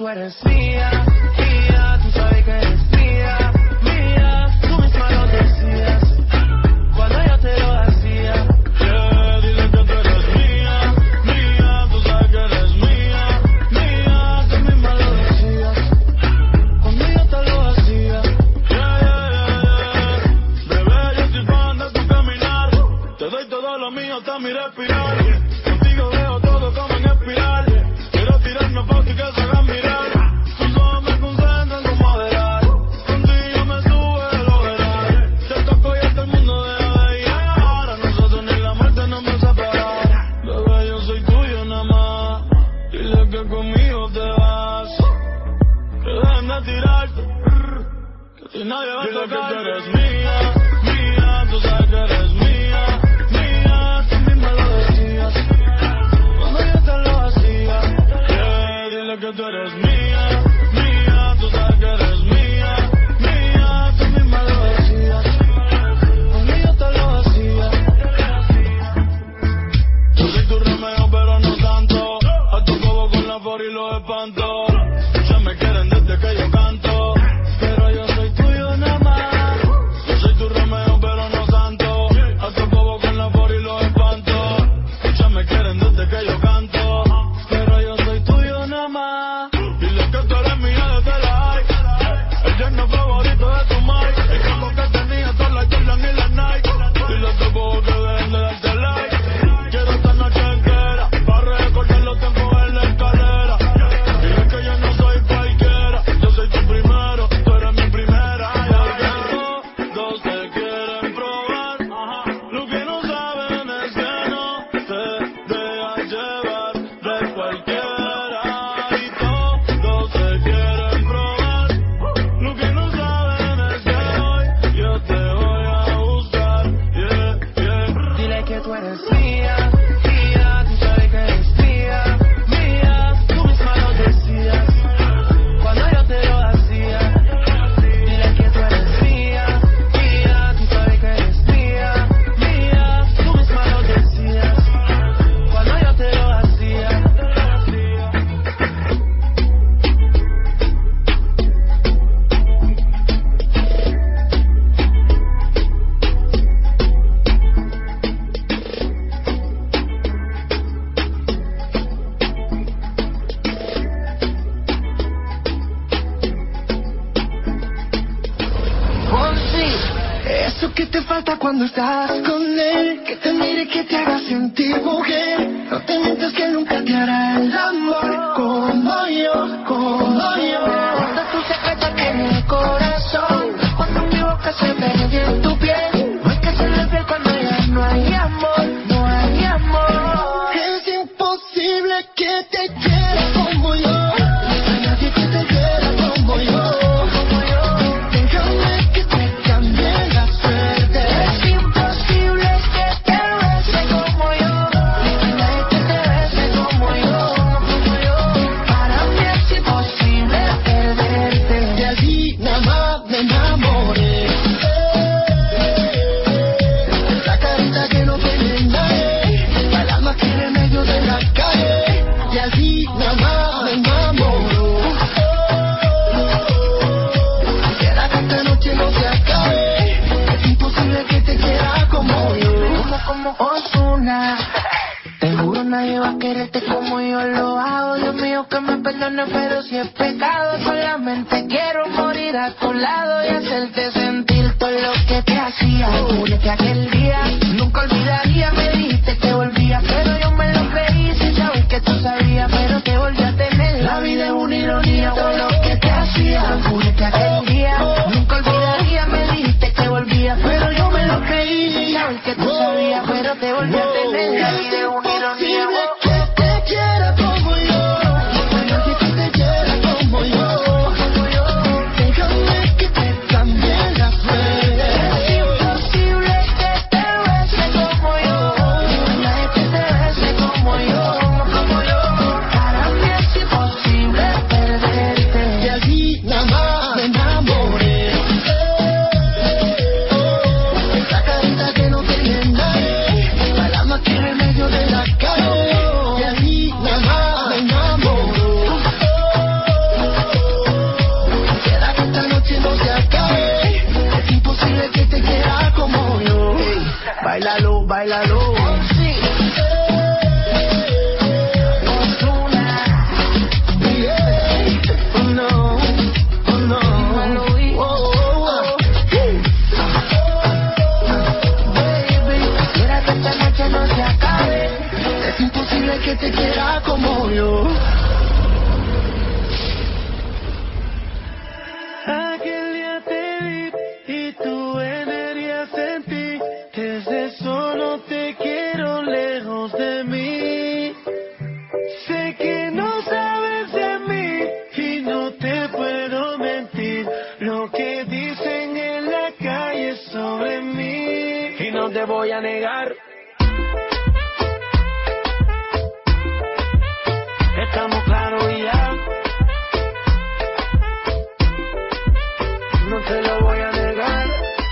tú eres mía, mía, tú sabes que eres mía, mía, tú misma lo decías cuando yo te lo hacía. Yeah, dile que tú eres mía, mía, tú sabes que eres mía, mía, tú misma lo decías cuando yo te lo hacía. Yeah, yeah, yeah, yeah. Bebé, yo soy fan de tu caminar, te doy todo lo mío hasta mi respirar. Contigo veo todo como en espiral. Quiero tirarme fotos y que se hagan mirar. Tus ojos me concentran como moderar. Contigo me sube lo verás. Te toco y hasta el mundo deja de llegar. A nosotros ni la muerte nos va a separar. Bebé, yo soy tuyo nada más. Dile que conmigo te vas. Que dejen de tirarte. Que a ti nadie va a tocar. Dile que tú eres mía, mía. Tú sabes que eres mía, mía. Tú misma lo decías cuando yo te lo hacía. Yeah, dile que tú eres mía, mía. Tú sabes que eres mía, mía. Tú misma lo decías cuando yo te lo hacía. Yo soy tu Romeo pero no tanto. A tu cobo con la for y los espanto. Ya me quieren desde que yo canto, pero yo soy tuyo nada más. Yo soy tu Romeo pero no santo. A tu cobo con la for y los espanto. Ya me quieren desde que yo canto, pero yo soy tuyo nada más. Dile que tú eres mía desde la high. El yerno favorito de tu Mike. El campo que tenía todas las Jordan y las Nike. Dile a tu cobo que dejen de darte like. Quiero esta noche entera para recordar los tiempos en la escalera. Dile que yo no soy cualquiera. Yo soy tu primero, tú eres mi primera. Y todos te quieren probar. Lo que no saben es que no te dejas llevar de cualquiera. Y todos te quieren probar. Lo que no saben es que hoy yo te voy a buscar. Yeah, yeah. Dile que tú eres mía, mía, tú sabes que eres mía, mía, tú misma lo decías cuando yo te lo hacía. Dile que tú eres mía, mía, tú sabes que eres mía, mía, tú misma lo decías cuando yo te lo hacía. Oh, sí, eso que te falta cuando estás con él, que te mire, que te haga sentir mujer. No te mientas que nunca te hará el amor como yo, como yo. Guarda tu secreto aquí en el corazón, cuando mi boca se pegue en tu piel. No hay que hacerle piel cuando ya no hay amor, no hay amor. Es imposible que te quiera como yo. No hay nadie que te quiera como yo. Déjame que te cambie la suerte. Es imposible que te bese como yo. No hay nadie que te bese como yo, como yo. Para mí es imposible perderte. De allí nada más me enamoré. Esa carita que no tiene nadie, el alma que en el medio de la calle. De allí nada más me enamoró. Quisiera que esta noche no se acabe. Es imposible que te quiera como yo. Como, como Ozuna. Te juro nadie va a quererte como yo lo hago. Dios mío que me perdone, pero si es pecado, solamente quiero morir a tu lado y hacerte sentir todo lo que te hacía. Juro que aquel día nunca olvidaría. Me dijiste que volvía, pero yo me lo creí sin saber que tú sabías, pero te volví a tener. La vida es una ironía, todo lo que te hacía. Juro que aquel día nunca olvidaría. Me dijiste que volvía, pero yo me lo creí sin saber que tú sabías, pero te volví a tener. La vida es una ironía. Que te quiera como yo. No hay nadie que te quiera como yo. Déjame que te cambie la suerte. Es imposible que te bese como yo. No hay nadie que te bese como yo, como yo. Para mí es imposible perderte. De allí nada más me enamoré. Esa carita que no tiene nadie, el alma que en el medio de la calle. que te quiera como yo. Aquel día te vi y tu energía sentí. Desde eso no te quiero lejos de mí. Sé que no sabes de mí y no te puedo mentir. Lo que dicen en la calle sobre mí y no te voy a negar. Estamos claros y ya. No te lo voy a negar.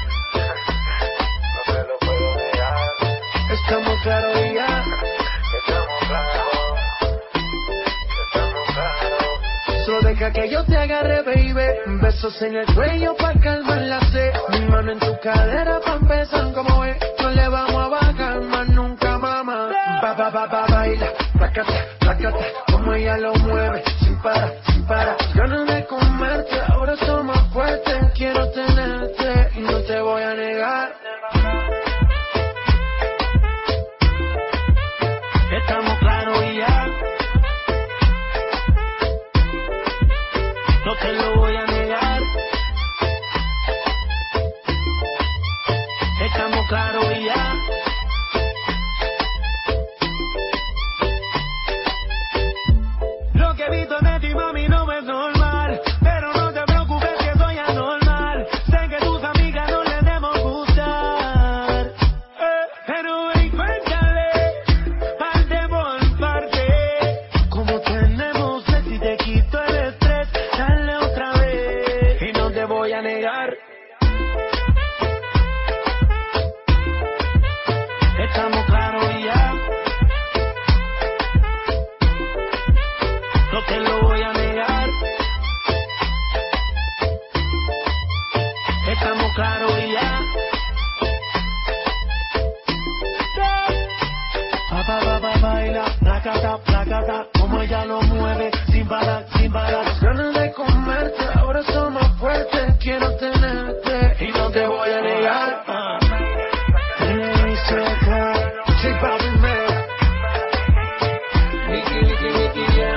No te lo puedo negar. Estamos claros y ya. Estamos claros. Estamos claros. Solo deja que yo te agarre, baby. Besos en el cuello pa' calmar la sed. Mi mano en tu cadera pa' empezar como es. No le vamos a bajar más nunca, mamá. Ba, ba, ba, ba, baila. Placata, placata. Como ella lo mueve. Sin parar, sin parar. Ganas de comerte. Ahora soy más fuerte. Quiero tenerte y no te voy a negar. Estamos claros y ya. No te lo voy a negar. Estamos claros y ya. Lo que he visto de ti, mami, no es normal. Pero no te preocupes que soy anormal. Sé que tus amigas no les debemos gustar. Eh, pero ven, cuéntale, parte por parte. Como tenemos sed, si te quito el estrés, dale otra vez. Y no te voy a negar. Estamos claros y ya. No te lo voy a negar. Estamos claros y ya. Pa, pa, pa, pa, baila, placata, placata. Como ella lo mueve, sin parar, sin parar. Las ganas de comerte, ahora son más fuertes. Quiero tenerte y no te voy a negar. Ah. J Balvin, man. Nicky, Nicky, Nicky, yeah.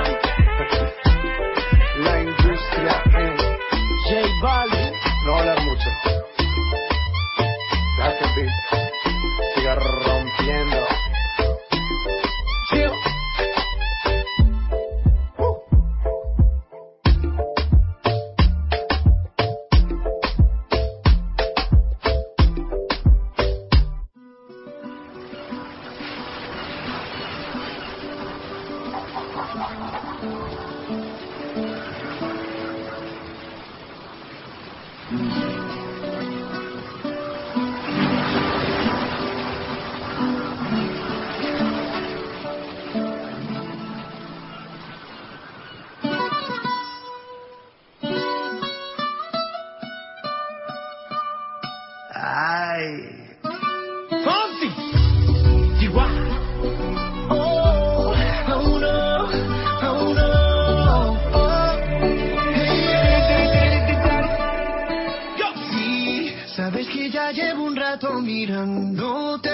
La industria en J Balvin. no hablar mucho. Deja que el beat siga rompiendo. Chill. Ay. Fonsi. Chihuahua. Oh, oh no, oh no, oh. Hey, Yo. sí, sabes que ya llevo un rato mirándote.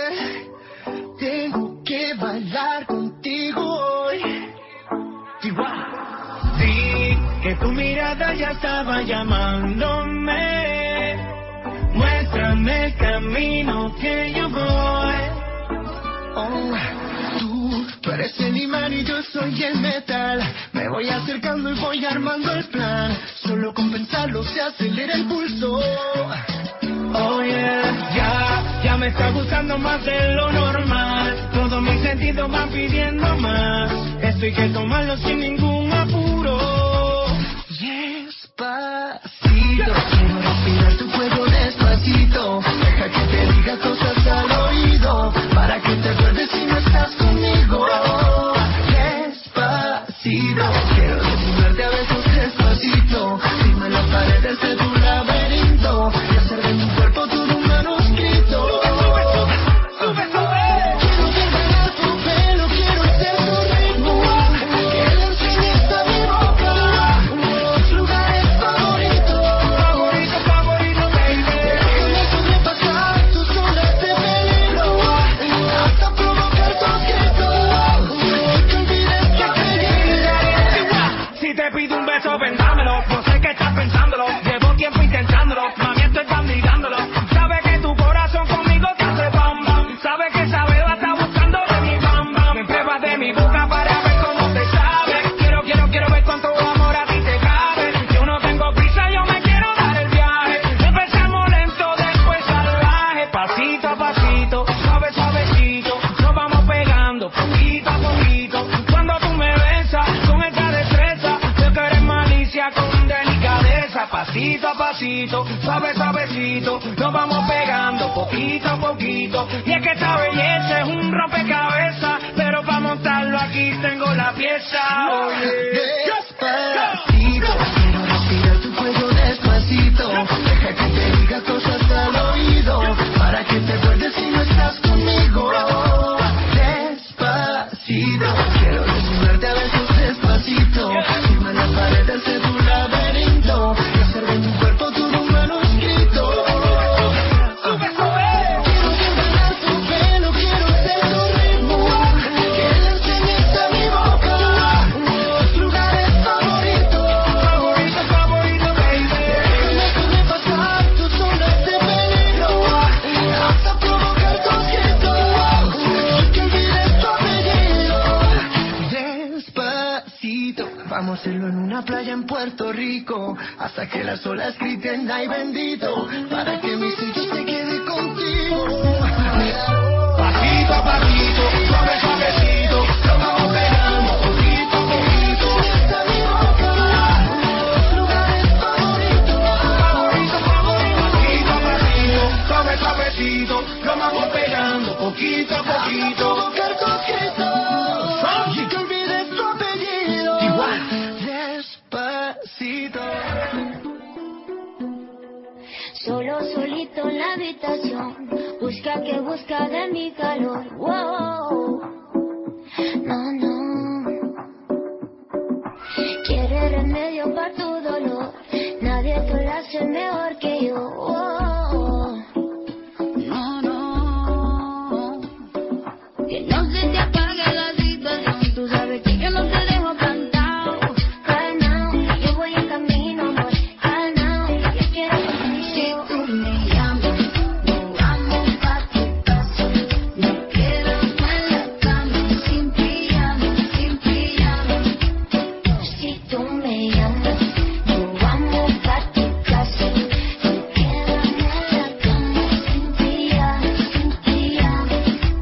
Tengo que bailar contigo hoy. Chihuahua. Sí, que tu mirada ya estaba llamándome. Muéstrame el camino que yo voy. Oh, tú, tú eres el imán y yo soy el metal. Me voy acercando y voy armando el plan. Solo con pensarlo se acelera el pulso. Oh yeah, ya, ya me está gustando más de lo normal. Todos mis sentidos van pidiendo más. Esto hay que tomarlo sin ningún apuro. Despacito, quiero respirar tu cuerpo despacito. Deja que te diga cosas al oído, para que te acuerdes si no estás conmigo. Despacito, quiero desnudarte a besos despacito. Firma las paredes de tu laberinto y hacer de mi cuerpo todo un manuscrito. Sube, sube. Quiero ver bailar tu pelo, quiero ser tu ritmo. Que le enseñes a mi boca los lugares favoritos. Favorito, favorito, baby. Déjame sobrepasar tus zonas de peligro hasta pasito a pasito, suave suavecito, nos vamos pegando poquito a poquito. Y es que esta belleza es un rompecabezas, pero para montarlo aquí tengo la pieza. Oye, despacito, quiero respirar tu cuello despacito. Deja que te diga cosas al oído, para que te acuerdes si no estás conmigo. Despacito, quiero desnudarte a besos despacito. Firma las paredes de tu laberinto y hacer de mi cuerpo todo un manuscrito. sube, sube. Quiero enredar tu pelo, quiero ser tu ritmo, que le enseñes a mi boca tus lugares favoritos. Favorito, favorito, baby. Déjame sobrepasar tus zonas de peligro, hasta provocar conflicto, y que olvides tu apellido. Despacito, vamos a hacerlo en una playa en Puerto Rico, hasta que las olas griten ay bendito, para que mi sello se quede contigo. Pasito a pasito, suave suavecito, nos vamos pegando poquito a poquito. Hasta mi boca tus lugares favoritos. Favorito, favorito, pasito a pasito, suave suavecito, nos vamos pegando poquito a poquito. Provocar conflicto, y que olvides tu apellido. Igual. Despacito. Solo solito en la habitación, busca que busca de mi calor. Wow. No, no. Quiere remedio para tu dolor, nadie te lo hace mejor que yo. Wow. No, no. Que no se te apague la situación, tú sabes que yo no te dejo cantado. Calmao, yo voy en camino, amor. Calmao, yo quiero contigo. Si tú me llamas, nos vamos pa' tu casa. Nos quedamos en la cama, sin pijama, sin pijama. Si tú me llamas, nos vamos pa' tu casa. Nos quedamos en la cama, sin pijama, sin pijama.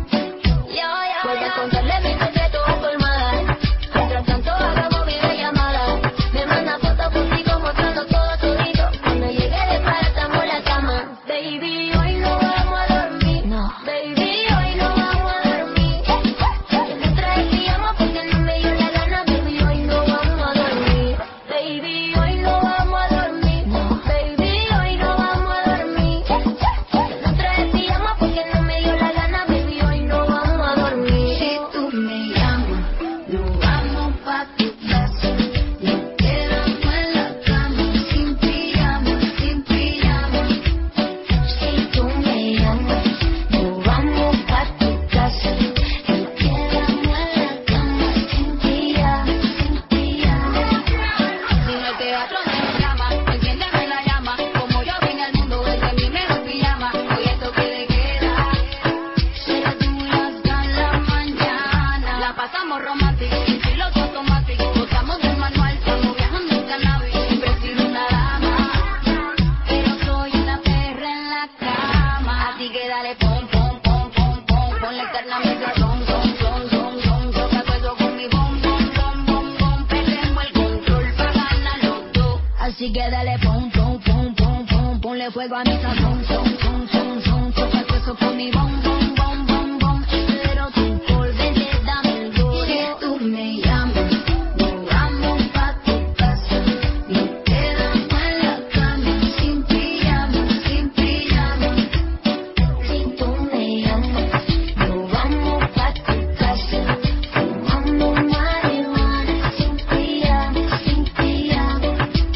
Vuelve a contarle mi secreto a tu hermana. Mientras tanto hagamos videollamada. Me manda fotos contigo mostrando todo todito. Cuando llegue de para estamos en la cama. Baby, hoy no vamos a dormir. No. Baby, hoy no vamos a dormir. Yo no traje pijama porque no me dio la gana. Baby, hoy no vamos a dormir. Baby, hoy no vamos a dormir. No. Baby, hoy no vamos a dormir. Yo no traje pijama porque no me dio la gana. Baby, hoy no vamos a dormir. Si tú me llamas, nos vamos pa' tu casa. Nos quedamos en la cama, sin pijama, sin pijama. Si tú me llamas, nos vamos pa' tu casa. Nos quedamos en la cama, sin pijama, sin pijama. Si no el teatro me llama, enciéndeme la llama. Como yo vine al mundo desde mi mejor pijama. Hoy esto que le queda será tú y hasta la mañana. La pasamos romántico, sin piloto automático. Gozamos del manual, estamos viajando en cannabis. Siempre he sido una dama, pero soy una perra en la cama. Así que dale pom, pom, pom, pom, pom. Ponle carne a mi son, son, son, son, son. Choca todo eso con mi bom, bom, bom, bom, bom. Perdemos el control pa' ganar los dos. Así que dale pom, pom, pom, pom, pom. Ponle fuego a mi sazón, son, son, son, son. Choca todo eso con mi bom, bom, bom, bom, bom. Pero tú por dentro dame el duro. Si tú me llamas, nos vamos pa' tu casa. Nos quedamos en la cama, sin pijama, sin pijama. Si tú me llamas, nos vamos pa' tu casa. Fumamos marihuana, sin pijama, sin pijama.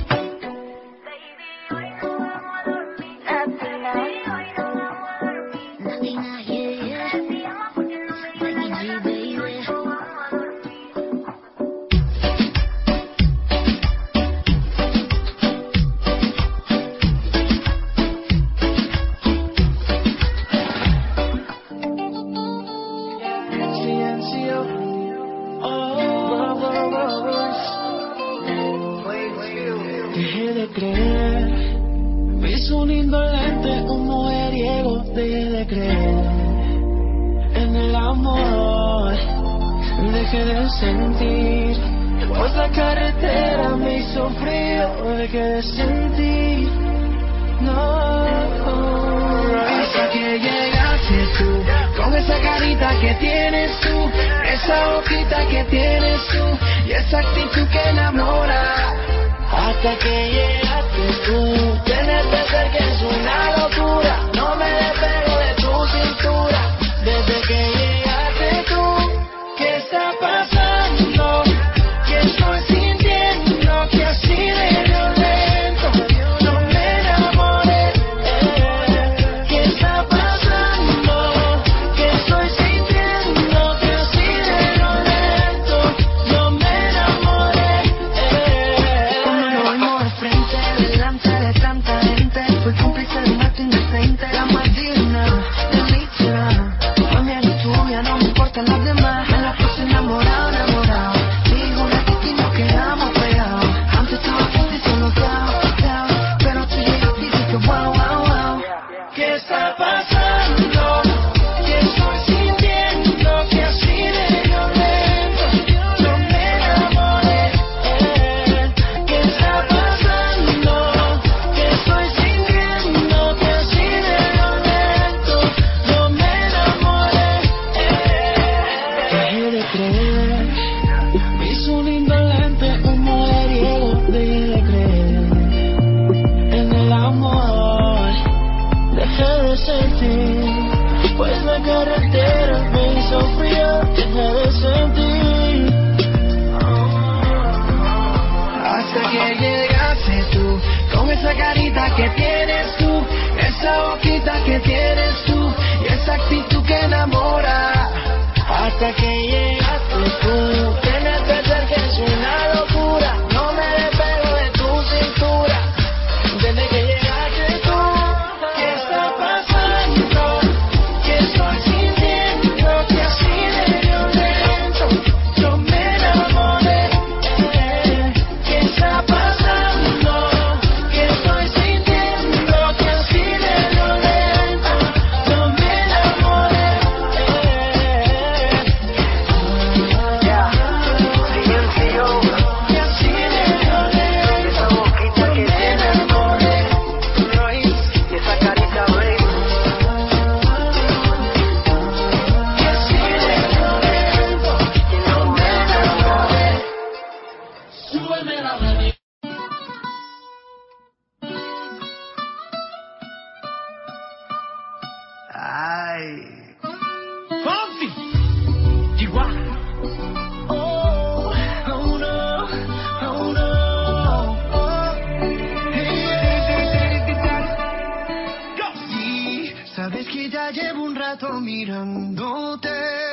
Baby, hoy no vamos a dormir. Nothing, yeah, yeah. Becky G, baby. Dejé de creer, me hizo un indolente, un mujeriego. Dejé de creer en el amor, dejé de sentir Pues la carretera me hizo frío, me quedé sin ti. No, hasta que llegaste tú, con esa carita que tienes tú, esa boquita que tienes tú, y esa actitud que enamora. Hasta que llegaste tú, tenerte cerca es una locura, no me despego de tu cintura. Desde que llegaste tú, ¿qué está pasando? ¿Qué estoy sintiendo? Que así de violento no me enamoré. ¿Qué está pasando? ¿Qué estoy sintiendo? Que así de violento no me enamoré. Cuando lo vimos de frente, delante de tanta gente, fui cómplice de un acto indecente. La más digna, delicia. No me importan las demás, me la puse enamorado, enamorado. Digo, la titi nos quedamos pegados. Antes estaba triste y solo cao, cao. Pero tú llegaste y dije, wow, wow, wow. ¿Qué está pasando? ¿Qué estoy sintiendo? Que así de violento no me enamoré. ¿Qué está pasando? ¿Qué estoy sintiendo? Que así de violento no me enamoré. Dejé de creer, me hizo un indolente, un mujeriego. Dejé de creer en el amor, dejé de sentir, pues la carretera me hizo frío. Dejé de sentir, hasta que llegaste tú, con esa carita que tienes tú, esa boquita que tienes tú, y esa actitud que enamora. Hasta que llegaste tú, tenerte cerca es una locura, no me despego de tu cintura. Desde que llegaste tú, ¿qué está pasando? ¿Qué estoy sintiendo? Que así de violento no me enamoré. ¿Qué está pasando? ¿Qué estoy sintiendo? Que así de violento no me enamoré. Ay. Fonsi, Chihuahua. Oh, oh no, oh no. Oh. Sí, sabes que ya llevo un rato mirándote.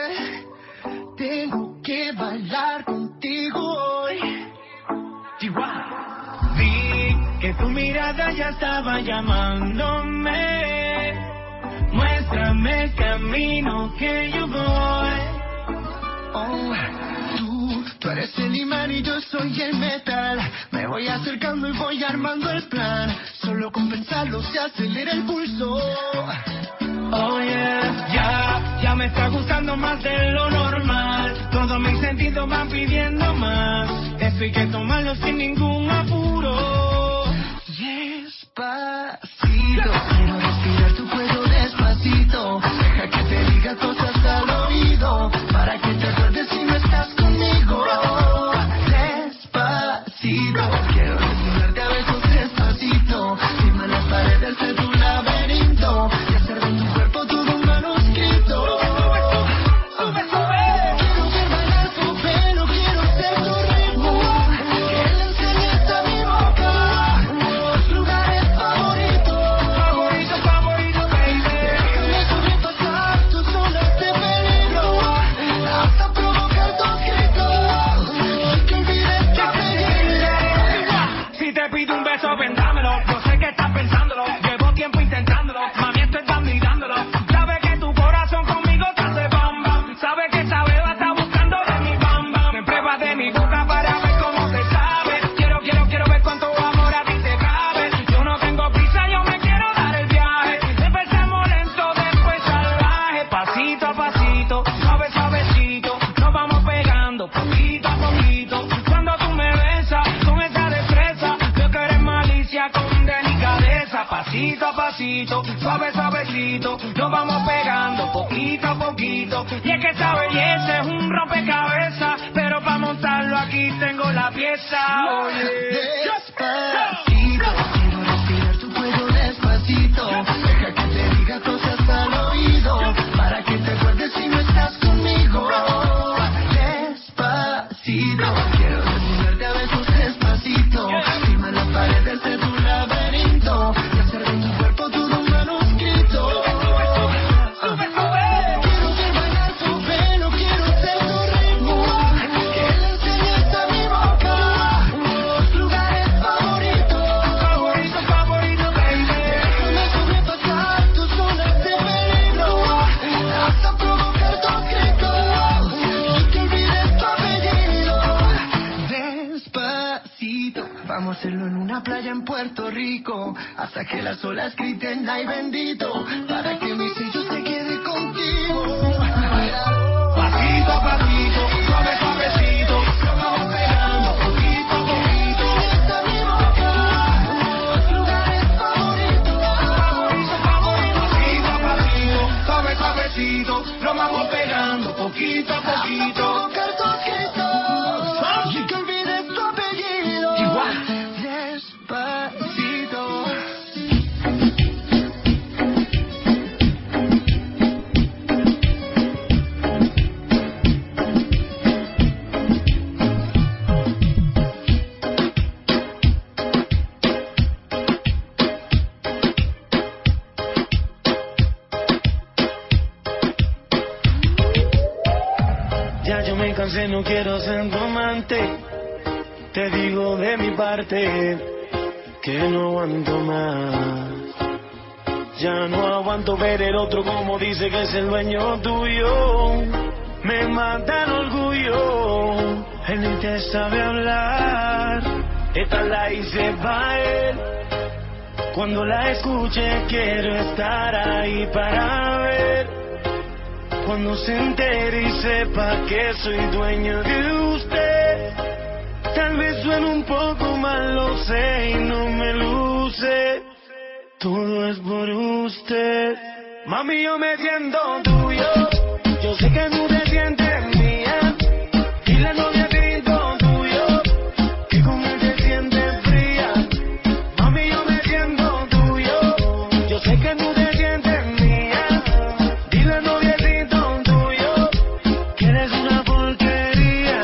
Tengo que bailar contigo hoy. Chihuahua. Vi que tu mirada ya estaba llamándome. Muéstrame el camino que yo voy. Oh, tú, tú eres el imán y yo soy el metal. Me voy acercando y voy armando el plan. Solo con pensarlo se acelera el pulso. Oh yeah, ya, ya me está gustando más de lo normal. Todos mis sentidos van pidiendo más. Esto hay que tomarlo sin ningún apuro. Despacito, quiero respirar tu cuello despacito. Deja que te diga cosas al oído, para que te acuerdes si no estás conmigo. Despacito, quiero desnudarte a besos despacito. Firma las paredes de tu laberinto y hacer de tu cuerpo todo un manuscrito. Sube, sube. Quiero ver bailar tu pelo, quiero ser tu ritmo. Que le enseñes a mi boca los lugares favoritos. Favorito, favorito, baby. Déjame sobrepasar tus zonas de peligro, hasta provocar tus gritos y que olvides que te llegué. Si te pido un beso, ven, dámelo. Yo sé que estás pensándolo. Llevo tiempo intentándolo. Mami, estoy dando y dándolo. Sabe que tu corazón conmigo te hace bam bam. Sabe que esa beba está buscando de mi bam bam. Me pruebas de mi boca para ver cómo te sabe. Quiero, quiero, quiero ver cuánto amor a ti te cabe. Yo no tengo prisa, yo me quiero dar el viaje. Empezamos lento, después salvaje. Pasito a pasito, suave, suavecito. Nos vamos pegando poquito a poquito. Cuando pasito a pasito, suave suavecito, nos vamos pegando poquito a poquito. Y es que esta belleza es un rompecabezas, pero para montarlo aquí tengo la pieza. Oye, despacito, quiero respirar tu cuello despacito. Deja que te diga cosas al oído, para que te acuerdes si no estás conmigo. Despacito, quiero desnudarte a besos despacito. Firma las paredes de tu laberinto y hacer de tu cuerpo todo un manuscrito. Quiero ver bailar tu pelo, quiero ser tu ritmo, que le enseñes a mi boca tus lugares favoritos, favorito, favorito, baby. déjame sobrepasar tus zonas de peligro, hasta provocar tus gritos y que olvides tu apellido. Despacito, vamos a hacerlo en una playa en Puerto Rico, hasta que las olas griten ay bendito, para que mi sello se quede contigo. Pasito a pasito, suave suavecito, nos vamos pegando poquito a poquito. Hasta mi boca tus lugares favoritos, Favorito, favorito, pasito a pasito, suave suavecito, nos vamos pegando poquito a poquito. provocar tus gritos y que olvides tu apellido. Igual. Despacito. Ya yo me cansé, no quiero ser tu amante. Te digo de mi parte que no aguanto más. Ya no aguanto ver el otro como dice que es el dueño tuyo. Me mata el orgullo, él ni te sabe hablar. Esta la hice pa' él. Cuando la escuche quiero estar ahí para ver. Cuando se entere y sepa que soy dueño de usted. Tal vez suene un poco mal, lo sé, y no me luce. Todo es por usted. Mami, yo me siento tuyo. Yo sé que tú te sientes mía. Y la novia te siento tuyo. Que con él te sientes fría. Mami, yo me siento tuyo. Yo sé que tú te sientes mía. Y la novia te siento tuyo. Que eres una porquería.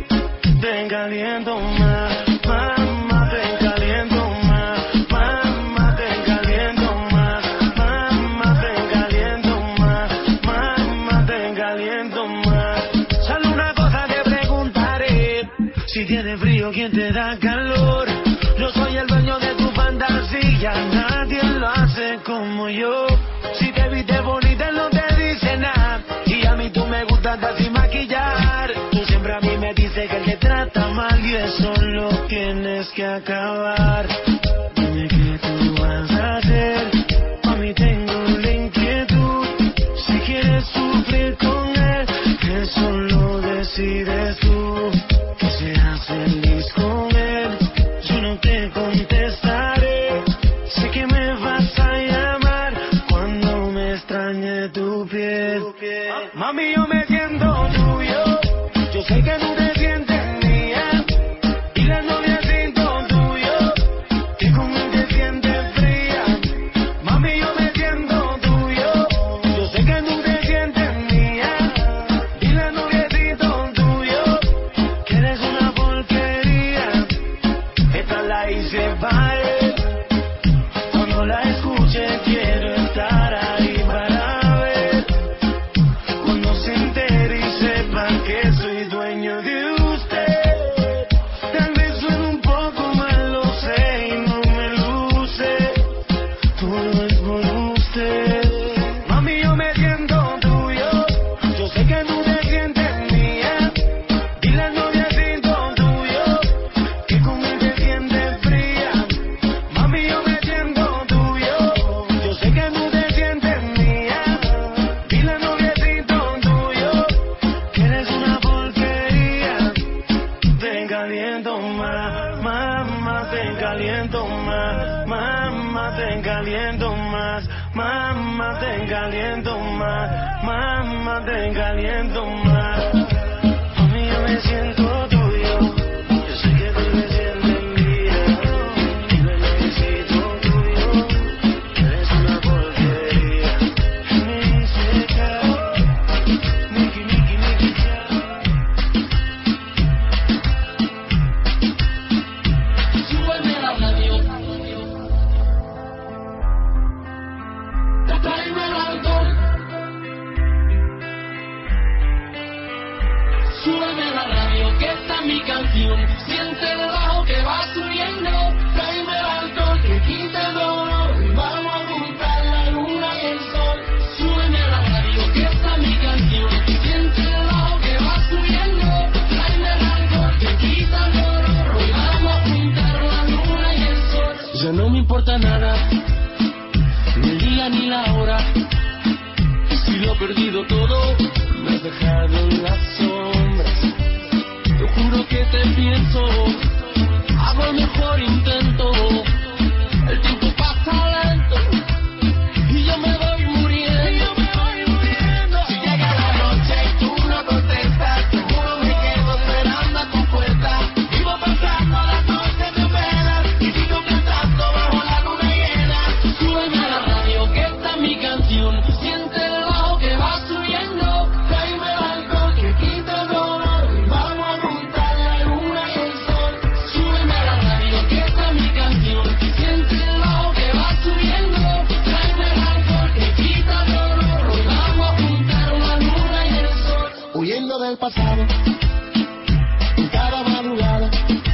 Te caliento más. Mamá, te caliento más. Mamá, te caliento más. Mamá, te caliento más. Mamá, te caliento más. Solo una cosa te preguntaré. Si tienes frío, ¿quién te da calor? Yo soy el dueño de tu fantasía. Nadie lo hace como yo. Si te viste bonita, no te dice nada. Y a mí tú me gustas hasta sin maquillar. Tú siempre a mí me dices que él te trata mal y eso lo tienes que acabar. Dime qué tú vas a hacer. A mí tengo la inquietud. Si quieres sufrir con él, eso lo decides tú. Que seas feliz con él. Yo no te contestaré. Sé que me vas a llamar cuando me extrañe tu piel. Mami, yo me siento tuyo. Yo sé que tú te sientes mía. Y la novia siento tuyo. Que con él te sientes fría. Mami, yo me siento tuyo. Yo sé que tú te sientes mía. Y la novia siento tuyo. Que eres una porquería. caliento más, mamá, te caliento más, mamá, te caliento más. A mí yo me siento tuyo, yo sé que tú me sientes mía, y me necesito tuyo, eres una porquería. Me dice chao, Nicky, Nicky, Nicky, chao. Súbeme la radio. Tráeme el alcohol. Súbeme la radio, que esta es mi canción. Siente el bajo que va subiendo. Tráeme el alcohol que quita el dolor. Y vamos a juntar la luna y el sol. Súbeme la radio, que esta es mi canción. Siente el bajo que va subiendo. Tráeme el alcohol que quita el dolor. Y vamos a juntar la luna y el sol. Ya no me importa nada, ni el día ni la hora. Si lo he perdido todo, me has dejado en las sombras. Te juro que te pienso, hago el mejor intento. El tiempo pasa lento y yo me voy muriendo. Y yo me voy muriendo. Si llega la noche y tú no contestas, seguro me quedo esperando a tu puerta. Vivo pasando las noches de velas y sigo cantando bajo la luna llena. Súbeme a la radio, que esta es mi canción. Siente el bajo que va subiendo. Tráeme el alcohol que quita el dolor. Y vamos a juntar la luna y el sol. Súbeme a la radio, que esta es mi canción. Siente el bajo que va subiendo. Tráeme el alcohol que quita el dolor. Y vamos a juntar la luna y el sol. Huyendo del pasado, en cada madrugada,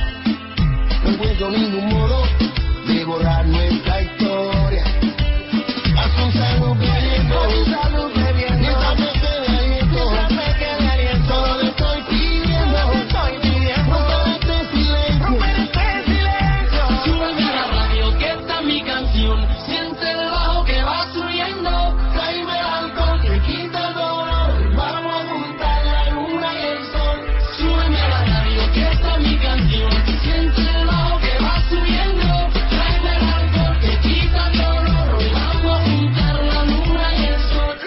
no encuentro ningún modo de borrar nuestra historia. Haz un salud bebiendo, un salud bebiendo, mientras me quede aliento, mientras me quede aliento. Solo le estoy pidiendo, solo le estoy pidiendo, romper este silencio, romper este silencio. Súbeme a la radio, que esta es mi canción. Siente el bajo que va subiendo. Tráeme el alcohol que quita el dolor. Y vamos a juntar la luna y el sol. Súbeme a la radio, que esta es mi canción. Siente el bajo que va subiendo. Tráeme el alcohol que quita el dolor. Y vamos a juntar la luna y el sol.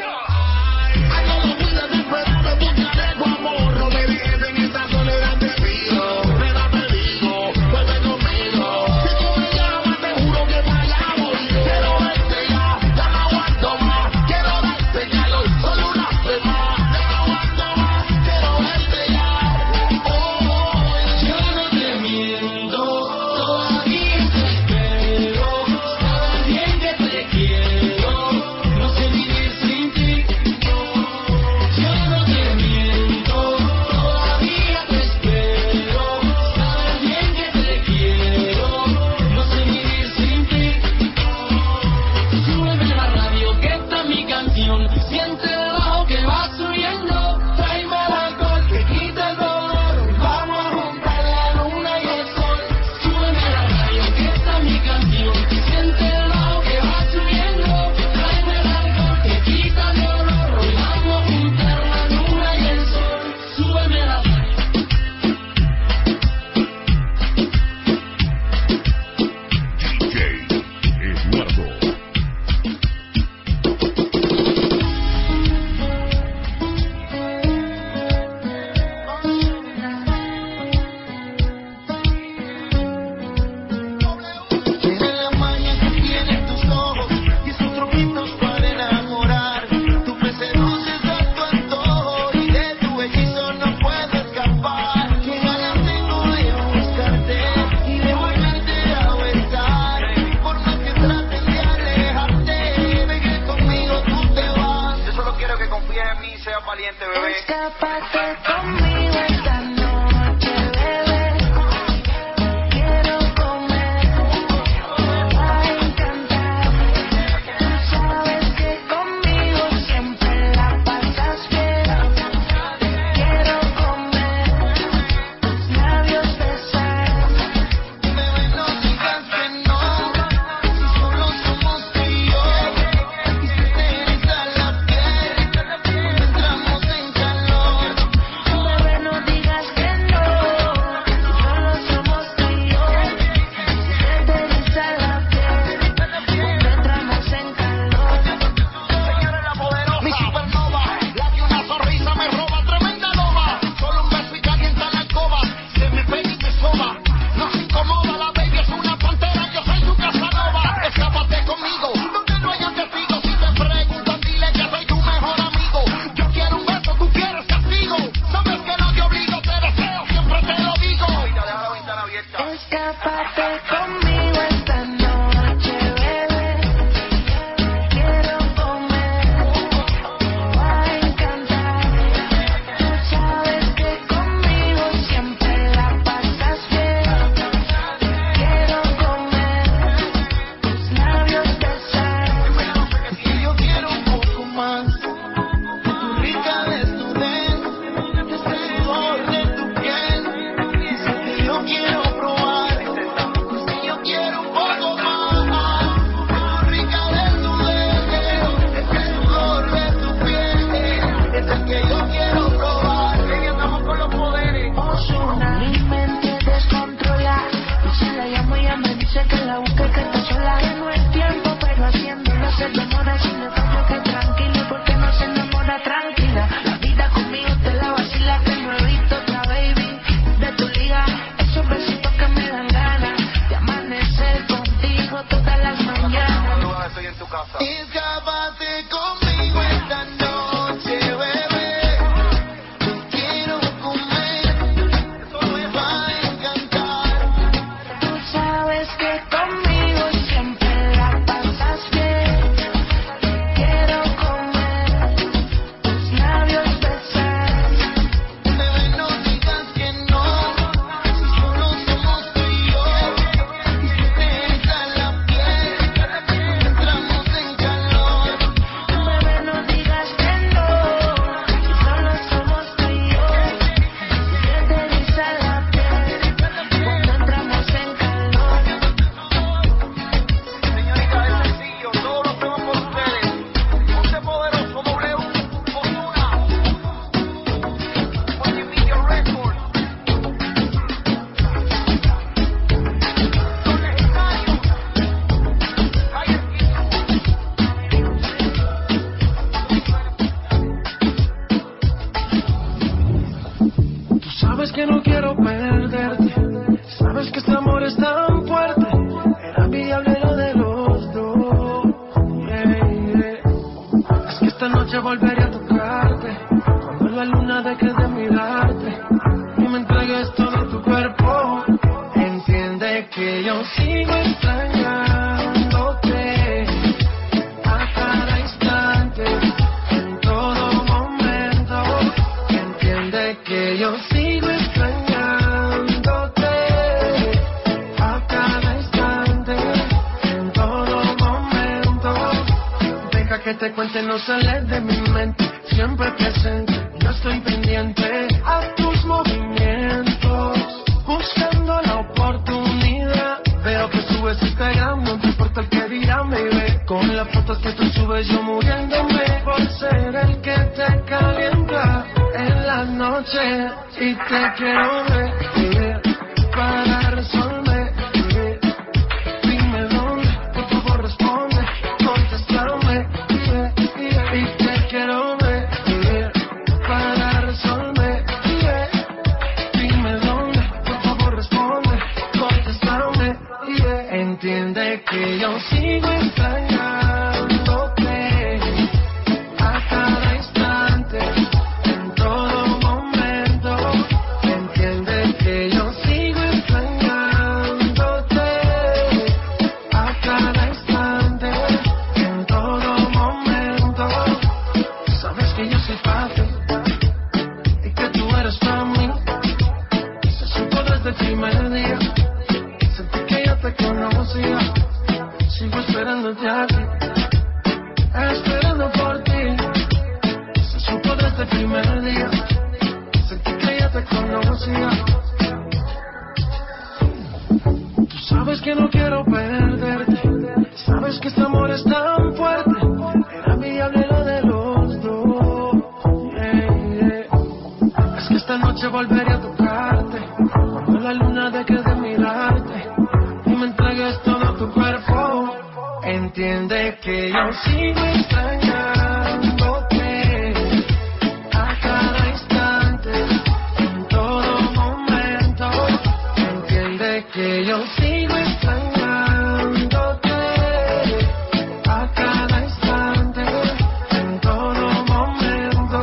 sabes que no quiero perderte. Sabes que este amor es tan fuerte. Era viable lo de los dos. Yeah, yeah. Es que esta noche volveré a tocarte. Cuando la luna deje de mirarte y me entregues todo tu cuerpo. Entiende que yo sigo extrañándote a cada instante, en todo momento. Entiende que yo sigo extrañándote a cada instante, en todo momento. Deja que te cuente, no sales de mi mente, siempre presente. Yo estoy pendiente a tus movimientos, buscando la oportunidad. Veo que subes Instagram, no te importa el que dirán, baby. Con las fotos que tú subes yo muriéndome por ser el que te calienta en la noche. Y te quiero ver, yeah, para resolver, yeah. Dime dónde, por favor responde, contéstame, yeah, yeah. Y te quiero ver, yeah, para resolver, yeah. Dime dónde, por favor responde, contéstame, yeah. Entiende que yo sigo extrañándote a cada instante, en todo momento. Entiende que yo sigo extrañándote a cada instante, en todo momento. Sabes que yo soy fácil y que tú eres para mí. Se supo desde el primer día, sentí que ya te conocía. Sigo esperándote a ti, esperando por ti. Se supo desde el primer día, sentí que ya te conocía. Tú sabes que no quiero perderte. Sabes que este amor es tan fuerte. Era viable lo de los dos. Yeah, yeah. Es que esta noche volveré a tocarte cuando la luna deje de mirarte y me entregues todo tu cuerpo. Entiende que yo sigo extrañándote a cada instante, en todo momento. Entiende que yo sigo extrañándote a cada instante, en todo momento.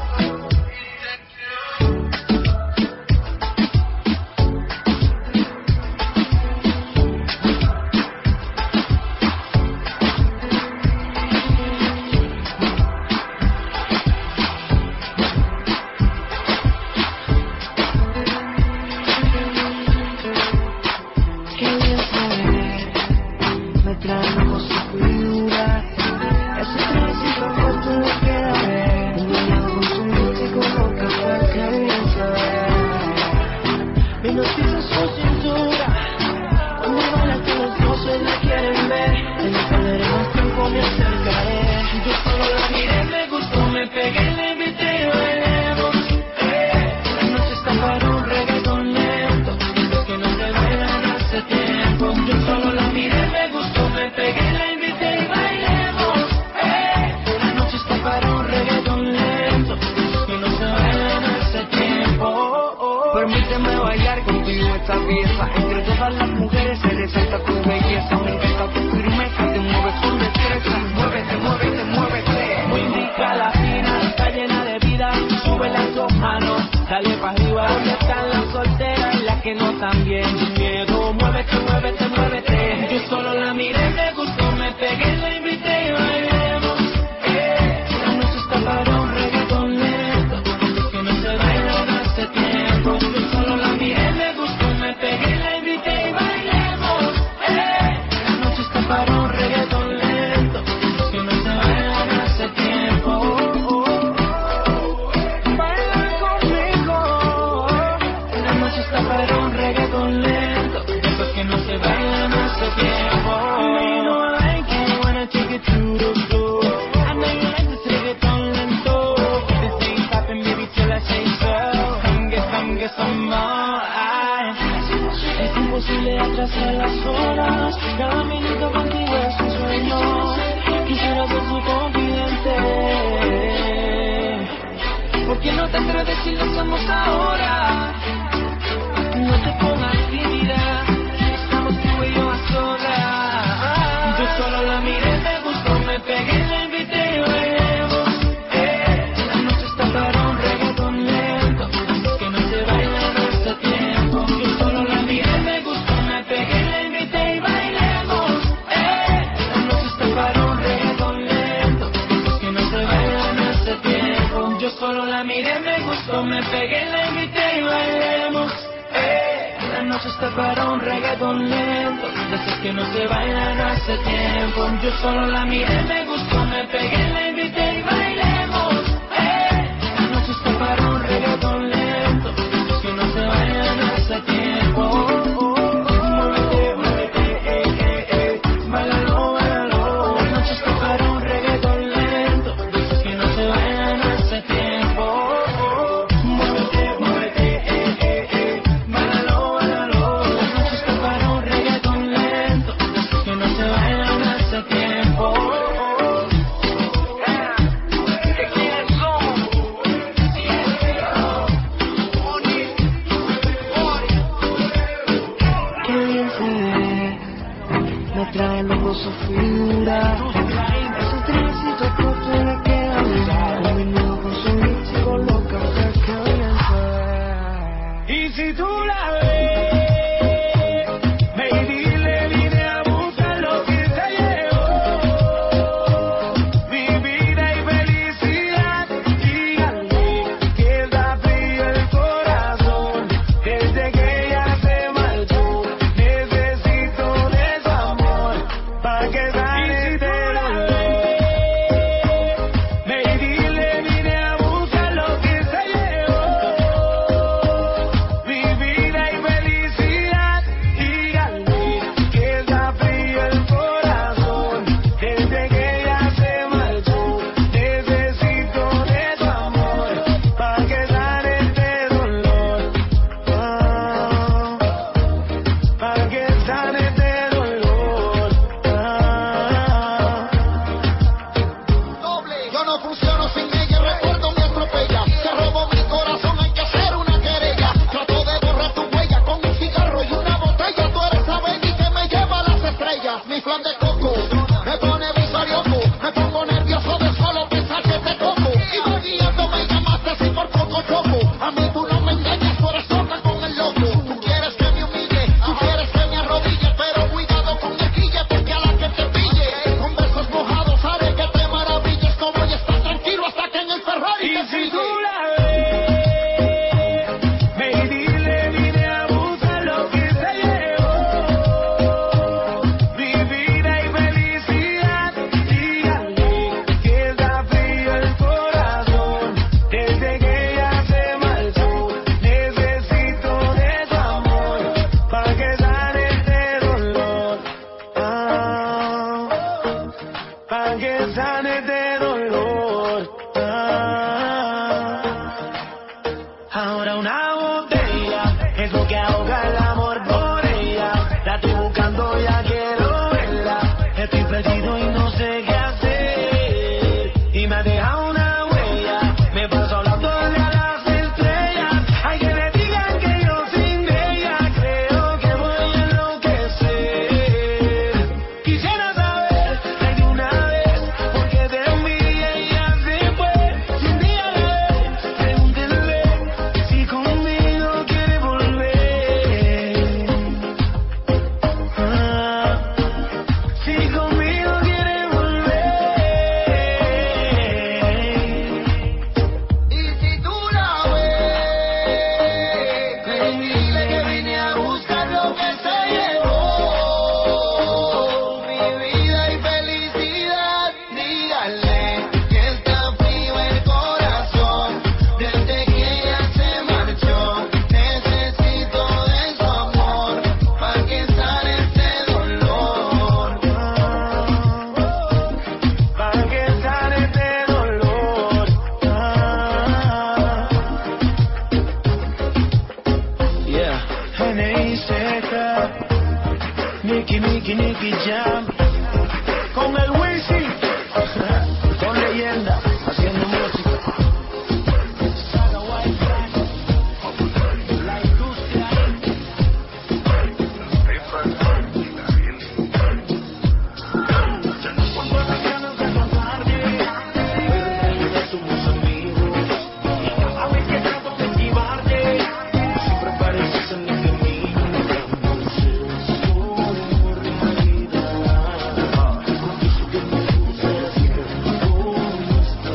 Qué bien se ve, me trae como su figura. Ese tránsito fuerte lo queda ver. Un día con su músico como café, qué bien se ve. Mi noticia es su cintura, cuando baila que los dos se la quieren ver. En el perderé más tiempo, me acercaré. Yo solo la miré, me gustó, me pegué, le invité y bailemos. Eh, la noche está para un reggaetón lento, los que no se vean hace tiempo. Yo solo la miré, me gustó, me pegué, la invité y bailemos. Eh, la noche está para un reggaetón lento, los que no se vean hace tiempo. Permíteme bailar contigo esta pieza. Entre todas las mujeres se resalta tu belleza. Me encanta tu firmeza, te mueves con destreza. Muévete, muévete, muévete. Muy rica la fina, está llena de vida. Sube las dos manos, dale pa' arriba. ¿Dónde están las solteras y las que no están bien? Sin miedo, muévete, muévete, muévete. Yo solo la miré, me gustó, me pegué, la invité y bailemos. Eh, la noche está para un reggaetón lento, los que no se bailan hace tiempo. Yo solo la miré, me gustó, me pegué, la invité y bailemos. Eh, la noche está para un reggaetón lento, los que no se bailan hace tiempo. Baila conmigo, la noche está para un reggaetón lento, los que no se bailan hace tiempo. I know you know I like it, wanna take it to the floor. I know you like this reggaetón lento. This ain't stopping, baby, till I say so. Come get, come get some more. Ay, es imposible atrasar las horas. Cada minuto contigo es un sueño. Quisiera ser su confidente. ¿Por qué no te atreves si lo hacemos ahora? gustó, me pegué, la invité y bailemos. Eh, la noche está para un reggaetón lento, de esos que no se bailan hace tiempo. Yo solo la miré, me gustó, me pegué, la invité y bailemos. Eh, la noche está para un reggaetón lento, de esos que no se bailan hace tiempo. Su figura, esos trenecitos cortos le quedan bien. Un menú con su mix y con los cafés que bien fue. Y si tú la ves, ve y dile, vine a buscar lo que se llevó. Mi vida y felicidad, díganle que está frío el corazón. Desde que ella se marchó, necesito de su amor. Pa' que sane de la ley, ve y dile, vine a buscar lo que se llevó. Mi vida y felicidad, díganle que está frío el corazón. Desde que ella se marchó, necesito de su amor. Pa' que sane este dolor, ah, pa' que sane este dolor. Yo no funciono sin ella, recuerdo me atropella. Se robó mi corazón, hay que hacer una querella. Trato de borrar tu huella con un cigarro y una botella. Tú eres la baby que me lleva a las estrellas. Mi flan de coco me pone visarioco. Me pongo nervioso de solo pensar que te toco. Y voy guiando, me llamaste así por poco choco. A mí tú no me engañas, tú eres loca con el loco. Tú quieres que me humille, tú quieres que me arrodille. Pero cuidado con el quille, porque a la que te pille, con besos mojados haré que te maravilles. Como ya estás tranquilo hasta que en el Ferrari Y te si sigue. tú la ves, ve y dile, vine a buscar lo que se llevó. Mi vida y felicidad, díganle que está frío el corazón. Desde que ella se marchó, necesito de su amor. Pa' que sane este dolor, ah, pa' que sane este dolor, ah. Ahora una botella es lo que ahoga el amor por ella. La estoy buscando, ya quiero verla. Estoy perdido y no sé qué hacer. Y me ha dejado una huella. Me paso hablándole a las estrellas. Hay que me digan que yo sin ella creo que voy a enloquecer. Quisiera saber de una vez por qué de mí ella se fue. Si un día la ve, pregúntenle si conmigo quiere volver. Ah, si conmigo quiere volver. Y si tú la ves, ve y dile que vine a buscar lo que se llevó. Mi vida y felicidad, díganle que está frío el corazón. Desde que ella se marchó, necesito de su amor. Pa' que sane este dolor, Pa' que sane este dolor, ah. Yeah, N I C K, Nicky, Nicky, Nicky Jam, con el Wisin, con leyenda, haciendo música. Saga White Black, la industria. Cuando las ganas de contarte, pero ya somos amigos. A ver que trato de esquivarte, siempre pareces en el camino. No sé, por realidad. Confieso que me gusta así como estás.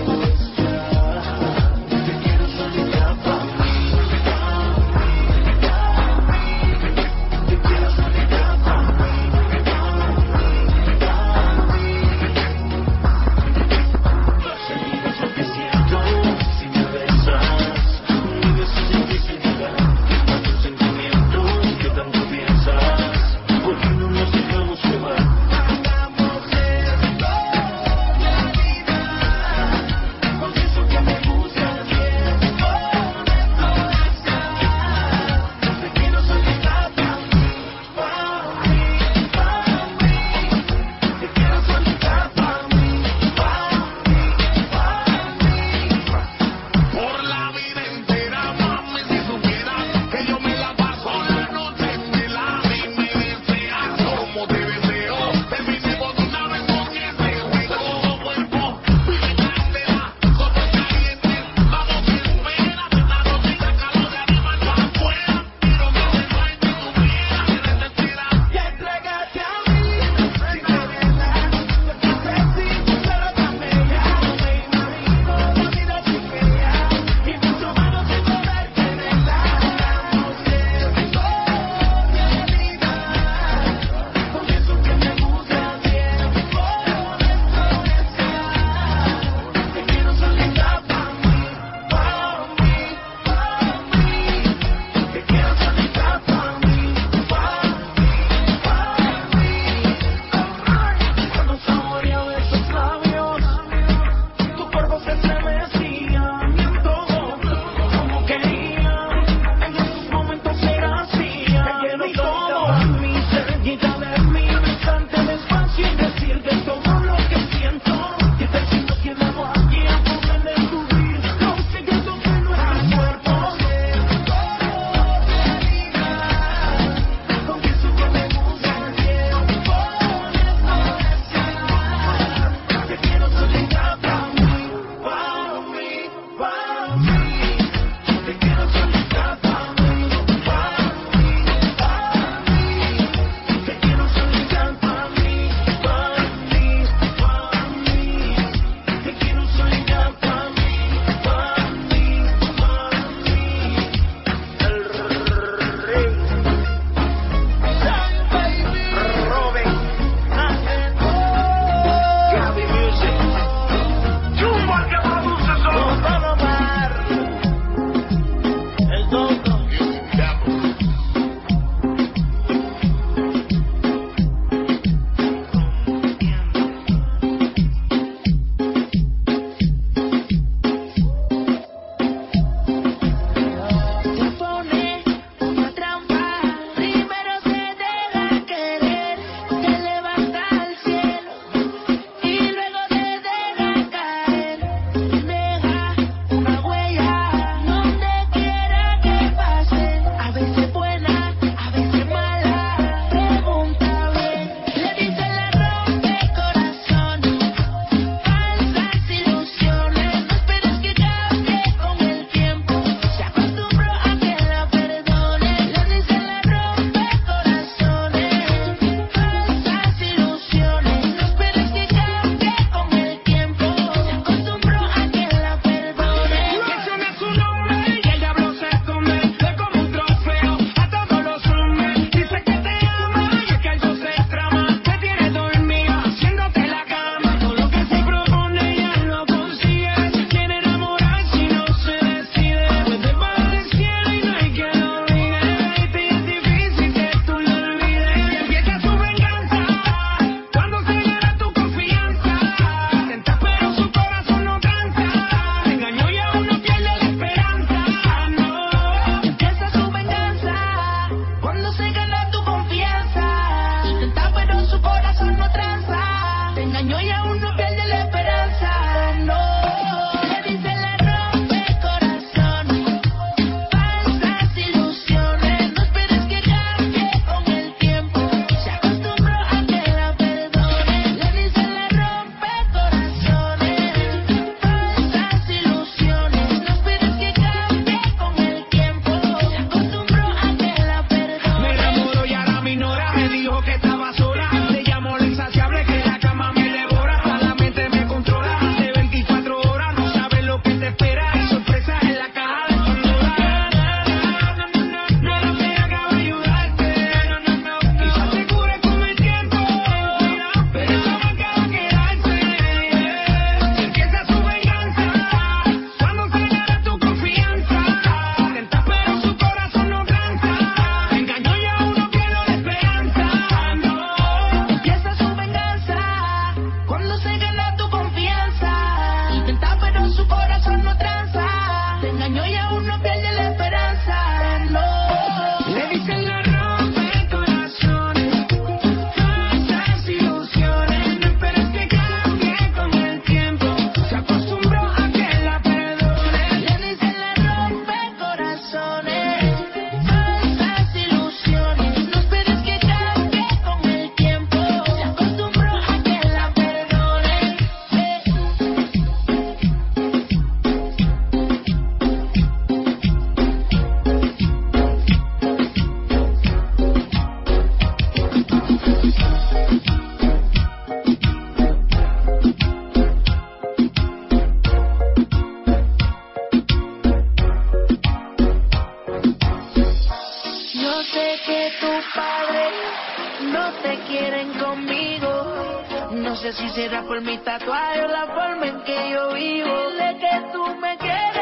sé que tus padres no te quieren conmigo. No sé si será por mi tatuaje o la forma en que yo vivo. Dile que tú me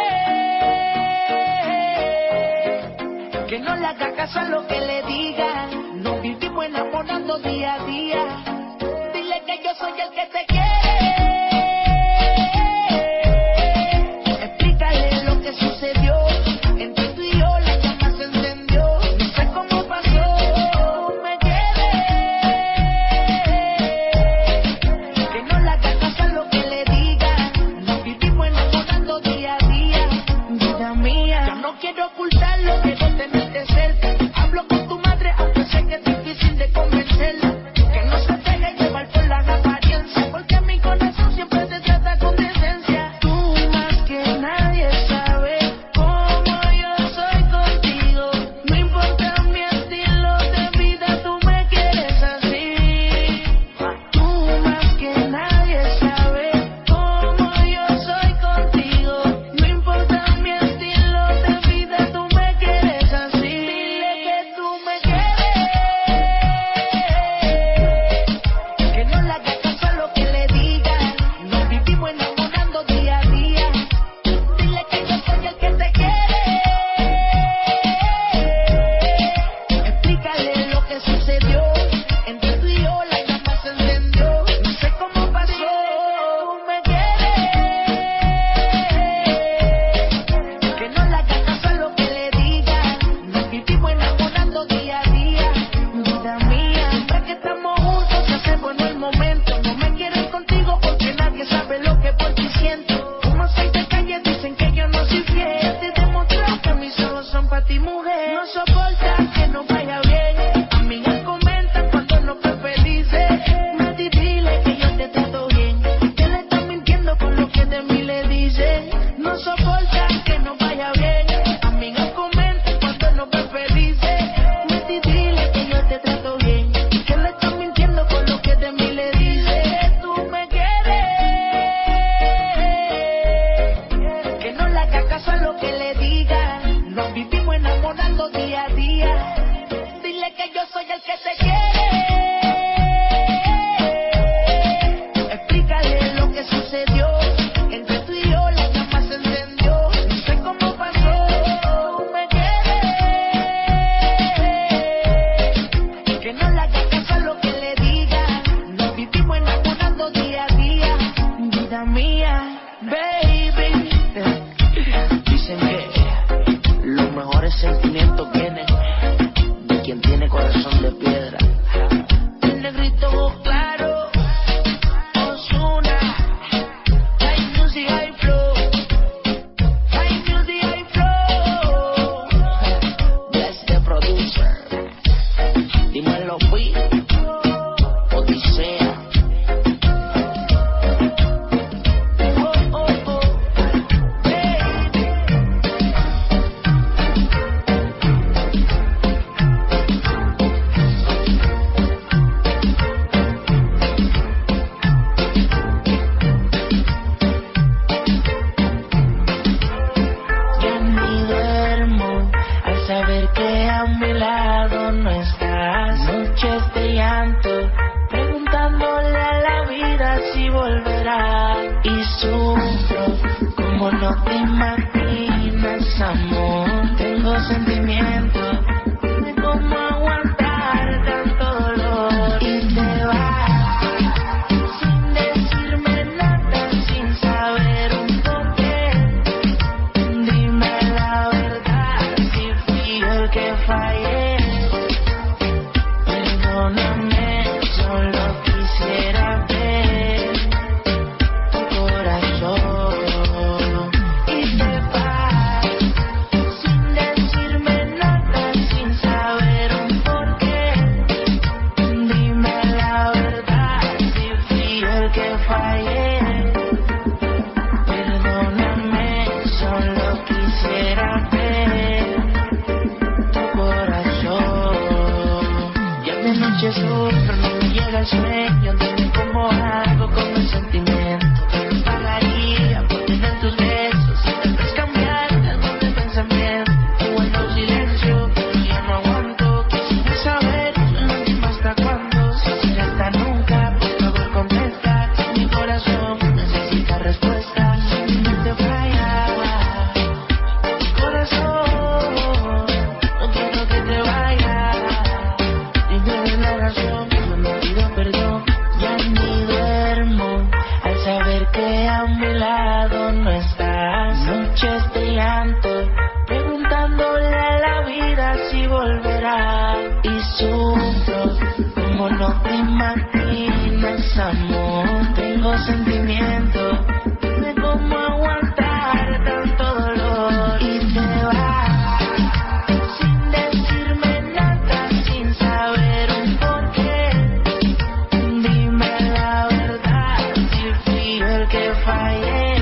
quieres, que no le haga caso a lo que le diga. Nos vivimos enamorando día a día. Dile que yo soy el que te quiere. Explícale lo que sucedió. Entre tú y yo la llama se encendió. No sé cómo pasó. Me quieres, que no le haga caso a lo que le diga. Nos vivimos enamorando día a día. Vida mía, yo no quiero ocultarlo, quiero tenerte cerca. Hablo con tu madre, aunque sé que es difícil de convencerla. Que no se deje llevar por las apariencias, porque mi corazón siempre te trata con decencia. Tú más que nadie sabes cómo yo soy contigo. No importa mi estilo de vida, tú me quieres así. Tú más que nadie sabes cómo yo soy contigo. No importa mi estilo de vida, tú me quieres así. Dile que tú me quieres, que no le haga caso a lo que le diga. Nos vivimos enamorando día a día. Dile que yo soy el que te quiere. Explícale lo que sucedió. Entre tú y yo la llama se encendió. No sé cómo pasó. Tú me quieres, que no le haga caso a lo que le diga. Nos vivimos enamorando día a día. Vida mía, siempre que estamos juntos se hace bueno el momento. No me quieren contigo porque nadie sabe lo que por ti siento. Como soy de calle dicen que yo no soy fiel. Te he demostrado que mis ojos son para ti, mujer. No soporta que no vaya bien. Amigas comentan cuando no fue felices. Mati, dile que yo te trato bien. Que le estás mintiendo con lo que de mí le dice. No soporta que no vaya bien. Amigas comentan cuando no fue felices. Mati, dile que yo te trato bien. Que le estás mintiendo con lo que de mí le dice. Tú me quieres, que no le haga caso a lo que le diga. Nos vivimos enamorando día a día. Dile que yo soy el que te quiere. Explícale lo que sucedió. Entre tú y yo la llama se encendió. No sé cómo pasó. Tú me quieres, que no le haga caso a lo que le diga. Nos vivimos enamorando día a día. Vida mía, baby. Dicen que los mejores sentimientos vienen de quien tiene corazón de piedra. El negrito claro, Ozuna, high music, high flow, high music, high flow. Bless the producer. Dímelo, Pi, Odisea. Oh, oh, oh, baby. Ya ni duermo al saber que a mi lado no estás. Noches de llanto, preguntándole a la vida si volverá. Y sufro como no te imaginas, amor. Tengo sentimientos de cómo aguantar tanto dolor. Y te vas sin decirme nada, sin saber un porqué. Dime la verdad, si fui yo el que fallé. Perdóname, solo quisiera ver tu corazón. Y te vas sin decirme nada, sin saber un porqué. Dime la verdad, si fui yo el que fallé. Perdóname, solo quisiera ver tu corazón. Ya de noche sufro, no me llega el sueño de mi corazón. si volverá. Y sufro como no te imaginas, amor. Tengo sentimientos de cómo aguantar tanto dolor. Y te vas sin decirme nada, sin saber un porqué. Dime la verdad, si fui yo el que fallé.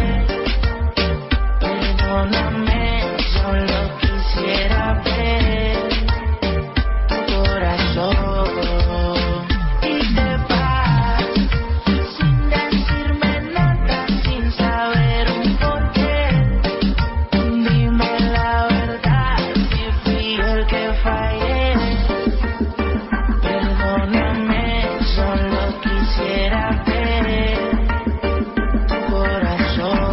Perdóname, solo quisiera ver tu corazón. Y te vas sin decirme nada, sin saber un porqué. Dime la verdad, si fui yo el que fallé. Perdóname, solo quisiera ver tu corazón.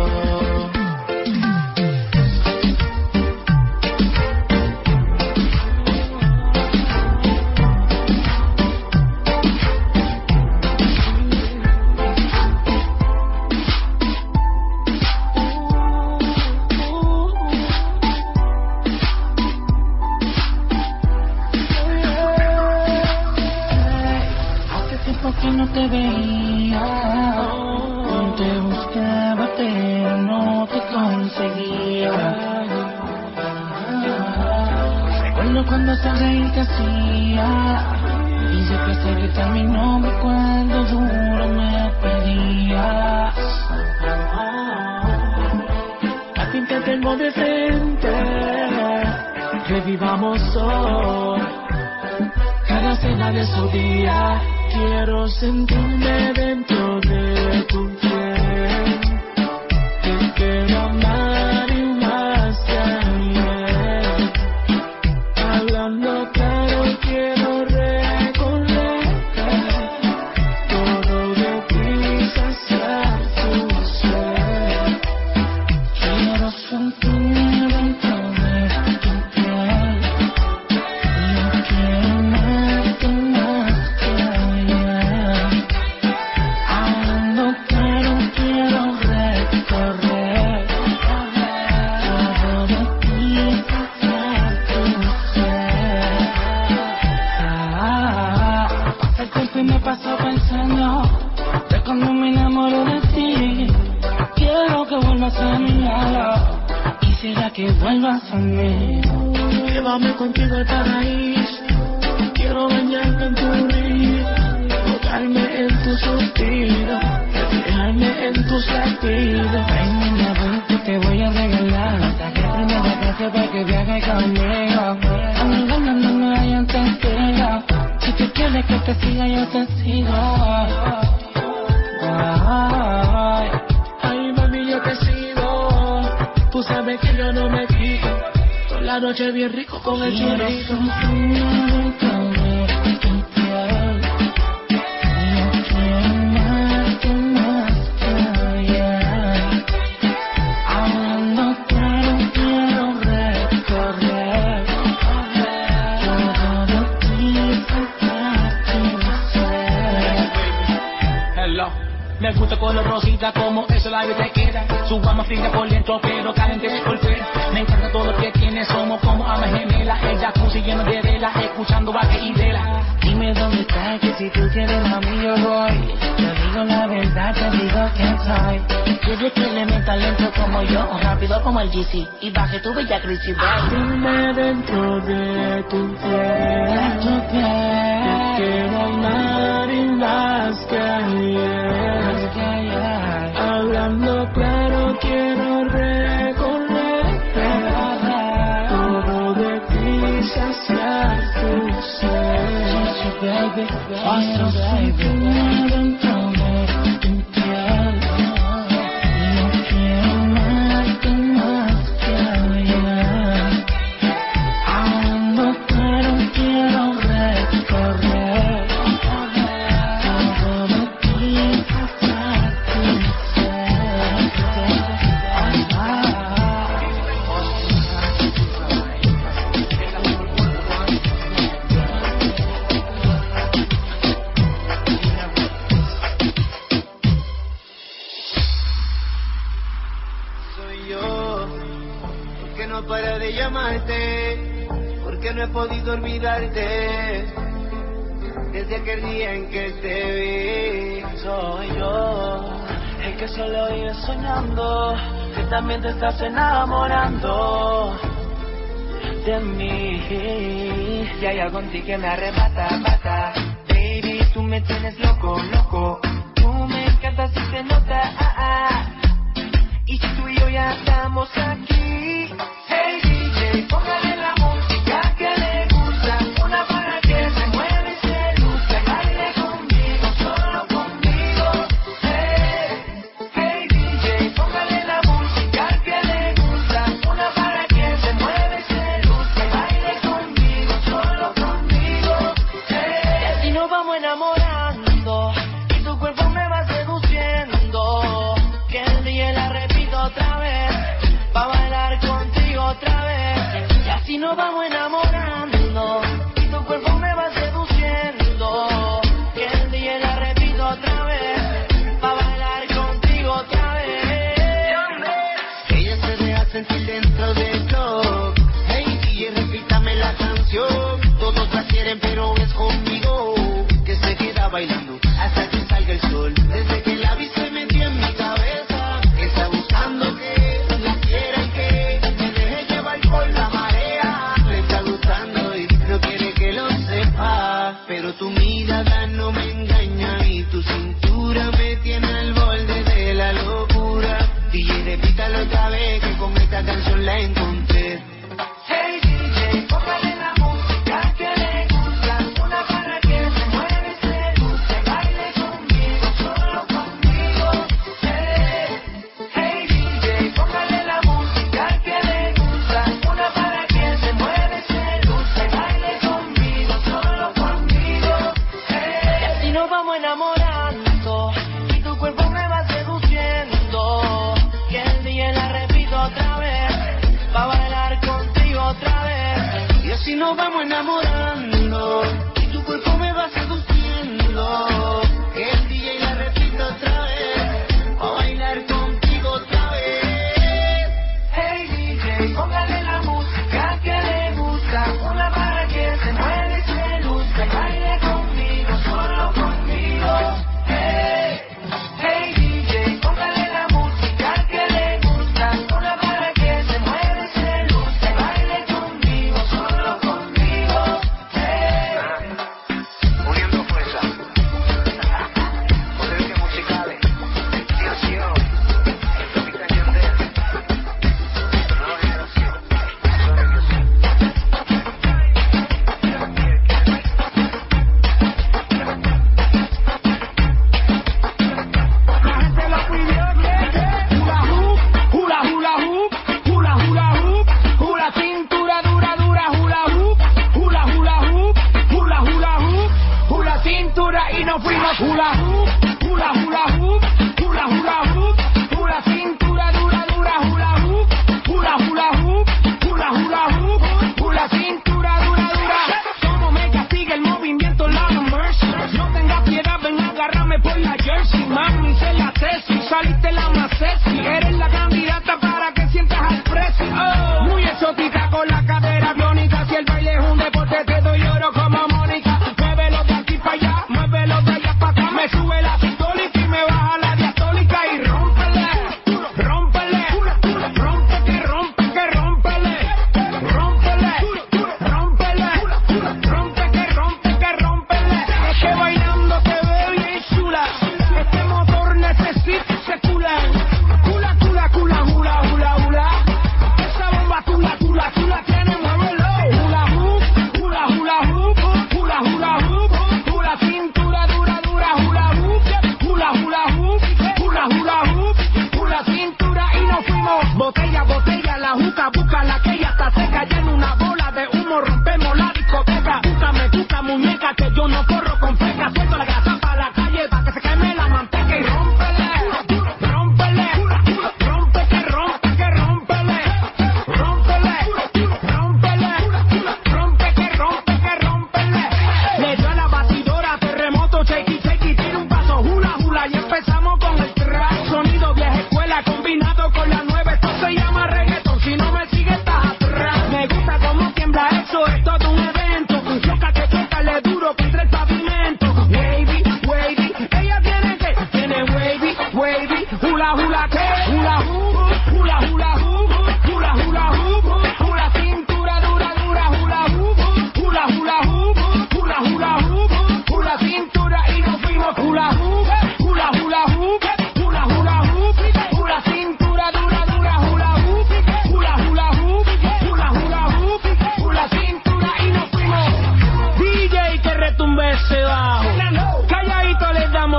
Hace tiempo que no te veía, te buscaba pero no te conseguía. Recuerdo cuando sonreí te hacía, y siempre sé gritar mi nombre cuando duro me pedías. A ti te tengo de frente, revivamos hoy cada cena de su día. Quiero sentirme dentro de tu piel. Te quiero amar y más que ayer. Hablando claro, quiero recorrer todo de ti, saciar tu ser. Quiero sentirme dentro de tu piel. Yo quiero amarte más que ayer. Hablando claro, quiero recorrer todo de ti, saciar tu ser. Ah, pasa el tiempo y me paso pensando de cuando me enamoro de ti. Quiero que vuelvas a mi lado, quisiera que vuelvas a mí. Llévame contigo al paraíso, quiero bañarme en tu río, ahogarme en tu suspiro, reflejarme en tus latidos. Ay, niña, ven que te voy a regalar hasta que primera clase para que viajes conmigo. Amiga, no, no me hayan testigo, si tú quieres que te siga yo te sigo. Ay, ay, mami, yo te sigo, tú sabes que yo no me quito, toda la noche bien rico con el churrito. Me gusta color rosita como eso la vida te queda. Su alma fría por dentro pero caliente por fuera. Me encanta todo lo que tiene, somos como almas gemelas. El jacuzzi lleno de velas, escuchando vaque y vela. Dime dónde estás, que si tú quieres mami yo voy. Te digo la verdad, te digo quién soy. Quieres que le meta lento como yo, rápido como el G C, y baje tu bella crisis, baby. Dime dentro de tu piel, De tu piel. te quiero amar y más que ayer. Hablando claro, quiero recorrer todo de ti, saciar tu ser. Baby, Quiero sentirme dentro de tu piel. yo quiero amarte más que ayer. Hablando claro, quiero recorrer todo de ti, saciar tu ser. que no he podido olvidarte desde aquel día en que te vi. Soy yo, el que solo vive soñando, que también te estás enamorando de mí. Y hay algo en ti que me arrebata, bata. Baby, tú me tienes loco, loco. Tú me encantas y se nota, ah, ah. Y si tú y yo ya estamos aquí, hey D J, póngale la música que le gusta, una para que se mueva y se luzca, baile conmigo, solo conmigo. Hey, hey D J, póngale la música que le gusta, una para que se mueva y se luzca, baile conmigo, solo conmigo. Hey, y así nos vamos enamorando y tu cuerpo me va seduciendo, que el día la repito otra vez, pa' bailar contigo otra vez. Y así nos vamos enamorando y tu cuerpo me va seduciendo, que el día la repito otra vez, pa' bailar contigo otra vez. Ella se deja sentir dentro del club. Hey D J, repítame la canción. Todos la quieren pero es conmigo que se queda bailando hasta que salga el sol. Desde que la vi se metió en mi cabeza, está buscando que la quiera y que me deje llevar por la marea. Le está gustando y no quiere que lo sepa, pero tu mirada no me engaña y tu cintura me tiene al borde de la locura. D J, repítalo otra vez que con esta canción la encontré. Hey D J, póngale la música que le gusta, una para que se mueva y se luzca, baile conmigo, solo conmigo. Hey, hey D J, póngale la música que le gusta, una para que se mueva y se luzca, baile conmigo, solo conmigo. Hey, y así nos vamos enamorando y tu cuerpo me va seduciendo, que el día la repito otra vez, pa' bailar contigo otra vez. Y así nos vamos enamorando y tu cuerpo me va seduciendo, que el D J la repito otra vez, a bailar contigo otra vez. Hey D J, póngale la música que le gusta, una para que se mueva y se luzca, baile conmigo, solo conmigo. Hey, hey D J, póngale la música que le gusta, una para que se mueva y se luzca, baile conmigo, solo conmigo. Hey. Uniendo fuerza, potencia musicales, inspiración, improvisación de nueva generación, Sony Music. La gente lo pidió, que, que, hula hoop, hula hula hoop, hula hula hoop, hula cintura dura dura, hula hoop, hula hula hoop, hula hula hoop, hula cintura y nos fuimos hula hoop, hula hula hoop, hula hula hoop, hula cintura dura dura, hula hoop, hula hula hoop, hula hula hoop, hula cintura dura dura. Como me castiga el movimiento, la mercy. No tengas piedad, ven a agarrarme por la jersey. Mami, sé la tesis, saliste la más sexy. Eres la candidata para que sientas al precio. Oh, muy exótica con la cadera biónica. Si el baile es un deporte, te doy oro como Mónica. Muévelo de aquí para allá, muévelo de allá para acá. Me sube la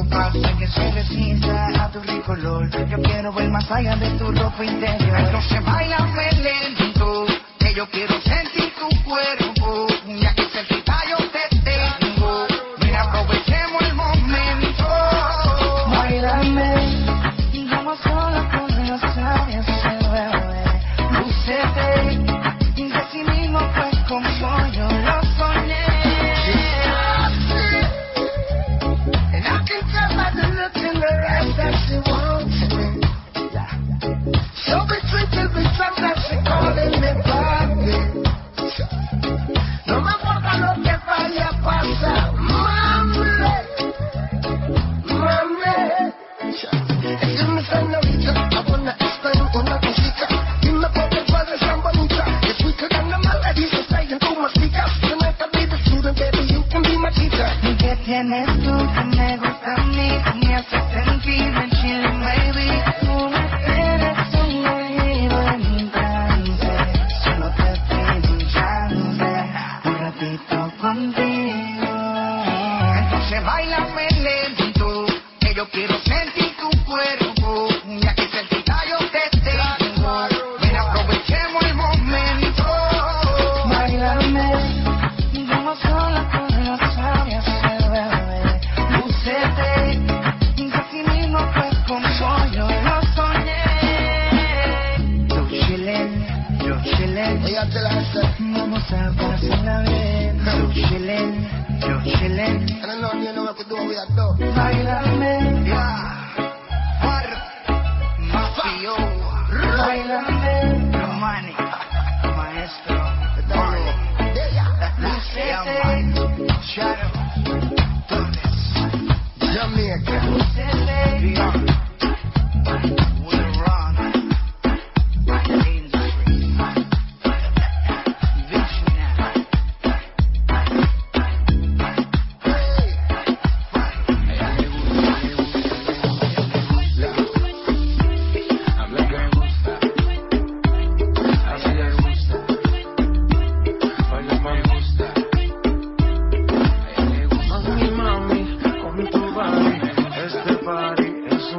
algo pasa que se resista a tu rico olor. Yo quiero ver más allá de tu ropa interior. Entonces bailame lento, que yo quiero sentir tu cuerpo. Ya que cerquita yo te tengo, mira, aprovechemos el momento. Bailame, y vamos solo con los labios se bebe. Lúcete, y así mismo pues como yo lo soñé. And I can tell by the look in her eyes that she wants me. So between till we drop that she calling me papi. No me importa lo que vaya a pasar, mami, mami. Dime señorita, I wanna explain una cosita. Dime por qué padres tan bonita. If we could end the melodies and say in tu mastica. Tonight I'll be the student, baby, you can be my teacher. ¿Y qué tienes tú que me gusta a mí? Me hace sentir en chile, baby. Tú me eres un oído en trance. Solo te pido un chance, un ratito contigo. Entonces bailame lento, que yo quiero sentir tu cuerpo. Ya que cerquita yo te tengo, ven aprovechemos el momento. Bailame, vamos sola con los labios se bebe. Lúcete, y así mismo pues como yo lo soñé. Yo chillen, yo chillen, vamos a pasarla bien. Yo chillen, yo chillen, I don't know, you know what to do with that though. bailame, Mar, Mafio, bailame, Romani, Maestro, Marley, Lúcete, Shadow, Torres, Jamaica. Lúcete, Beyond, Will Run, Industry, Visionary. Mami, mami, con tu body, este party es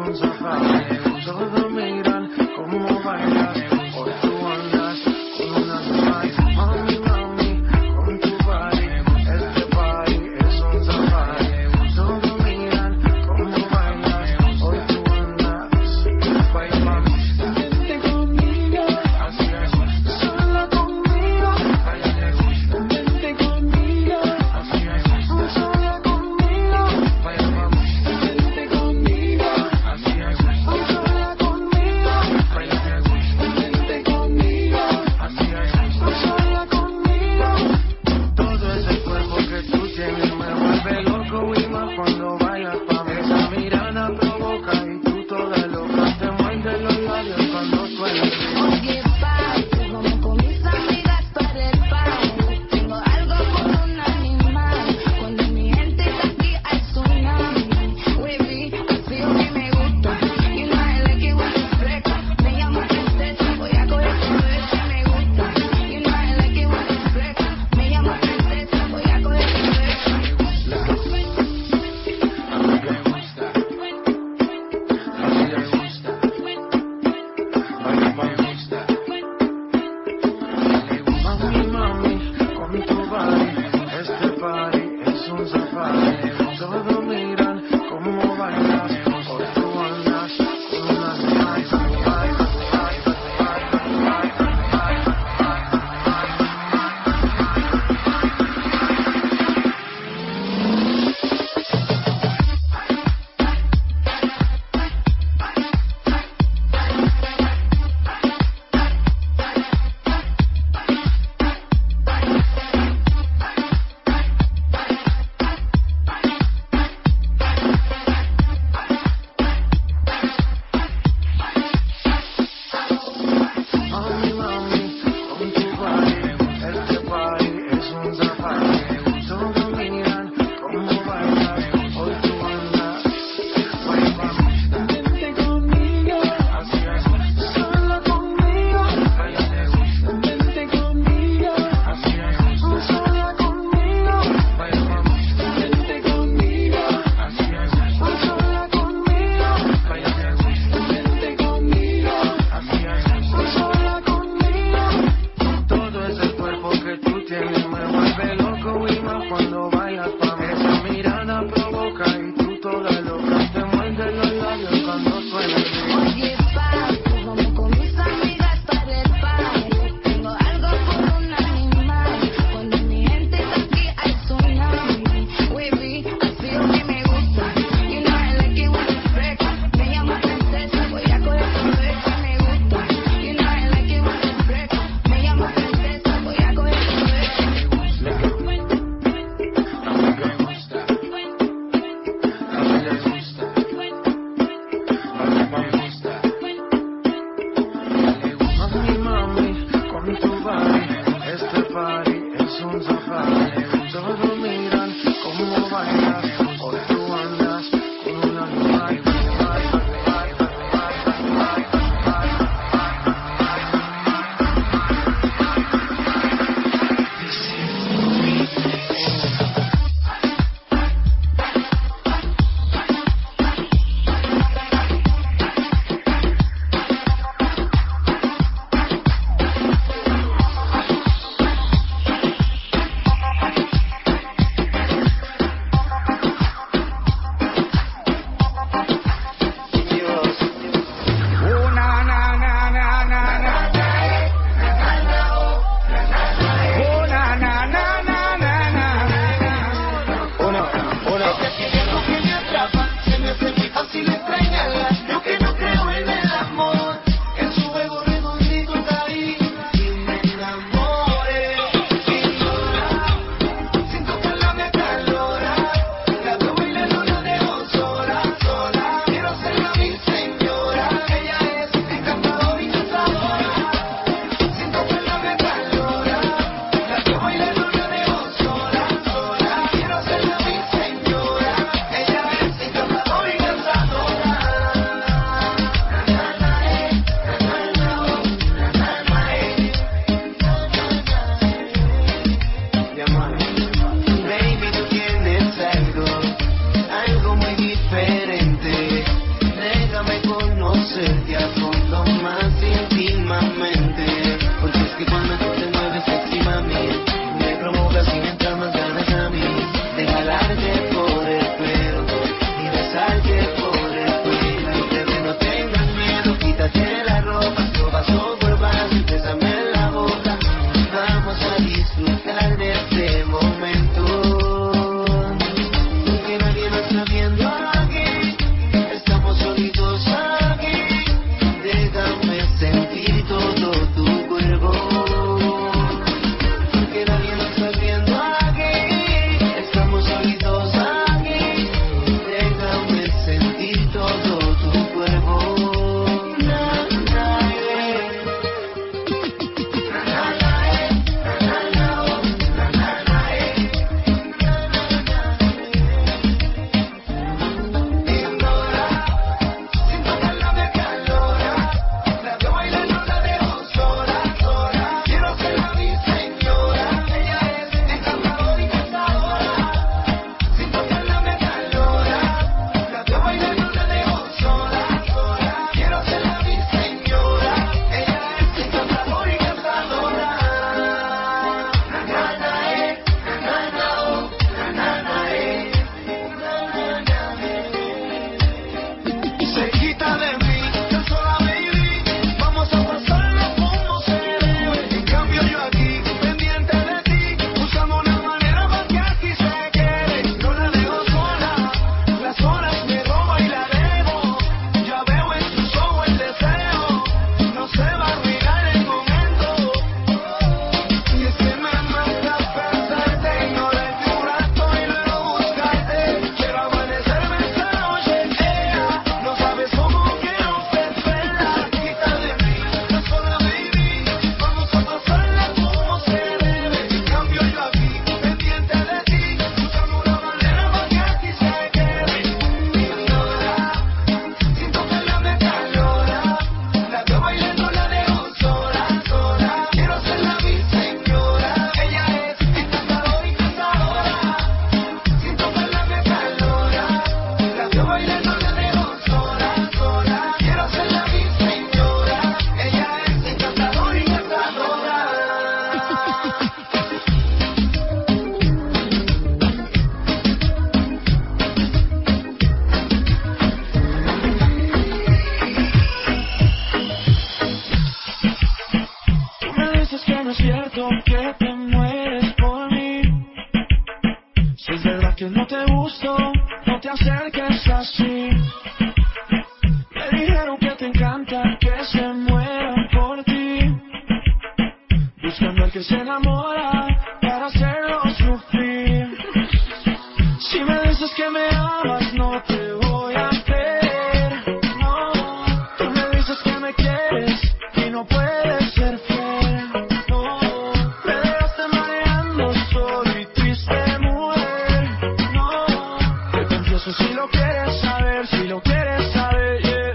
es cierto que te mueres por mí. Si es verdad que no te gusto, no te acerques así. Me dijeron que te encanta que se mueran por ti, buscando al que se enamora para hacerlo sufrir. Si me dices que me amas, no te voy a creer. No, tú me dices que me quieres y no puedes ser fiel. No, me dejaste mareando solo y triste, mujer. No, te confieso si lo quieres saber, si lo quieres saber, yeah.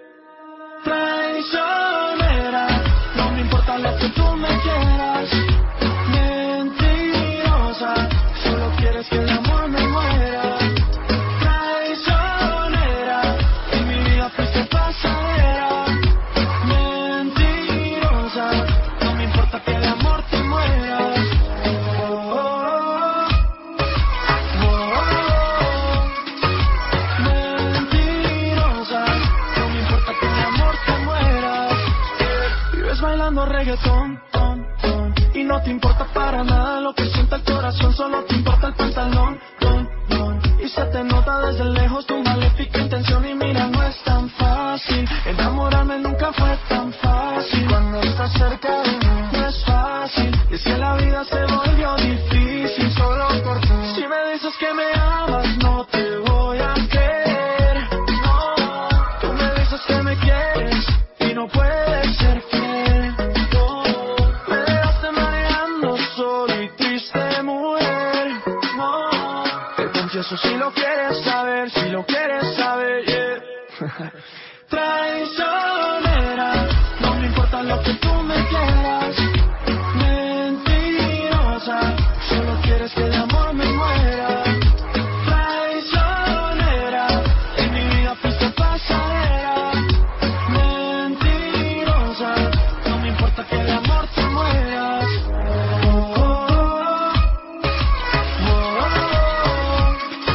Traicionera, no me importa lo que tú me quieras. Mentirosa, solo quieres que el amor me muera. Traicionera, en mi vida fuiste pasadera. Mentirosa, no me importa que el amor te muera. Oh, oh, oh, oh. Mentirosa, no me importa que el amor te muera. Vives bailando reggaetón, ton, ton, y no te importa para nada lo que sienta el corazón, solo te importa el pantalón, ton, ton, y se te nota desde lejos tu maléfica intención. Y mira, no es tan fácil, enamorarme nunca fue tan fácil. Cuando estás cerca de mí no es fácil, y es que la vida se volvió difícil solo por ti. Si me dices que me amas, no te voy a creer. No, tú me dices que me quieres y no puedes ser fiel. No, me dejaste mareando solo y triste, mujer. No, te confieso si lo quieres saber, si lo quieres saber, yeah. Traicionera, no me importa lo que tú me quieras. Mentirosa, solo quieres que el amor me muera. Traicionera, en mi vida fuiste pasadera. Mentirosa, no me importa que el amor te mueras. Oh, oh, oh, oh, oh.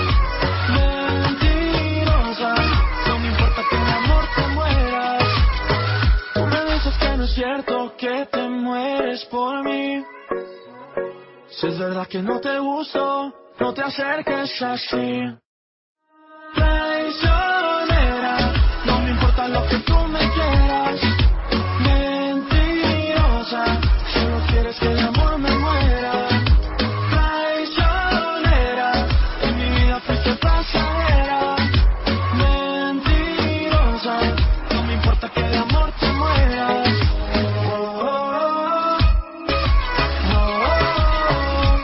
Mentirosa, no me importa que el amor te mueras. Tú me dices que no es cierto que te mueres por mí. Si es verdad que no te gusto, no te acerques así. Traicionera, no me importa lo que tú me quieras. Mentirosa, solo quieres que el amor me muera. Traicionera, en mi vida fuiste pasadera. Mentirosa, no me importa que el amor te mueras. Oh, oh, oh. Oh, oh, oh.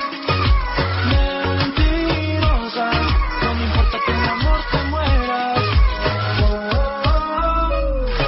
Mentirosa, no me importa que el amor te mueras. Oh, oh, oh.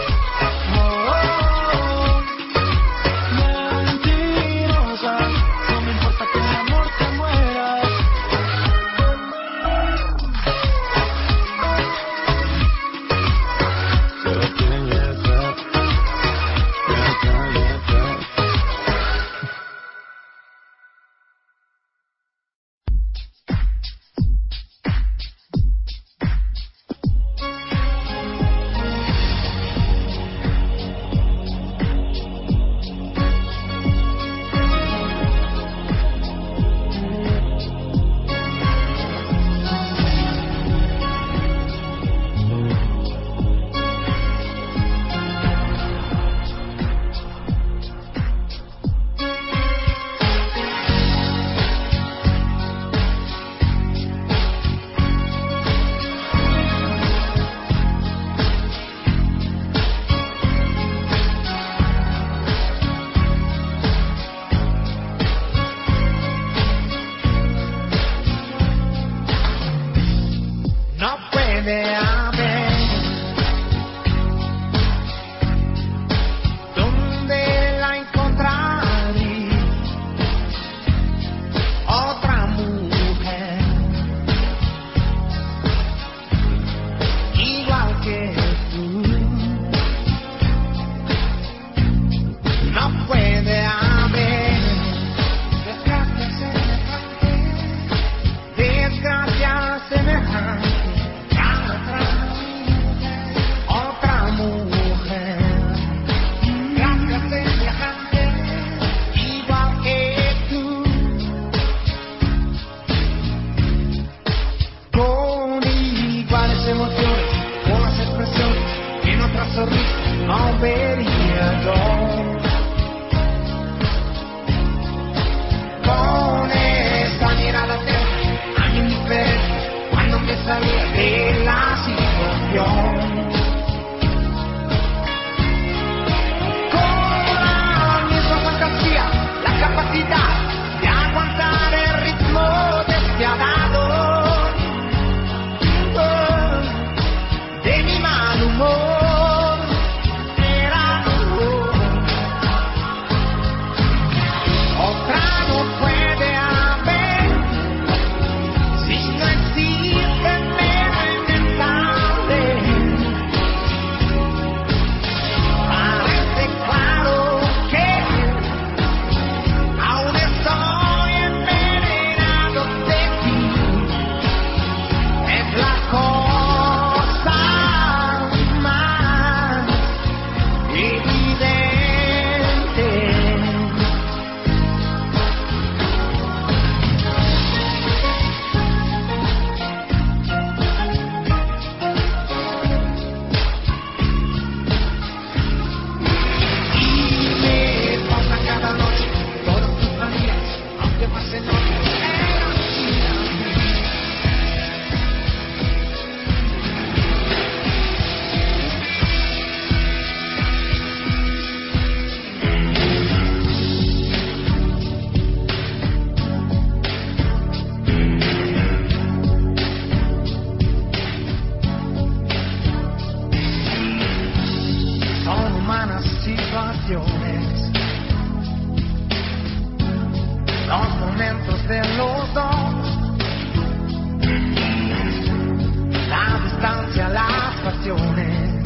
condiciones,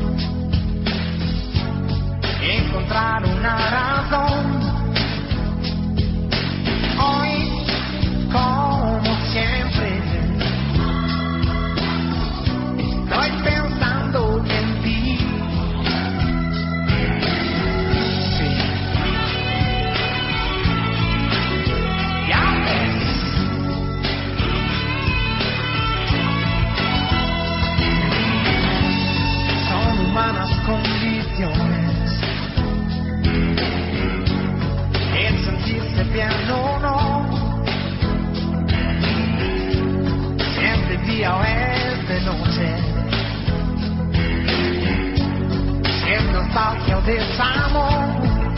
encontrar una razón. Hoy, como siempre, estoy pensando en ti. Sí. Ya ves. Son humanas condiciones, el sentirse bien o no, siempre día o es de noche, si es nostalgia o desamor.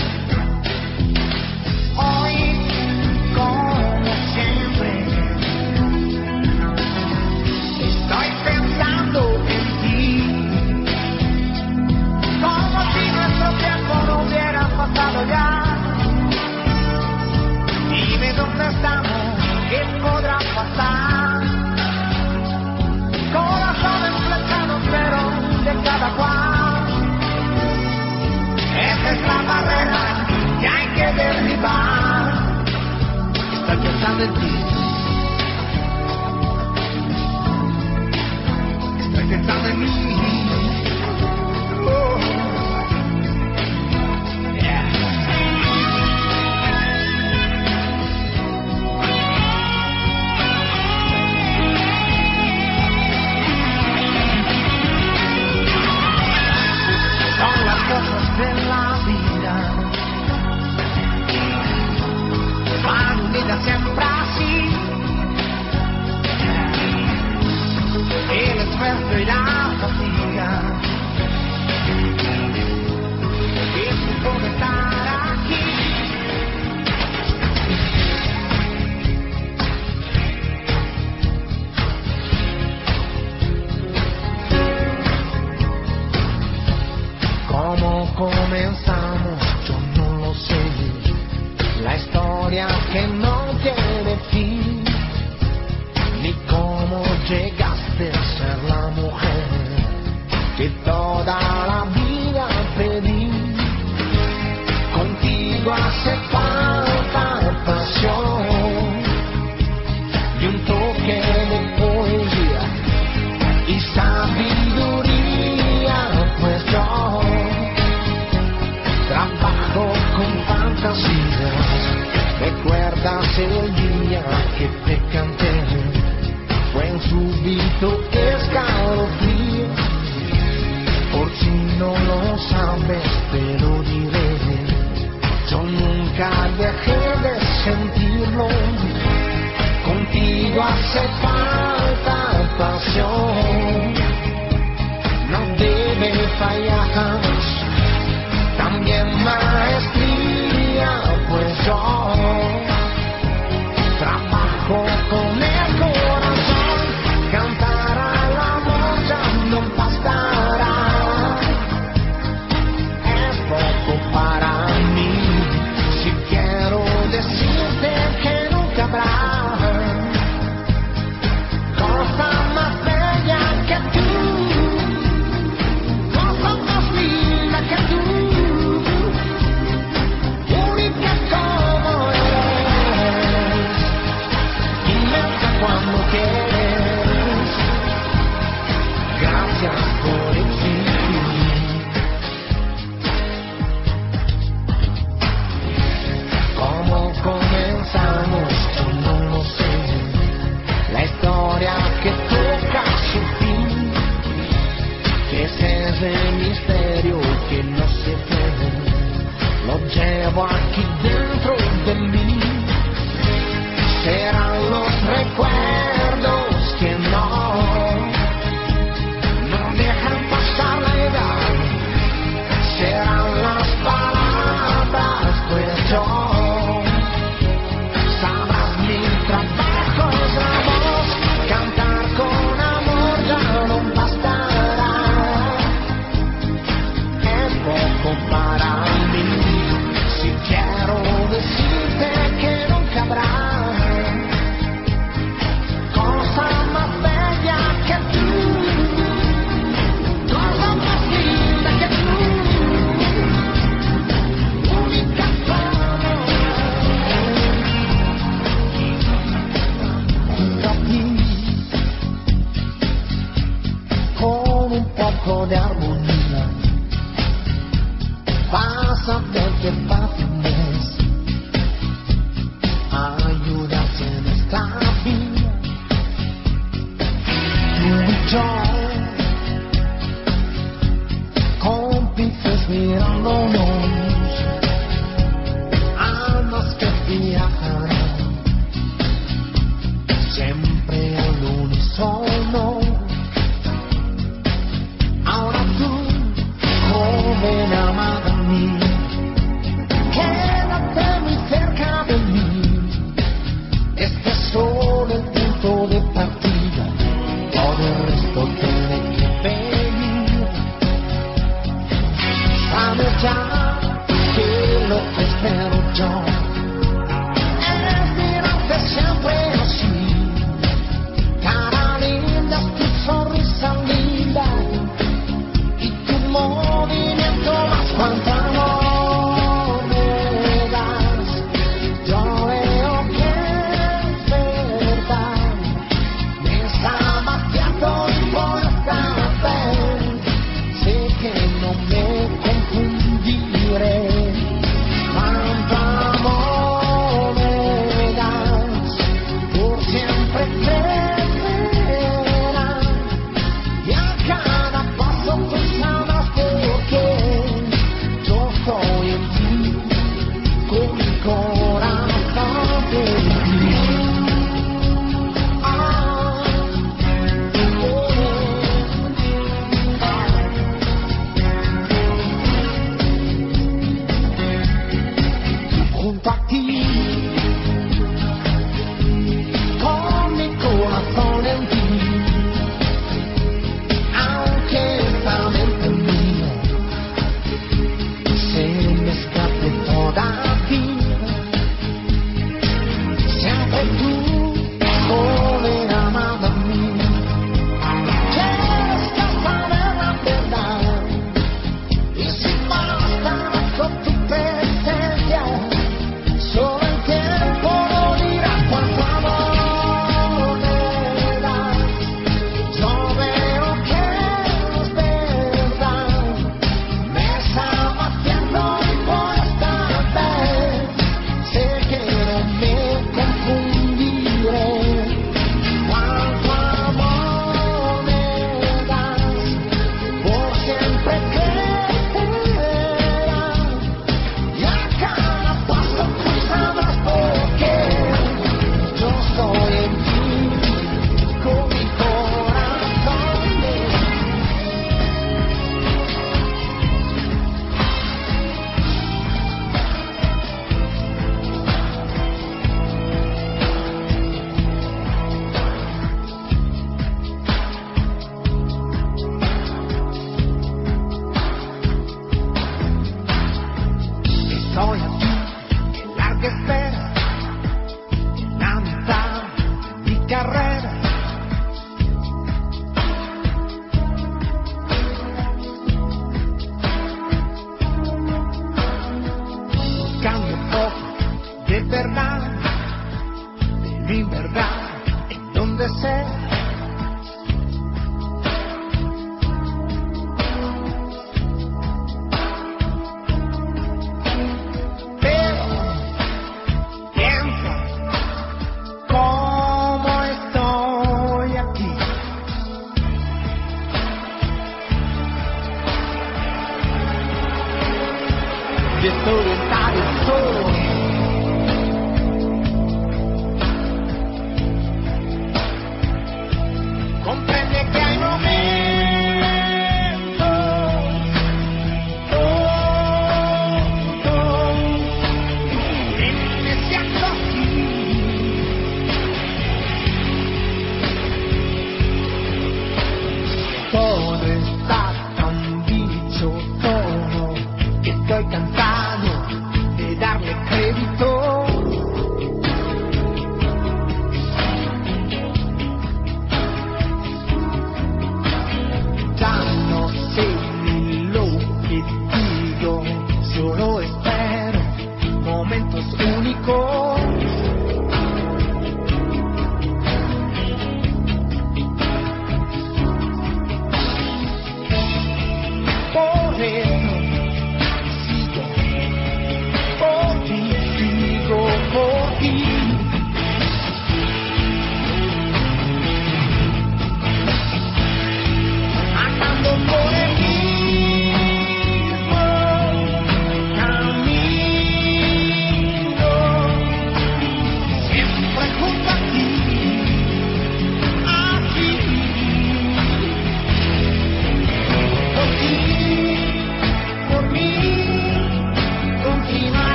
Hoy, como siempre, estoy pensando en ti, como si nuestro tiempo no hubiera pasado ya. Dime dónde estamos, qué podrá pasar. Corazones flechados, pero de cada cual. Esa es la barrera que hay que derribar. Estoy pensando en ti. Estoy pensando en mí. Oh. Yeah. Son las cosas de la vida, van unidas siempre así. El esfuerzo y la fatiga, el tiempo de estar aquí. ¿Cómo comenzamos? Yo no lo sé. La historia que no tiene fin, ni cómo llegaste a ser la mujer que toda la vida pedí. Contigo hace falta pasión y un toque de poesía y sabiduría, pues yo trabajo con fantasías. ¿Recuerdas el día que te canté? Fue un súbito escalofrío. Por si no lo sabes, te lo diré. Yo nunca dejé de sentirlo. Contigo hace falta pasión. No debe fallar. También maestría, pues yo trabajo con el corazón. Cantar al amor ya no bastará. Es poco para mí. Si quiero decirte que nunca habrá cosa más bella que tú, cosa más linda.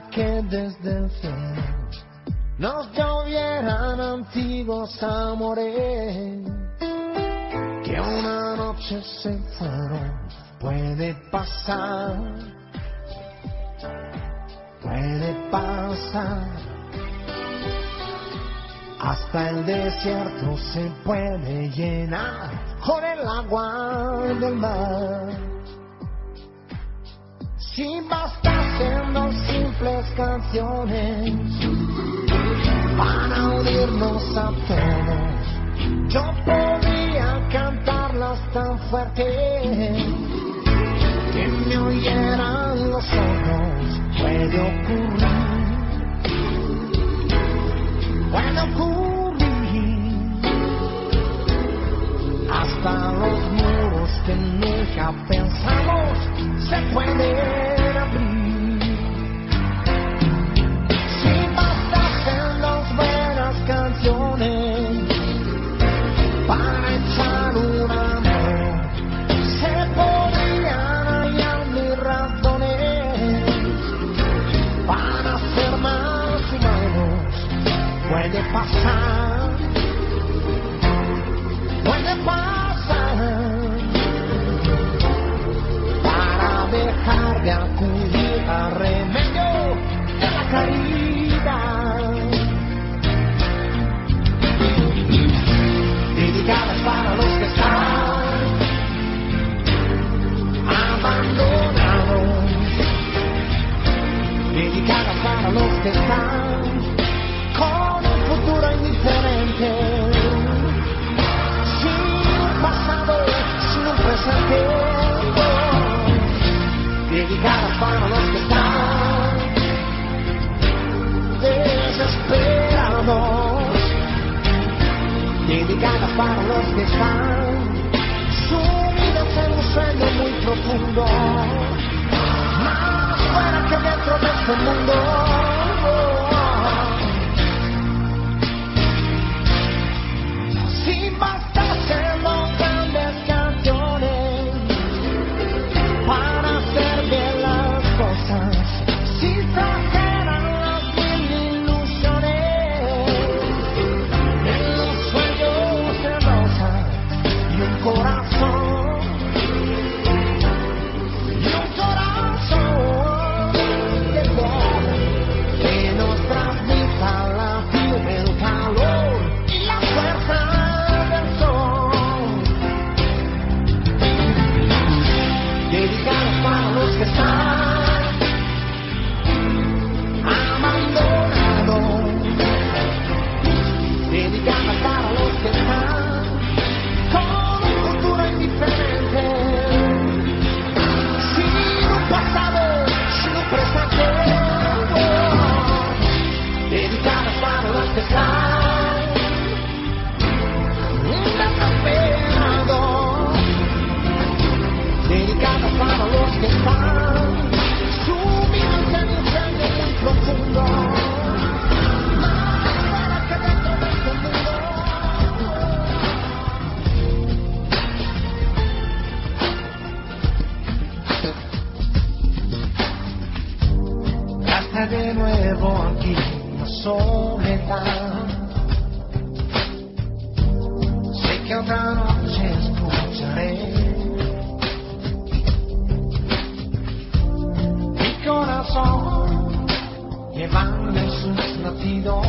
que desde el cielo nos llovieran antiguos amores que una noche se fueron. Puede pasar, puede pasar. Hasta el desierto se puede llenar con el agua del mar. Si bastasen dos simples canciones para unirnos a todos, yo podría cantarlas tan fuerte que me oyeran los ojos. Puede ocurrir, puede ocurrir. Hasta los muros que nunca pensamos se pueden abrir. Si bastasen dos buenas canciones para echar un amor, se podrían hallar mis razones para ser más humanos. Puede pasar, puede pasar, para dejar de acudir a remedio de la caridad. Dedicadas para los que están abandonados, dedicadas para los que están con un futuro indiferente, sin un pasado, sin un presente. Dedicadas para los que están desesperados, dedicadas para los que están sumidos en un sueño muy profundo, más fuera que dentro de este mundo. Si bastasen dos grandes canciones para hacer bien las cosas, si trajeran las mil ilusiones en los sueños de rosa y un corazón, y un corazón de voz que nos transmita la piel, el calor y la fuerza del sol. Dedicados para los que están abandonados, dedicadas para los que están con un futuro indiferente, sin un pasado, sin un presente. Dedicadas para los que están desesperados, dedicadas para los que están sumidos en un sueño muy profundo, más fuera que dentro de este mundo. Ya está de nuevo aquí la soledad. Sé que otra noche escucharé mi corazón llevando en sus latidos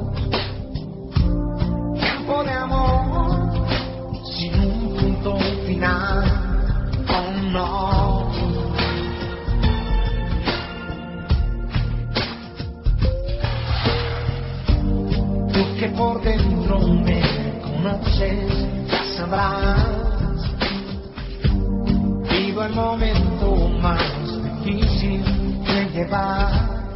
tiempo de amor sin un punto final. Oh no. Tú que por dentro me conoces, ya sabrás. Vivo el momento más difícil de llevar.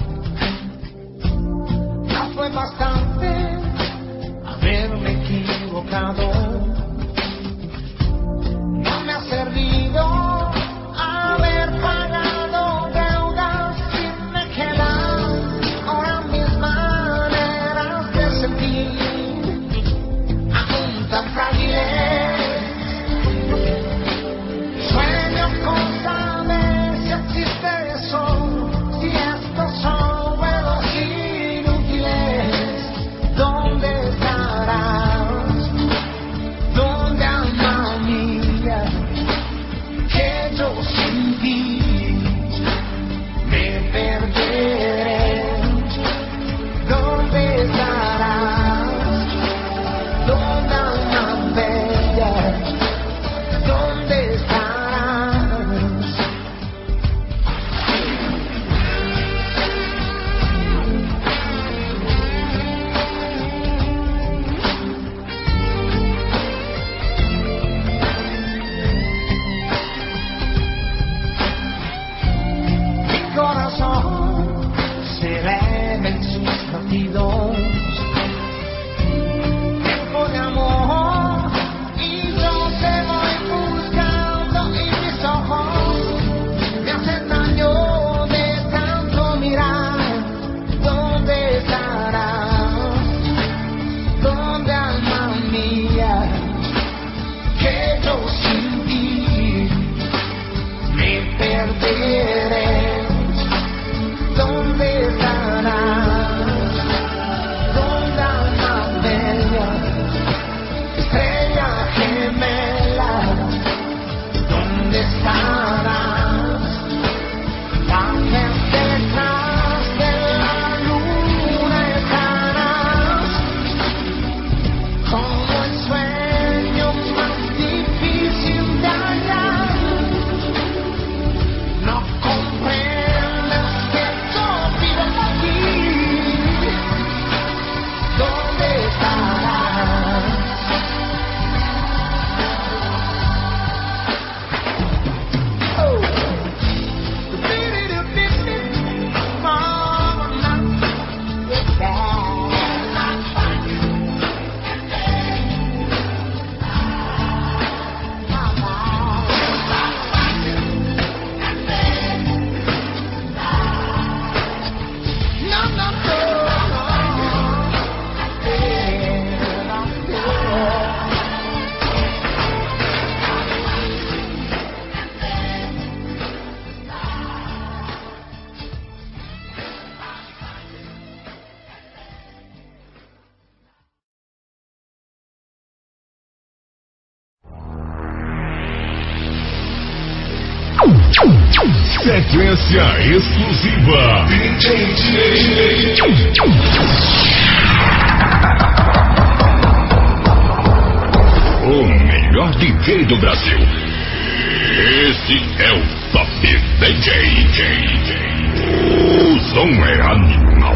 Ya fue bastante haberme equivocado. No me ha servido haber pagado deudas sin me quedan ahora mis maneras de sentir aún tan frágiles. Sueño con saber si existe eso, si estos son sentidos. Tiempo de amor y yo te voy buscando y mis ojos me hacen daño de tanto mirar. ¿Dónde estarás? ¿Dónde, alma mía? Que yo sin ti me perderé. ¿Dónde estarás? ¿Dónde, alma bella? Estrella gemela, ¿dónde estarás? También detrás de la luna estarás, como el sueño más difícil de hallar. No comprendes que yo vivo aquí. ¿Dónde estarás? Oh. Sequência exclusiva D J O melhor D J do Brasil. Esse é o Top D J. O som é animal.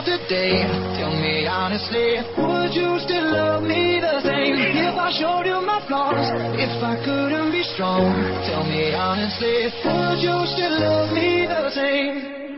of today. Tell me honestly, would you still love me the same if I showed you my flaws? If I couldn't be strong, tell me honestly, would you still love me the same?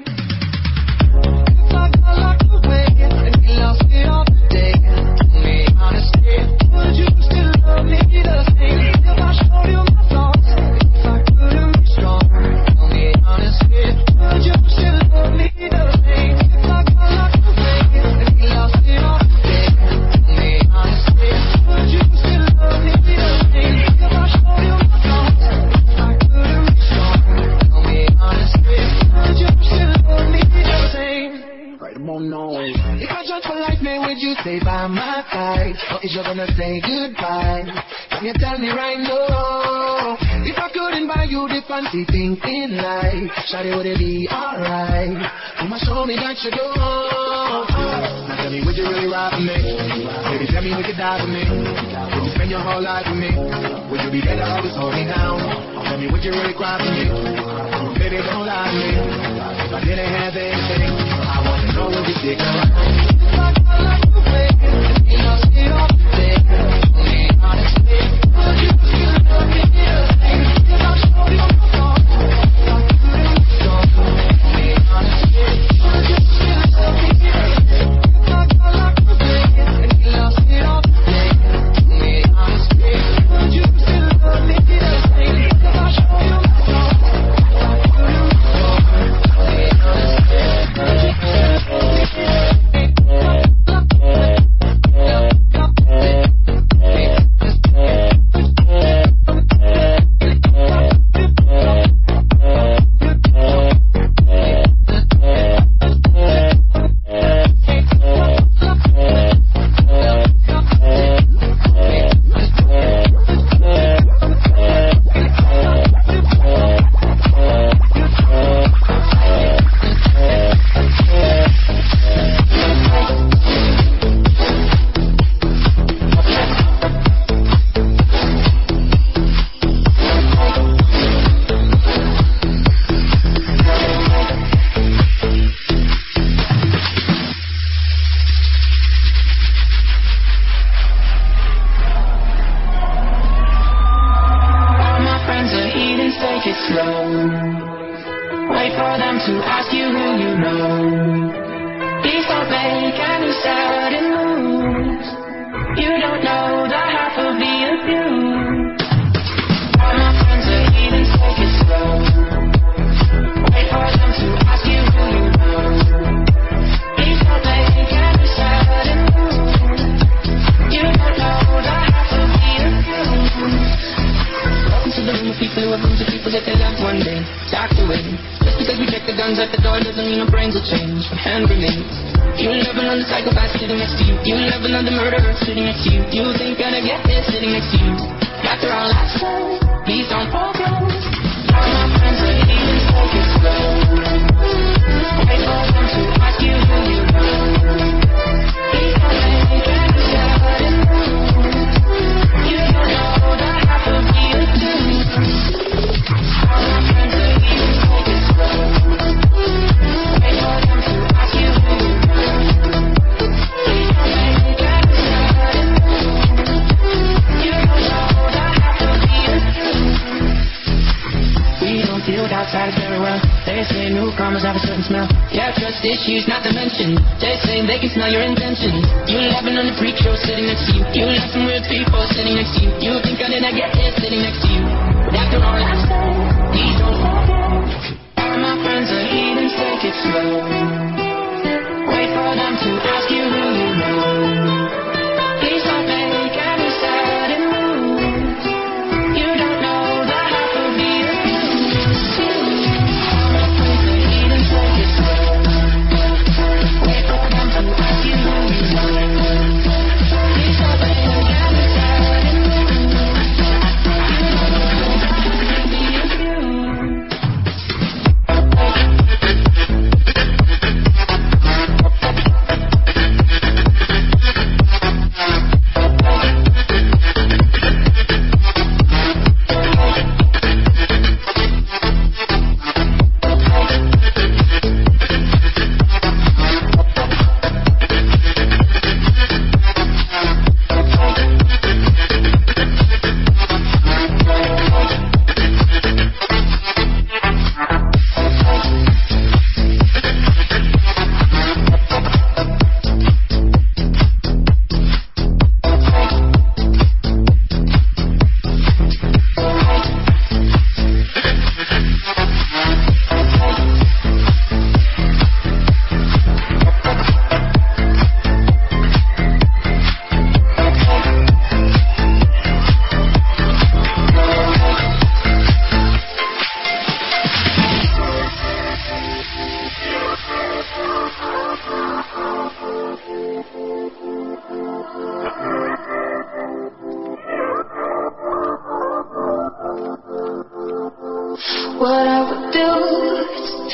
If I got locked away and we lost it all today, tell me honestly, would you still love me the same if I showed you my flaws? If I couldn't be strong, tell me honestly, would you still love me the same? If I got locked away and we lost it all today, tell me honestly, would you still love me the same if I showed you my flaws? If I couldn't be strong, tell me honestly, would you still love me the same? Right, I'm on no. If I judge for life, man, would you stay by my side? Or is you gonna say goodbye? Can you tell me right now? If I couldn't buy you the fancy thing in life, shawty, would it be alright? Mama, show me that you do. Now tell me, would you really ride for me? Baby, tell me, would you die for me? Would you spend your whole life with me? Would you be there to always hold me down? Tell me, would you really cry for me? Baby, don't lie to me. If I didn't have anything, I wanna know, would you stick around? If I got locked away and we lost it all today, tell me honestly, would you still love me the same if I showed you my flaws? If I couldn't be strong, tell me honestly, would you still love me the same if I got locked away and we lost it all today? Tell me honestly, would you still love me the same if I showed you my flaws? If I couldn't be strong, tell me honestly, would you still love me the same? Issues not to mention. They're saying they can smell your intentions. You laughing on the freak show sitting next to you. You love some weird people sitting next to you. You think I didn't get it sitting next to you. But after all I've said, please don't forget. All my friends are heathens, take it slow. Wait for them to ask you who you know. Please don't make any sudden moves. You don't know the half of the abuse. All my friends are heathens, take it slow.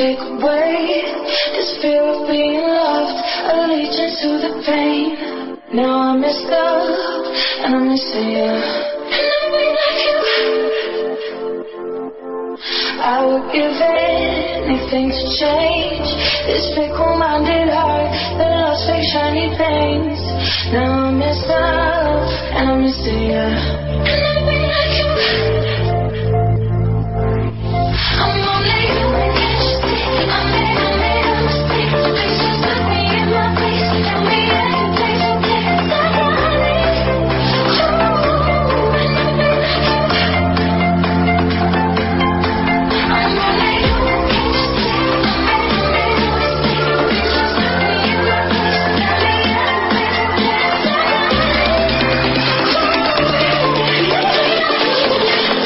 take away this fear of being loved, allegiance to the pain. Now I'm messed up and I'm missing you. And I'll be like you. I would give anything to change this fickle-minded heart that loves fake shiny things. Now I'm messed up and I'm missing you. And I'll be like you. I'm only human, can't you see? I made, I made a mistake. Please just put me in my place. Tell me I can take some things I gotta leave. Oh, and I'll be like you. I'm only human, can't you see? I made, I made a mistake. Please just put me in my place. Tell me I can take some things I gotta leave. Oh, yeah, yeah, yeah.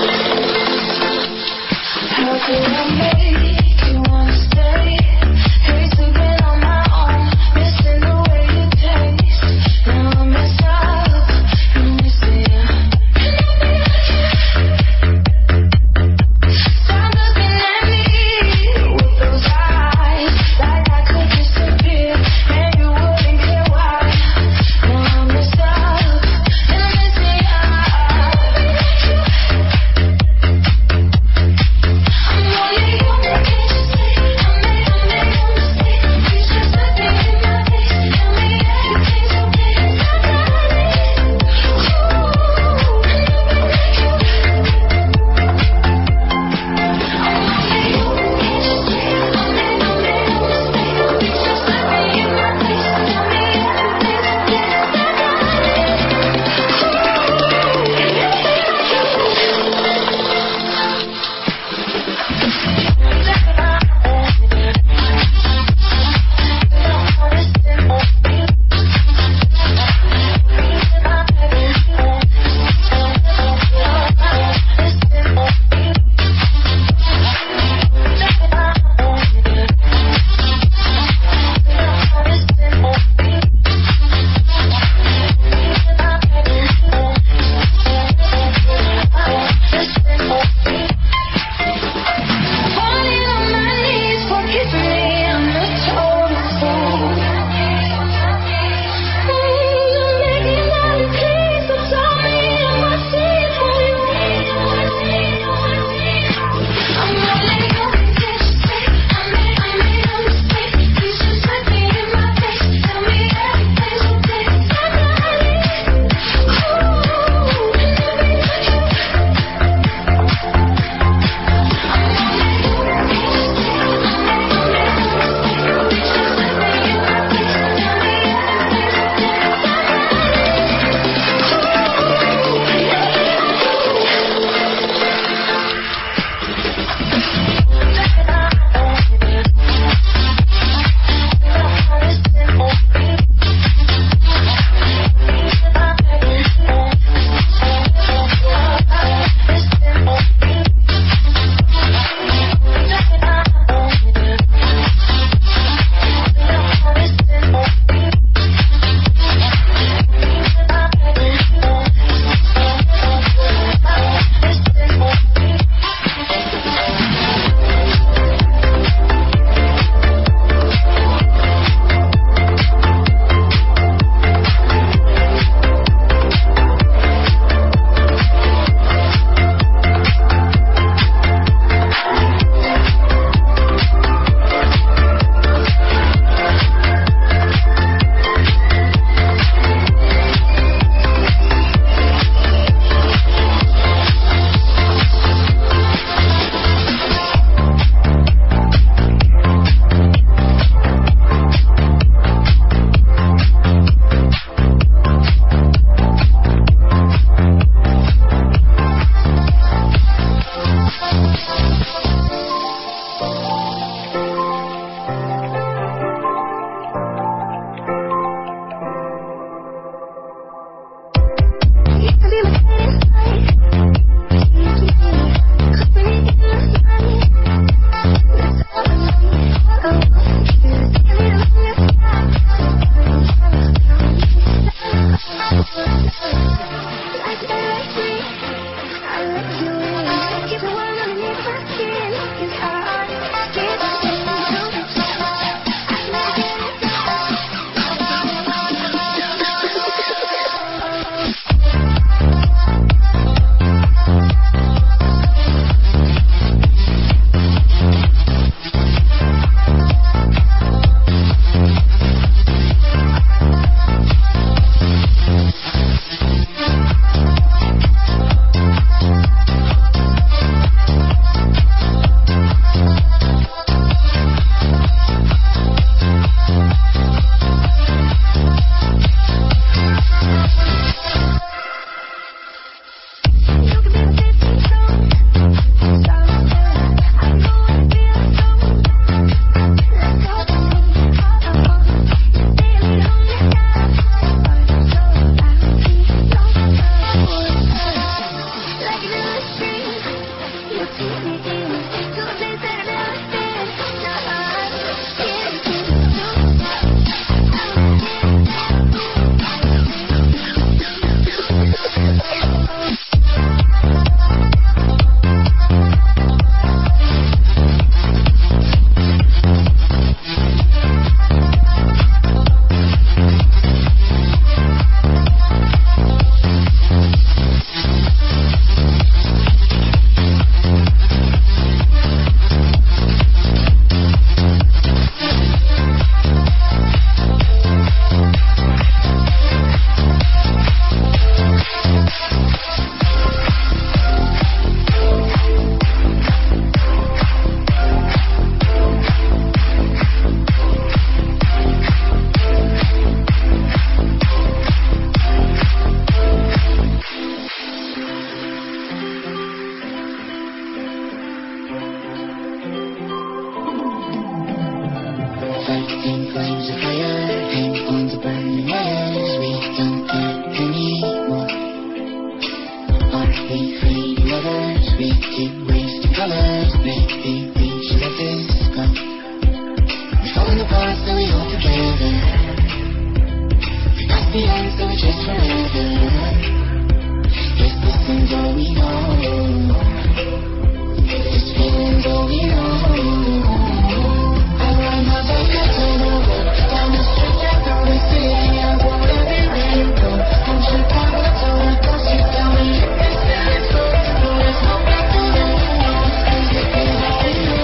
the end, so we chase forever. Yes, this is all we know. This feeling's all we know. I ride my bike up to the road, down the street, down through the city. I go everywhere you go. From Chicago to the coast, you tell me if this is so. So there's no back to the window, 'cause this is all we know.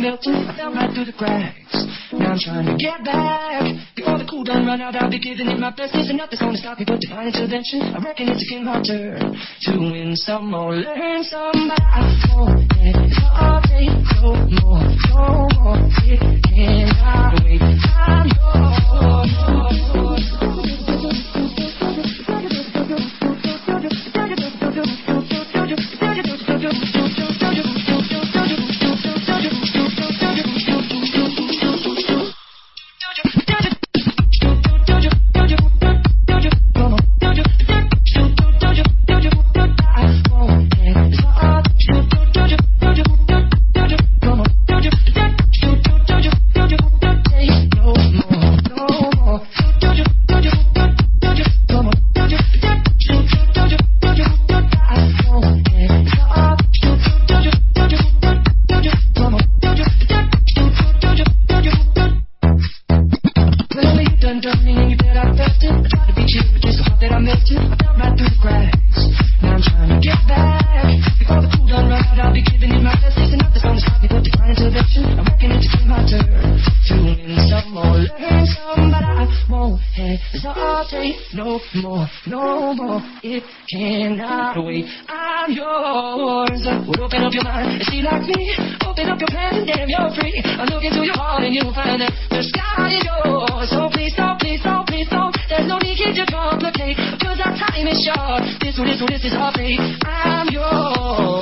melting, I fell right through the cracks. Now I'm trying to get back. Before the cool done run out, I'll be giving it my best. There's nothing's gonna stop me but divine intervention. I reckon it's again my turn to win some or learn some. But I won't hesitate no more, no more. It cannot wait. I'm yours. No more, no more, it cannot wait. I'm yours. Well, open up your mind and see like me. Open up your plans and damn, you're free. I look into your heart and you'll find that the sky is yours. So please don't, please don't, please don't. There's no need to complicate, cause our time is short. This one, this one, this is our fate. I'm yours.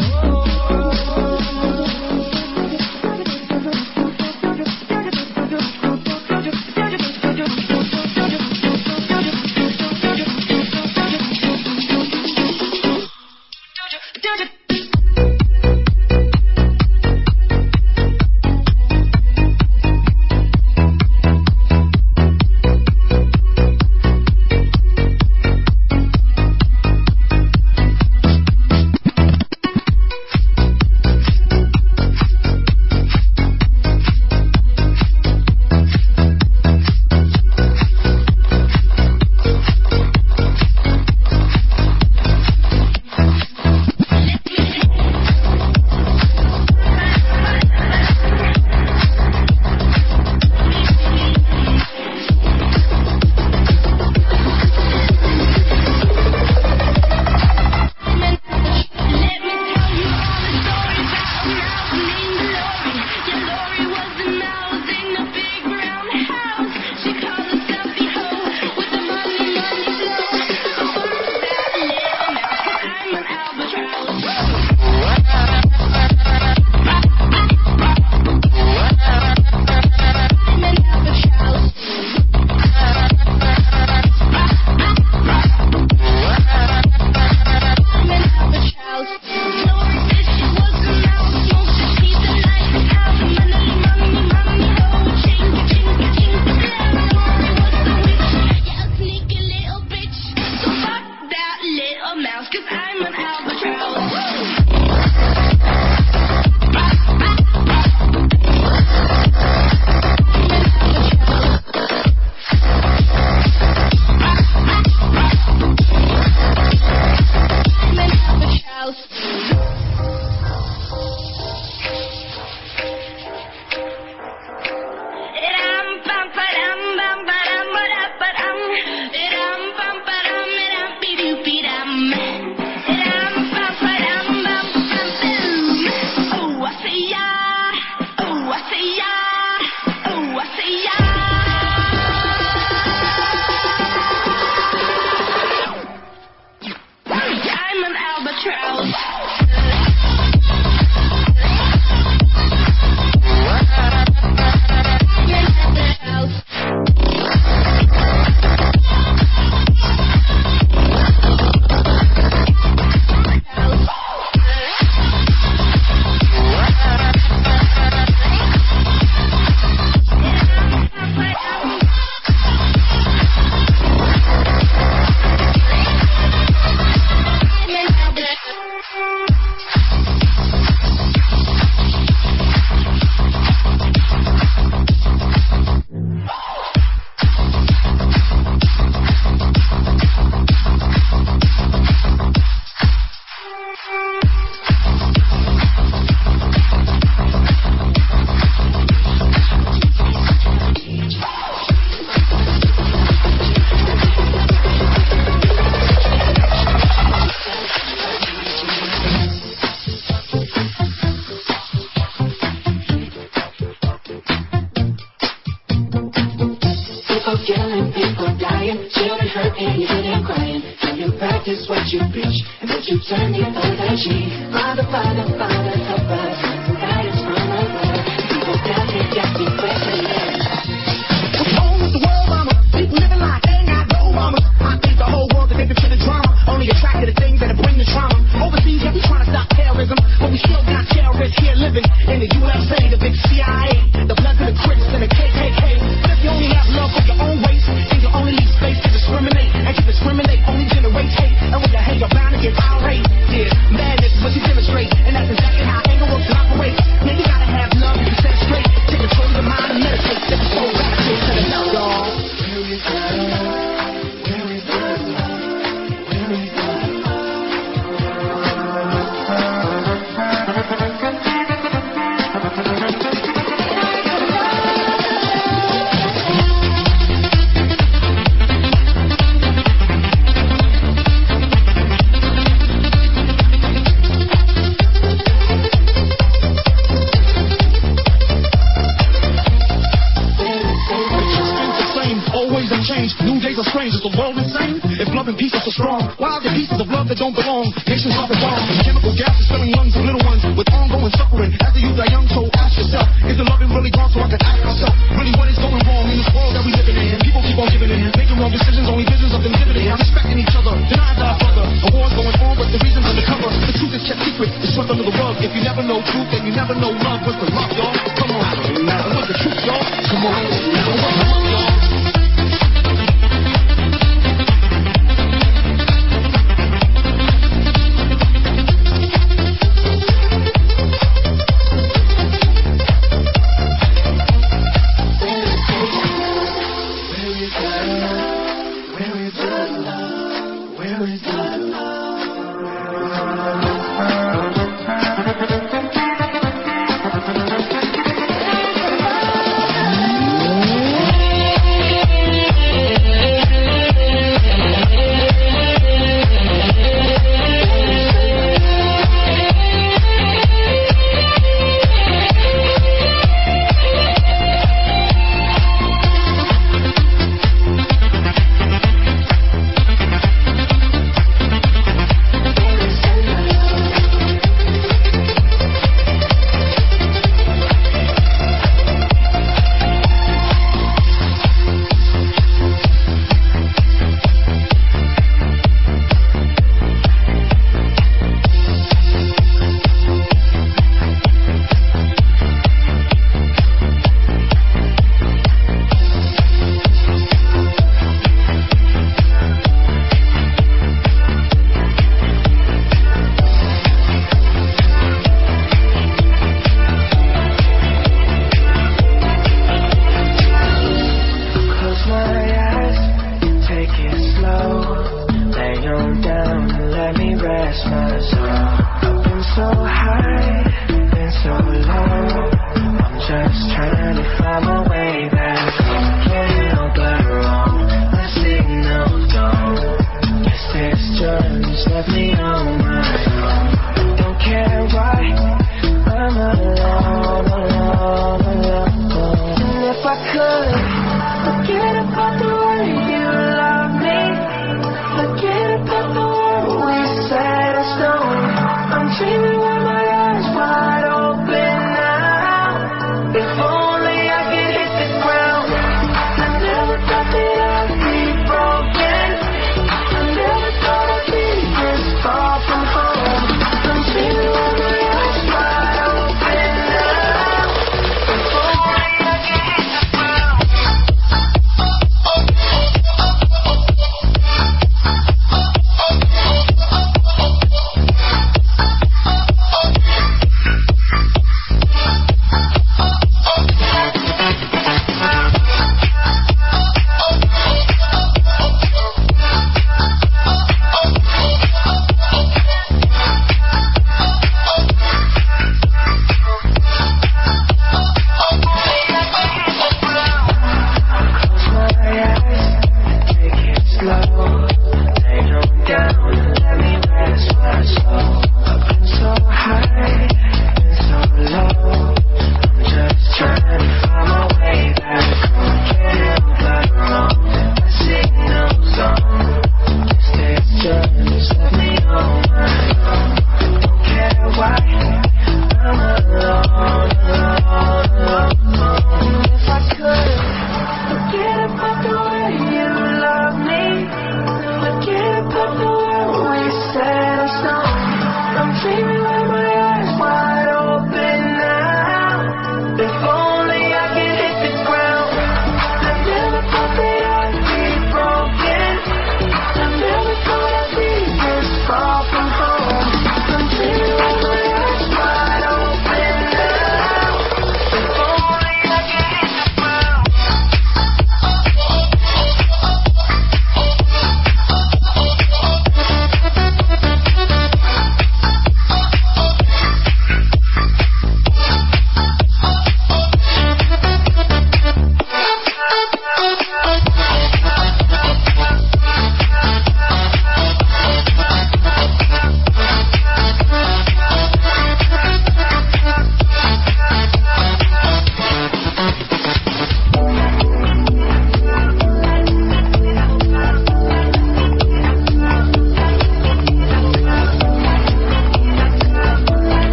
Innocent people dying, children hurt and you hear them crying. Can you practice what you preach and would you turn the other cheek? Father, Father, Father, help us. Some guidance from above. People down here got me questioning. What's wrong with the world, mama? People living like they ain't got no mama. I think the whole world is addicted to the drama. Only attracted to things that bring the trauma. Overseas, yeah, we trying to stop terrorism, but we still got terrorists here living in the U S A, the big C I A, the Bloods and the Crips and the K K K. But if you only have love for your own race, then you only leave space to discriminate. And to discriminate only generates hate. And when you hate, you're bound to get irate. Yeah, madness is what you demonstrate, and that's exactly how anger works and operates. Now you gotta have love to set straight. Take control of your mind and meditate. Let the soul back to the love, y'all. Where is the love? Where is the love? Where is the love? New days are strange, is the world insane? If love and peace are so strong, why are there pieces of love that don't belong? Nations are bombs, chemical gases filling lungs of little ones with ongoing suffering. As the youth are young, so ask yourself, is the loving really gone? So I can ask myself, really what is going wrong in this world that we living in? People keep on giving in, making wrong decisions, only visions of them dividend. Respecting each other, denying our brother. A war's going on, but the reason's undercover. The truth is kept secret, it's swept under the rug. If you never know truth, then you never know love. What's the love, y'all? Come on, now what's the truth, y'all? Come on, now what's the love, y'all?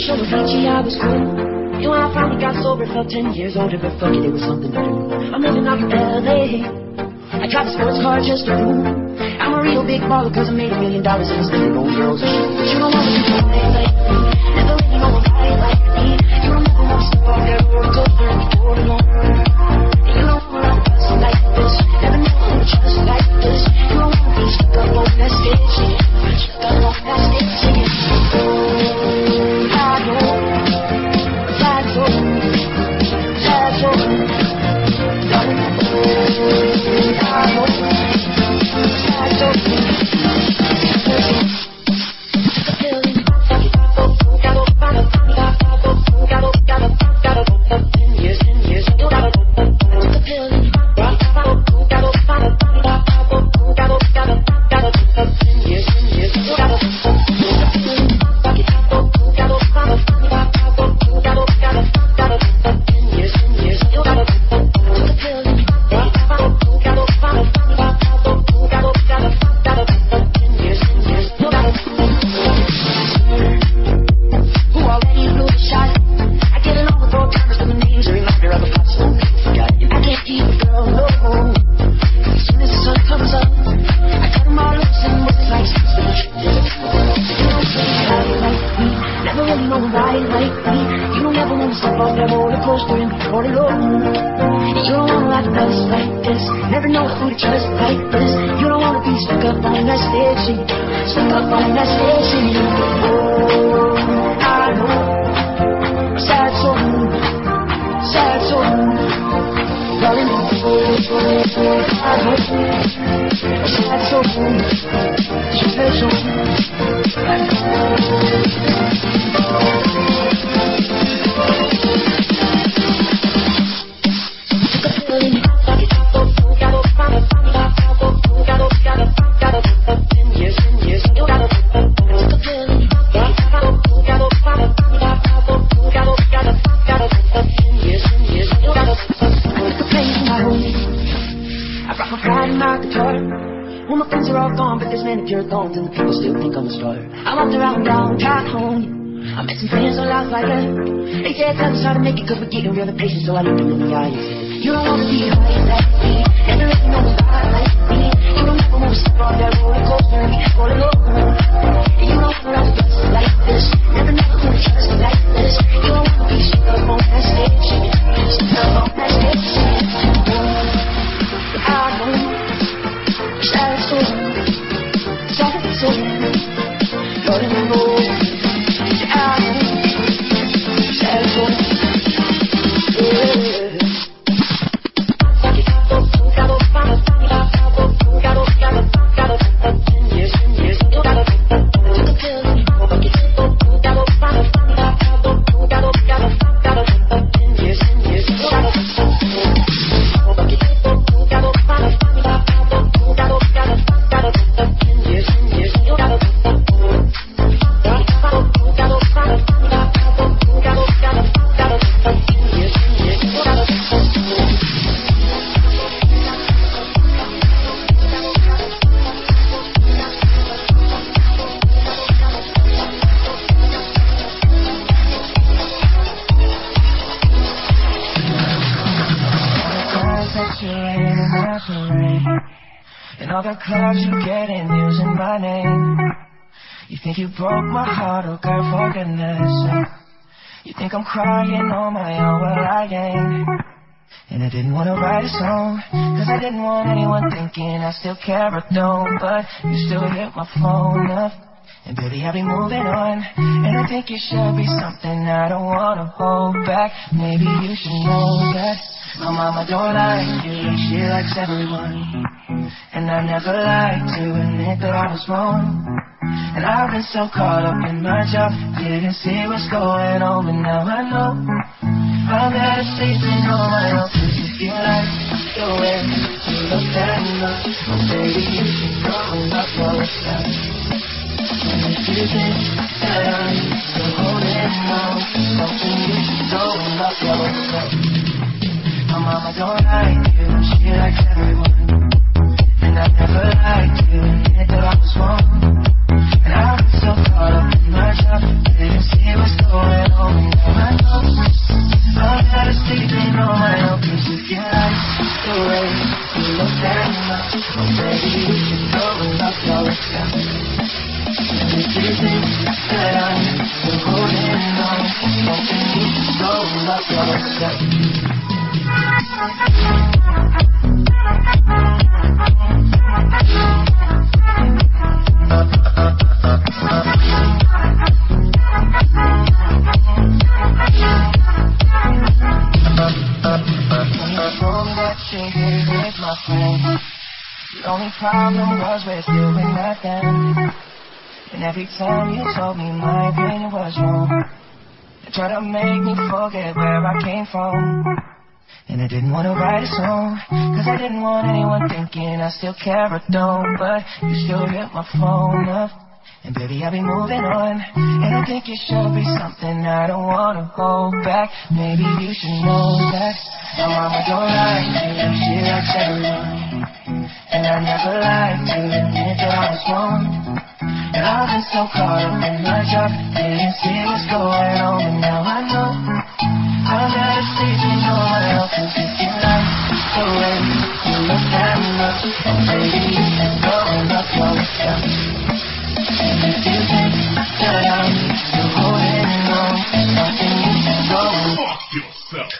show was peachy, I was cool. And when I finally got sober, felt ten years older, but fuck it, it was something to do. I'm living out in L A. I drive a sports car just to prove I'm a real big baller, cause I made a million dollars and spend it on girls and shit. But you don't wanna be fine like me, never really know a guy like me. You don't never wanna step off that roller coaster and be bored alone. And you don't wanna ride a bus like this, never know who to trust like this. You don't wanna be stuck up on that stage singing, stuck up on that stage singing. Oh, I know. Sad soul, sad soul, darling. I know, sad soul, sad soul. Took a pill and fuck it, gotta find a, gotta, gotta, gotta, gotta, ten years, ten years, gotta. Took a pill and gotta find a, gotta, gotta, gotta, ten years, ten years, gotta. Took a pill and fuck it, gotta find a. Cause we're getting real impatient, so I looked him in the eye and said, you don't wanna be high like me, and there ain't no guy like me. You don't ever wanna step on that roller coaster and be all alone. And you don't wanna ride the bus like this, never know who to trust like this. You don't wanna be stuck up on that stage singing, stuck up on that stage singing. I know, sad soul, sad soul, Lord in the road. I know, sad soul. Clubs you get in using my name. You think you broke my heart, oh girl, for goodness sake. You think I'm crying on my own, well I ain't. And I didn't wanna write a song, cause I didn't want anyone thinking I still care or don't. But you still hit my phone up, and baby I'll be moving on. And I think it should be something I don't wanna hold back. Maybe you should know that my mama don't like you, she likes everyone. And I never liked to admit that I was wrong. And I've been so caught up in my job, didn't see what's going on, but now I know I'm better sleeping on my own. Cause if you like the way you look that much, oh baby you should go and up yourself. And if you think that I'm still holding on to something, you should go and up yourself. My mama don't like you, she likes everyone. And I never liked you, admit that I was wrong. And I've been so caught up in my job, didn't see what's going The only problem was we're still in that then. And every time you told me my opinion was wrong, you tried to make me forget where I came from. And I didn't want to write a song, cause I didn't want anyone thinking I still care or don't. But you still hit my phone up, and baby I'll be moving on. And I think it should be something I don't want to hold back. Maybe you should know that my mama don't like you, she likes everyone. And I never lied to admit that I was wrong. And I've been so caught up in my job, didn't see what's going on. But now I know I'll never see you no one else. Cause if you like the way you look at me, and baby you can go and love yourself. And if you think that I'm still holding on to something, you should go and fuck yourself.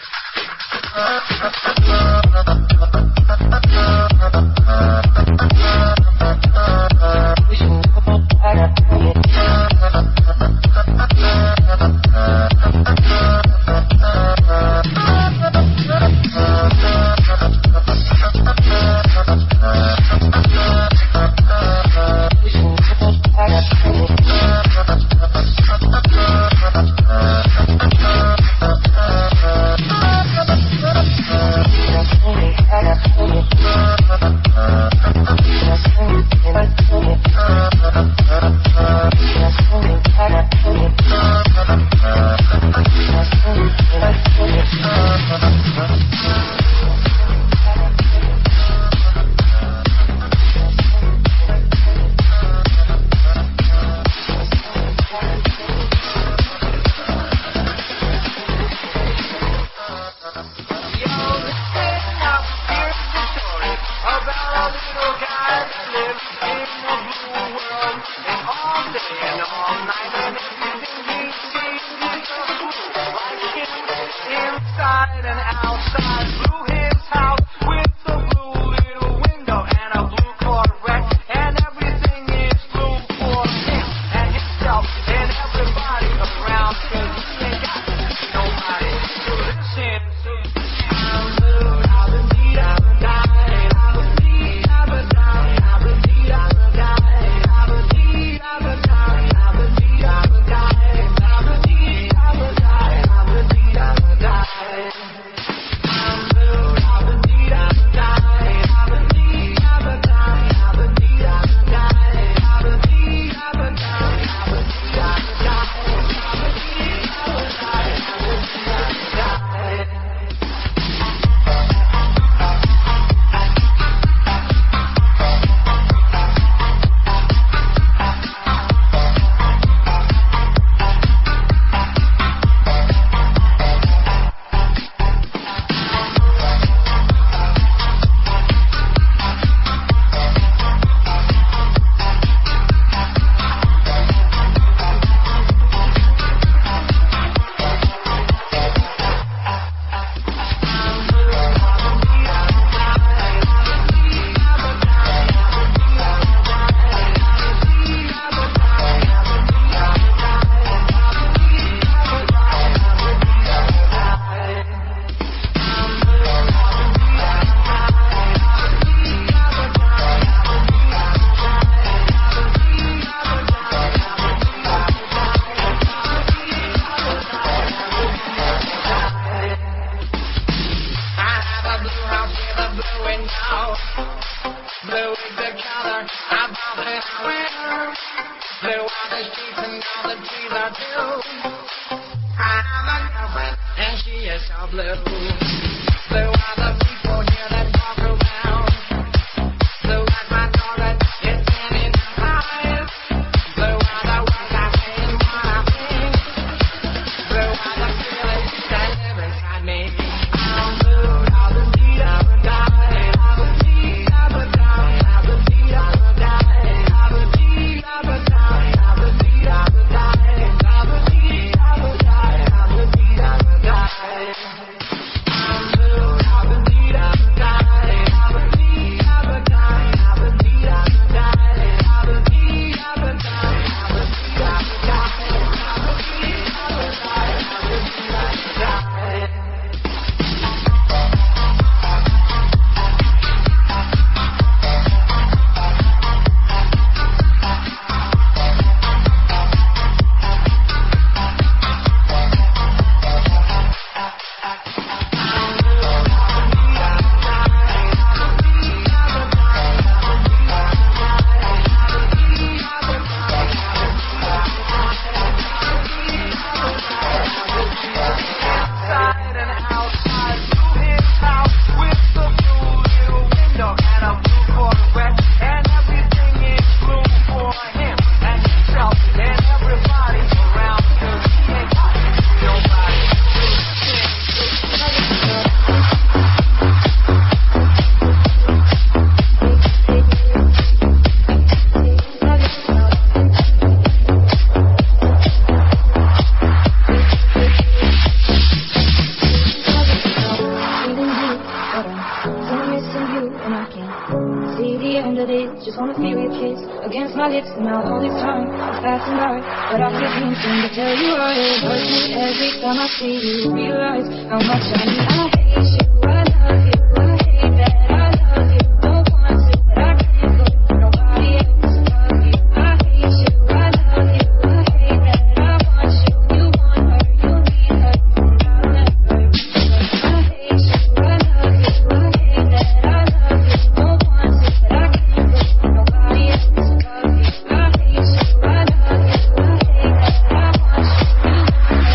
just wanna feel your kiss against my lips, and now all this time is passing by, but I can't seem to tell you why it hurts me every time I see you. Realize how much I need. I hate you, I love you, I hate that I love you. Don't want to, but I can't put nobody else above you. I hate you, I love you, I hate that I want you. You want her, you need her, and I'll never be her. I hate you, I love you, I hate that I love you. Don't want to, but I can't put nobody else above you. I hate you, I love you, I hate that I want you. You want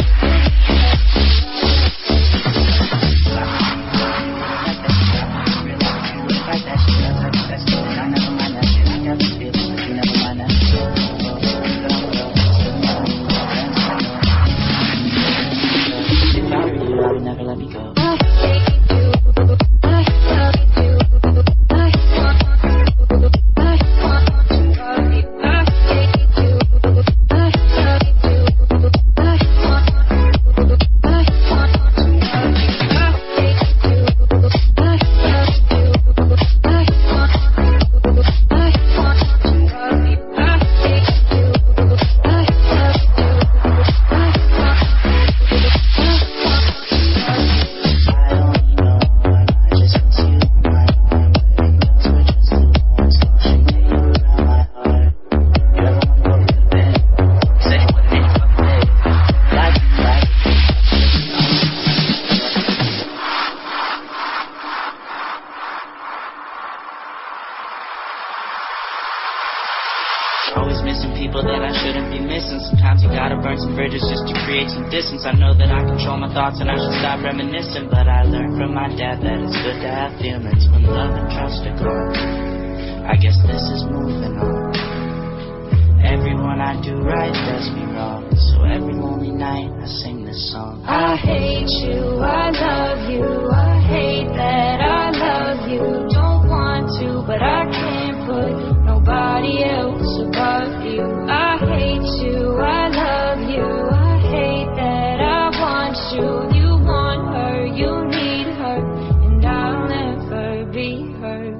I know that I control my thoughts and I should stop reminiscing, but I learned from my dad that it's good to have feelings when love and trust are gone. I guess this is moving on. Everyone I do right does me wrong, so every lonely night I sing this song. I hate you, I love you, I hate that I love you. Don't want to, but I can't put nobody else above you. I hate you, I love you, I hate that I want you. You want her, you need her, and I'll never be her.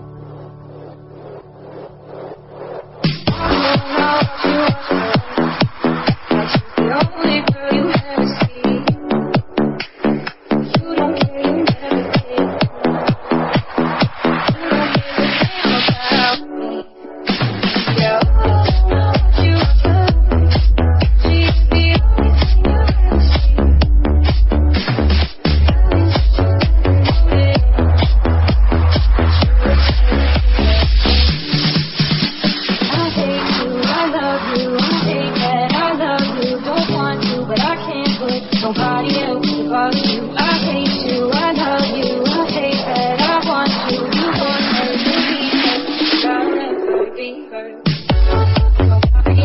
I don't know what you want, but you're the only girl you ever see. You don't care, you never did. You don't give a damn about me. Yeah, I don't know what you want. She's the only thing you ever see. I hate you, I love you, I hate that I love you. Don't want to, but I can't put nobody else above you. I hate you, I love you, I hate that I want you. You want her, you need her, but I'll never be her. Nobody.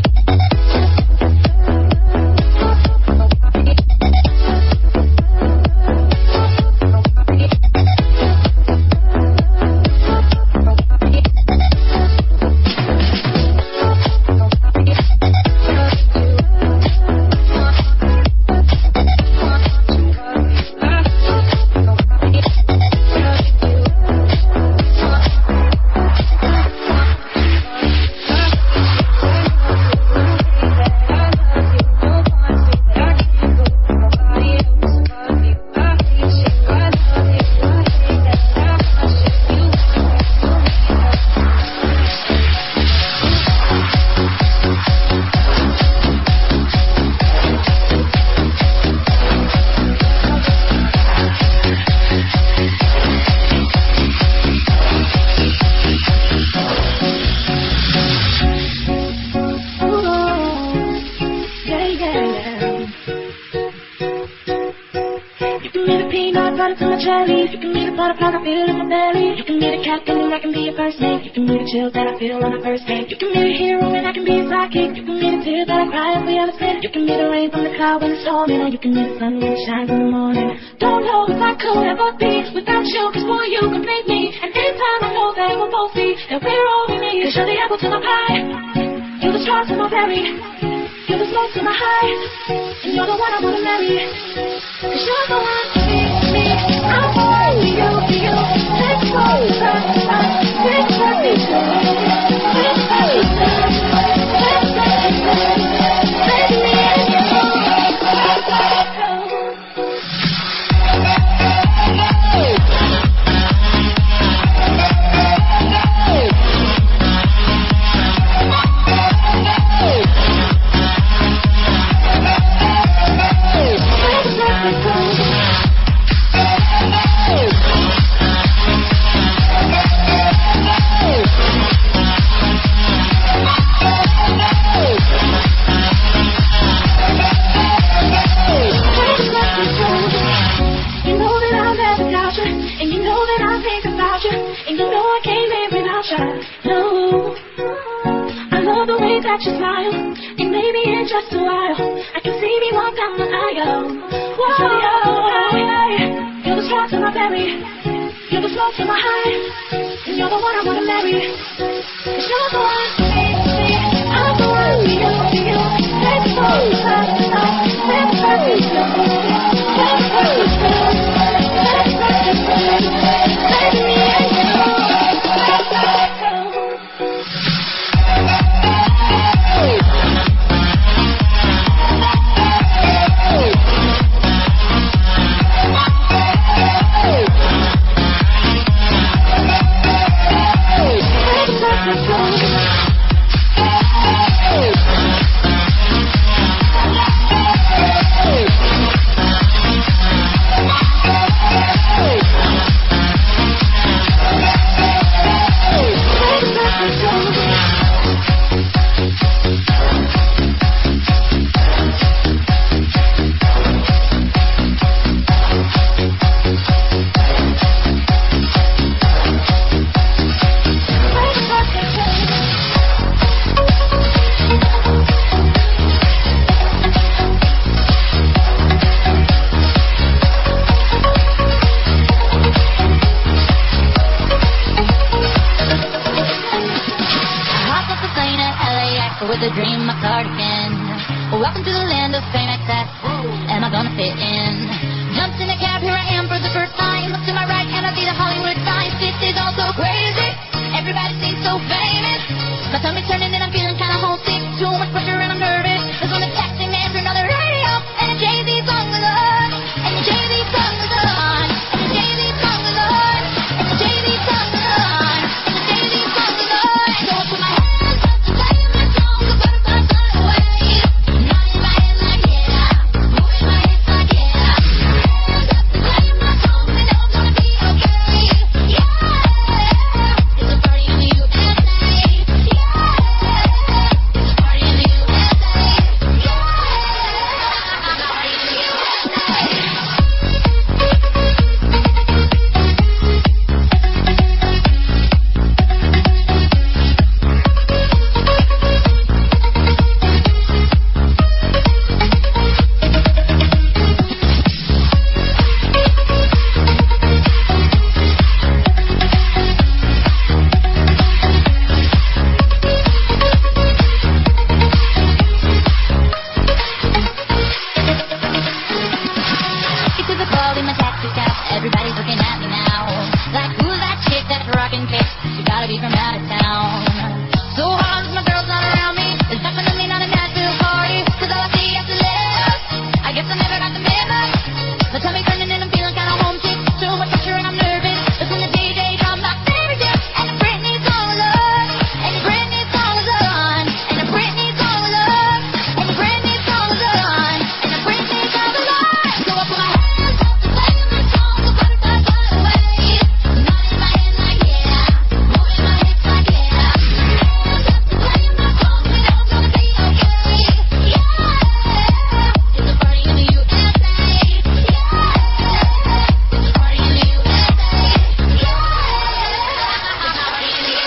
You can be the butterfly I feel in my belly. You can be the captain and I can be your first mate. You can be the chills that I feel on the first date. You can be the hero and I can be a sidekick. You can be the tears that I cry if we ever split. You can be the rain from the cloud when it's storming, or you can be the sun when it shines in the morning. Don't know if I could ever be without you, cause boy you complete me. And anytime I know that we'll both see that we're all we need. Cause you're the apple to my pie, you're the straw to my berry, you're the smoke to my high, and you're the one I wanna marry. Cause you're the one to be me. I want you, you, let's go, let's go, let's go, let's go. try. No, I love the way that you smile, and maybe in just a while I can see me walk down the aisle. Whoa, you're the straw to my berry, you're the smoke to my high, and you're the one I wanna marry. 'Cause you're the one for me, I'm the one for you, for you. Let's go, let's go, let's go, let's go, let's go, let's go, let's go, let me and you, let's go, let's go. With a dream, my cardigan. Welcome to the land of fame excess. Am I gonna fit in? Jumped in a cab, here I am for the first time. Look to my right and I see the Hollywood signs. This is all so crazy. Everybody seems so famous. My tummy's turning and I'm feeling kinda homesick. Too much pressure and I'm nervous. There's one that's texting me after another radio. And a Jay-Z song was on. And a Jay-Z song was on. And a Jay-Z song was on. And a Jay-Z song was on. And a Jay-Z song was on. So I put my hands up to play my song. The butterflies fly away. Nodding my head like yeah. Moving my hips like yeah. Hands up to play my song. We know it's gonna be okay. Yeah. It's a party in the U S A. Yeah. It's a party in the U S A. Yeah. It's a party in the U S A. Get to the club in my taxi cab. Everybody's looking at me now. Like, who's that chick that's rockin' kicks? She gotta be from out of town. So hard, my girl's not around me. It's definitely not a Nashville party. 'Cause all I see is the left. I guess I never got the memo. My tummy's turning and I'm feeling kinda homesick. Too much pressure and I'm nervous. Listen to D J drum my favorite tune. And a Britney song was on. And a Britney song was on. And a Britney song was on. And a Britney song was on. And a Britney song was on. So I put my hands up to play my song. The butterflies fly away. Nodding my head like yeah. Moving my hips like yeah. Hands up to play my song. We know it's gonna be okay. Yeah. It's a party in the U S A. Yeah. It's a party in the U S A. Yeah. It's a party in the U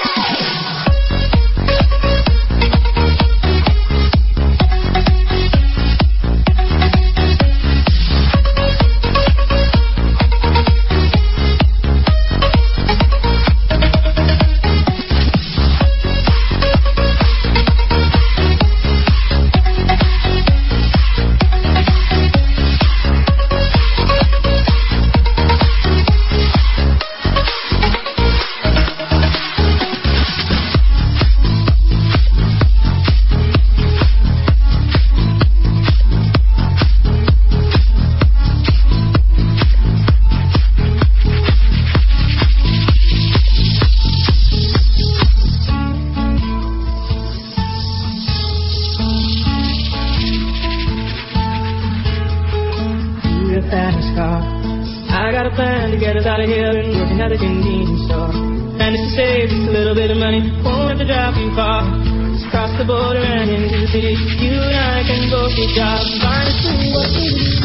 I got a plan to get us out of here and working at a convenience store. And it's to save just a little bit of money, won't have to drive too far. Just cross the border and into the city. You and I can both get jobs and find us what we need.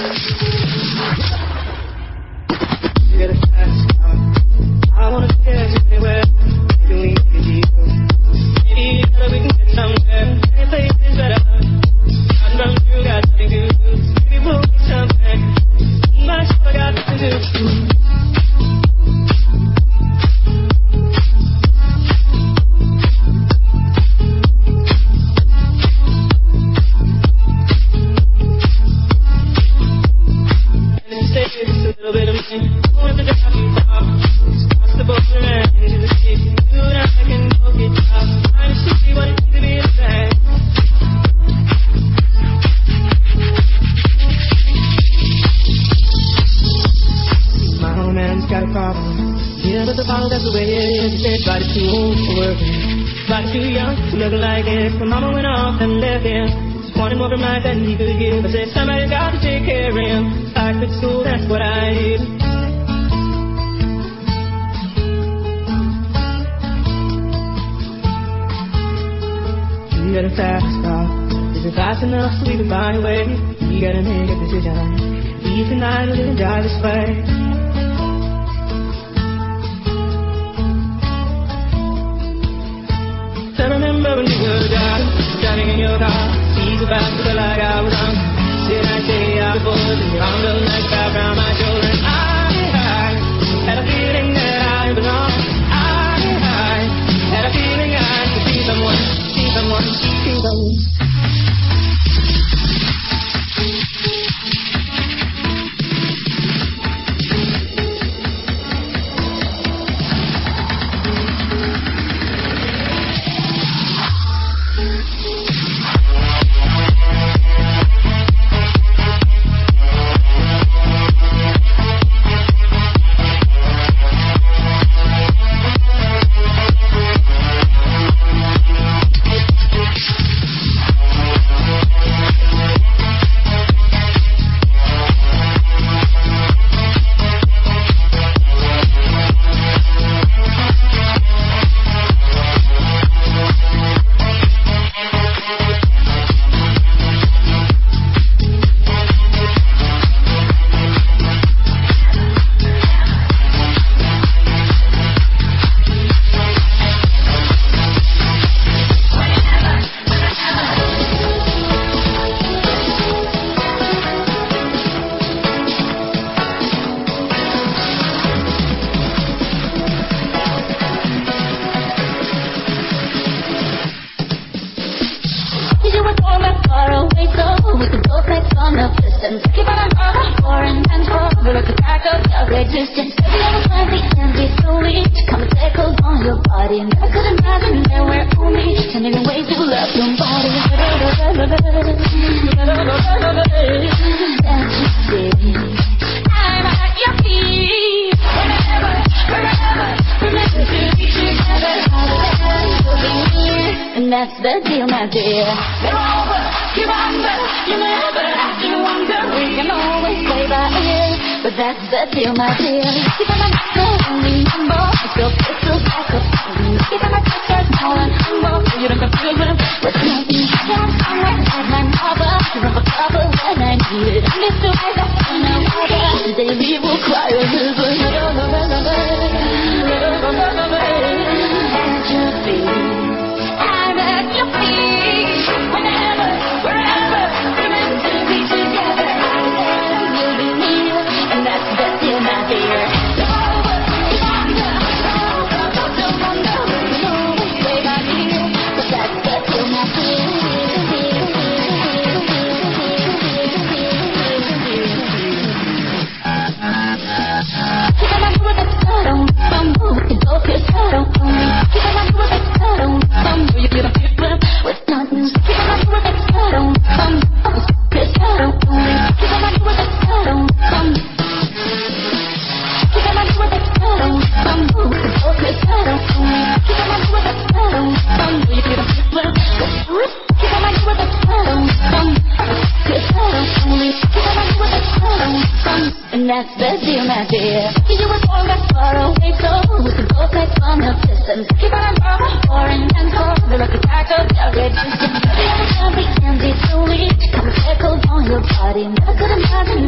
Body, I could imagine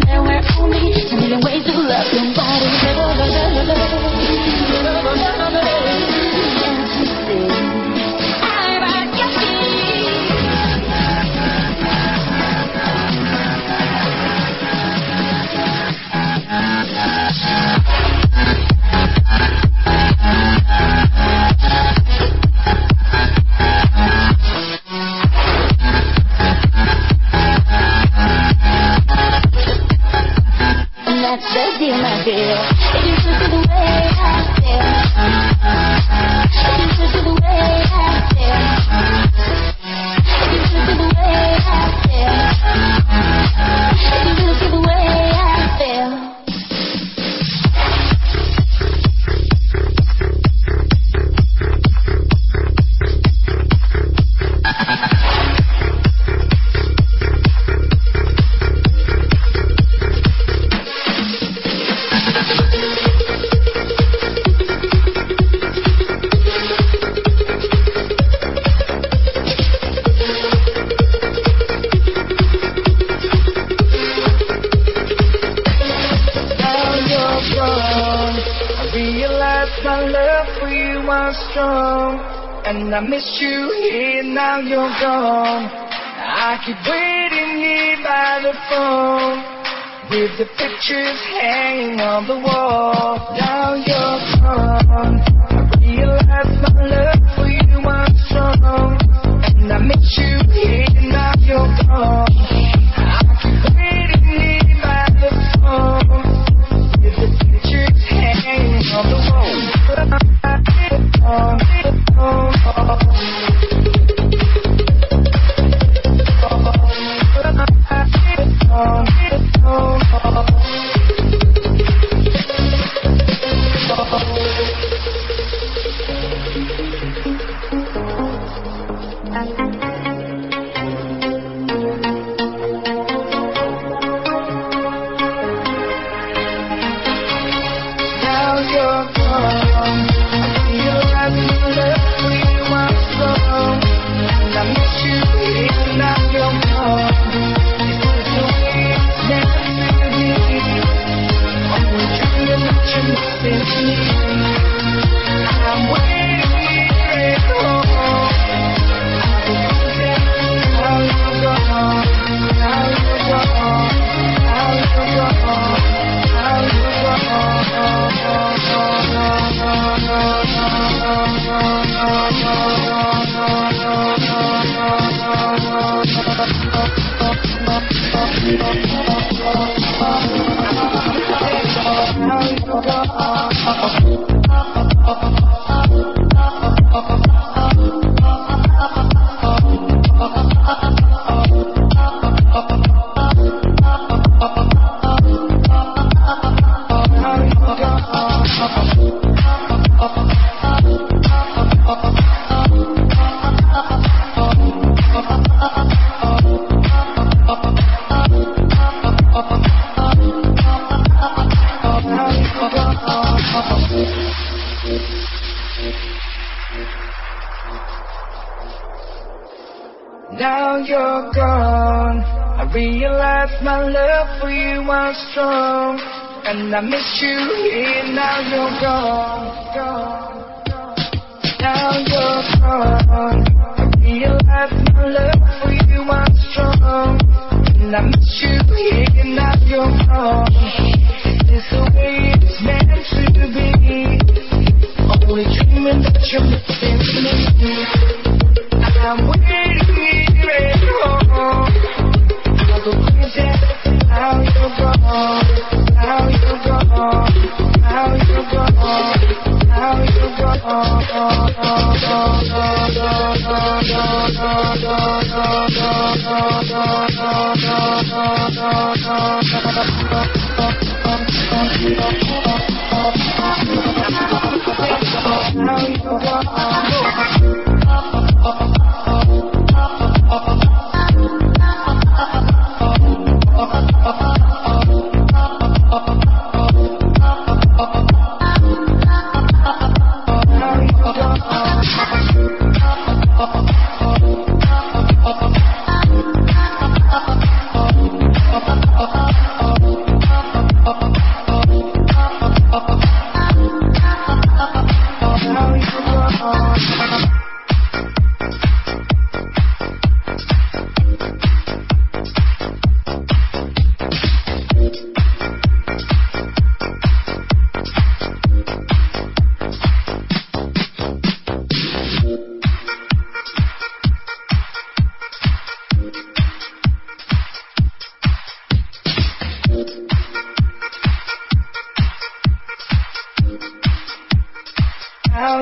fool me. A million ways to love somebody. That's the deal, my dear. If you took it the way I feel, if you took it the way I feel, if you took it the way I feel, if you took it the way I feel. My love for you was strong, and I miss you here, now you're gone. I keep waiting here by the phone, with the pictures hanging on the wall. Now you're gone, I realize my love for you was strong, and I miss you here, now you're gone. I keep waiting here by the phone, with the pictures hanging on the wall. Oh, oh, oh, oh. Now you're gone. Now you're gone. I realize my love for you was strong, and I miss you here. Now you're gone, gone, gone. Now you're gone. I realize my love for you was strong, and I miss you here. Now you're gone. Is this the way it's meant to be? Only dreaming that you're missing me. I'm waiting here at home. All the ways that how you're gone, how you're gone, how you're gone, how you're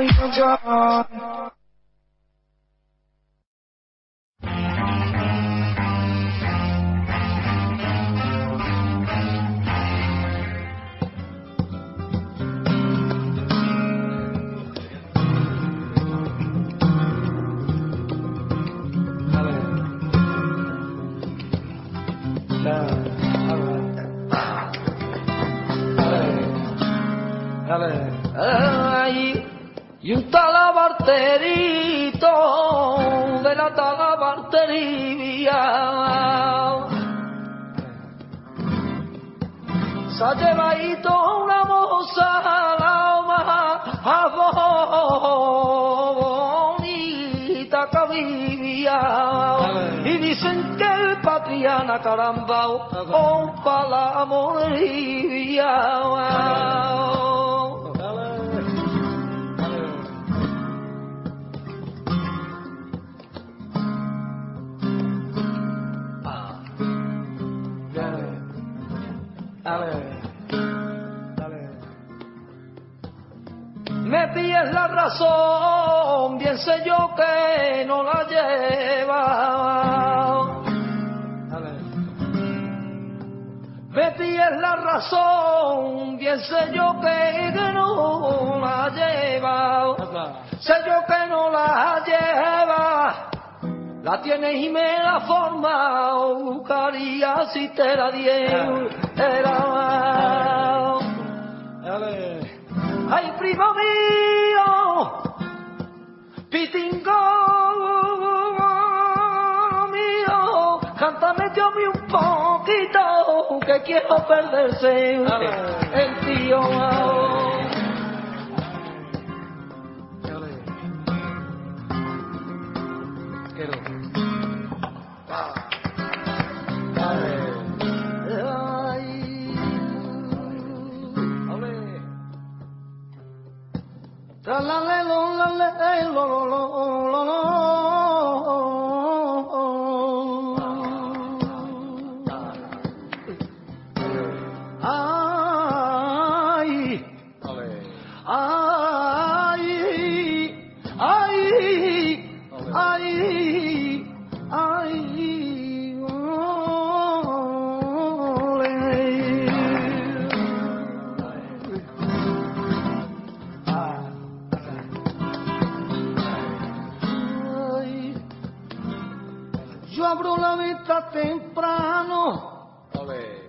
before you're gone. Ay, y un talabarterito de la talabartería se ha llevado una moza a la más bonita que vivía y dicen que el patriana caramba con la moría. Me pides la razón, bien sé yo que no la lleva. Me pides la razón, bien sé yo que no la lleva. Sé yo que no la lleva. La tienes y me la forma, buscaría si te la diera. Ay, primo mío, pitingo mío, cántame yo un poquito, que quiero perderse el tío. La la la la la la la la. Ay, ay, ay, ay, ay. Yo abro la venta temprano, Olé.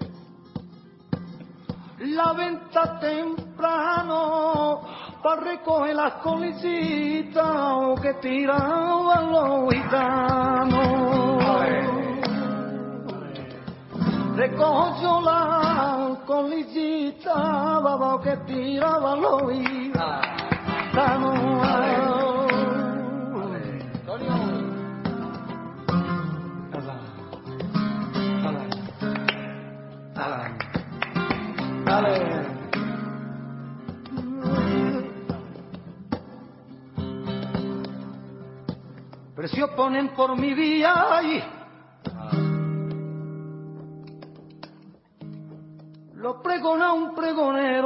La venta temprano, para recoger las colicitas que tiraban los gitanos. Olé. Recojo yo las colicitas que tiraban los gitanos. Precio ponen por mi vía y lo pregona un pregonero.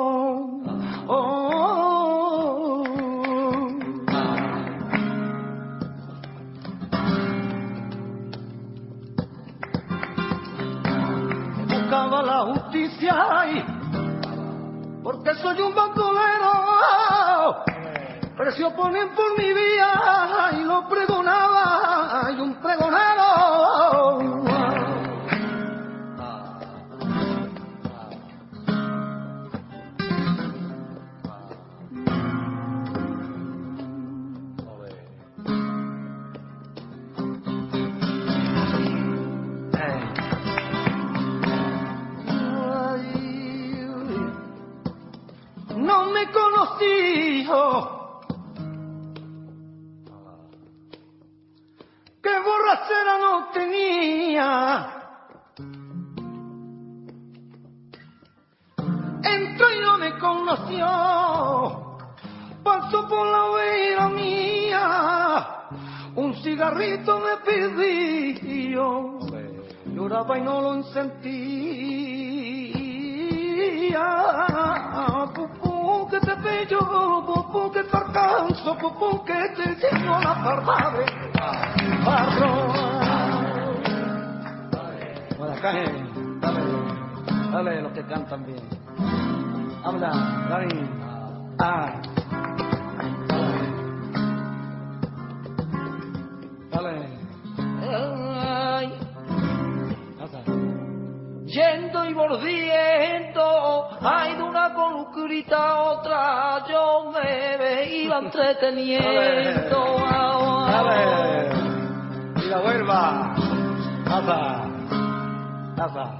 Oh, buscaba la justicia y porque soy un bancolero. Precio ponen por mi vía y lo pregonaba y un pregonero. No me conocí, qué borrachera no tenía. Entró y no me conoció, pasó por la vera mía, un cigarrito me pidió, lloraba y no lo sentía. Pupú, que te bello, pupú que te alcanzo, pupú que te tengo la pardave. Bueno, acá, dale, dale los que cantan bien. Habla, Dani. Ah. Dale. Ay. Yendo y volviendo, ay, de una colucrita a otra, yo me veía entreteniendo. Dale. Y la vuelva. Pasa. Pasa.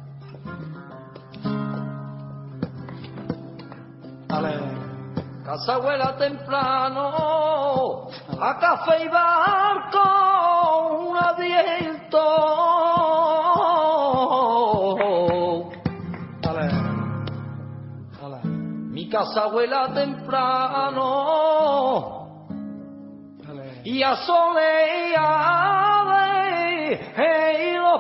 Dale. Casa abuela temprano, a café y barco, un viento. Dale. Dale. Mi casa abuela temprano, Dale. y a soleado y los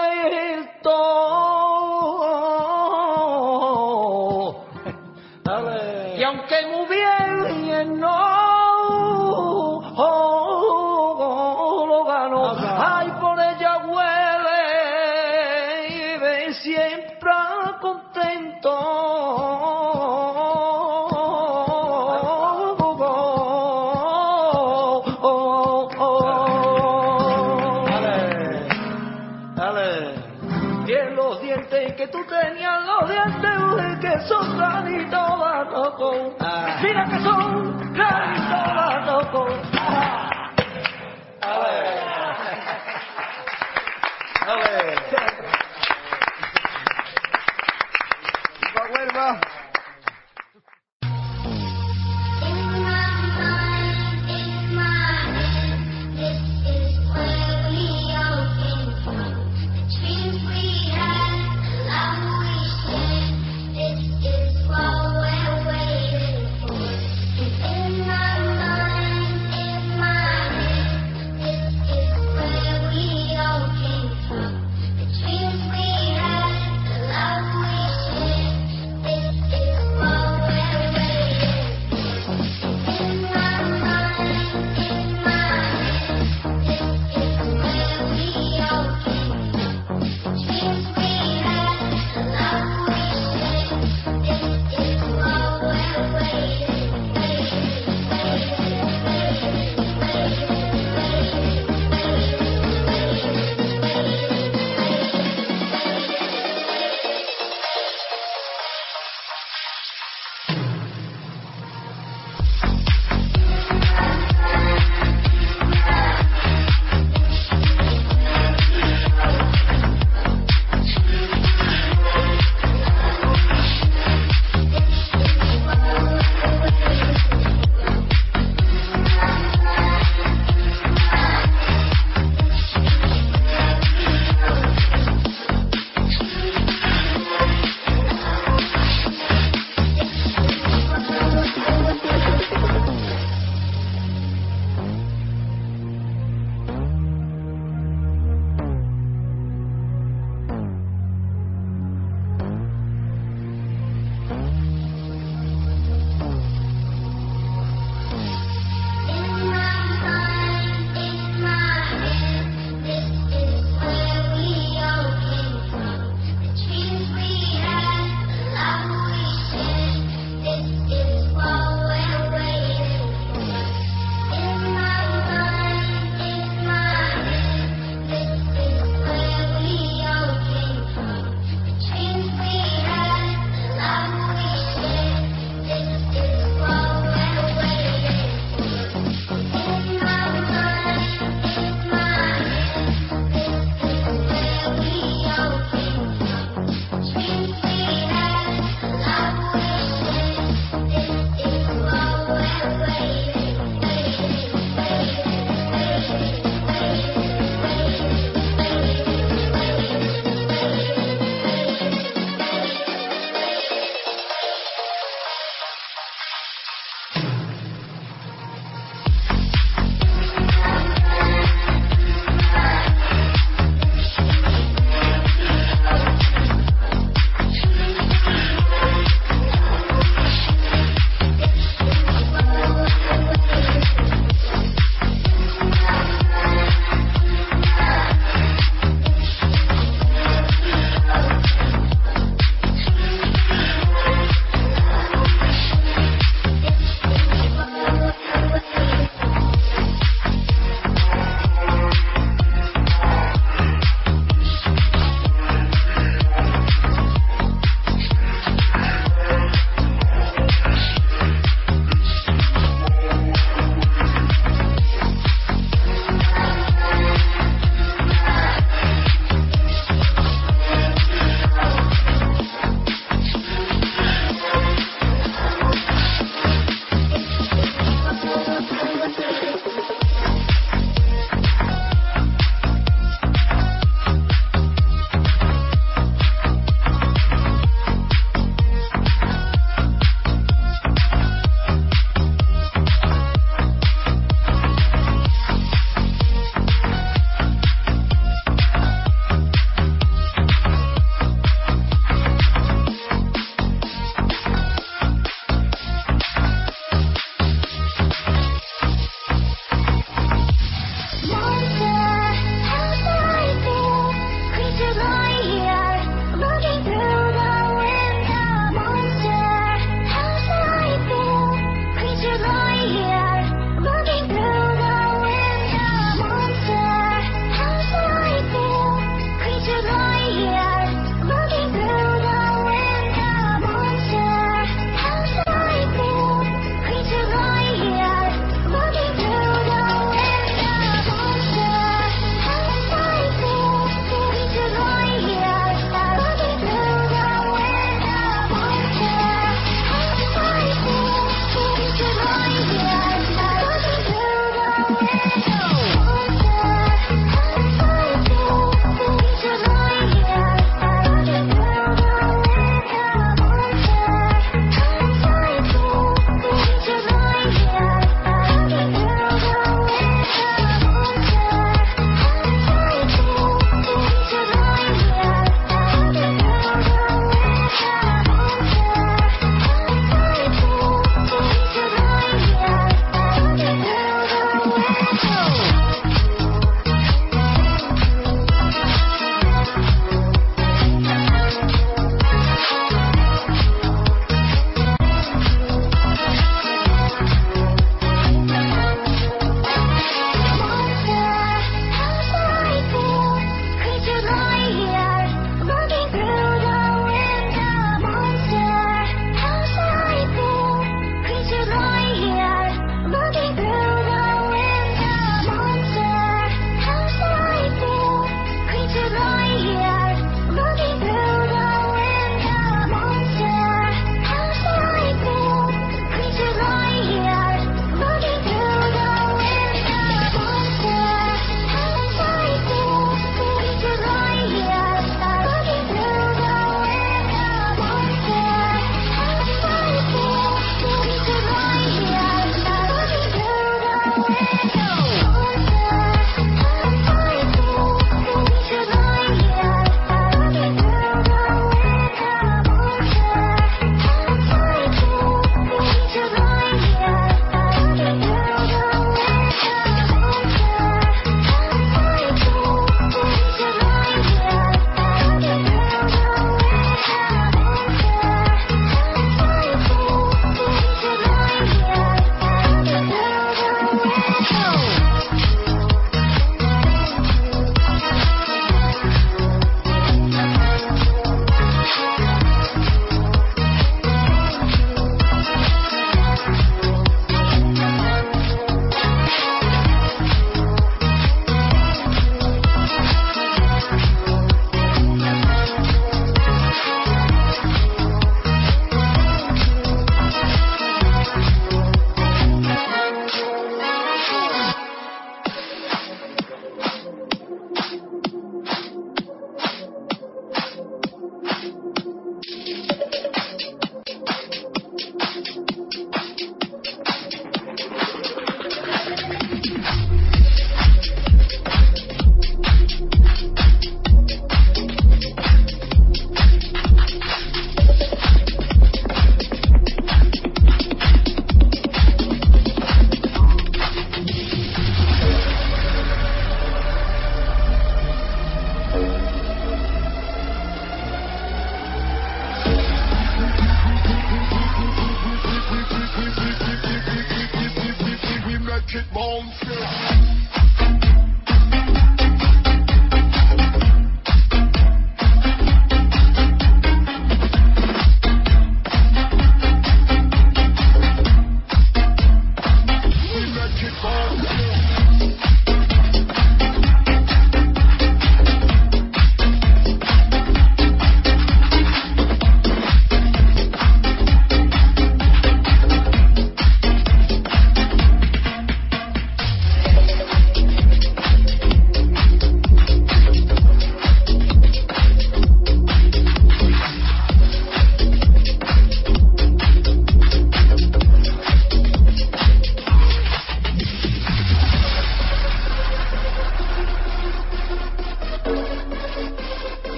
puertos. Dale. Y aunque muy bien no lo ganó, ay, por ella huele y ve siempre contento. Dale. Dale. Y en los dientes que tú tenías, los dientes que son granitos barrocos. Ah. Mira que son granitos barrocos. Dale. Dale. Y la vuelva. Dreams we had, the love we shared, this is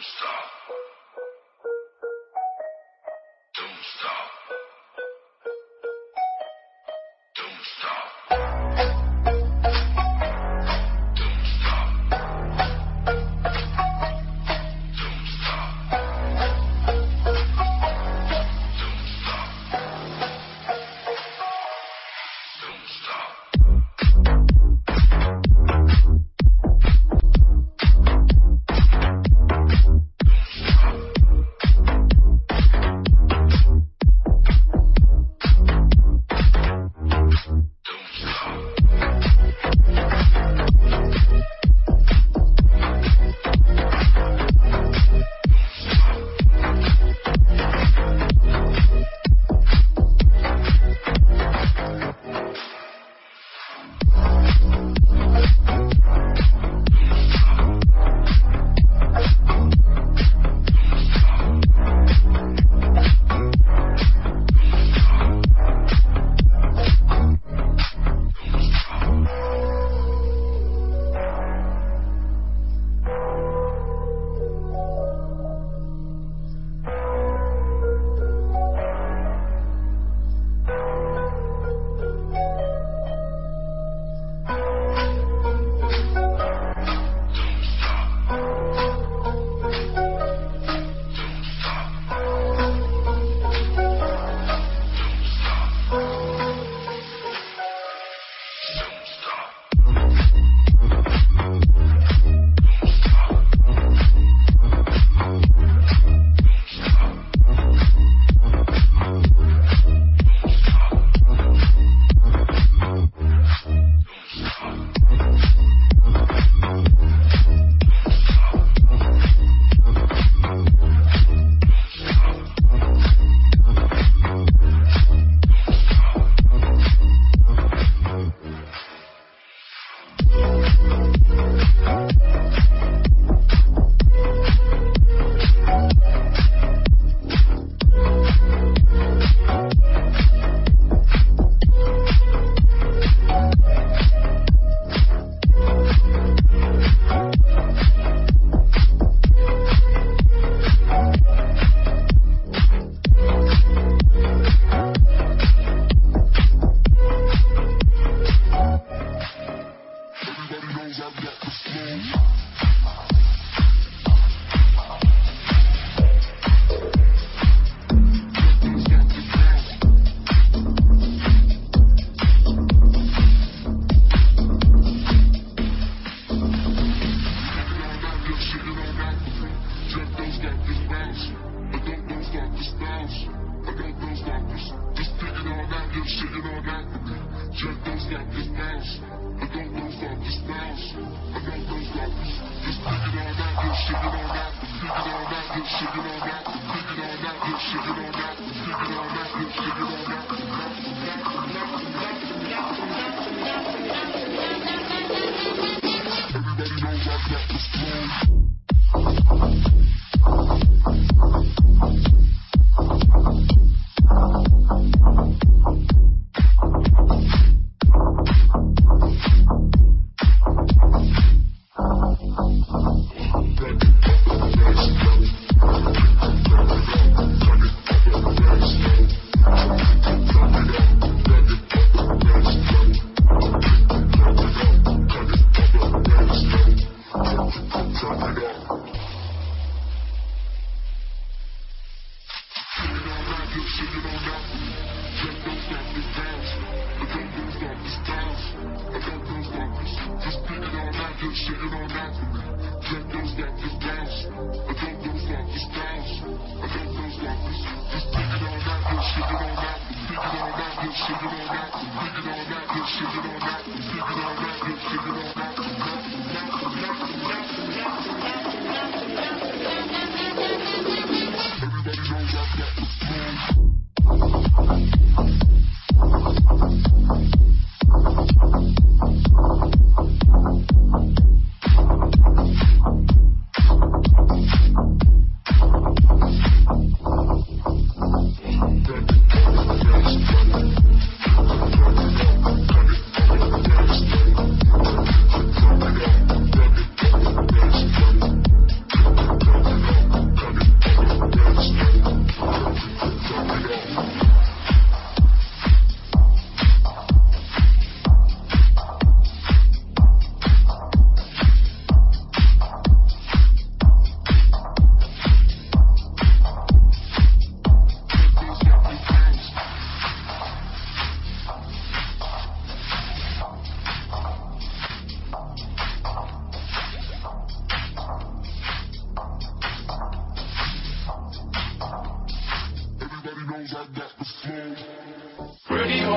Right.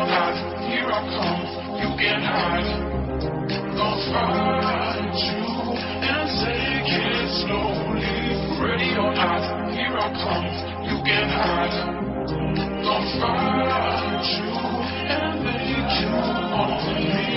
not, here I come, you can't hide. Gonna find you and take it slowly. Ready or not, here I come, you can't hide. Gonna find you and make you on me.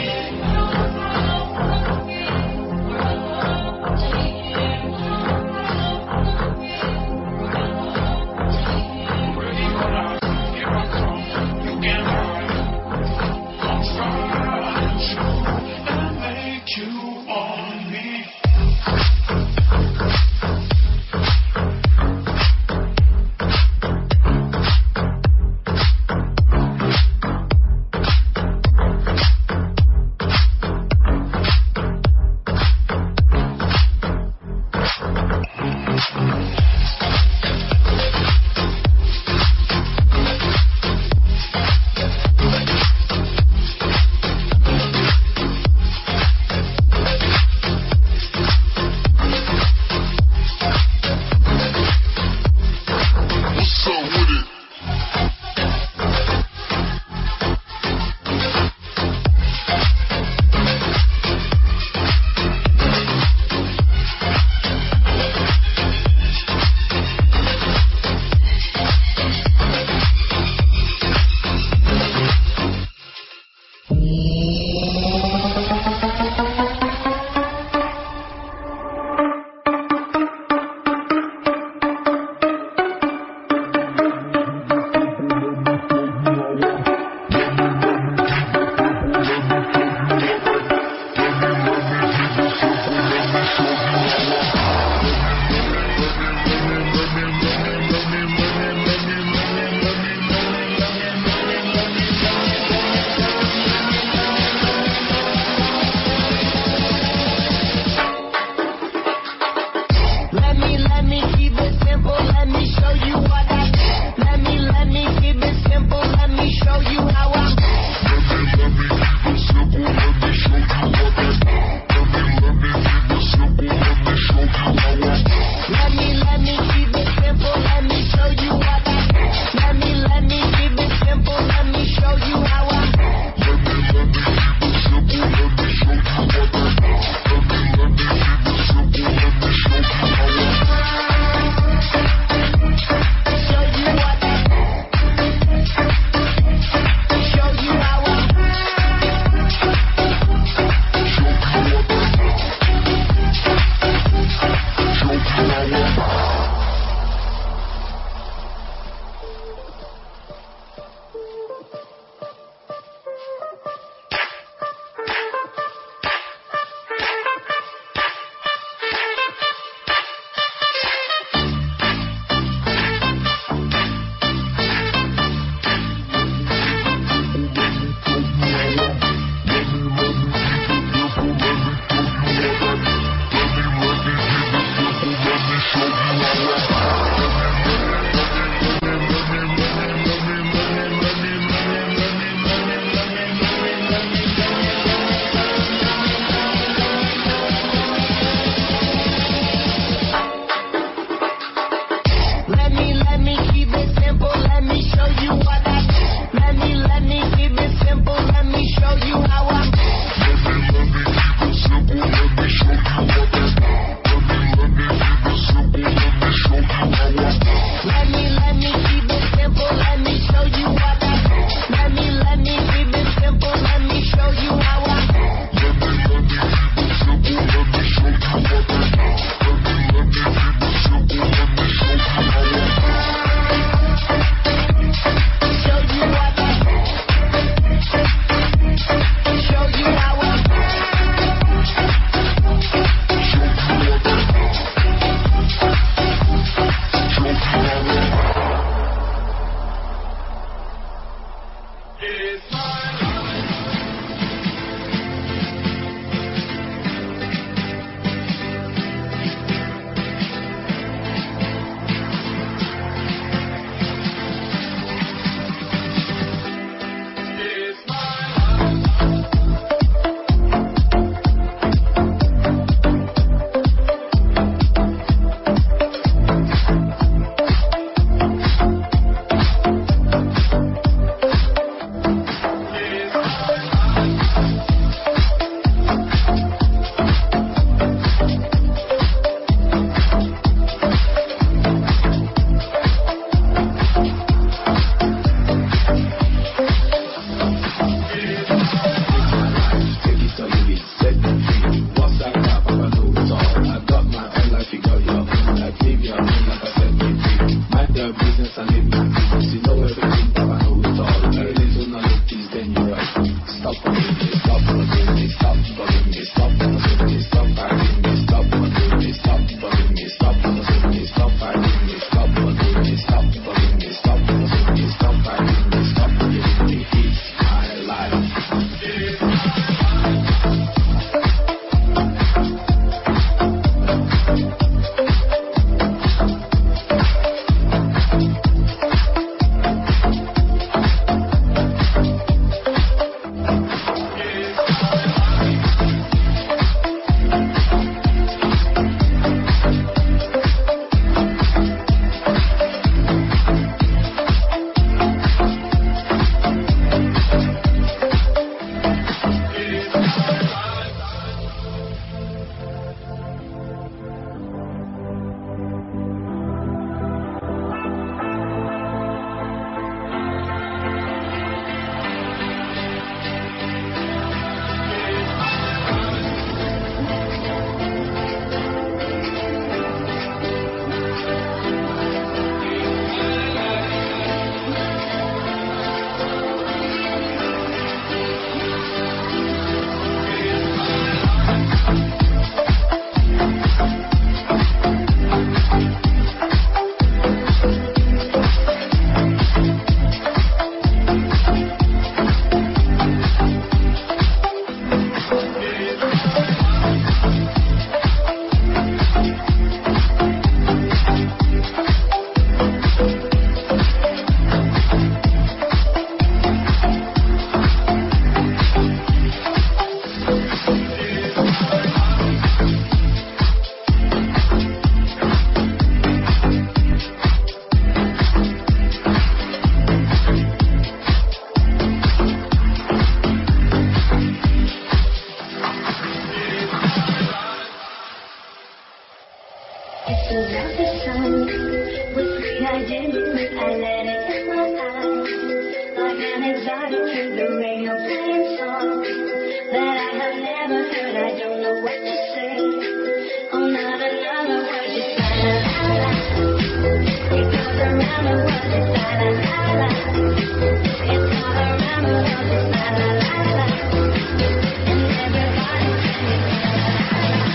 the sun was free. I didn't think I let it in my eyes. Like an exotic through the radio playing songs that I have never heard. I don't know what to say. Oh, not another word. Just la la la la. It goes around the world. Just la la la la. It's all around the world. Just la la la la. And everybody's singing la la la la.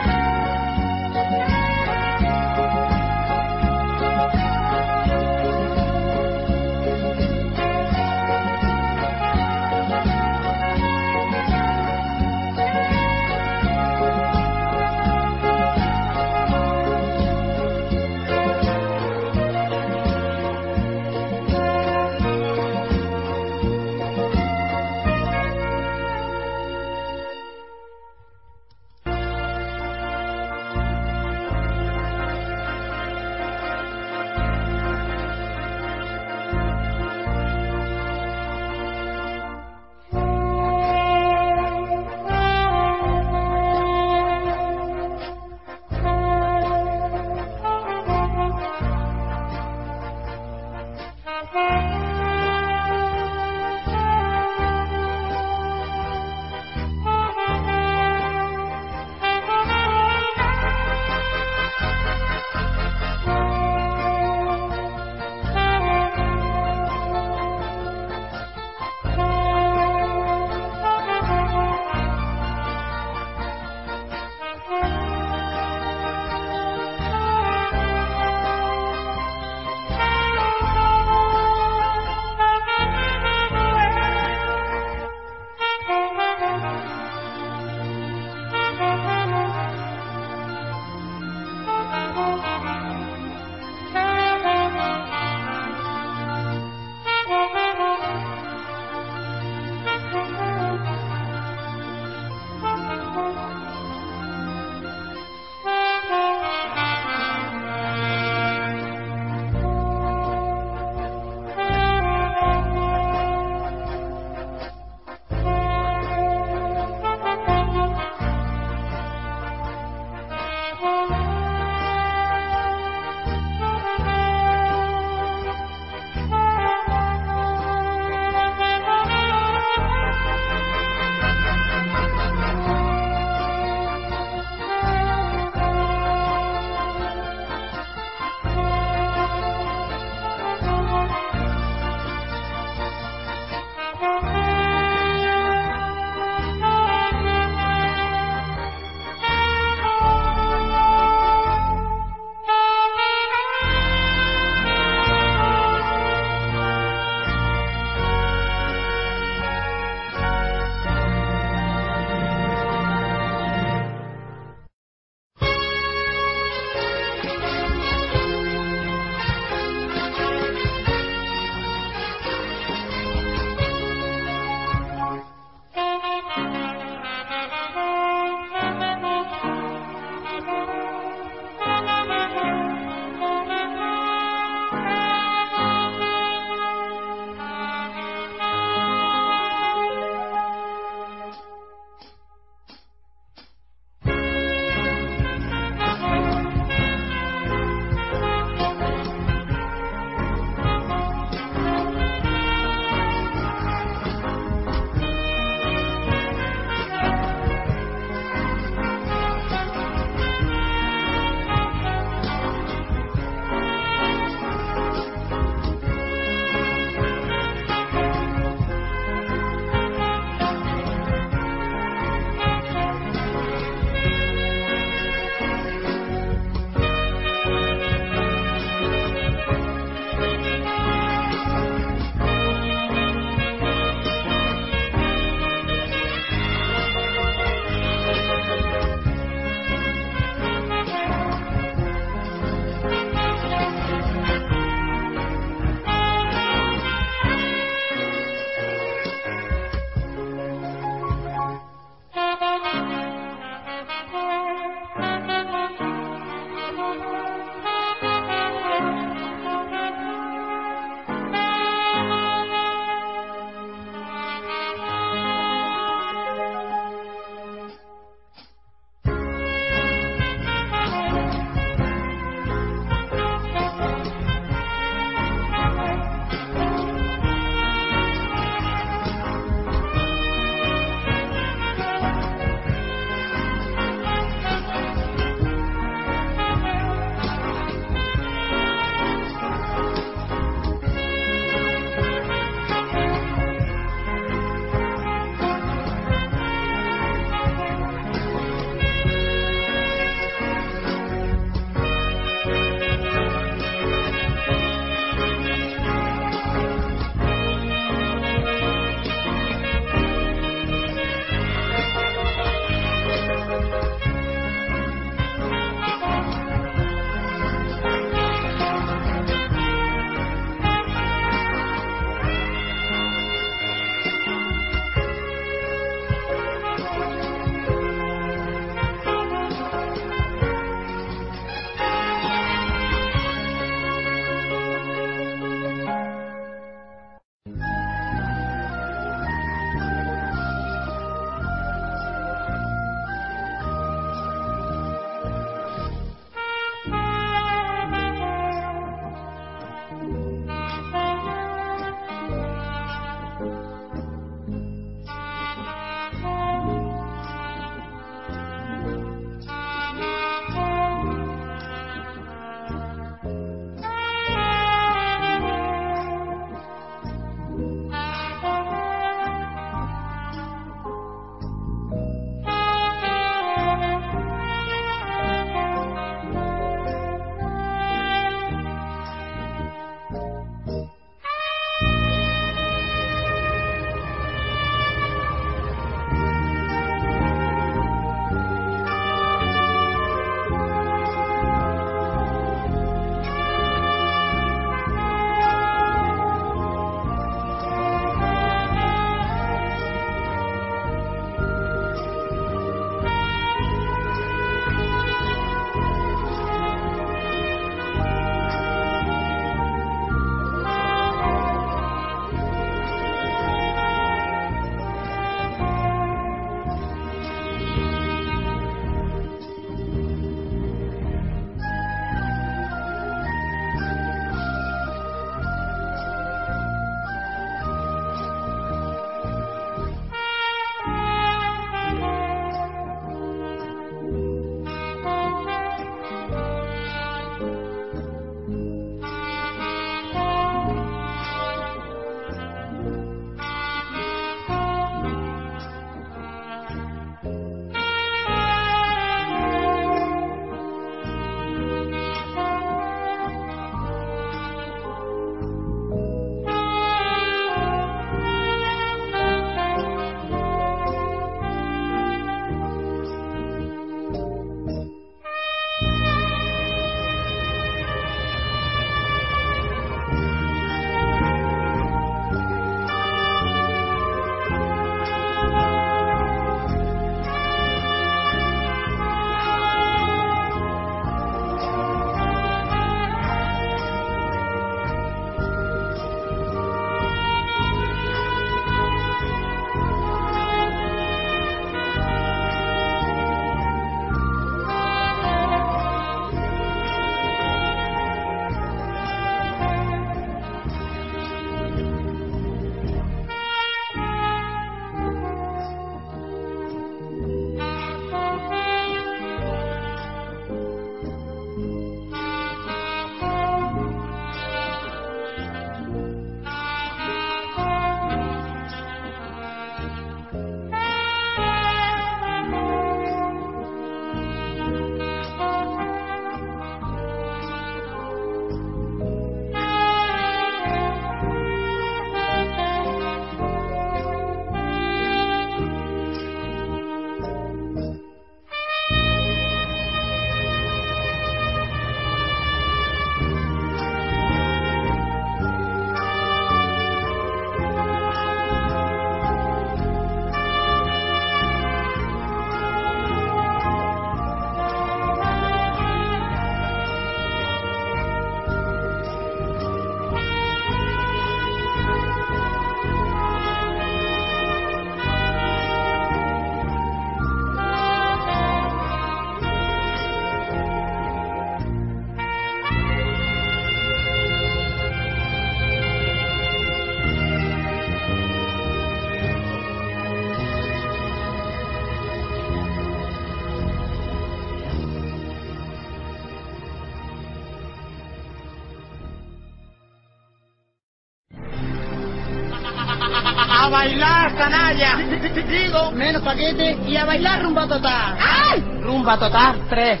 A bailar, canalla. Digo, menos paquete y a bailar rumba total. ¡Ay! Rumba total tres.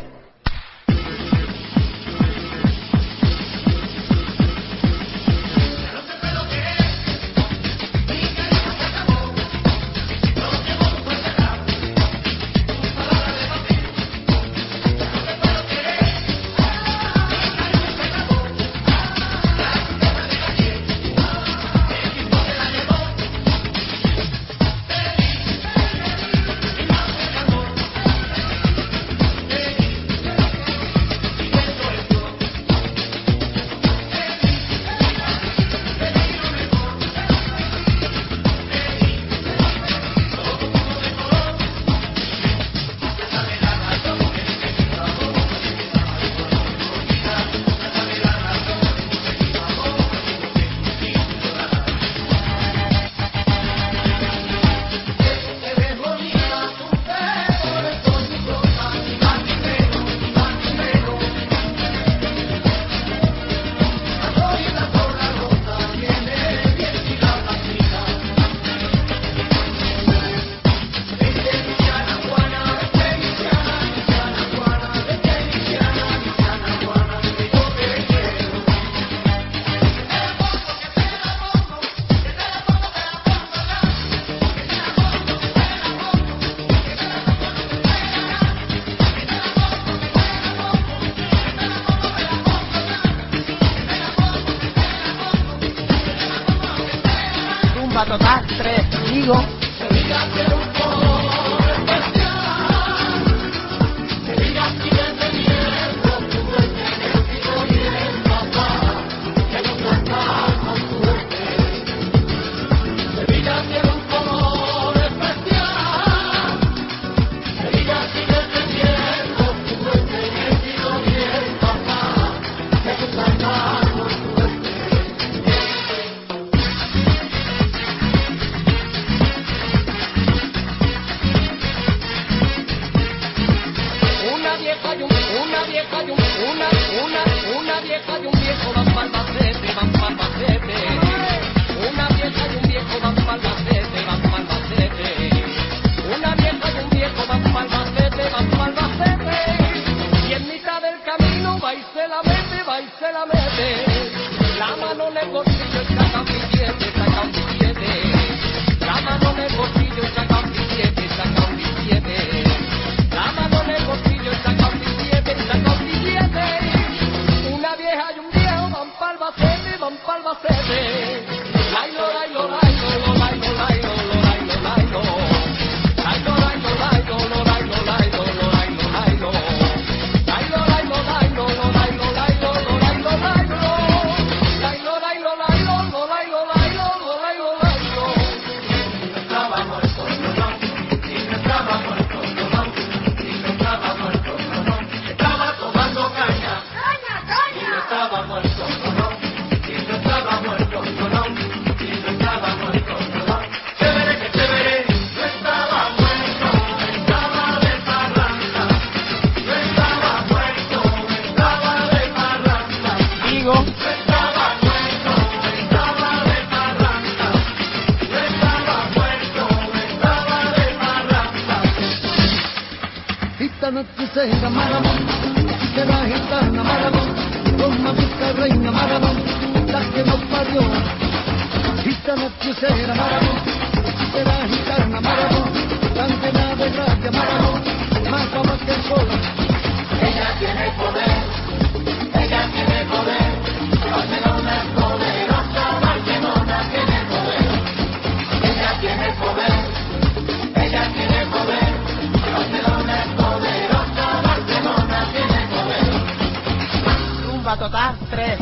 Total tres, digo. Sevilla tiene un color especial. Sevilla sigue teniendo su duende en el pico y el papá, que nunca está con suerte. Sevilla tiene un color especial. Sevilla sigue teniendo su duende en el pico y el papá, que nunca está con suerte. Una vieja y un, una vieja y un, una, una, una vieja y un viejo van pa'l Albacete, van pa'l Albacete. Una vieja y un viejo van pa'l Albacete, van pa'l Albacete. Una vieja y un viejo van pa'l Albacete, van pa'l Albacete. Y en mitad del camino va y se la mete, va y se la mete. La mano en el bolsillo y saca un billete, saca un billete. La mano en el bolsillo y saca un billete, saca un billete. La mano en el bolsillo y saca un billete, saca un billete. Una vieja y un viejo van pa'l Albacete, van pa'l Albacete. Lailo, lailo, lailo, lo, lailo, lailo, lo, lailo, lailo. Lailo, lailo, lailo, lo, lailo, lailo, lo, lailo, lailo. Lailo, lailo, lailo, lo, lailo, lailo, lo, lailo, lailo. Lailo, lailo, lailo, lo, lailo, lailo, lo, lailo, lailo. Y no estaba muerto, no, no. Y no estaba muerto, no, no. Estaba muerto, no, no, estaba tomando caña. ¡Caña, caña! Y no estaba muerto, no, no, y no estaba muerto, no, no, y no estaba muerto, no, no. Chévere, que chévere, no estaba muerto, estaba de parranda. No estaba muerto, estaba de parranda. Digo. No estaba muerto, estaba de parranda. No estaba muerto, estaba de parranda. Esta noche será maravón, será gitana maravón, Roma vista reina maravón, la que nos parió. Esta noche será maravón, será gitana maravón, tan llena de gracia maravón, más guapa que el sol. Ella tiene poder, ella tiene poder, Barcelona es poderosa, Barcelona tiene poder. Ella tiene poder, ella tiene poder, Barcelona es poderosa, Barcelona tiene poder. Rumba total tres.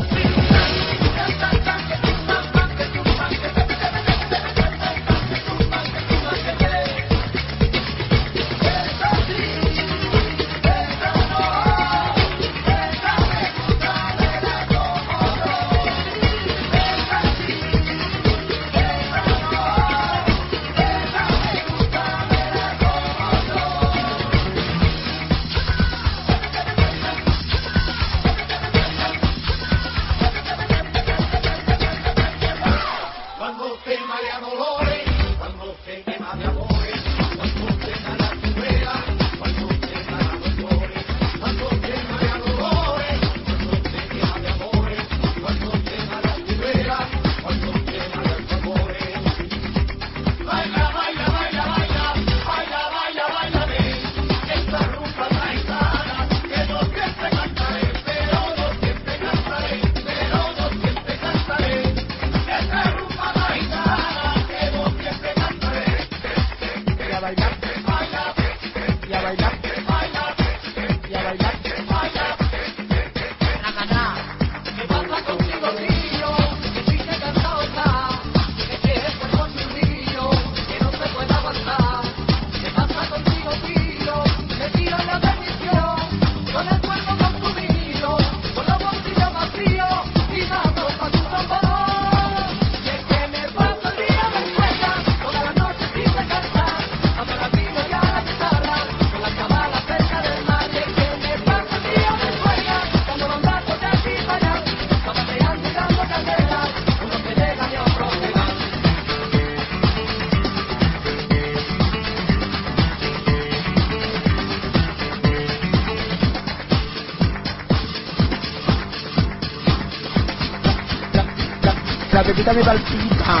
Pepita mi palpita.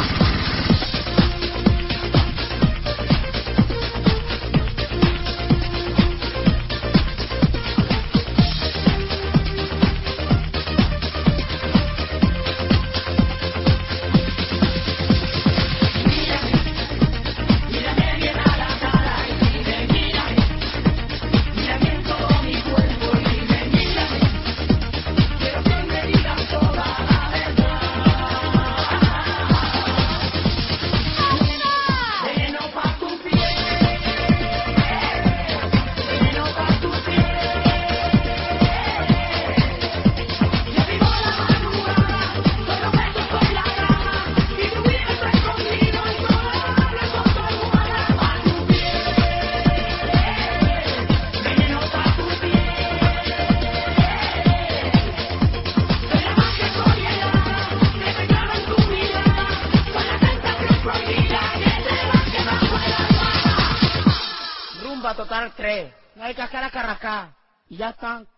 Total tres. No hay cascara carrascar. Y ya están.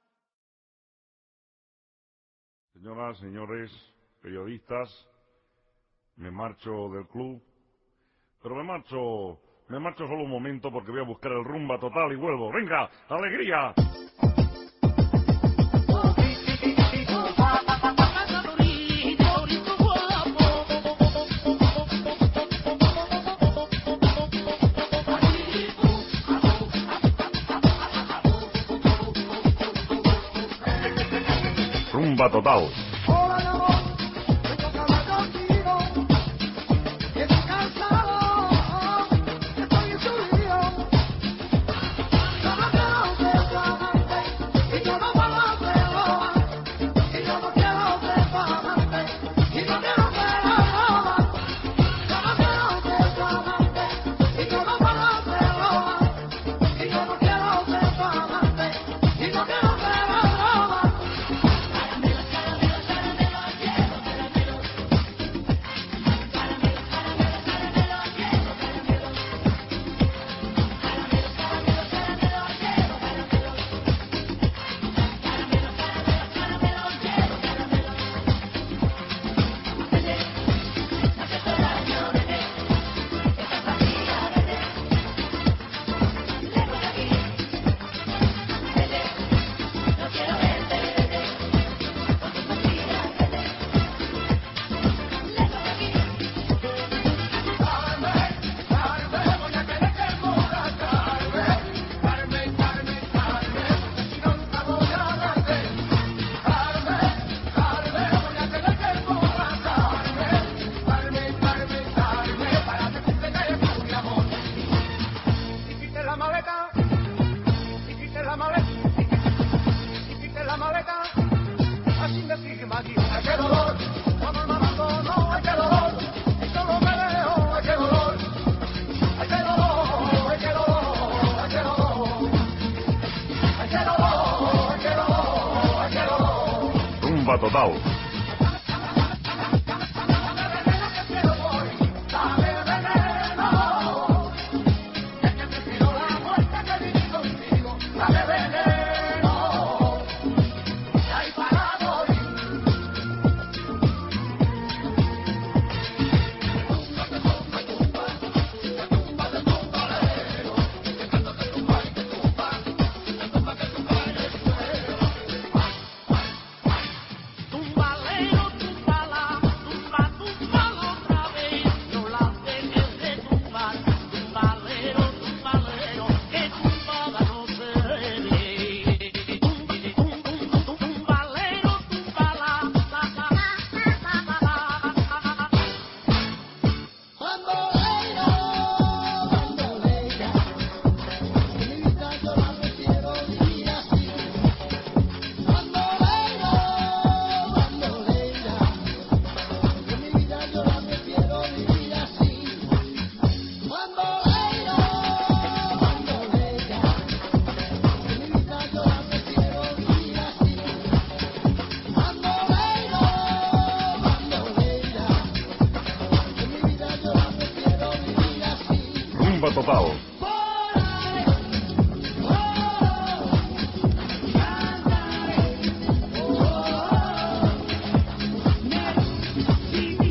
Señoras, señores, periodistas, me marcho del club, pero me marcho, me marcho solo un momento porque voy a buscar el Rumba Total y vuelvo. ¡Venga, alegría! Rumba Total. Rumba Total. Rumba Total. Sí.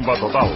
Rumba total.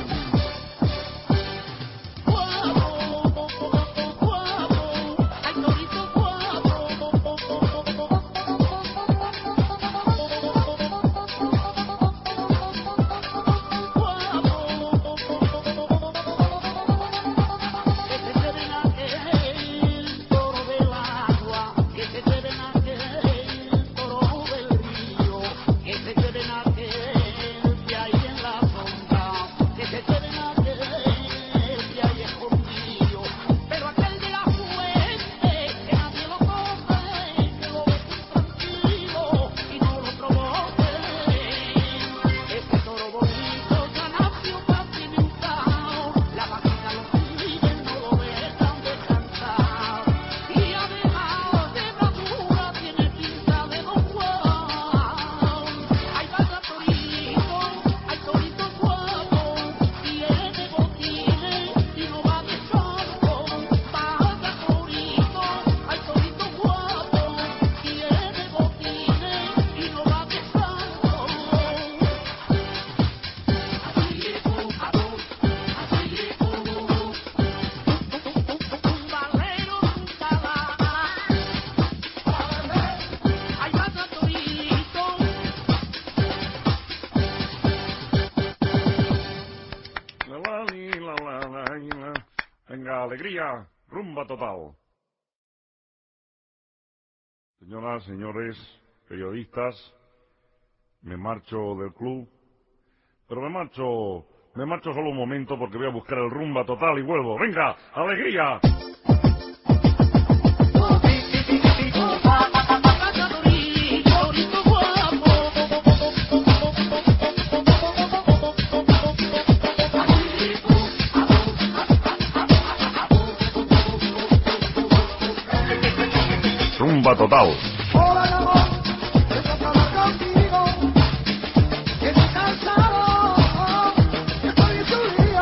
Venga, alegría, rumba total. Señoras, señores, periodistas, me marcho del club, pero me marcho, me marcho solo un momento porque voy a buscar el rumba total y vuelvo. Venga, alegría. Rumba total. Hola, amor, estoy hablando contigo, que estoy cansado, que estoy en tu lío.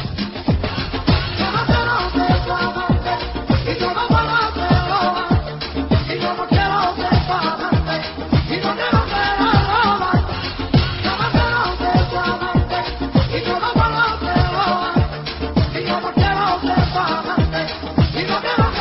Yo no quiero ser tu amante, y yo no puedo hacerlo, y yo no quiero ser tu amante, y no quiero hacerlo. Yo no quiero ser tu amante, y yo no puedo hacerlo, y yo no quiero ser tu amante, y no quiero hacerlo.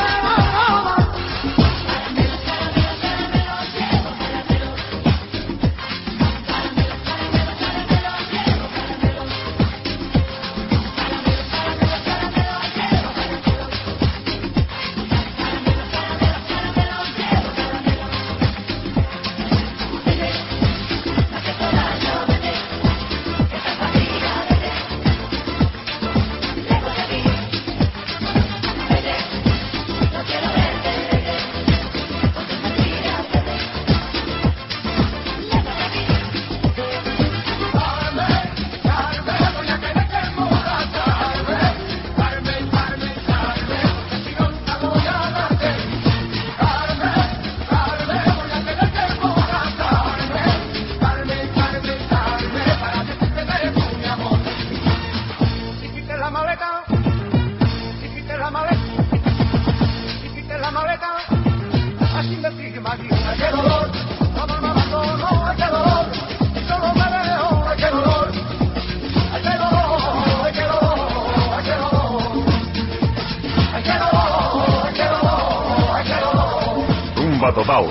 Rumba total.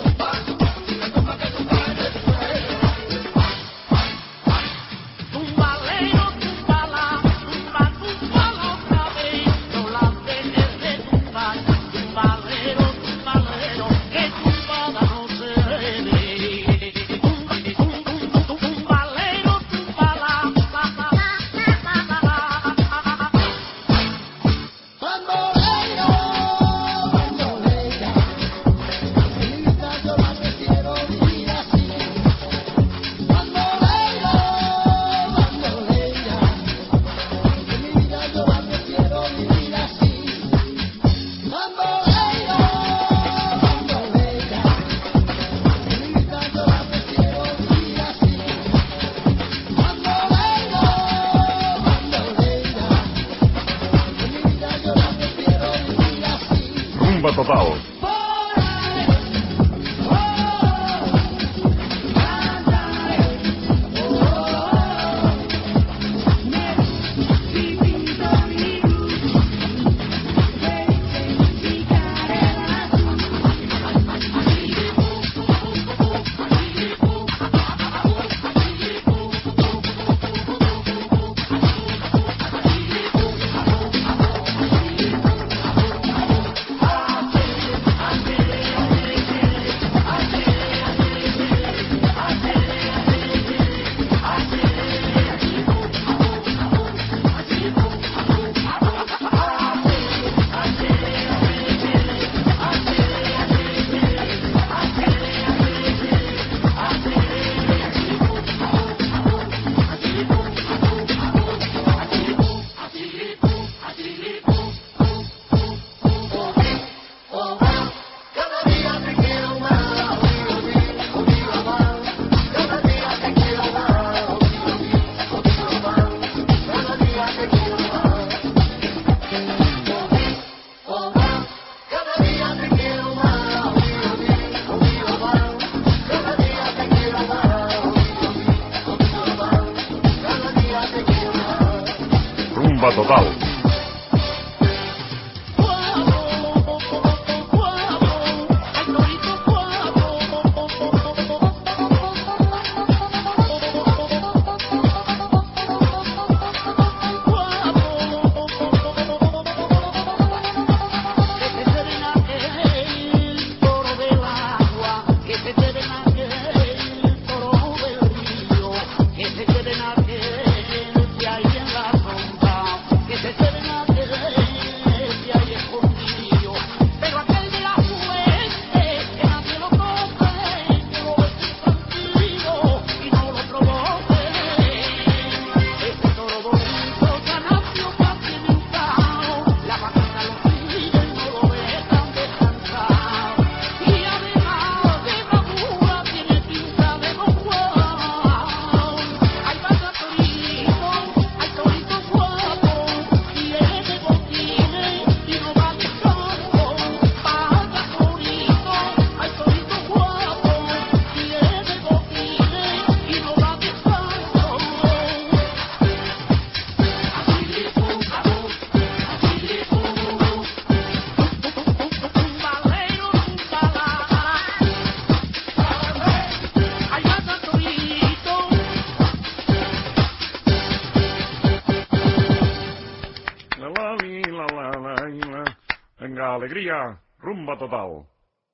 Tumba. Rumba total. Rumba total. Venga, alegría, rumba total.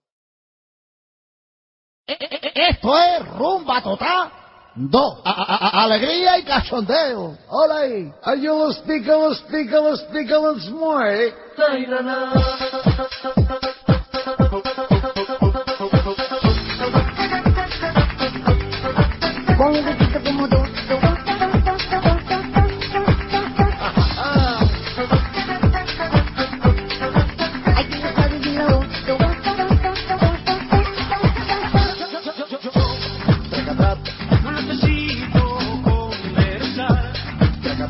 Esto es rumba total. Do, a, a, a, alegría y cachondeo. Hola ahí. Yo lo explico, lo explico, lo explico once more.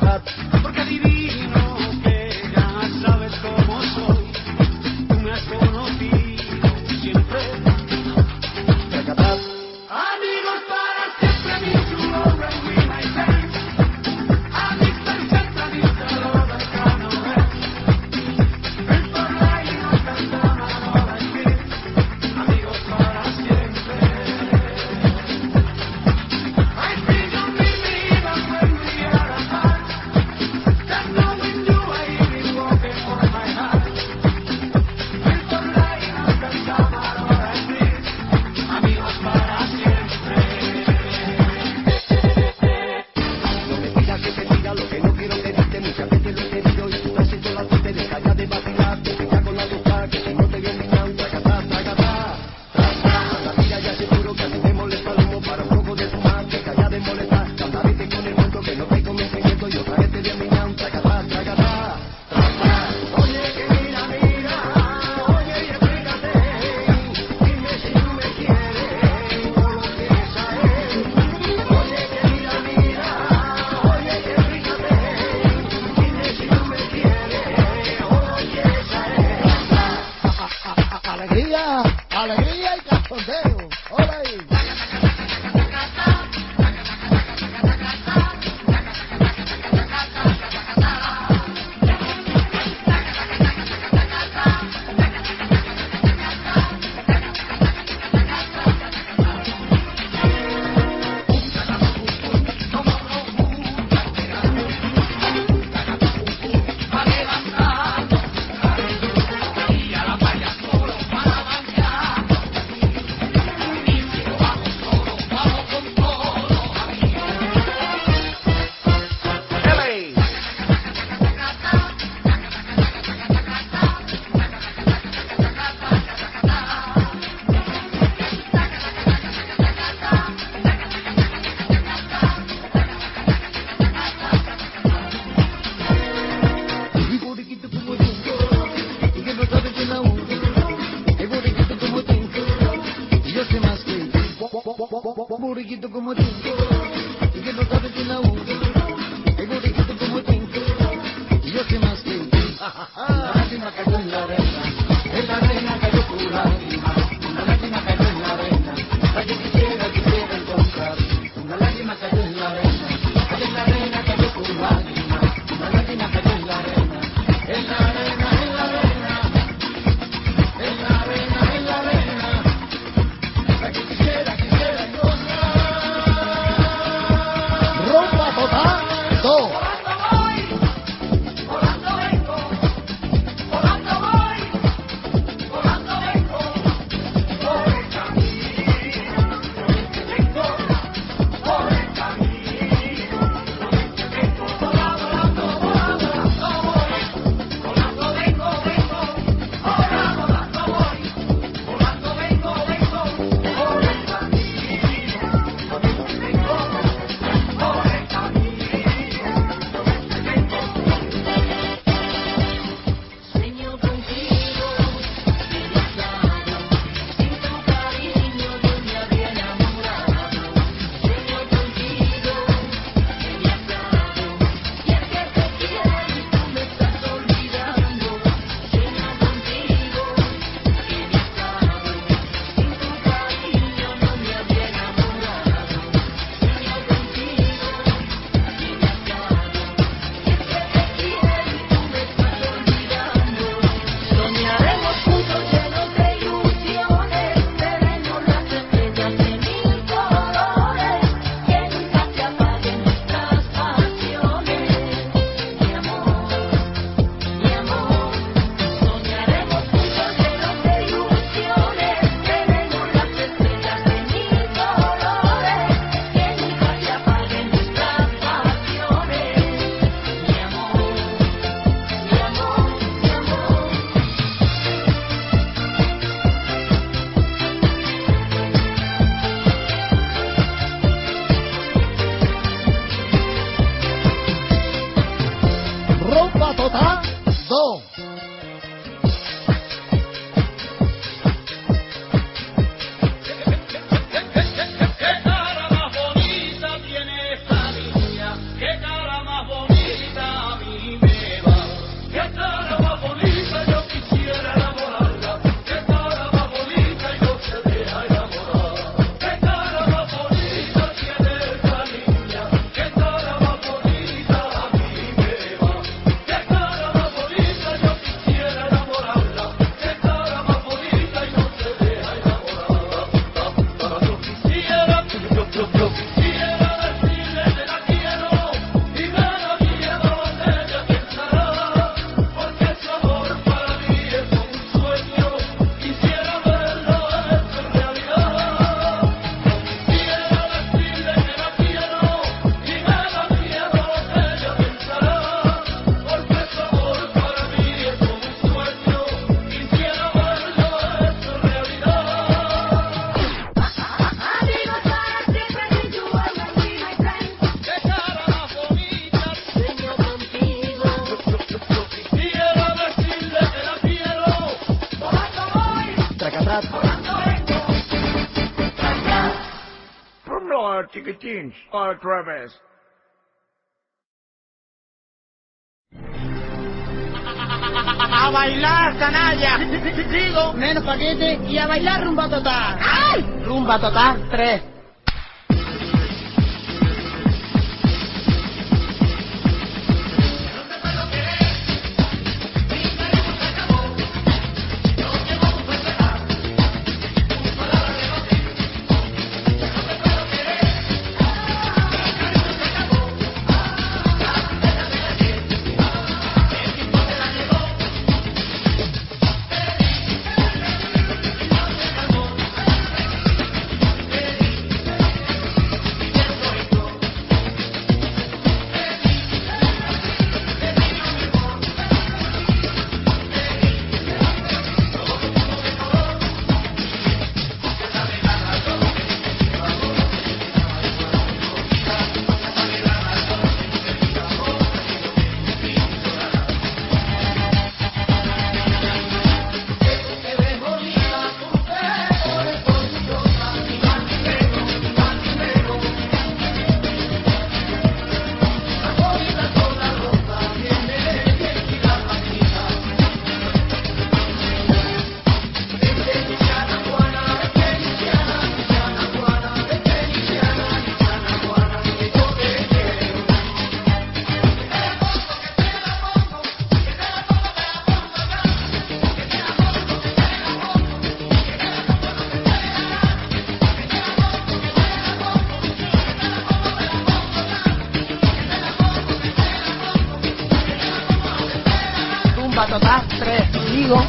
Porque adivino que ya sabes cómo soy. Tú me has conocido. Alegría, alegría y cachondeo. Hola ahí. Buriquito como tú, y que no sabes de la uno. Hay buriquito como tú, y yo sé más que tú. Una lágrima cayó en la arena, en la arena cayó tu lágrima. Una lágrima cayó en la arena, la que quisiera, quisiera encontrar. Una lágrima cayó en la arena, en la arena cayó tu lágrima. Una lágrima cayó en la arena, en la arena, en la arena, en la arena, en la arena, la que quisiera, quisiera encontrar. Rompa total, dos. Rompa total, dos. No, chiquitines, otra vez. ¡A bailar, canalla! Digo, menos paquete y a bailar rumba total. ¡Ay! Rumba total tres. Total tres. Digo.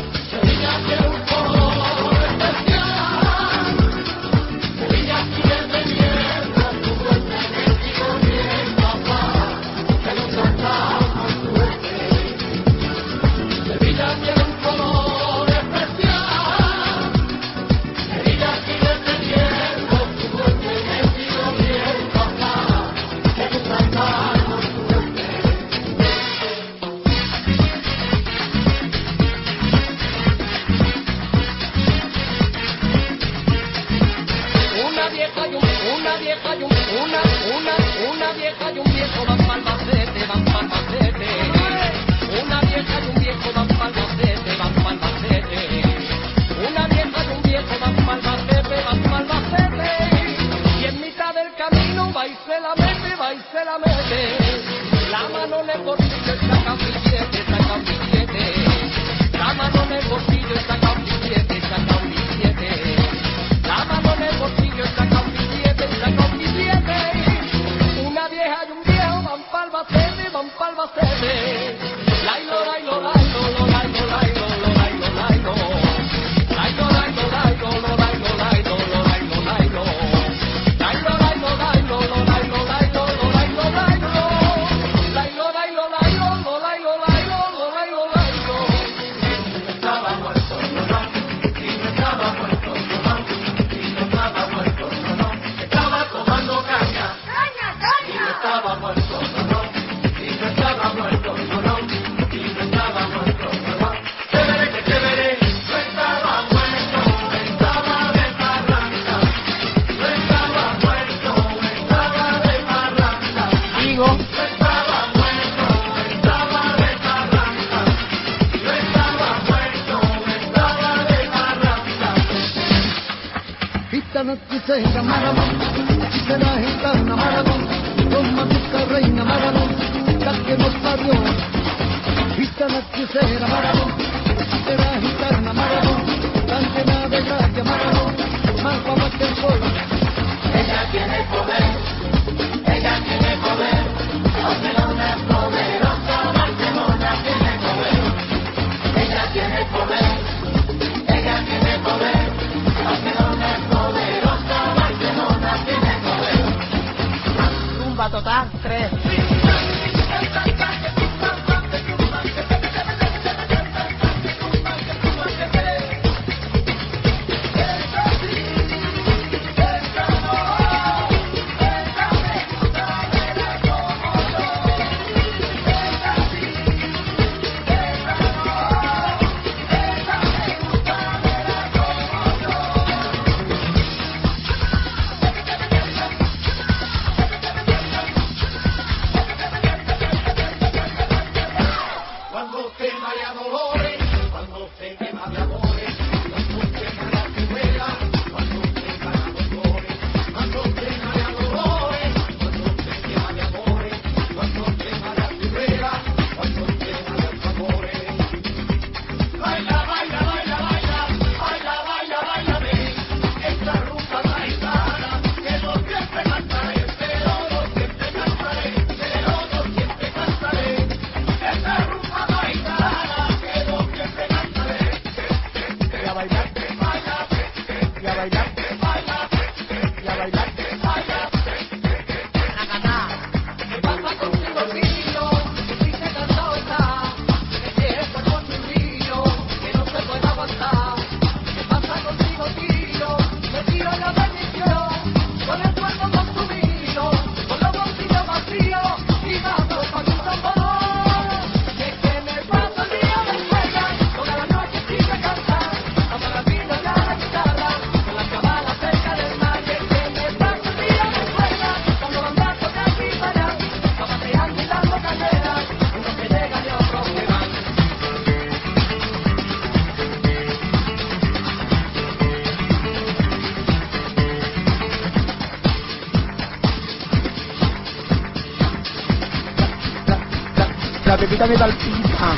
Total tres. bailar, y a bailar. La pepita me da el pizza.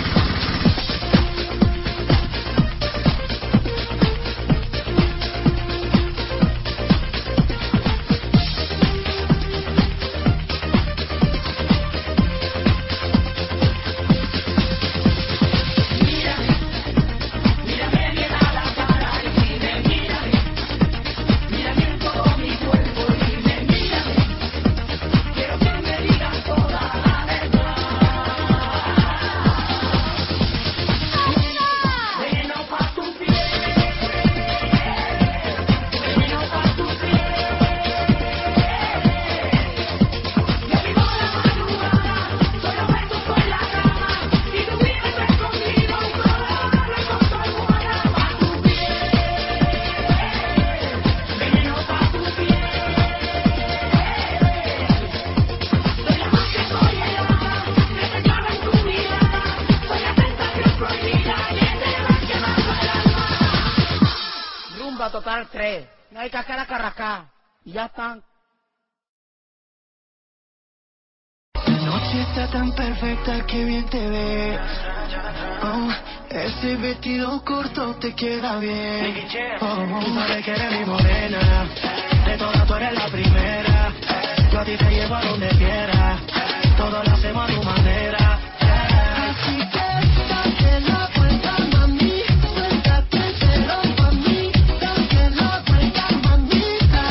Total tres, no hay cascara carracá, y ya están. La noche está tan perfecta que bien te ves. Oh, ese vestido corto te queda bien. Oh, tú sabes que eres mi morena, de todas tú eres la primera. Yo a ti te llevo a donde quieras, todo lo hacemos a tu manera. Así que date la vuelta, mami, suéltate el pelo pa' mí. Date la vuelta, mamita.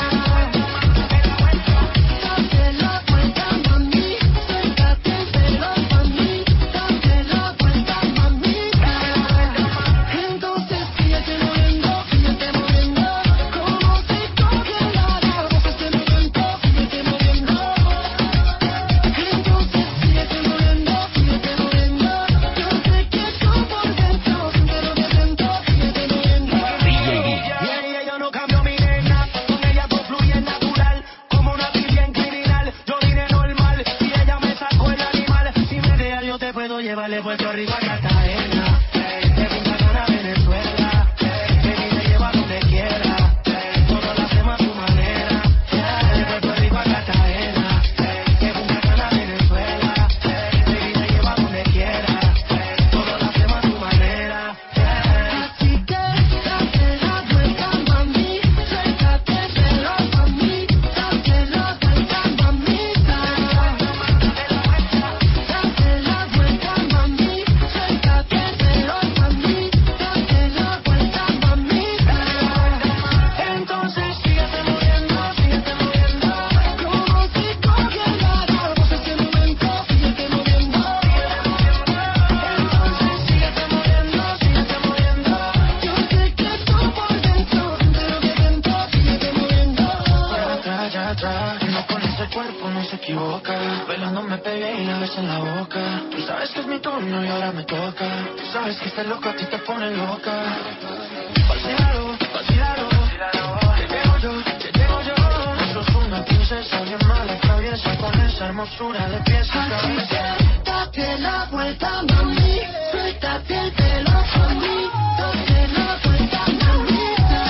Date la vuelta, mami, suéltate el pelo pa' mí. Date la vuelta, mamita. Entonces síguete moviendo, síguete moviendo. Como si congelara, vos este momento, síguete moviendo. Entonces síguete moviendo, síguete moviendo. Yo sé que tú por dentro, siempre lo siento, síguete moviendo. Y ella yo no cambio mi nena, con ella todo fluye natural, como una tibia en criminal. Yo vine normal, y ella me sacó el animal. Si me dejas yo te puedo llevar de Puerto Rico a Cartagena, de Punta Cana a Venezuela. Baby, te llevo a donde quiera, todo lo hacemos a tu manera. De Puerto Rico a Cartagena, de Punta Cana a Venezuela. Baby, te llevo a donde quiera, todo lo hacemos a tu manera. Así que date la vuelta, mami, suéltate el pelo pa' mí. Date la vuelta, mamita. Date la vuelta, mami, suéltate el pelo pa' mí. Date la vuelta, mamita. Entonces síguete moviendo, síguete moviendo. Como si congelara, vos este momento, síguete moviendo. Entonces síguete moviendo, síguete moviendo. Yo sé que tú por dentro, entero de dentro, síguete moviendo. Para atrás, ya atrás, no con ese cuerpo no se equivoca. Bailando me pegué y la besé en la boca. Tú sabes que es mi turno y ahora me toca. Tú sabes que este loco a ti te pone loca. Vacílalo, vacílalo. Te llevo yo, te llevo yo. No sos una princesa bien mala, traviesa, con esa hermosura de pies a cabeza. Así que date la vuelta, mami, suéltate el pelo pa' mí. Date la vuelta, mamita.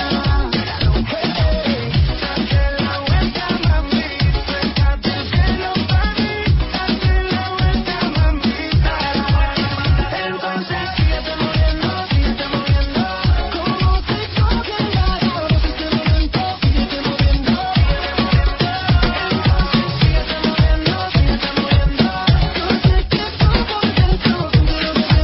Date la vuelta, mami, suéltate el pelo pa' mí. Date la vuelta, mamita. Entonces síguete moviendo, síguete moviendo. Como si congelara, vos este momento, síguete moviendo. Entonces síguete moviendo, síguete moviendo. Yo sé que tú por dentro, entero de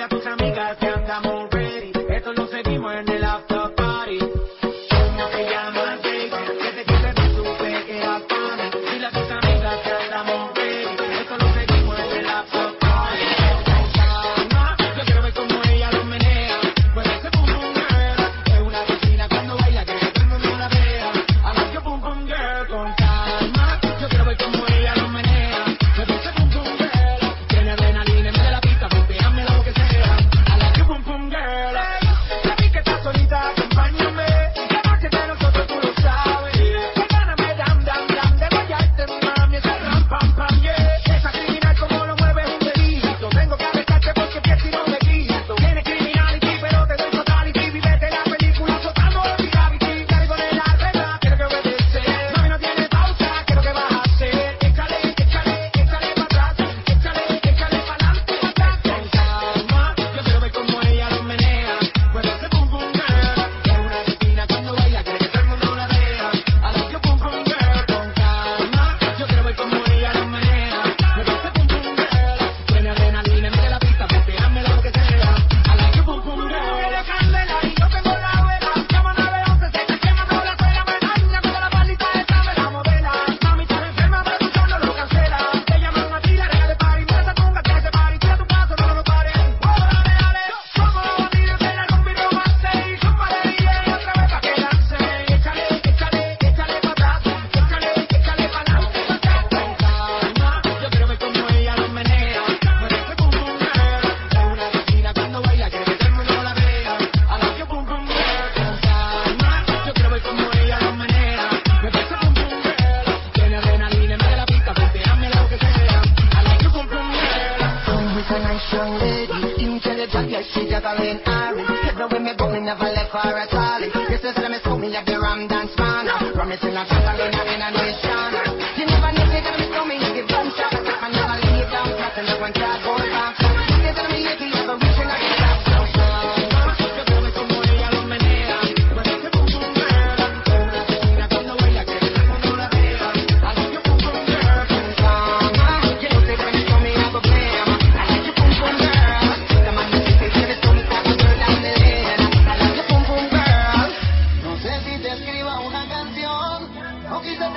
a tus amigas que andamos ready. Esto lo seguimos en el after party. ¿Cómo te llamas, baby? Que te quieres ver supe que eras para mí. Dile a tus amigas que andamos ready. Esto lo seguimos en el after party. Yo quiero ver cómo ella lo menea. Pues ese pum pum girl es una vecina cuando baila que todo el mundo la vea. I like your pum pum girl con calma. Yo quiero ver cómo ella lo menea. Pues ese pum pum girl tiene adrenalina en medio de la pista, pumpeame lo que sea. I like your pum pum girl. Ya vi que estás solita, acompáñame. La noche de nosotros tú lo sabes. Perdóname, dam, dam, dam, de guayarte, mami, ese ram, pam, pam, yeah. Esa criminal como lo mueve es un delito. Tengo que arrestarte porque pienso y no me quito. Tienes criminality, pero te doy totality. Vivete la película soltando el gravity. Cargo de la regla, quiero que obedecer. Mami, no tiene pausa, quiero que vas a hacer. Échale, échale, échale para atrás. Échale, échale para adelante, para atrás. Con calma, yo quiero ver cómo ella lo menea. Pues ese pum pum girl es una vecina cuando baila, quiere que todo el mundo la vea. I like your pum pum girl. Con calma, yo quiero ver cómo ella lo menea. Pues ese pum pum girl tiene adrenalina en medio de la pista, pumpeame lo que sea. I like your pum pum girl. Eres candela y yo tengo la vela. Llama nueve once, se está quemando la escuela. Me daña cuando la palita esta me la modela. Mami, estás enferma, pero tú solo lo cancela. Te llaman a ti, la reina de party. Mira esa tunga que hace party. Tira tu paso, no lo pares. Oh, dale, dale. Somos los bandidos de la rumba y romance. Y súmale D J otra vez pa' que lance. Échale, échale, échale pa' atrás. Échale, échale pa' adelante, pa' atrás. Con calma, yo quiero ver cómo ella lo menea. Pues ese pum pum girl es una vecina cuando baila, quiere que todo el mundo la vea. I like your pum pum girl. Con calma, yo quiero ver cómo ella lo menea. Pues ese pum pum girl tiene adrenalina en medio de la pista, pumpeame lo que sea. I like your pum pum girl. Come with a nice young lady, intelligent, yes, she just a lean Ari. Every way me go, me never left her at all. Yes, they say me school, me like the Ram Dance Man. Promising a Catalina in a nation. You never know, they tell me so me, you give them shot. I never lay down flat and never try to go back. They tell me lately, you have a reaching like a gap. Yo quiero ver cómo ella lo menea. Pues ese pum pum girl es una vecina cuando baila, quiere que todo el mundo la vea. I like your pum pum girl. You know, they tell me so me have a plan. I like your pum pum girl. The man that they say me so me type of girl down the lane. I like your pum pum girl. No sé si te escriba una canción o quizás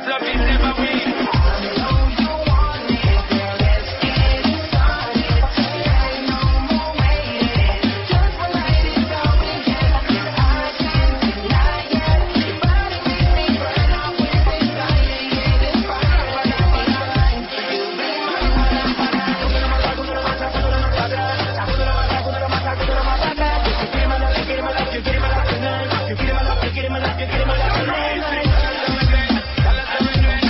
dance love is never weak. You get him alive, you get him alive, you get him alive tonight.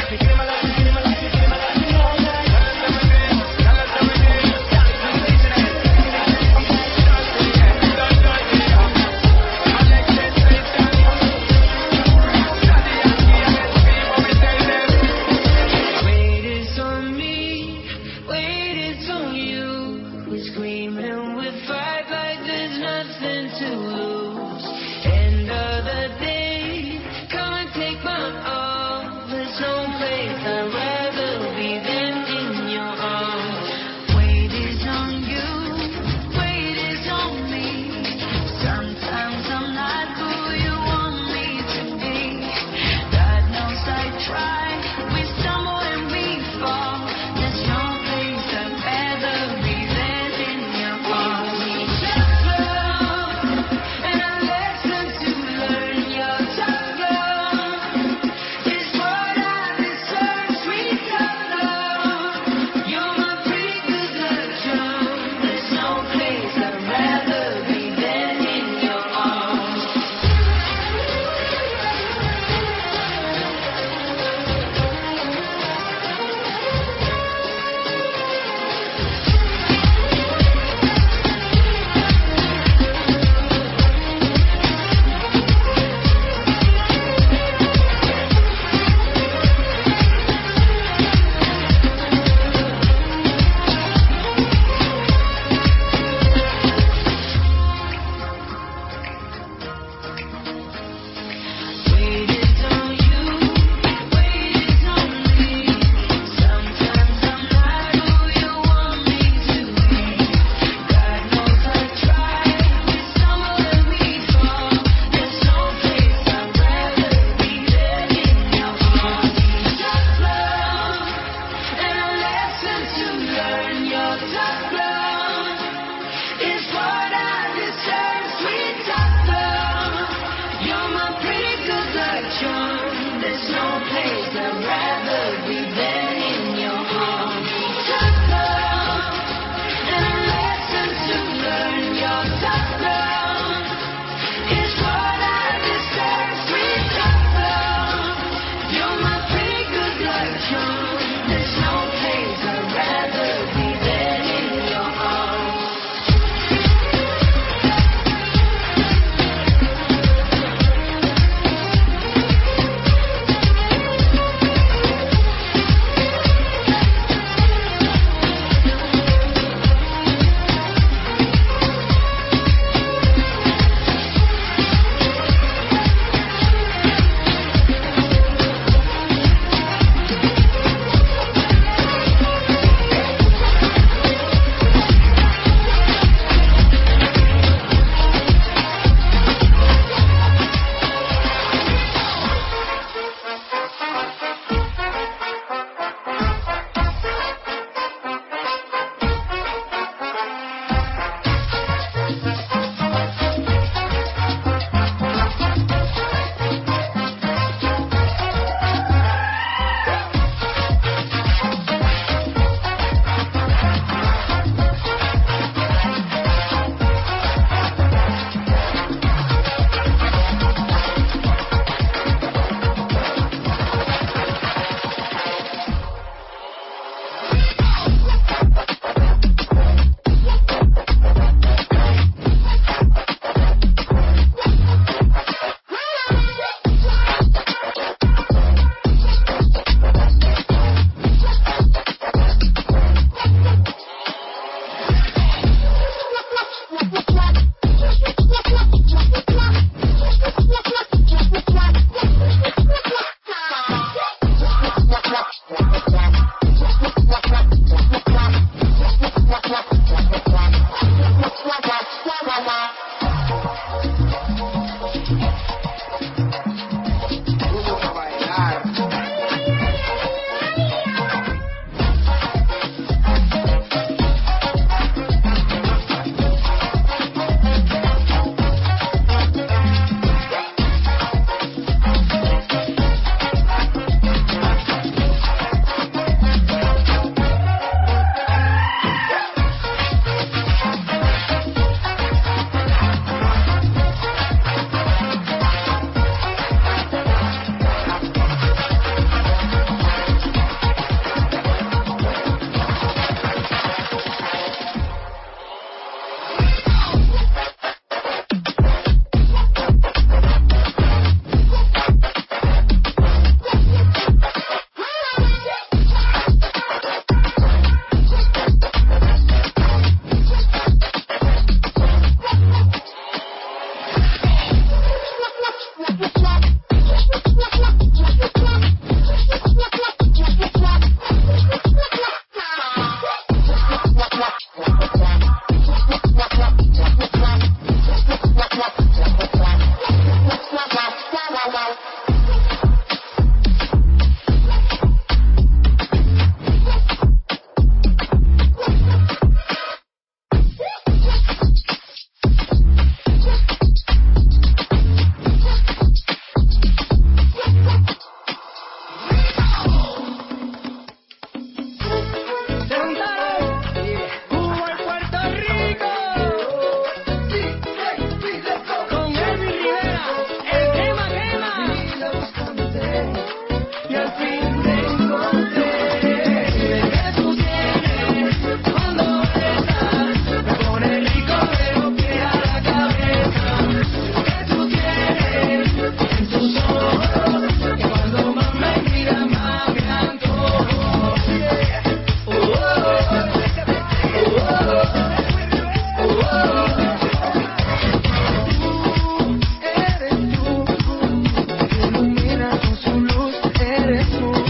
y al fin te encontré. Que tú tienes cuando besas, me pone rico de los pies a la cabeza. Que tú tienes en tus ojos, que cuando más me miras más me antojo. Oh, oh, oh, oh, oh. Tú eres tú, que ilumina con su luz, eres tú.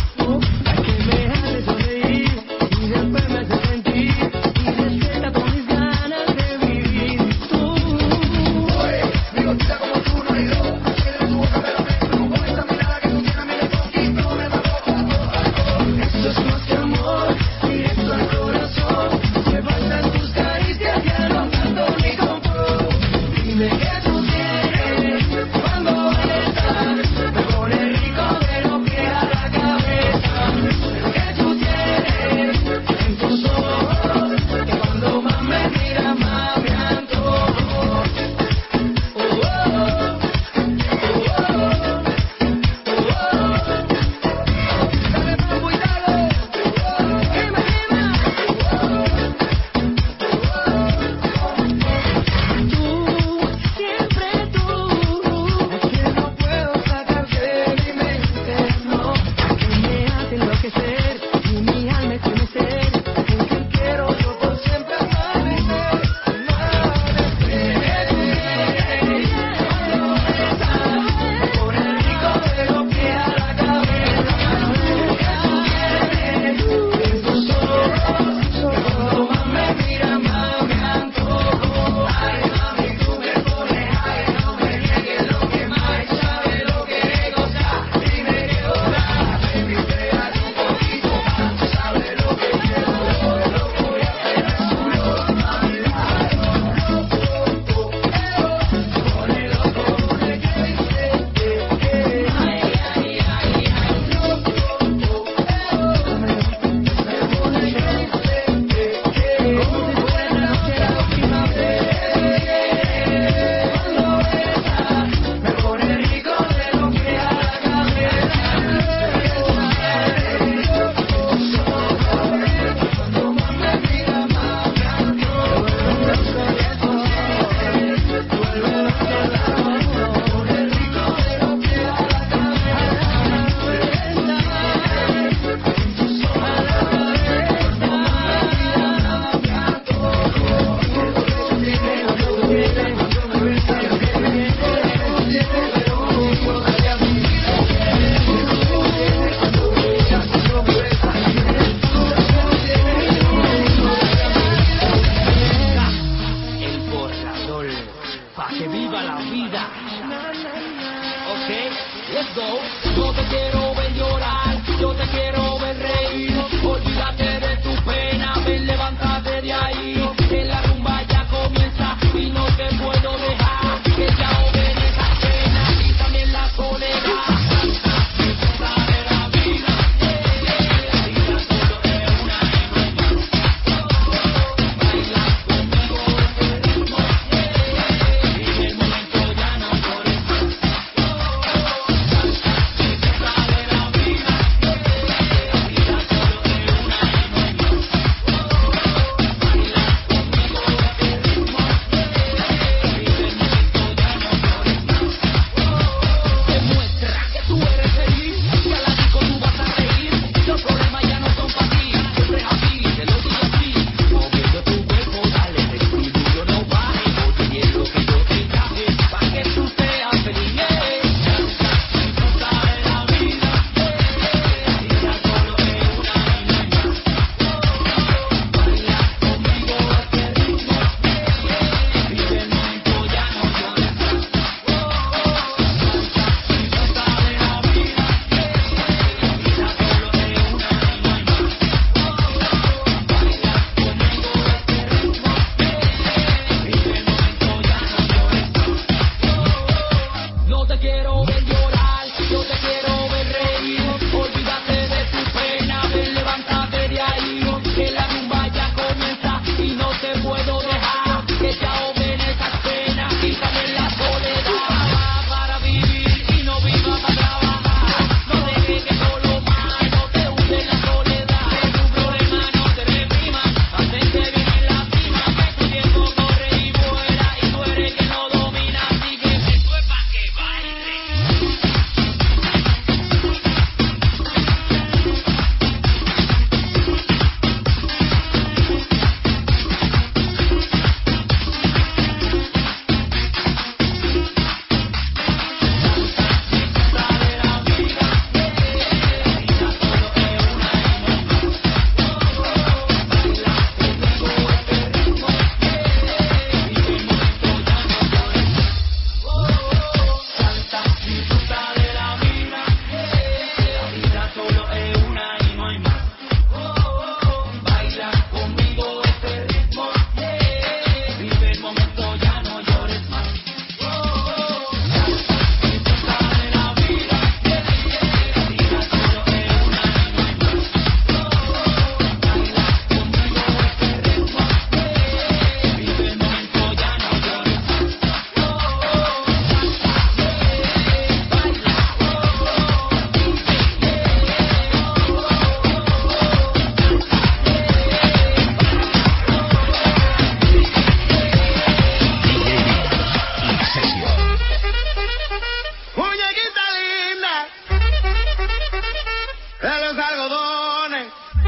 los algodones.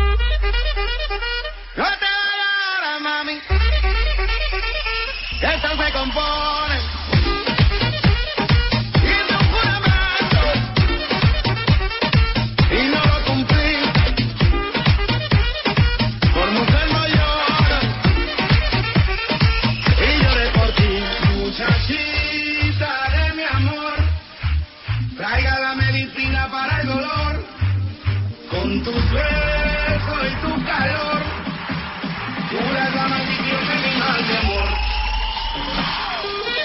No te vayas, mami, que esto se compone. Hice un juramento y no lo cumplí. Por mujer no lloro y lloré por ti. Muchachita de mi amor, traiga la medicina para el dolor. Con tu beso y tu calor, tú eres la maldición de mi mal de amor.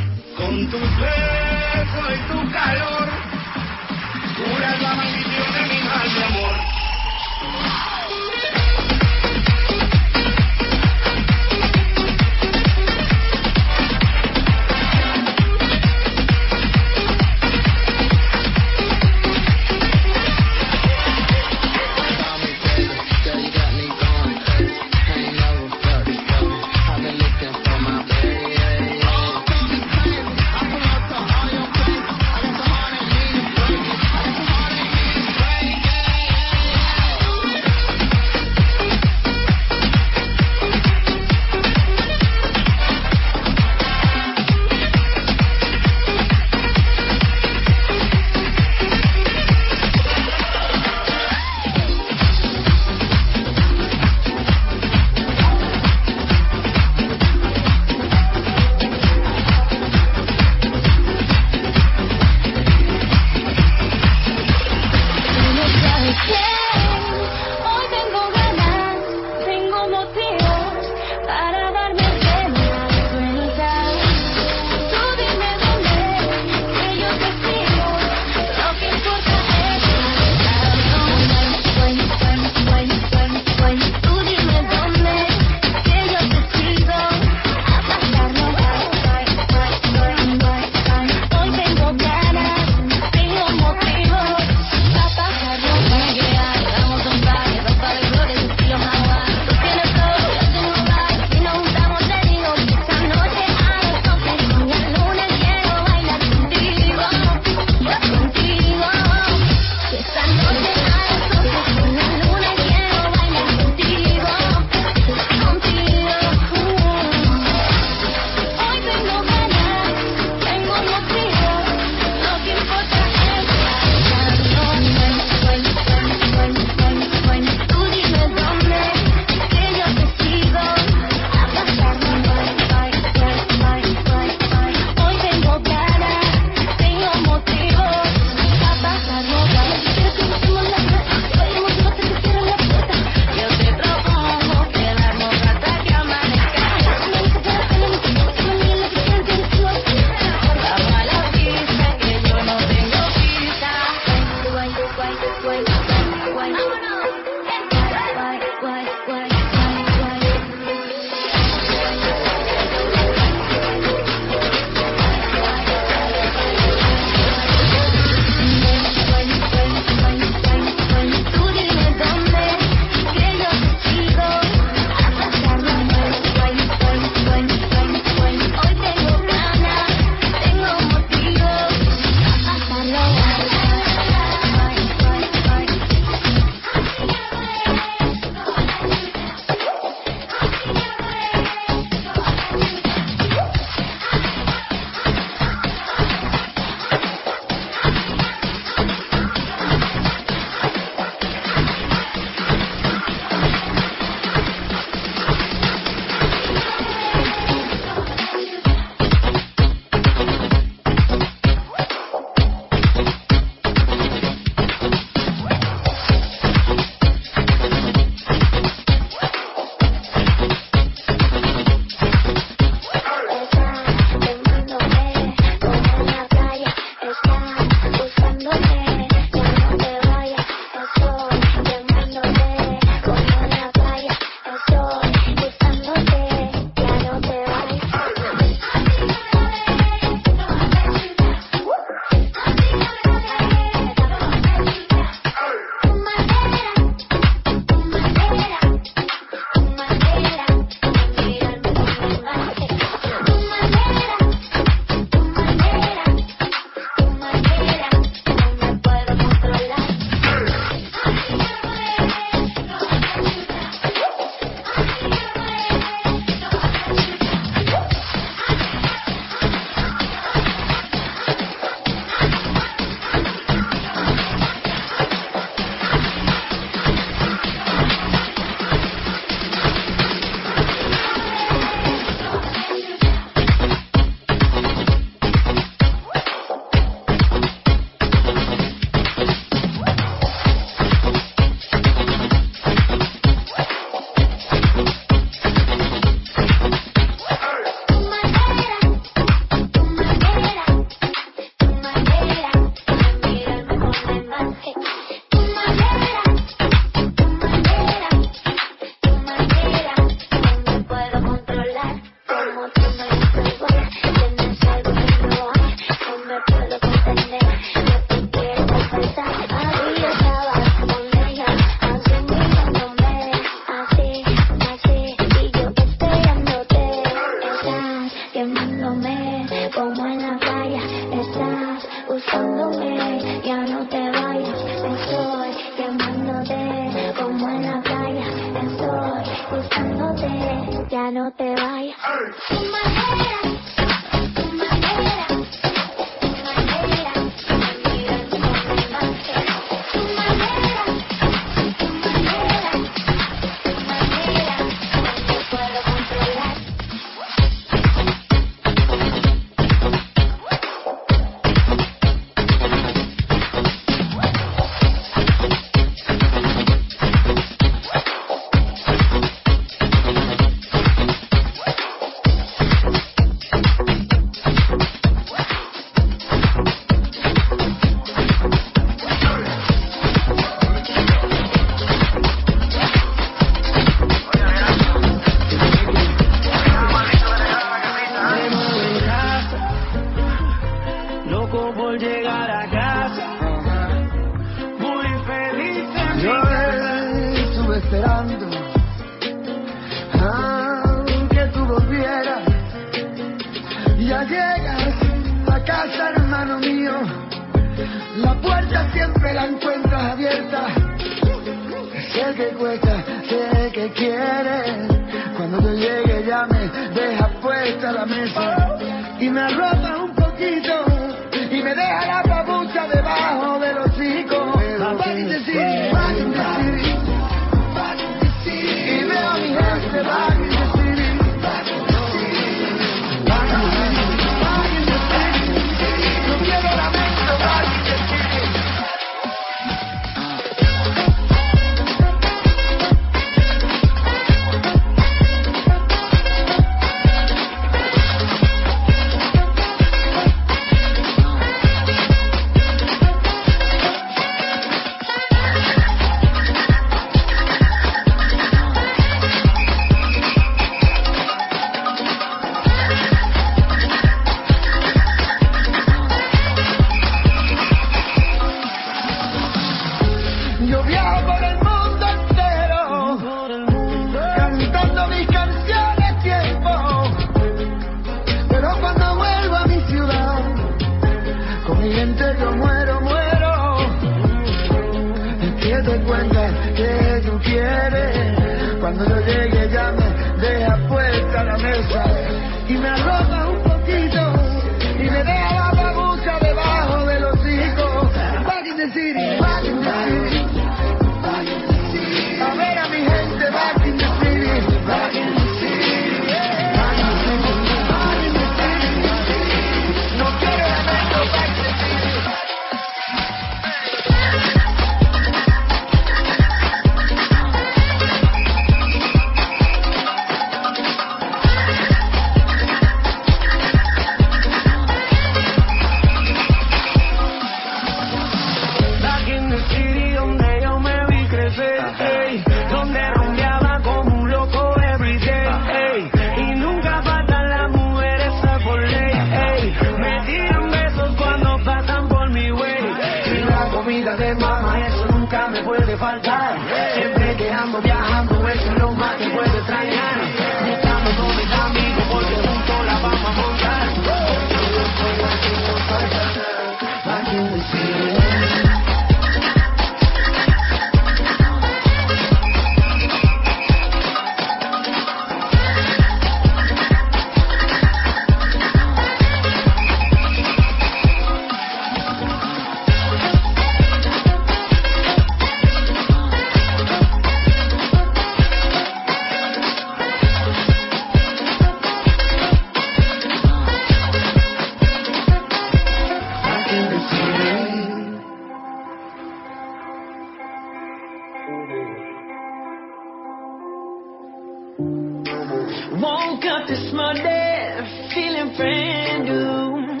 Woke up this morning, feeling brand new.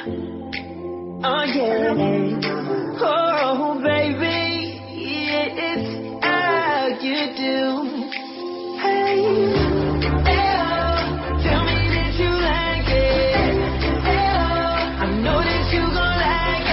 Oh yeah, oh baby, it's how you do. Hey, hey, oh, tell me that you like it. Hey, oh, I know that you gon' like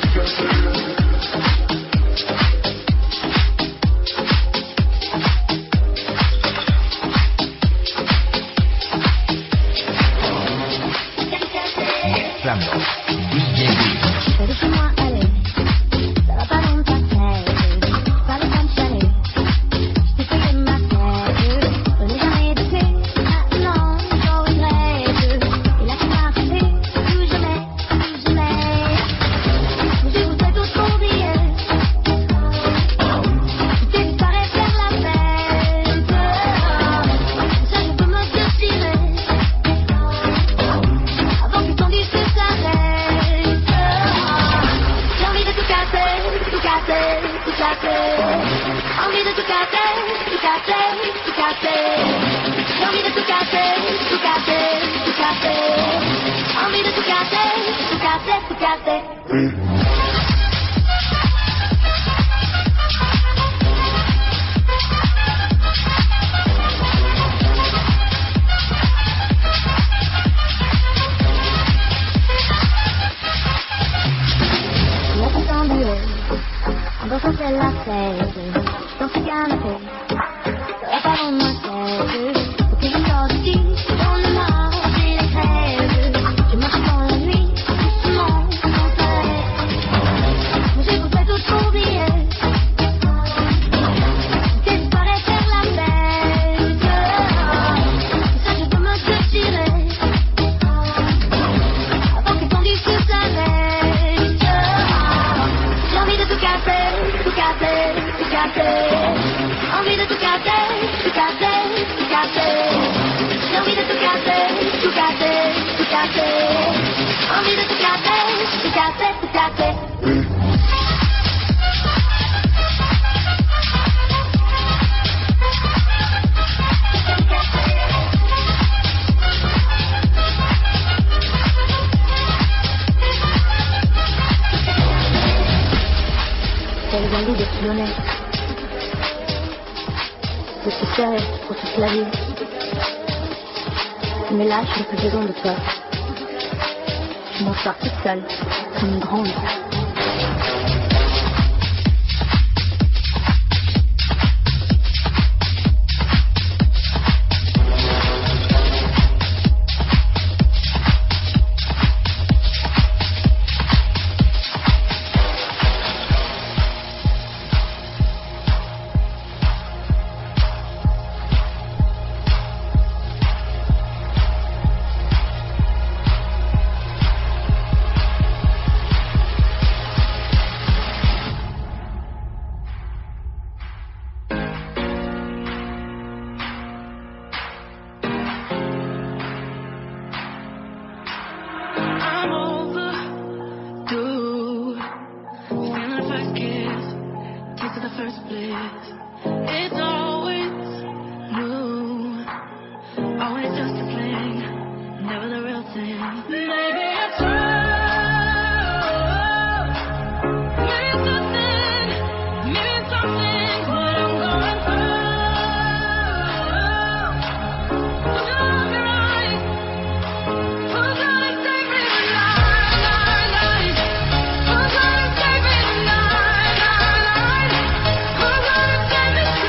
Mais là, je n'ai plus besoin de toi. Je m'en sors toute seule, comme une grande. Who's gonna save me tonight?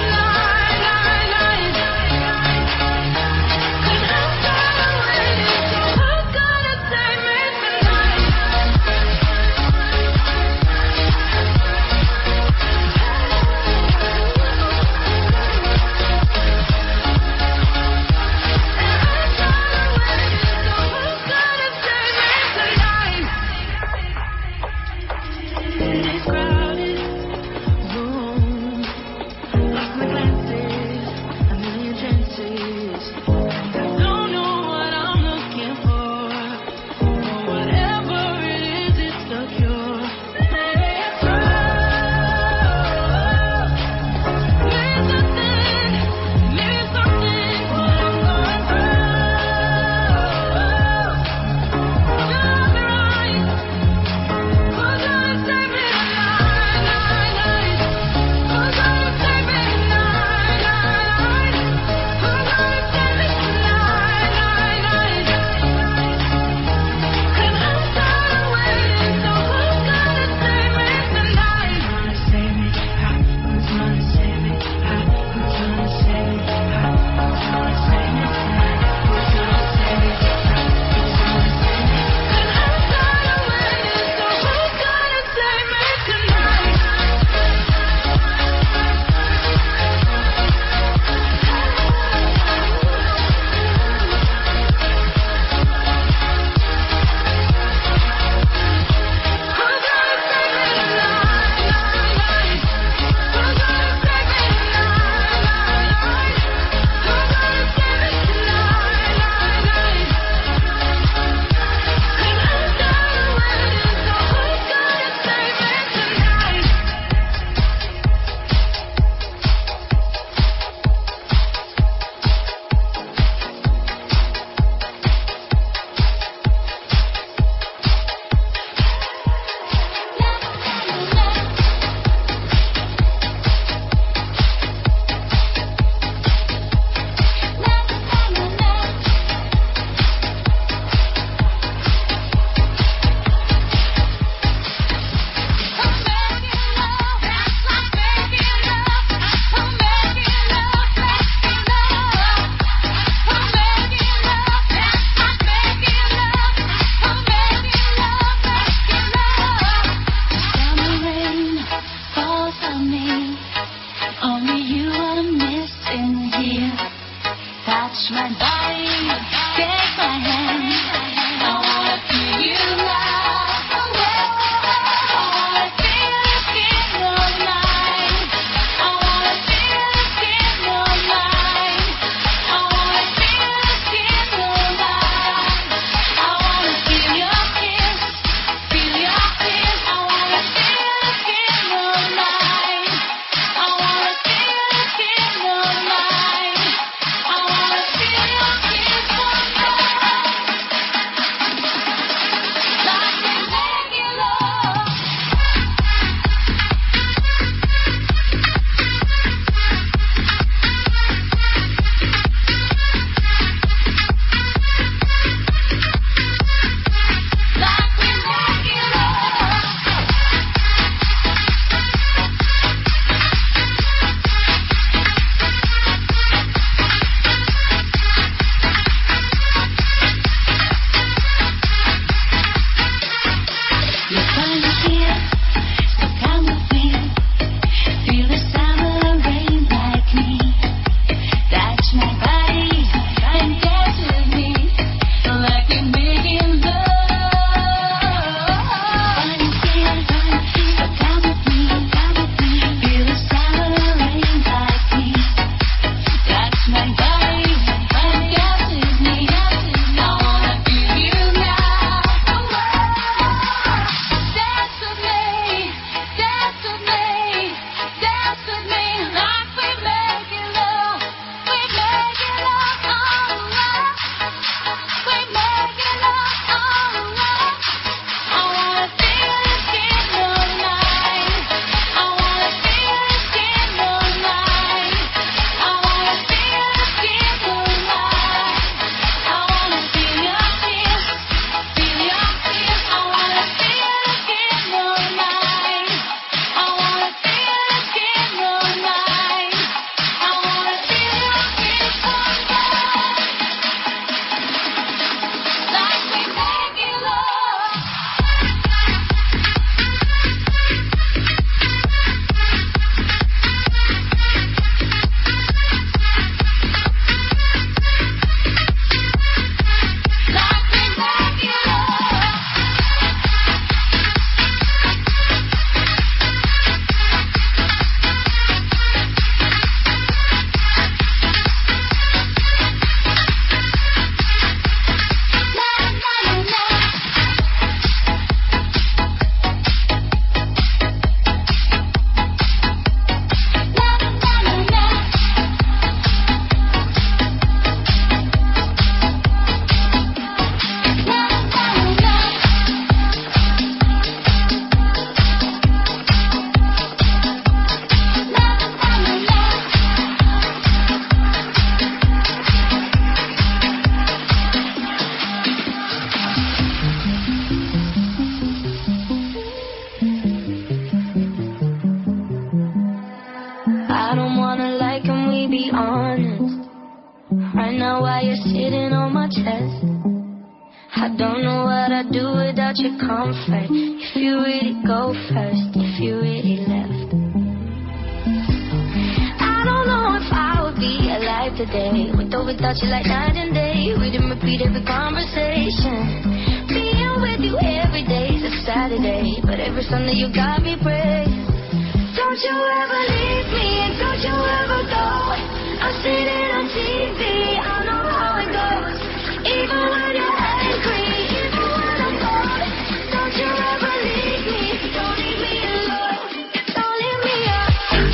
now while you're sitting on my chest. I don't know what I'd do without your comfort. If you really go first, if you really left. I don't know if I would be alive today, with or without you like night and day. We didn't repeat every conversation. Being with you every day's a Saturday, but every Sunday you got me praying. Don't you ever leave me, and don't you ever go. I've seen it on T V, I know how it goes. Even when you're angry, even when I'm bored, don't you ever leave me, don't leave me alone, don't leave me up.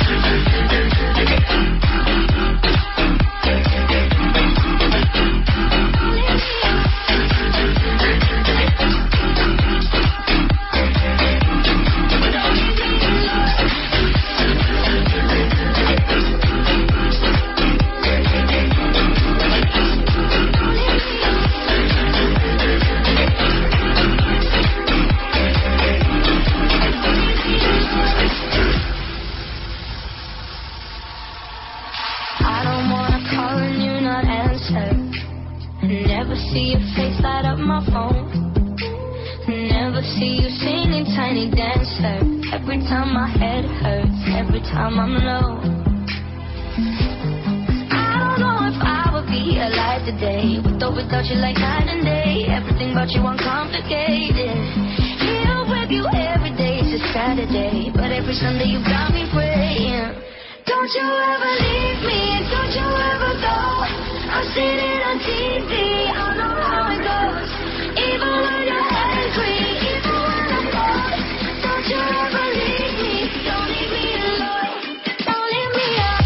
Never see your face light up my phone. Never see you singing Tiny Dancer. Every time my head hurts, every time I'm low. I don't know if I would be alive today, with or without you like night and day. Everything about you uncomplicated. Here with you every day is a Saturday, but every Sunday you got me praying. Don't you ever leave me, and don't you ever go. I've seen it on T V, I know how it goes. Even when you're angry, even when I'm bored, don't you ever leave me, don't leave me alone, don't leave me up.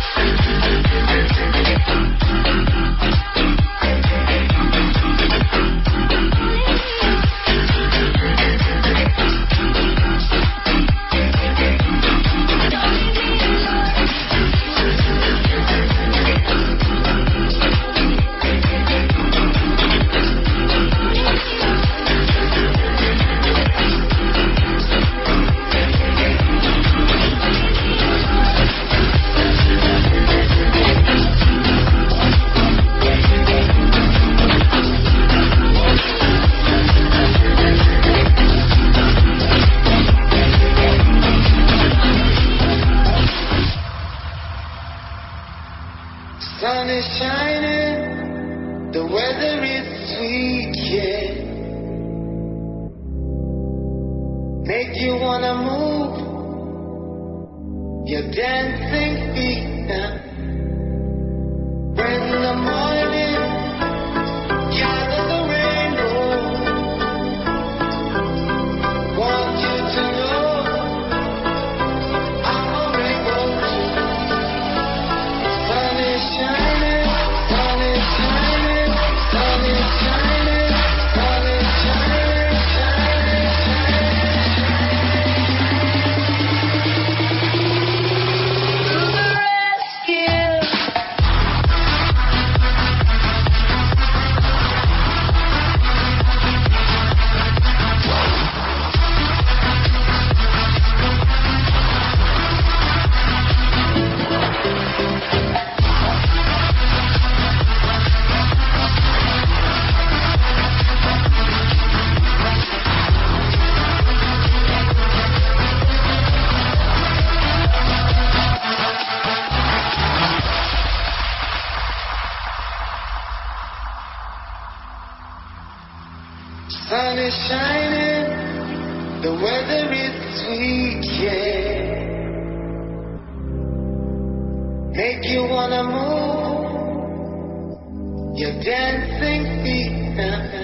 Sun is shining, the weather is sweet, yeah. Make you wanna move your dancing feet now. In the morning, gather the rainbow. Want you to know I'm a rainbow too. Sun is shining, sun is shining, sun is shining, sun is shining, shining, shining. To the rescue. Sun is shining, the weather is sweet, yeah. Make you wanna move your dancing feet now.